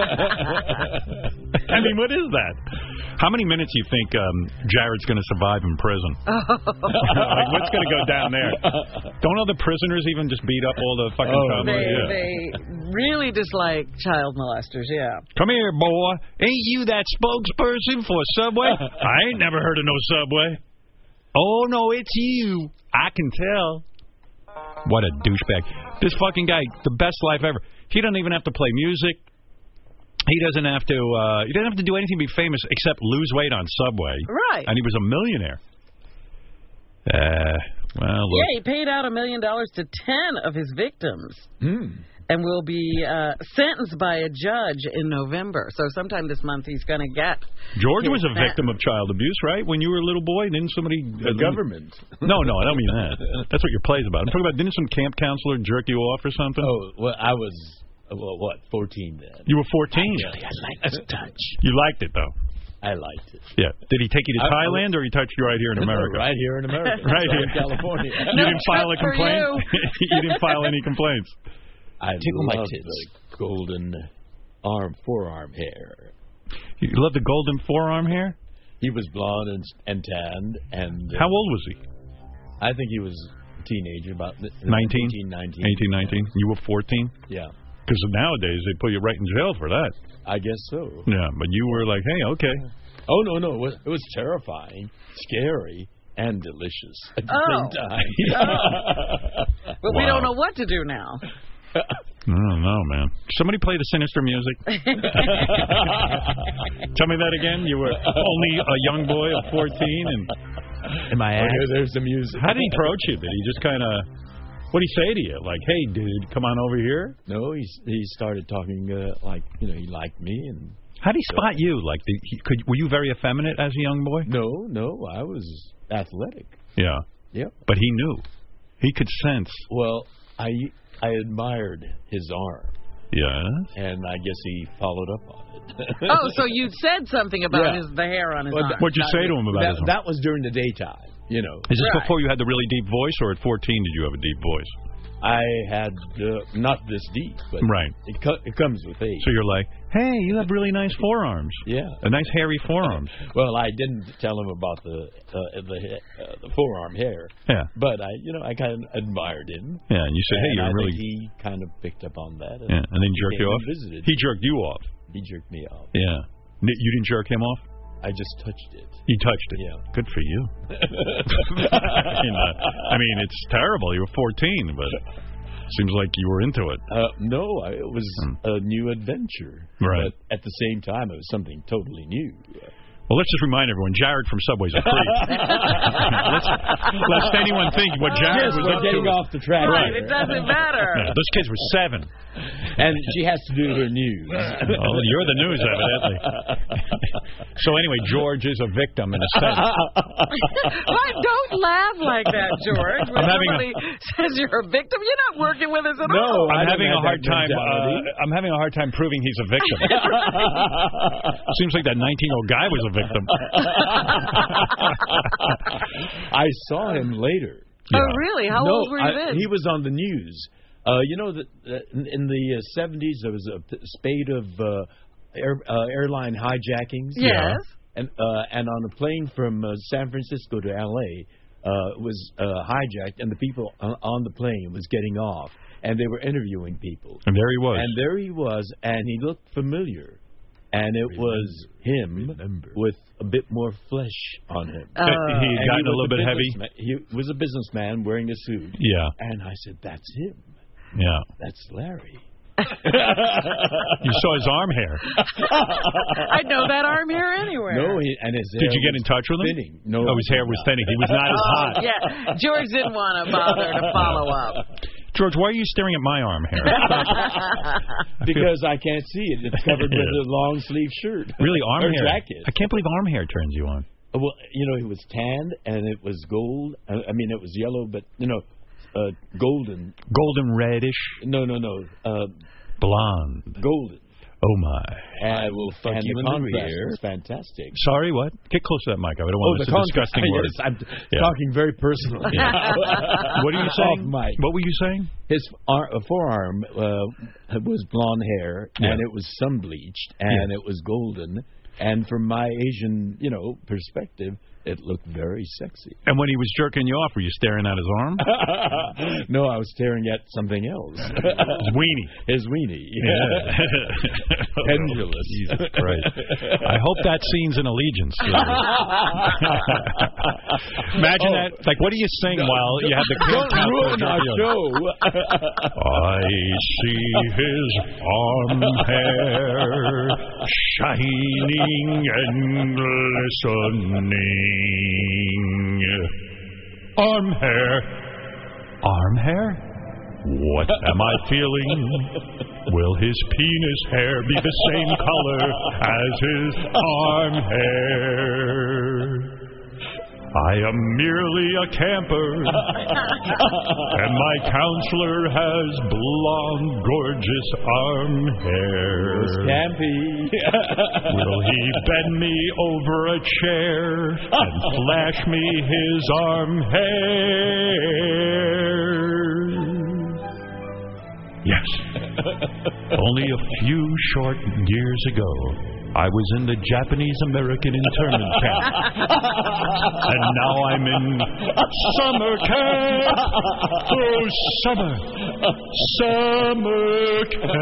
I mean, what is that? How many minutes do you think um, Jared's going to survive in prison? Like, what's going to go down there? Don't other prisoners even just beat up all the fucking oh, child they, yeah. they really dislike child molesters, yeah. Come here, boy. Ain't you that spokesperson for Subway? I ain't never heard of no Subway. Oh, no, it's you. I can tell. What a douchebag. This fucking guy, the best life ever. He doesn't even have to play music. He doesn't have to. Uh, he doesn't have to do anything to be famous except lose weight on Subway. Right. And he was a millionaire. Uh, well, look. Yeah, he paid out a million dollars to ten of his victims, mm. and will be uh, sentenced by a judge in November. So sometime this month he's going to get. George was a sentence. victim of child abuse, right? When you were a little boy, didn't somebody? The uh, government. No, no, I don't mean that. That's what your play's about. I'm talking about. Didn't some camp counselor jerk you off or something? Oh, well, I was. Well, what, fourteen then? You were fourteen? Really, I liked the touch. You liked it, though? I liked it. Yeah. Did he take you to I, Thailand, or he touched you right here in America? No, right here in America. Right here in California. You no didn't file a complaint? You. You didn't file any complaints? I loved the golden arm, forearm hair. You love the golden forearm hair? He was blonde and, and tanned. And uh, how old was he? I think he was a teenager, about nineteen, eighteen, nineteen. eighteen, nineteen. You were fourteen? Yeah. Because nowadays they put you right in jail for that. I guess so. Yeah, but you were like, hey, okay. Oh, no, no. It was, it was terrifying, scary, and delicious at the oh. same time. Oh. But wow. We don't know what to do now. I don't know, man. Somebody play the sinister music. Tell me that again. You were only a young boy of fourteen, and am I? Okay, there's the music. How did he approach you? Did he just kind of? What did he say to you? Like, hey, dude, come on over here? No, he he started talking uh, like, you know, he liked me. And how did he spot so, you? Like, did he, could were you very effeminate as a young boy? No, no, I was athletic. Yeah. Yep. But he knew. He could sense. Well, I I admired his arm. Yeah. And I guess he followed up on it. Oh, so you said something about yeah. his the hair on his well, arm. What'd you that, say to him about that, his arm? That was during the daytime. You know. Is this right. before you had the really deep voice, or at fourteen did you have a deep voice? I had uh, not this deep, but right. it, co- it comes with age. So you're like, hey, you have really nice forearms. Yeah. A nice hairy forearms. Well, I didn't tell him about the uh, the uh, the forearm hair. Yeah. But I, you know, I kind of admired him. Yeah, and you said, hey, and you're I really. Think he kind of picked up on that. And yeah, and then jerked you off. Visited. He jerked you off. He jerked me off. Yeah. You didn't jerk him off? I just touched it. You touched it? Yeah. Good for you. I, mean, uh, I mean, it's terrible. You were fourteen, but seems like you were into it. Uh, no, I, it was hmm. a new adventure. Right. But at the same time, it was something totally new. Well, let's just remind everyone, Jared from Subway's a creep. let's, lest anyone think what Jared yes, was we're up getting to. off the track. Right, it doesn't matter. Yeah, those kids were seven. And she has to do her news. Oh, you're the news, evidently. So anyway, George is a victim in a sense. Why, don't laugh like that, George. When I'm having somebody a... says you're a victim, you're not working with us at no, all. I'm I having a hard time. Uh, I'm having a hard time proving he's a victim. Seems like that nineteen-year-old guy was a victim. I saw him later. Yeah. Oh, really? How no, old were you I, then? He was on the news. Uh, you know, that uh, in the uh, seventies, there was a spate of uh, air, uh, airline hijackings. Yes. Yeah. And, uh, and on a plane from uh, San Francisco to L A uh, was uh, hijacked, and the people on, on the plane was getting off, and they were interviewing people. And there he was. And there he was, and he looked familiar. And it remember, was him remember. with a bit more flesh on him. Uh, he had gotten he a little bit heavy. He was a businessman wearing a suit. Yeah. And I said, that's him. Yeah. That's Larry. You saw his arm hair. I know that arm hair anywhere. No, he, and his Did hair you get in touch with him? Thinning. No, oh, his hair was thinning. He was not as hot. Oh, yeah, George didn't want to bother to follow up. George, why are you staring at my arm hair? Because I can't see it. It's covered with a long sleeve shirt. Really, arm or hair? Jacket. I can't believe arm hair turns you on. Well, you know, it was tanned and it was gold. I mean, it was yellow, but you know, uh, golden. Golden reddish. No, no, no. Uh, Blonde. Golden. Oh my! I will fuck and you the in the contrast rear. was Fantastic. Sorry, what? Get close to that mic. I don't oh, want to say disgusting yes, words. I'm yeah. talking very personally. Yeah. What are you saying? Off mic. What were you saying? His ar- uh, forearm uh, was blonde hair, yeah. and it was sun bleached, and yeah. it was golden. And from my Asian, you know, perspective, it looked very sexy. And when he was jerking you off, were you staring at his arm? No, I was staring at something else. His weenie. His weenie. Yeah. Pendulous. Jesus Christ. I hope that scene's an Allegiance. Imagine oh. that. Like, what are you saying no, while you have the Don't ruin our show. I see his arm hair shining and glistening. Arm hair. Arm hair? What am I feeling? Will his penis hair be the same color as his arm hair? I am merely a camper, and my counselor has blonde, gorgeous arm hair. Campy. Will he bend me over a chair and flash me his arm hair? Yes. Only a few short years ago, I was in the Japanese-American internment camp. And now I'm in summer camp. Oh, summer. Summer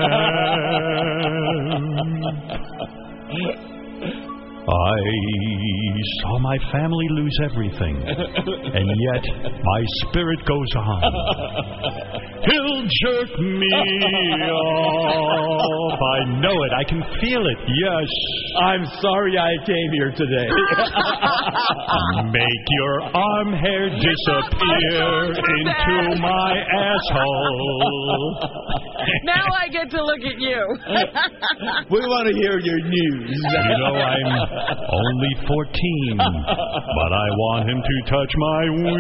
camp. I saw my family lose everything, and yet my spirit goes on. He'll jerk me off. I know it. I can feel it. Yes. I'm sorry I came here today. Make your arm hair disappear into my asshole. Now I get to look at you. We want to hear your news. You know, I'm only fourteen, but I want him to touch my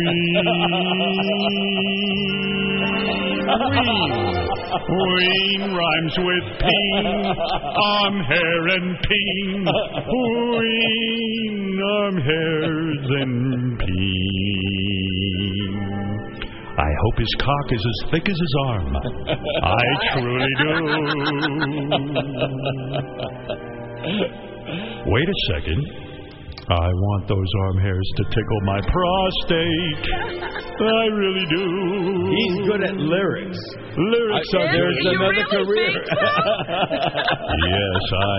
ween. Ween. Ween rhymes with peen. Arm hair and peen. Ween. Arm hairs and peen. I hope his cock is as thick as his arm. I truly do. Wait a second. I want those arm hairs to tickle my prostate. I really do. He's good at lyrics. Lyrics I, are there's you another really career. Yes, I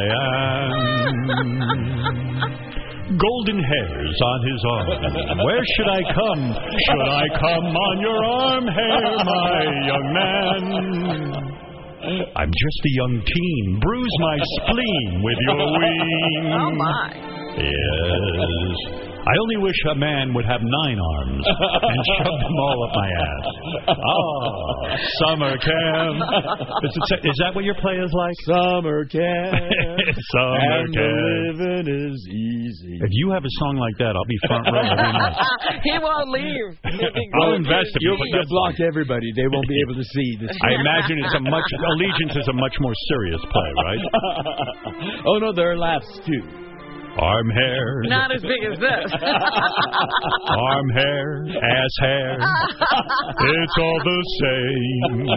am. Golden hairs on his arm. Where should I come? Should I come on your arm hair, my young man? I'm just a young teen. Bruise my spleen with your ween. Oh, my. Yes, I only wish a man would have nine arms and shove them all up my ass. Oh, summer camp. Is, it, is that what your play is like? Summer camp. Summer and camp. The living is easy. If you have a song like that, I'll be front row every night. He won't leave. I'll invest in You'll, you. you'll block everybody. They won't be able to see this. I imagine it's a much Allegiance is a much more serious play, right? Oh no, there are laughs too. Arm hair. Not as big as this. Arm hair, ass hair. It's all the same.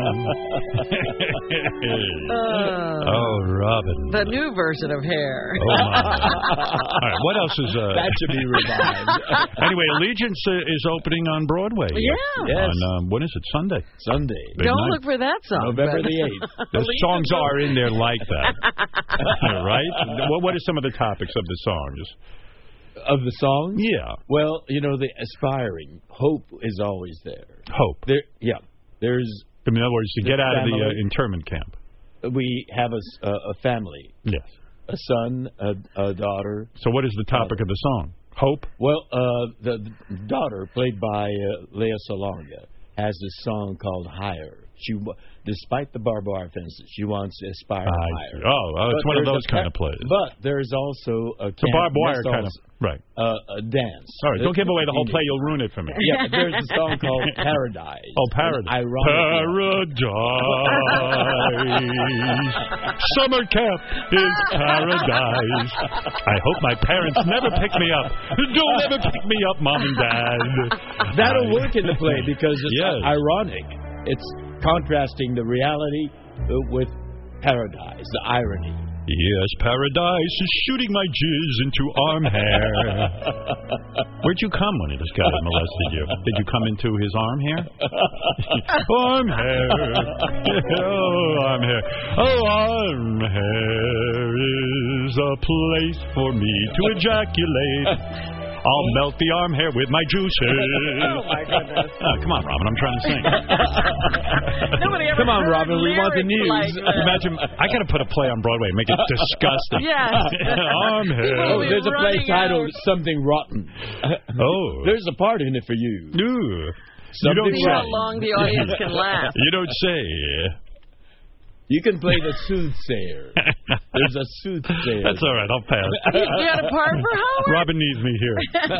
Uh, oh, Robin. The new version of hair. Oh, my. All right, what else is... Uh... That should be revived. Anyway, Allegiance uh, is opening on Broadway. Yeah. Yes. On, um, when is it? Sunday. Sunday. Big Don't night. look for that song. November but- the eighth. The songs are in there like that. Right? What, what are some of the topics of the songs? Of the songs? Yeah. Well, you know, the aspiring. Hope is always there. Hope. There, yeah. There's... In other words, to The get out of the family. uh, internment camp. We have a, s- a, a family. Yes. A son, a, a daughter. So what is the topic of the song? Hope? Well, uh, the, the daughter, played by uh, Lea Salonga, has this song called Higher. She, wa- despite the barbed wire fences, she wants to aspire I higher. see. Oh, oh, it's But one of there's those a kind pa- of plays. But there's also a It's a barbed wire camp kind of... missiles, Right. uh, a dance. All right, don't give away the whole play. You'll ruin it for me. Yeah, but there's a song called Paradise. Oh, Paradise. And ironically- Paradise. Summer camp is paradise. I hope my parents never pick me up. Don't ever pick me up, Mom and Dad. That'll I- work in the play because it's Yes. ironic. It's contrasting the reality uh, with paradise, the irony. Yes, paradise is shooting my jizz into arm hair. Where'd you come when this guy molested you? Did you come into his arm hair? Arm hair. Oh, arm hair. Oh, arm hair is a place for me to ejaculate. I'll melt the arm hair with my juices. Oh, my goodness. Oh, come on, Robin. I'm trying to sing. Nobody ever Come on, heard Robin, we want the lyrics news. like that. Imagine, I got to put a play on Broadway and make it disgusting. Yes. Arm hair. Oh, We're there's a play running titled out. Something Rotten. Oh. There's a part in it for you. Ooh. You Something don't See say. how long the audience can laugh. You don't say. You can play the soothsayer. There's a soothsayer. That's all right. I'll pass. You got a part for Howard? Robin needs me here.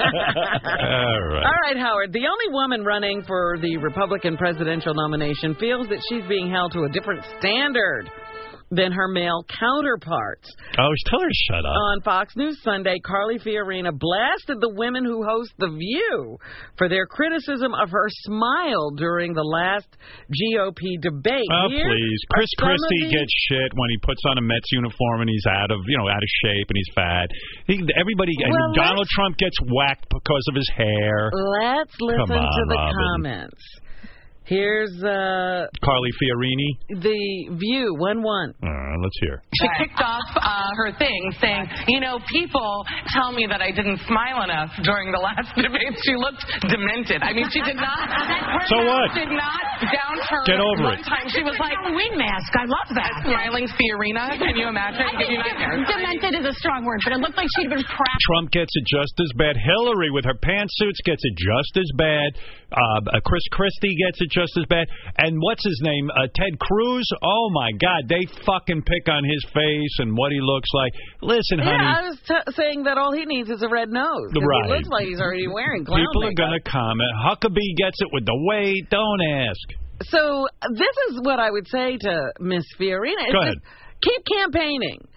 All right. All right, Howard. The only woman running for the Republican presidential nomination feels that she's being held to a different standard than her male counterparts. Oh, tell her to shut up. On Fox News Sunday, Carly Fiorina blasted the women who host The View for their criticism of her smile during the last G O P debate. Oh, Here please. are Chris some of Christie the- gets shit when he puts on a Mets uniform and he's out of, you know, out of shape and he's fat. He, everybody, and Well, Donald let's- Trump gets whacked because of his hair. Let's listen Come on, to the Robin. comments. Here's uh, Carly Fiorini. The View, one one. Uh, let's hear. She kicked off uh, her thing saying, you know, people tell me that I didn't smile enough during the last debate. She looked demented. I mean, she did not. So what? Did not downturn. Get over one it. time. She was like, Halloween mask. I love that. smiling Fiorina. Can you imagine? Give you nightmares. Demented is a strong word, but it looked like she'd been proud. Trump gets it just as bad. Hillary with her pantsuits gets it just as bad. Uh, Chris Christie gets it just as bad. And what's his name? Uh, Ted Cruz? Oh, my God. They fucking pick on his face and what he looks like. Listen, honey. Yeah, I was t- saying that all he needs is a red nose. 'cause Right. He looks like he's already wearing clown People are makeup. going to comment. Huckabee gets it with the weight. Don't ask. So this is what I would say to Miss Fiorina. It's Go just ahead. keep campaigning.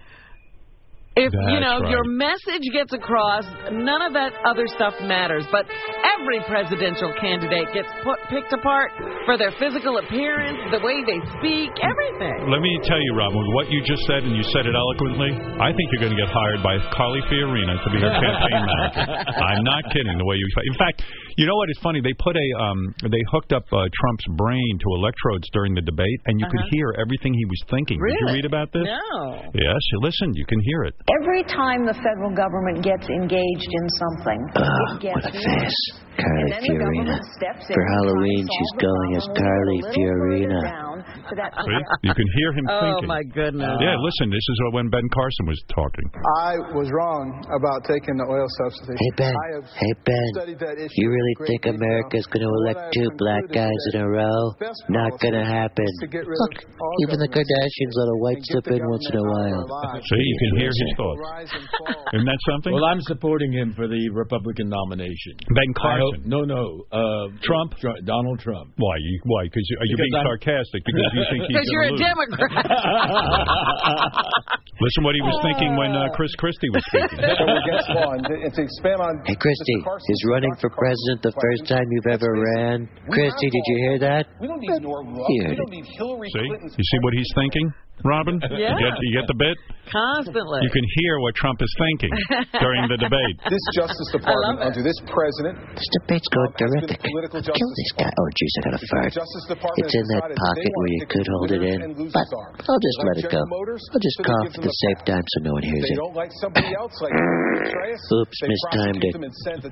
If, you That's know, right. your message gets across, none of that other stuff matters. But every presidential candidate gets put, picked apart for their physical appearance, the way they speak, everything. Let me tell you, Rob, with what you just said, and you said it eloquently, I think you're going to get hired by Carly Fiorina to be her campaign manager. I'm not kidding. The way you, in fact, you know what is funny? They put a, um, they hooked up uh, Trump's brain to electrodes during the debate, and you could Uh-huh. hear everything he was thinking. Did Really? you read about this? No. Yes. You listen. You can hear it. Every time the federal government gets engaged in something, Oh, it gets what a worse. face. Carly And then the Fiorina. government steps in For and Halloween, tries to she's solve the going as problem Carly a little further Fiorina. down to that. See? You can hear him oh, thinking. Oh, my goodness. Yeah, listen, this is when Ben Carson was talking. I was wrong about taking the oil subsidy. Hey, Ben. Hey, Ben. You really think America's going to elect two black guys in a row? Not going to happen. Look, even the Kardashians let a white slip in once in a while. See, you can hear his thoughts. Isn't that something? Well, I'm supporting him for the Republican nomination. Ben Carson. Hope, no, no. Uh, Trump? Tr Donald Trump. Why? You, why? Cause you, are you because being I'm, sarcastic? Because you think he's Because you're a lose. Democrat. Listen what he was thinking when uh, Chris Christie was speaking. So we're against law. And to, and to expand on hey, Christie, is running for president the first time you've ever ran? Christie, did you hear that? We don't need North Rock. We don't need Hillary See? Clinton's You see what he's thinking, Robin? Yeah. You get, you get the bit? Constantly. You can hear what Trump is thinking during the debate. This Justice Department under this president. This debate's going terrific. Kill this guy. Oh, jeez, I got to fart. It's in that pocket where you could hold it in. But I'll just let it go. I'll just cough at the same time so no one hears it. Oops, mistimed it.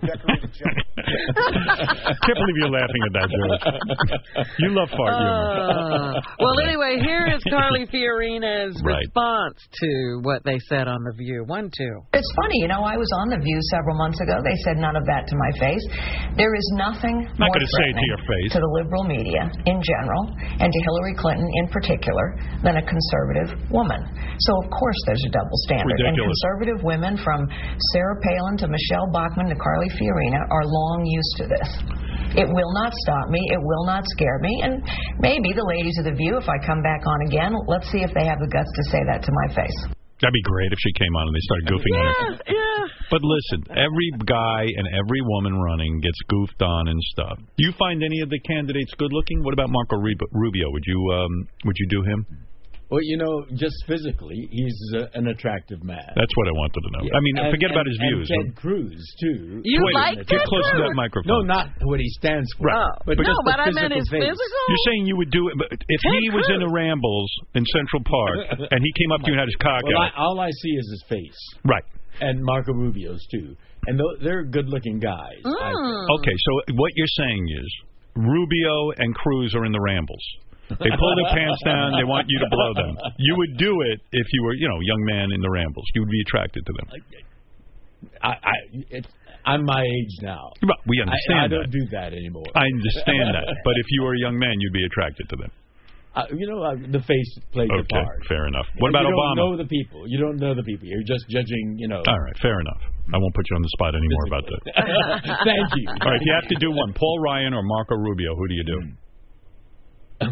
Can't believe you're laughing at that, George. You love fart humor. Uh, well, anyway, here is Carly Fiorina's Right. response to what they said on The View. One, two. It's funny, you know, I was on The View several months ago. They said none of that to my face. There is nothing Not more going to say it to your face. to the liberal media in general and to Hillary Clinton in particular than a conservative woman. So, of course, there's a double standard. Ridiculous. And conservative women from Sarah Palin to Michelle Bachmann to Carly Fiorina are long used to this. It will not stop me. It will not scare me. And maybe the ladies of The View, if I come back on again, let's see if they have the guts to say that to my face. That'd be great if she came on and they started goofing yeah, on her. Yeah. But listen, every guy and every woman running gets goofed on and stuff. Do you find any of the candidates good looking? What about Marco Rubio? Would you um, would you do him? Well, you know, just physically, he's uh, an attractive man. That's what I wanted to know. Yeah. I mean, and, forget and, about his and views. Ted Cruz, too. You Wait like Get Ted close Cruz? to that microphone. No, not what he stands for. Right. Oh, But no, just but the I meant his face. physical. You're saying you would do it, but if Ted he was Cruz. in a Rambles in Central Park and he came up to you and had his cock Well, out. I, all I see is his face. Right. And Marco Rubio's, too. And th they're good-looking guys. Mm. I think. Okay, so what you're saying is Rubio and Cruz are in the Rambles. They pull their pants down. They want you to blow them. You would do it if you were, you know, a young man in the Rambles. You would be attracted to them. I, I, it's, I'm my age now. Well, we understand I, I that. don't do that anymore. I understand that. But if you were a young man, you'd be attracted to them. Uh, you know, uh, the face plays Okay, a part. fair enough. What about you Obama? You don't know the people. You don't know the people. You're just judging, you know. All right, fair enough. I won't put you on the spot anymore about that. Thank you. All right, if you have to do one, Paul Ryan or Marco Rubio, who do you do? do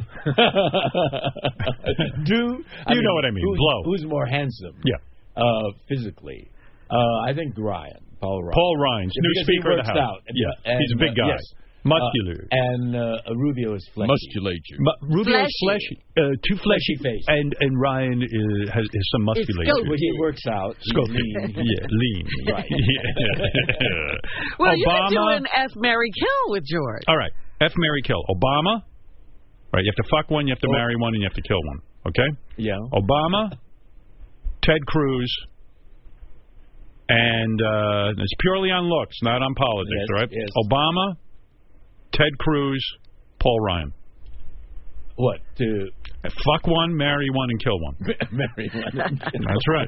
I you mean, know what I mean? Who's, Blow. Who's more handsome? Yeah. Uh, physically, uh, I think Ryan, Paul Ryan. Paul Ryan's new because Speaker he of the works House. Out. Yeah, and, he's a big guy. Uh, yes. Muscular. Uh, and uh, Rubio is fleshy. Musculature. Mu Rubio is fleshy. Uh, too fleshy. Fleshy face. And and Ryan is, has, has some musculature. Well, he works out. He's lean. Yeah, lean. Right. Yeah. Well, Obama. you could do an F, Marry, Kill with George. All right. F, Marry, Kill. Obama. Right. You have to fuck one, you have to Oh. marry one, and you have to kill one. Okay? Yeah. Obama, Ted Cruz, and uh, it's purely on looks, not on politics, Yes, all right? yes. Obama, Ted Cruz, Paul Ryan. What? To fuck one, marry one, and kill one. marry one. That's right.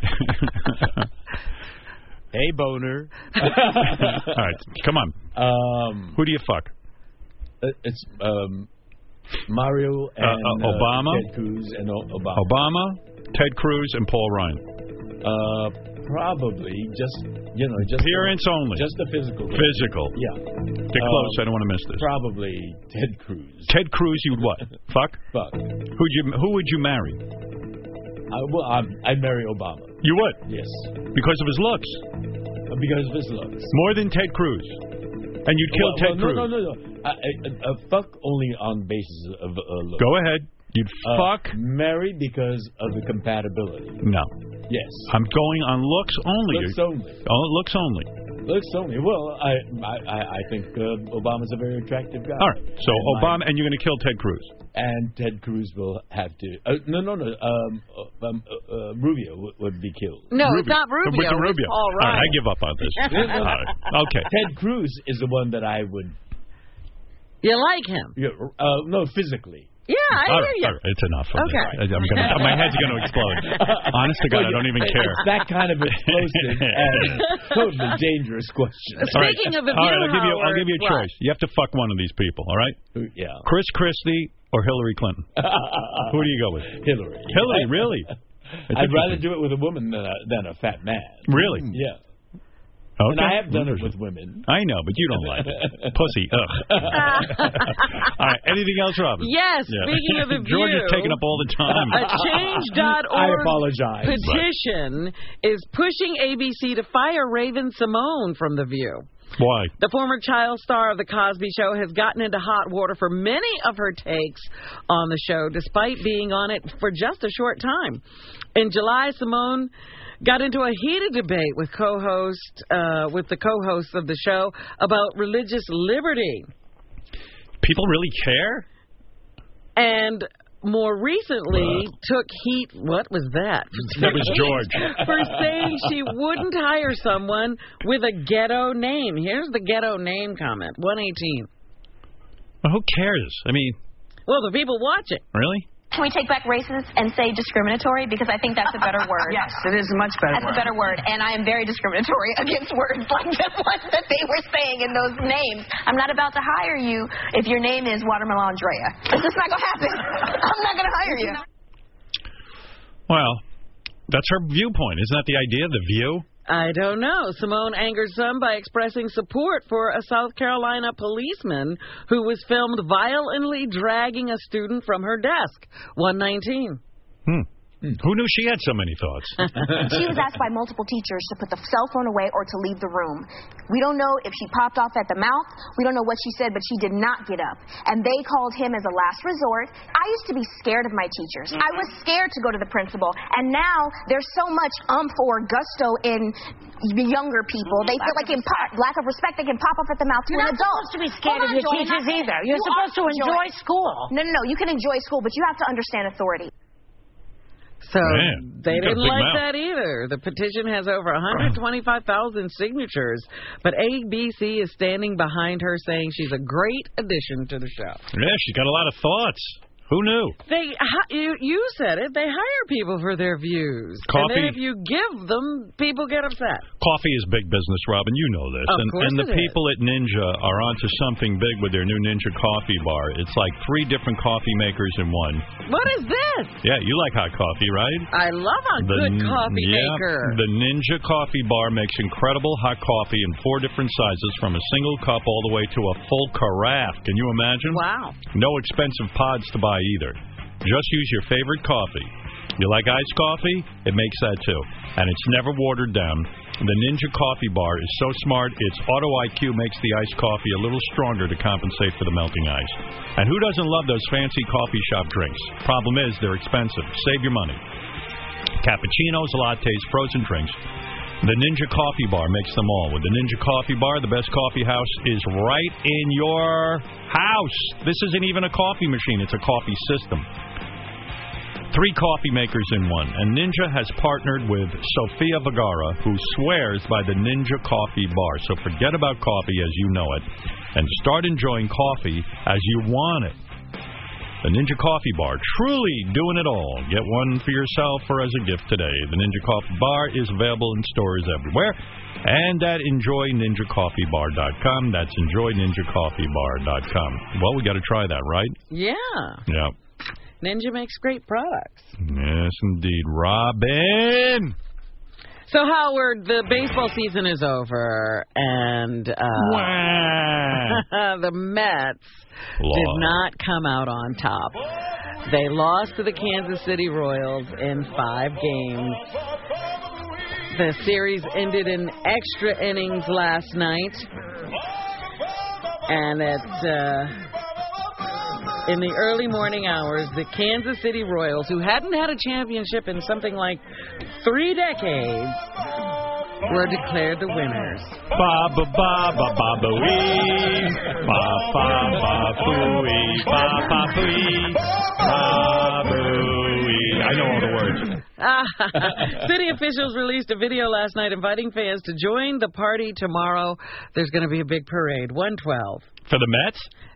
Hey, boner. All right, come on. Um, Who do you fuck? It's um, Mario and uh, uh, Obama, uh, Ted Cruz and o Obama. Obama, Ted Cruz, and Paul Ryan. Uh, probably just you know just appearance the, only. Just the physical. Physical. Yeah. Get close. Um, I don't want to miss this. Probably Ted Cruz. Ted Cruz, you'd what? Fuck. Fuck. Who'd you? Who would you marry? I, well, I'm, I'd marry Obama. You would? Yes. Because of his looks. Uh, because of his looks. More than Ted Cruz. And you'd kill well, Ted well, Cruz. No, no, no, no. Uh, uh, uh, fuck only on basis of uh, looks. Go ahead. You'd uh, fuck. Marry because of the compatibility. No. Yes. I'm going on looks only. Looks only. Oh, looks only. Looks only. Well, I I, I think uh, Obama's a very attractive guy. All right. So and Obama, my, and you're going to kill Ted Cruz. And Ted Cruz will have to. Uh, no, no, no. Um, uh, um, uh, uh, Rubio would, would be killed. No, Rubio. it's not Rubio. With the Rubio. It's Paul Ryan. All right, I give up on this. All right. Okay. Ted Cruz is the one that I would. You like him? Yeah, uh, no, physically. Yeah, I all hear right, you. All right, it's enough. Of Okay. This. I'm gonna, my head's going to explode. Honest to God, Well, I don't even it's care. that kind of explosive and totally dangerous question. Speaking all right. of the all view, right, I'll give you, I'll Howard, give you a what? choice. You have to fuck one of these people, all right? Yeah. Chris Christie or Hillary Clinton? Who do you go with? Hillary. Hillary, really? I'd rather do it with a woman than a, than a fat man. Really? Yeah. Okay. And I have done it with women. I know, but you don't like it. Pussy. Ugh. All right. Anything else, Robin? Yes. Yeah. Speaking of the view, George is taking up all the time. A change dot org I apologize. petition is pushing A B C to fire Raven Simone from The View. Why? The former child star of The Cosby Show has gotten into hot water for many of her takes on the show, despite being on it for just a short time. In July, Simone got into a heated debate with co-host, uh, with the co-host of the show about religious liberty. People really care? And more recently took heat, what was that? That was George. For saying she wouldn't hire someone with a ghetto name. Here's the ghetto name comment, one eighteen. Well, who cares? I mean... Well, the people watching. Really? Can we take back racist and say discriminatory? Because I think that's a better word. Yes, it is a much better That's word. a better word. And I am very discriminatory against words like the ones that they were saying in those names. I'm not about to hire you if your name is Watermelon Andrea. It's just not going to happen. I'm not going to hire you. Well, that's her viewpoint. Isn't that the idea of The View? I don't know. Simone angered some by expressing support for a South Carolina policeman who was filmed violently dragging a student from her desk. one nineteen. Hmm. Who knew she had so many thoughts? She was asked by multiple teachers to put the cell phone away or to leave the room. We don't know if she popped off at the mouth. We don't know what she said, but she did not get up. And they called him as a last resort. I used to be scared of my teachers. I was scared to go to the principal. And now there's so much umph or gusto in the younger people. They feel like in po- lack of respect, they can pop off at the mouth to You're an not adult. supposed to be scared Hold of on, your Joy, I'm teachers not- either. You're You supposed to are, enjoy Joy. school. No, no, no. You can enjoy school, but you have to understand authority. So Man, they you got a didn't big like mouth. that either. The petition has over one hundred twenty-five thousand signatures, but A B C is standing behind her, saying she's a great addition to the show. Yeah, she's got a lot of thoughts. Who knew? They, hi- you, you said it. They hire people for their views, Coffee. and then if you give them, people get upset. Coffee is big business, Robin. You know this. Of and course and the it is. people at Ninja are onto something big with their new Ninja coffee bar. It's like three different coffee makers in one. What is this? Yeah, you like hot coffee, right? I love a The good n- coffee yeah, maker. The Ninja coffee bar makes incredible hot coffee in four different sizes, from a single cup all the way to a full carafe. Can you imagine? Wow. No expensive pods to buy either. Just use your favorite coffee. You like iced coffee? It makes that too. And it's never watered down. The Ninja coffee bar is so smart, its auto I Q makes the iced coffee a little stronger to compensate for the melting ice. And who doesn't love those fancy coffee shop drinks? Problem is, they're expensive. Save your money. Cappuccinos, lattes, frozen drinks. The Ninja Coffee Bar makes them all. With the Ninja Coffee Bar, the best coffee house is right in your house. This isn't even a coffee machine. It's a coffee system. Three coffee makers in one. And Ninja has partnered with Sofia Vergara, who swears by the Ninja Coffee Bar. So forget about coffee as you know it and start enjoying coffee as you want it. The Ninja Coffee Bar, truly doing it all. Get one for yourself or as a gift today. The Ninja Coffee Bar is available in stores everywhere and at enjoy ninja coffee bar dot com. That's enjoy ninja coffee bar dot com. Well, we got to try that, right? Yeah. Yeah. Ninja makes great products. Yes, indeed. Robin! So, Howard, the baseball season is over, and uh, the Mets Lost. did not come out on top. They lost to the Kansas City Royals in five games. The series ended in extra innings last night, and at uh, in the early morning hours, the Kansas City Royals, who hadn't had a championship in something like three decades, were declared the winners. Ba ba ba ba ba ba wee. Ba ba ba boo-wee. Ba ba boo-wee. Ba boo-wee. I know all the words. City officials released a video last night inviting fans to join the party tomorrow. There's going to be a big parade. one twelve. For the Mets?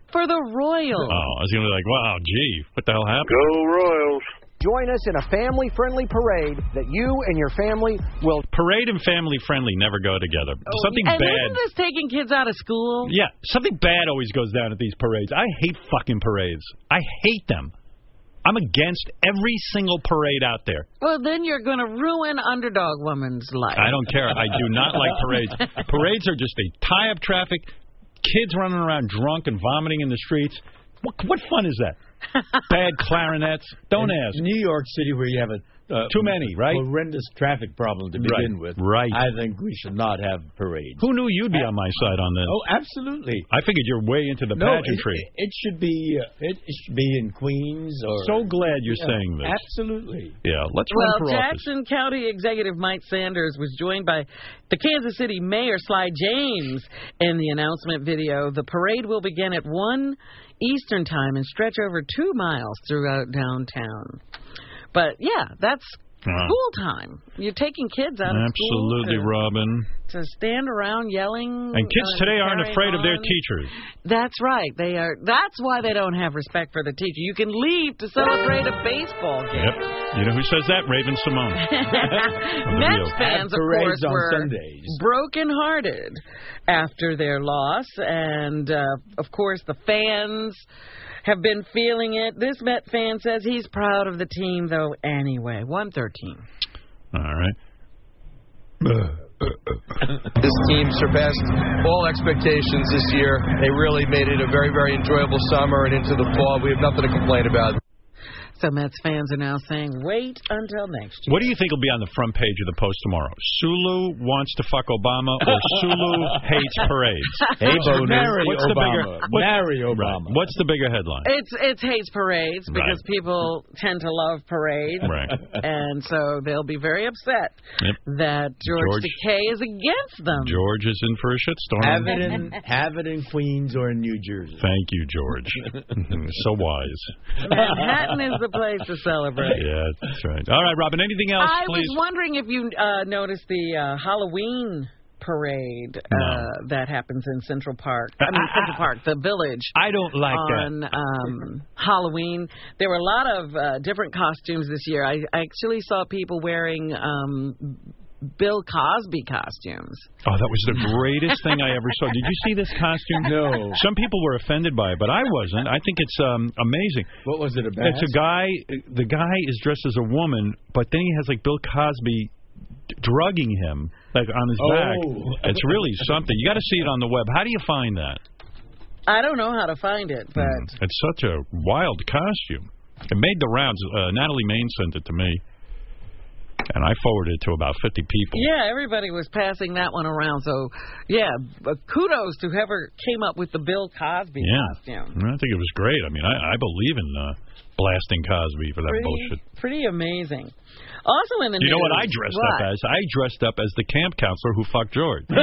for the Royals. Oh, I was going to be like, wow, gee, what the hell happened? Go Royals. Join us in a family-friendly parade that you and your family will... Parade and family-friendly never go together. Oh, something and bad... isn't this taking kids out of school? Yeah, something bad always goes down at these parades. I hate fucking parades. I hate them. I'm against every single parade out there. Well, then you're going to ruin Underdog Woman's life. I don't care. I do not like parades. Parades are just they tie up traffic, kids running around drunk and vomiting in the streets. What, what fun is that? Bad clarinets. Don't in ask. New York City, where you have a uh, too many, right? horrendous traffic problem to begin right. with. Right. I think we should not have parades. Who knew you'd be on my side on this? Oh, absolutely. I figured you're way into the no, pageantry. It, it should be. Uh, it, it should be in Queens or. So glad you're yeah, saying this. Absolutely. Yeah. Let's well, run for Jackson office. County Executive Mike Sanders was joined by the Kansas City Mayor Sly James in the announcement video. The parade will begin at one Eastern Time and stretch over two miles throughout downtown. But yeah, that's Uh, school time. You're taking kids out of Absolutely, school to, Robin. to stand around yelling. And kids uh, today aren't carrying afraid of their on. teachers. That's right. They are. That's why they don't have respect for the teacher. You can leave to celebrate a baseball game. Yep. You know who says that? Raven Simone. Mets fans, of course, on were Sundays. brokenhearted after their loss, and uh, of course the fans have been feeling it. This Met fan says he's proud of the team, though. Anyway, one thirteen. All right. This team surpassed all expectations this year. They really made it a very, very enjoyable summer and into the fall. We have nothing to complain about. So Mets fans are now saying, wait until next year. What do you think will be on the front page of the Post tomorrow? Sulu wants to fuck Obama or Sulu hates parades? Hey, Bo, marry what's the Obama. bigger, what's, marry Obama. Right. What's the bigger headline? It's it's hates parades because Right. people tend to love parades. Right. And so they'll be very upset Yep. that George, George- Takei is against them. George is in for a shitstorm. Have it in have it in Queens or in New Jersey. Thank you, George. So wise. Manhattan is the place to celebrate. Yeah, that's right. All right, Robin, anything else, I please? was wondering if you uh, noticed the uh, Halloween parade uh, No. that happens in Central Park. I mean, Central Park, the Village. I don't like on, that. um, Halloween. There were a lot of uh, different costumes this year. I, I actually saw people wearing um, Bill Cosby costumes. Oh, that was the greatest thing I ever saw. Did you see this costume? No. Some people were offended by it, but I wasn't. I think it's um, amazing. What was it about? It's a guy. The guy is dressed as a woman, but then he has like Bill Cosby d- drugging him like on his Oh. back. It's really something. You got to see it on the web. How do you find that? I don't know how to find it, but Mm. It's such a wild costume. It made the rounds. Uh, Natalie Main sent it to me, and I forwarded it to about fifty people. yeah, everybody was passing that one around. So, yeah, uh, kudos to whoever came up with the Bill Cosby Yeah. costume. I think it was great. I mean, I, I believe in uh, blasting Cosby for that Pretty, bullshit. pretty amazing. Also in the You know news, what I dressed what? up as? I dressed up as the camp counselor who fucked George. uh,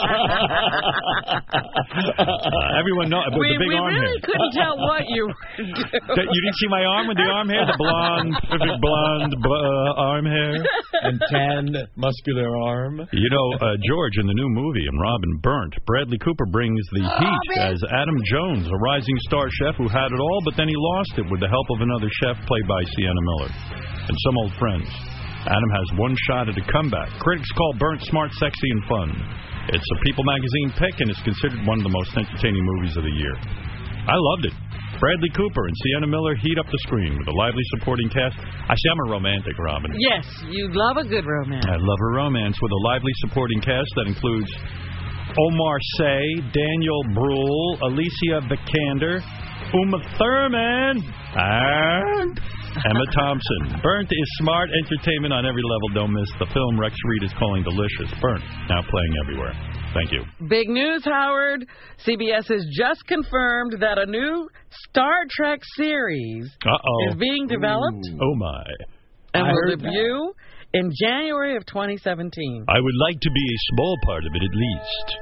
everyone knows with we, the big we arm really hair. couldn't tell what you were doing. That- you didn't see my arm with the arm hair, the blonde, perfect blonde uh, arm hair, and tanned muscular arm. You know, uh, George in the new movie and Robin Burnt. Bradley Cooper brings the heat as Adam Jones, a rising star chef who had it all, but then he lost it with the help of another chef played by Sienna Miller and some old friends. Adam has one shot at a comeback. Critics call Burnt smart, sexy, and fun. It's a People magazine pick and is considered one of the most entertaining movies of the year. I loved it. Bradley Cooper and Sienna Miller heat up the screen with a lively supporting cast. I see I'm a romantic, Robin. Yes, you love a good romance. I love a romance with a lively supporting cast that includes Omar Sy, Daniel Bruhl, Alicia Vikander, Uma Thurman, and Emma Thompson. Burnt is smart entertainment on every level. Don't miss the film Rex Reed is calling delicious. Burnt, now playing everywhere. Thank you. Big news, Howard. C B S has just confirmed that a new Star Trek series Uh-oh. is being developed Ooh. Oh, my. and I will heard debut in January of twenty seventeen. I would like to be a small part of it at least.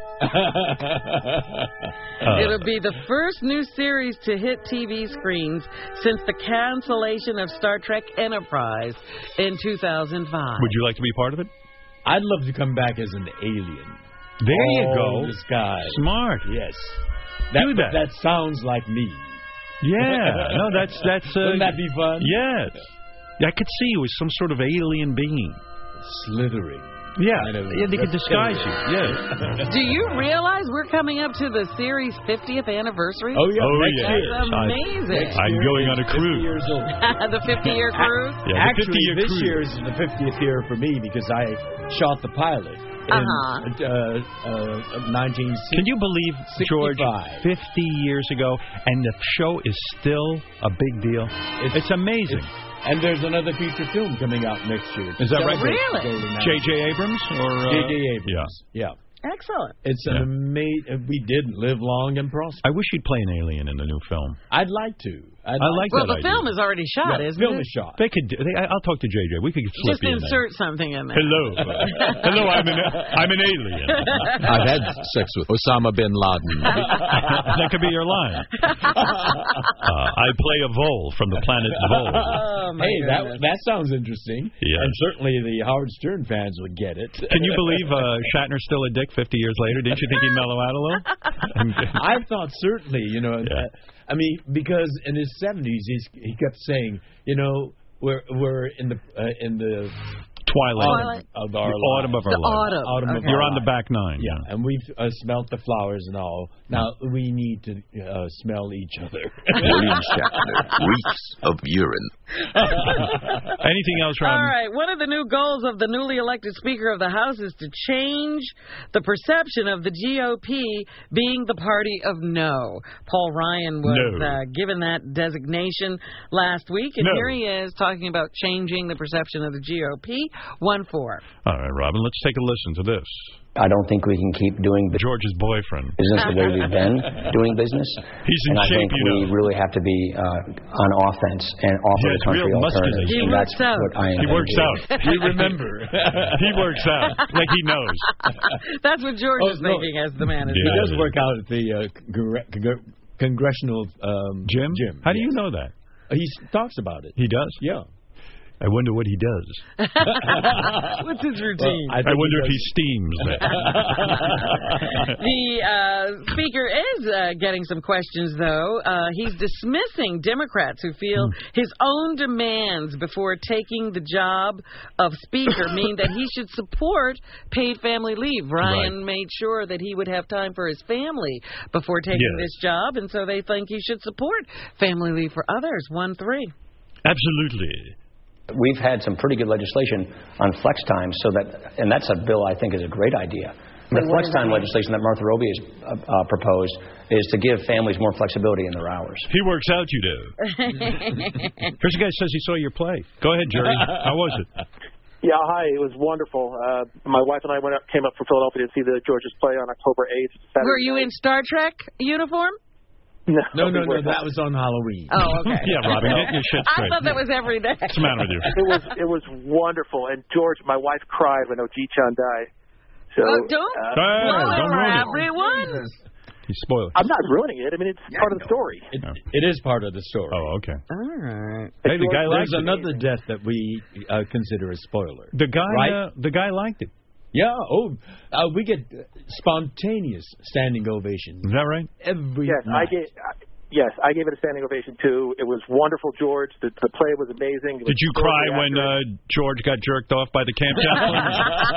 Uh, It'll be the first new series to hit T V screens since the cancellation of Star Trek Enterprise in two thousand five. Would you like to be part of it? I'd love to come back as an alien. There you Oh, go. the sky. Smart. Yes. That, Do that. That sounds like me. Yeah. No, that's that's. Uh, Wouldn't that be fun? Yes. Yeah, I could see you as some sort of alien being. Slithering. Yeah. Kind of Yeah, they could disguise you. Yeah. Do you realize we're coming up to the series' fiftieth anniversary? Oh yeah. Oh next yeah. year. That's amazing. I, I'm going on a fifty cruise. years old. The fifty-year cruise? Yeah, the Actually, fifty-year this cruise. year is the fiftieth year for me because I shot the pilot in Uh-huh. uh, uh, nineteen sixty. Can you believe, George, sixty-five. fifty years ago, and the show is still a big deal? It's, amazing. It's, and there's another feature film coming out next year. Is that right? Really? J J Abrams? or uh, J J Abrams. Yeah. yeah. Excellent. It's an Yeah. amazing. We did live long and prosper. I wish you'd play an alien in the new film. I'd like to. I'd I like Well, that the idea. film is already shot, Yeah, isn't film it? is shot. They could. They, I'll talk to J J. We could slip Just you in there. insert something in there. Hello. Hello, I'm an, I'm an alien. I've had sex with Osama bin Laden. That could be your line. Uh, I play a Vol from the planet Vol. Oh, my Hey, that goodness. that sounds interesting. Yes. And certainly the Howard Stern fans would get it. Can you believe uh, Shatner's still a dick fifty years later? Didn't you think he'd mellow out a little? I thought certainly, you know, Yeah. uh, I mean, because in his seventies, he's, he kept saying, you know, we're we're in the uh, in the Twilight. autumn of our The autumn lives. of our The lives. autumn. Autumn of Okay. our You're on the lives. back nine. Yeah, and we've uh, smelt the flowers and all. Now we need to uh, smell each other. William Shatner reeks of urine. Anything else, Robin? All right. One of the new goals of the newly elected Speaker of the House is to change the perception of the G O P being the party of no. Paul Ryan was No. uh, given that designation last week, and No. here he is talking about changing the perception of the G O P. one four. All right, Robin, let's take a listen to this. I don't think we can keep doing George's boyfriend. business the way we've been doing business. He's in and I shape, think you we know. really have to be uh, on offense and offer Yeah, the it's country real muscular. alternatives. He and works that's out. what I He intend works to do. out. We remember. He works out like he knows. That's what George Oh, is no. thinking as the manager. He Yeah. does work out at the uh, congre- congre- congressional um, Jim? Jim. How do you yes. know that? He talks about it. He does? Yeah. I wonder what he does. What's his routine? Well, I I think wonder if does- he steams it. The uh, Speaker is uh, getting some questions, though. Uh, he's dismissing Democrats who feel Hmm. his own demands before taking the job of Speaker mean that he should support paid family leave. Ryan Right. made sure that he would have time for his family before taking Yes. this job, and so they think he should support family leave for others. one three. Absolutely. We've had some pretty good legislation on flex time, so that, and that's a bill I think is a great idea. The flex time legislation that Martha Roby has uh, uh, proposed is to give families more flexibility in their hours. He works out, you do. Here's a guy who says he saw your play. Go ahead, Jerry. How was it? Yeah, hi. It was wonderful. Uh, my wife and I went up, came up from Philadelphia to see the George's play on October eighth. Saturday Were you night. in Star Trek uniform? No, No, no, we no. were That not. was on Halloween. Oh, okay. Yeah, Robin, get your shit I straight. thought that was every day. What's the matter with you? It was it was wonderful. And George, my wife cried when Oji-chan died. So Oh, don't uh, Hey, spoil don't it for ruin it. everyone. You spoil it. I'm not ruining it. I mean, it's part of the story. It, it is part of the story. Oh, okay. All right. Hey, the guy liked There's it. another death that we uh, consider a spoiler. The guy, Right? uh, the guy liked it. Yeah. Oh, uh, we get spontaneous standing ovations Is that right? Yes, every I night. gave. I, yes, I gave it a standing ovation too. It was wonderful, George. The, the play was amazing. It was Did you totally cry when accurate. uh, George got jerked off by the camp chaplain?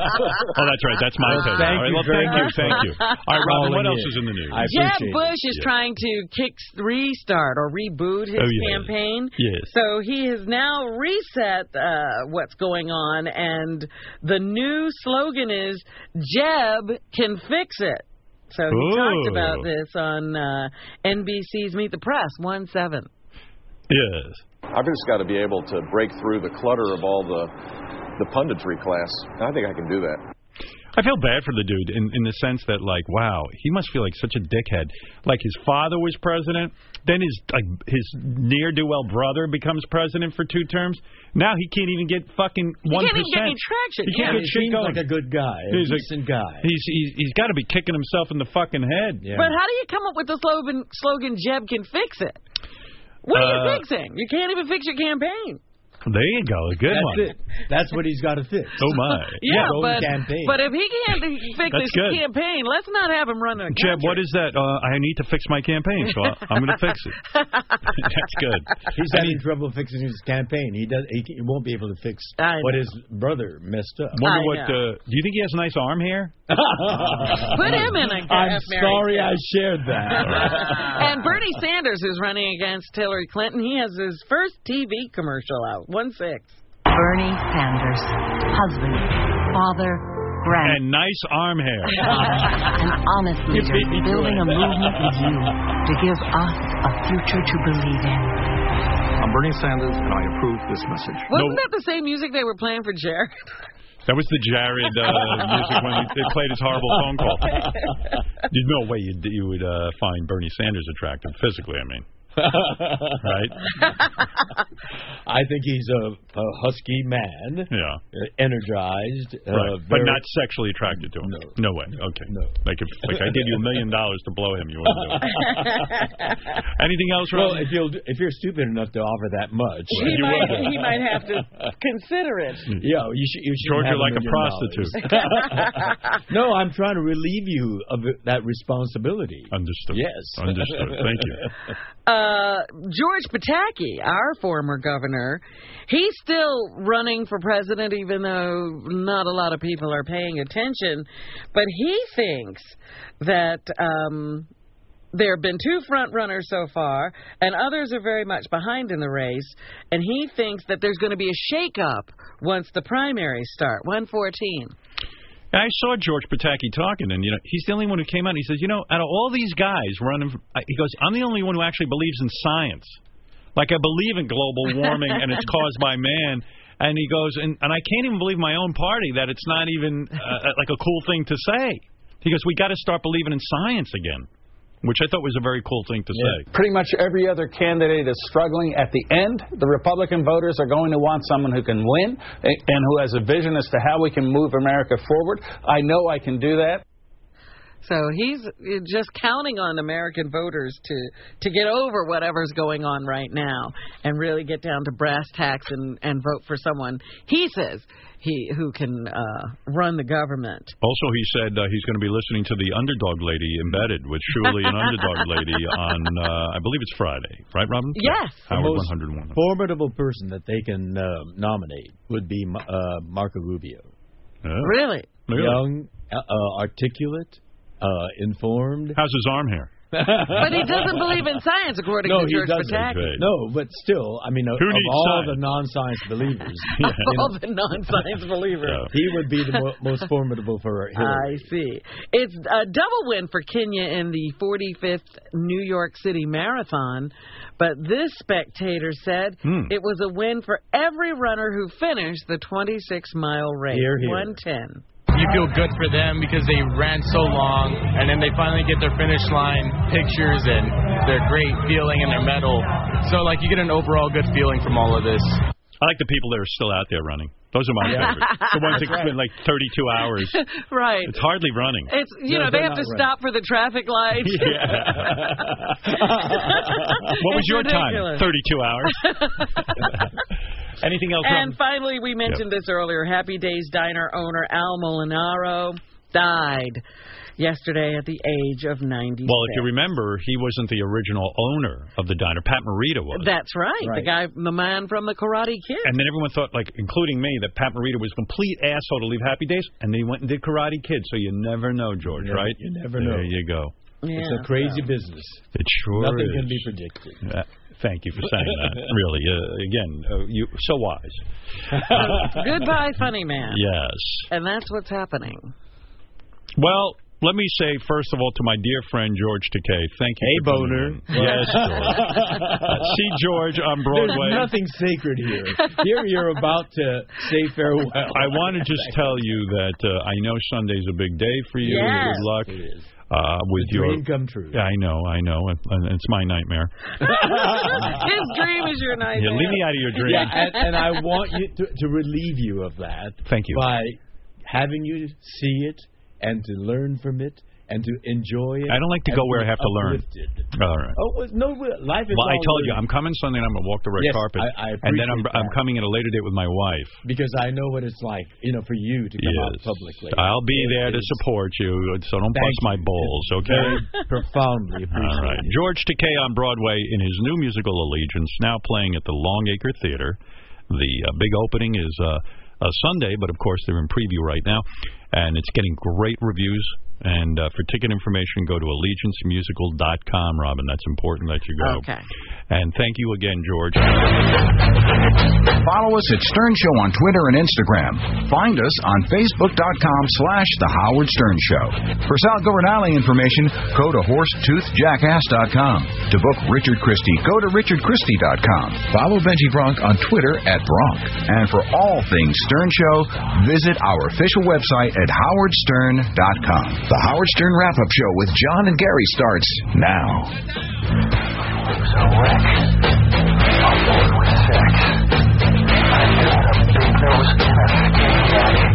Oh, that's right. That's my Well, take. thank All right, you well, very thank you, much thank for you. All right, Robin, what calling else in. is in the news? I Jeb appreciate Bush it. is Yeah. trying to kick restart or reboot his Oh, yeah. campaign. Yes. So he has now reset uh, what's going on, and the new slogan is "Jeb can fix it." So he Ooh. talked about this on uh, N B C's Meet the Press one seven. Yes. I've just got to be able to break through the clutter of all the the punditry class. And I think I can do that. I feel bad for the dude in, in the sense that, like, wow, he must feel like such a dickhead. Like, his father was president, then his like his ne'er-do-well brother becomes president for two terms. Now he can't even get fucking one He can't percent. even get any traction. He Yeah. can't He get shit seems going. like a good guy, a He's a- decent guy. He's he's, he's got to be kicking himself in the fucking head. Yeah. But how do you come up with the slogan, slogan "Jeb can fix it"? What are Uh, you fixing? You can't even fix your campaign. There you go. A good That's one. It. That's what he's got to fix. Oh, my. Yeah, His own but, campaign. but if he can't fix That's his good. campaign, let's not have him run a country. Jeb, what is that? Uh, I need to fix my campaign, so I'm going to fix it. That's good. He's having trouble fixing his campaign. He does. He, he won't be able to fix I what know. his brother messed up. Wonder I what? Uh, do you think he has nice arm hair? Put him in a I'm Mary sorry Kay. I shared that. And Bernie Sanders is running against Hillary Clinton. He has his first T V commercial out. One six. Bernie Sanders, husband, father, grand, And nice arm hair. an honest leader, building a movement with you to give us a future to believe in. I'm Bernie Sanders, and I approve this message. Wasn't that the same music they were playing for Jared? That was the Jared uh, music when he, they played his horrible phone call. There's no way you'd, you would uh, find Bernie Sanders attractive physically, I mean. Right? I think he's a, a husky man. Yeah. Uh, energized. Uh, Right. very, But not sexually attracted to him. No. No way. Okay. No. Like if like I give you a million dollars to blow him, you wouldn't do it. Anything else, Well, Ron? if you'll if you're stupid enough to offer that much, He you might, will. he might have to consider it. Yeah, you should. You should George, have you're like a million prostitute. dollars. No, I'm trying to relieve you of that responsibility. Understood. Yes. Understood. Thank you. Uh, George Pataki, our former governor, he's still running for president, even though not a lot of people are paying attention. But he thinks that um, there have been two front runners so far, and others are very much behind in the race. And he thinks that there's going to be a shakeup once the primaries start. one fourteen. I saw George Pataki talking, and you know he's the only one who came out. And he says, you know, out of all these guys running, for, he goes, I'm the only one who actually believes in science. Like I believe in global warming and it's caused by man. And he goes, and, and I can't even believe my own party that it's not even uh, like a cool thing to say. He goes, we got to start believing in science again, which I thought was a very cool thing to say. Pretty much every other candidate is struggling. At the end, the Republican voters are going to want someone who can win and who has a vision as to how we can move America forward. I know I can do that. So he's just counting on American voters to, to get over whatever's going on right now and really get down to brass tacks and, and vote for someone he says he who can uh, run the government. Also, he said uh, he's going to be listening to the Underdog Lady Embedded with Shuli and Underdog Lady on, uh, I believe it's Friday. Right, Robin? Yes. The Howard most one oh one. formidable person that they can uh, nominate would be uh, Marco Rubio. Yeah. Really? Really? Young, uh, uh, articulate, uh, informed. How's his arm hair? But he doesn't believe in science, according no, to he George doesn't. Pataki. No, but still, I mean, of, Who of needs all science? the non-science believers, Of you all know, the non-science believers. Yeah. he would be the mo- most formidable for Hillary. I see. It's a double win for Kenya in the forty-fifth New York City Marathon, but this spectator said Hmm. it was a win for every runner who finished the twenty-six mile race. Hear, hear. one ten. You feel good for them because they ran so long, and then they finally get their finish line pictures and their great feeling and their medal. So, like, you get an overall good feeling from all of this. I like the people that are still out there running. Those are my favorites. The ones that spend like thirty-two hours. Right. It's hardly running. It's you No, know they they're have to not stop for the traffic lights. What was It's your ridiculous. time? thirty-two hours. Anything else? And Robin? finally, we mentioned this earlier. Happy Days Diner owner Al Molinaro died yesterday at the age of ninety-six. Well, if you remember, he wasn't the original owner of the diner. Pat Morita was. That's right. Right. The guy, the man from the Karate Kid. And then everyone thought, like, including me, that Pat Morita was a complete asshole to leave Happy Days, and then he went and did Karate Kid. So you never know, George, You never- right? you never know. There you go. Yeah, It's a crazy so. business. It sure Nothing is. can be predicted. Uh, thank you for saying that. Really, uh, again, uh, you so wise. Goodbye, funny man. Yes. And that's what's happening. Well, let me say, first of all, to my dear friend George Takei, thank you. Hey, for coming Boner. in. Yes, George. Uh, see George on Broadway. There's nothing sacred here. Here you're about to say farewell. I want to just tell you that uh, I know Sunday's a big day for you. Yes. Good luck. It is. Uh, with The your dream come true. Yeah, I know, I know. and- and It's my nightmare. His dream is your nightmare. Yeah, leave me out of your dream. Yeah, and, and I want you to, to relieve you of that. Thank you. By having you see it and to learn from it and to enjoy it. I don't like to go where I have to learn. All right. Oh, no, life is Well, I told learning. you, I'm coming Sunday and I'm going to walk the red yes, carpet. I, I and then I'm that. I'm coming at a later date with my wife. Because I know what it's like, you know, for you to come yes. out publicly. I'll be it there to support you, so don't Thank bust my balls, okay? Very profoundly appreciated. All right. George Takei on Broadway in his new musical Allegiance, now playing at the Longacre Theater. The uh, big opening is uh, a Sunday, but of course they're in preview right now, and it's getting great reviews. And uh, for ticket information, go to allegiance musical dot com, Robin. That's important that you go. Okay. And thank you again, George. Follow us at Stern Show on Twitter and Instagram. Find us on facebook dot com slash The Howard Stern Show. For Sal Governale information, go to horse tooth jackass dot com. To book Richard Christie, go to richard christie dot com. Follow Benji Bronk on Twitter at Bronk. And for all things Stern Show, visit our official website at howard stern dot com. The Howard Stern Wrap-Up Show with John and Gary starts now. It was a wreck. I'm bored with sex. I got a big nose and a skinny daddy.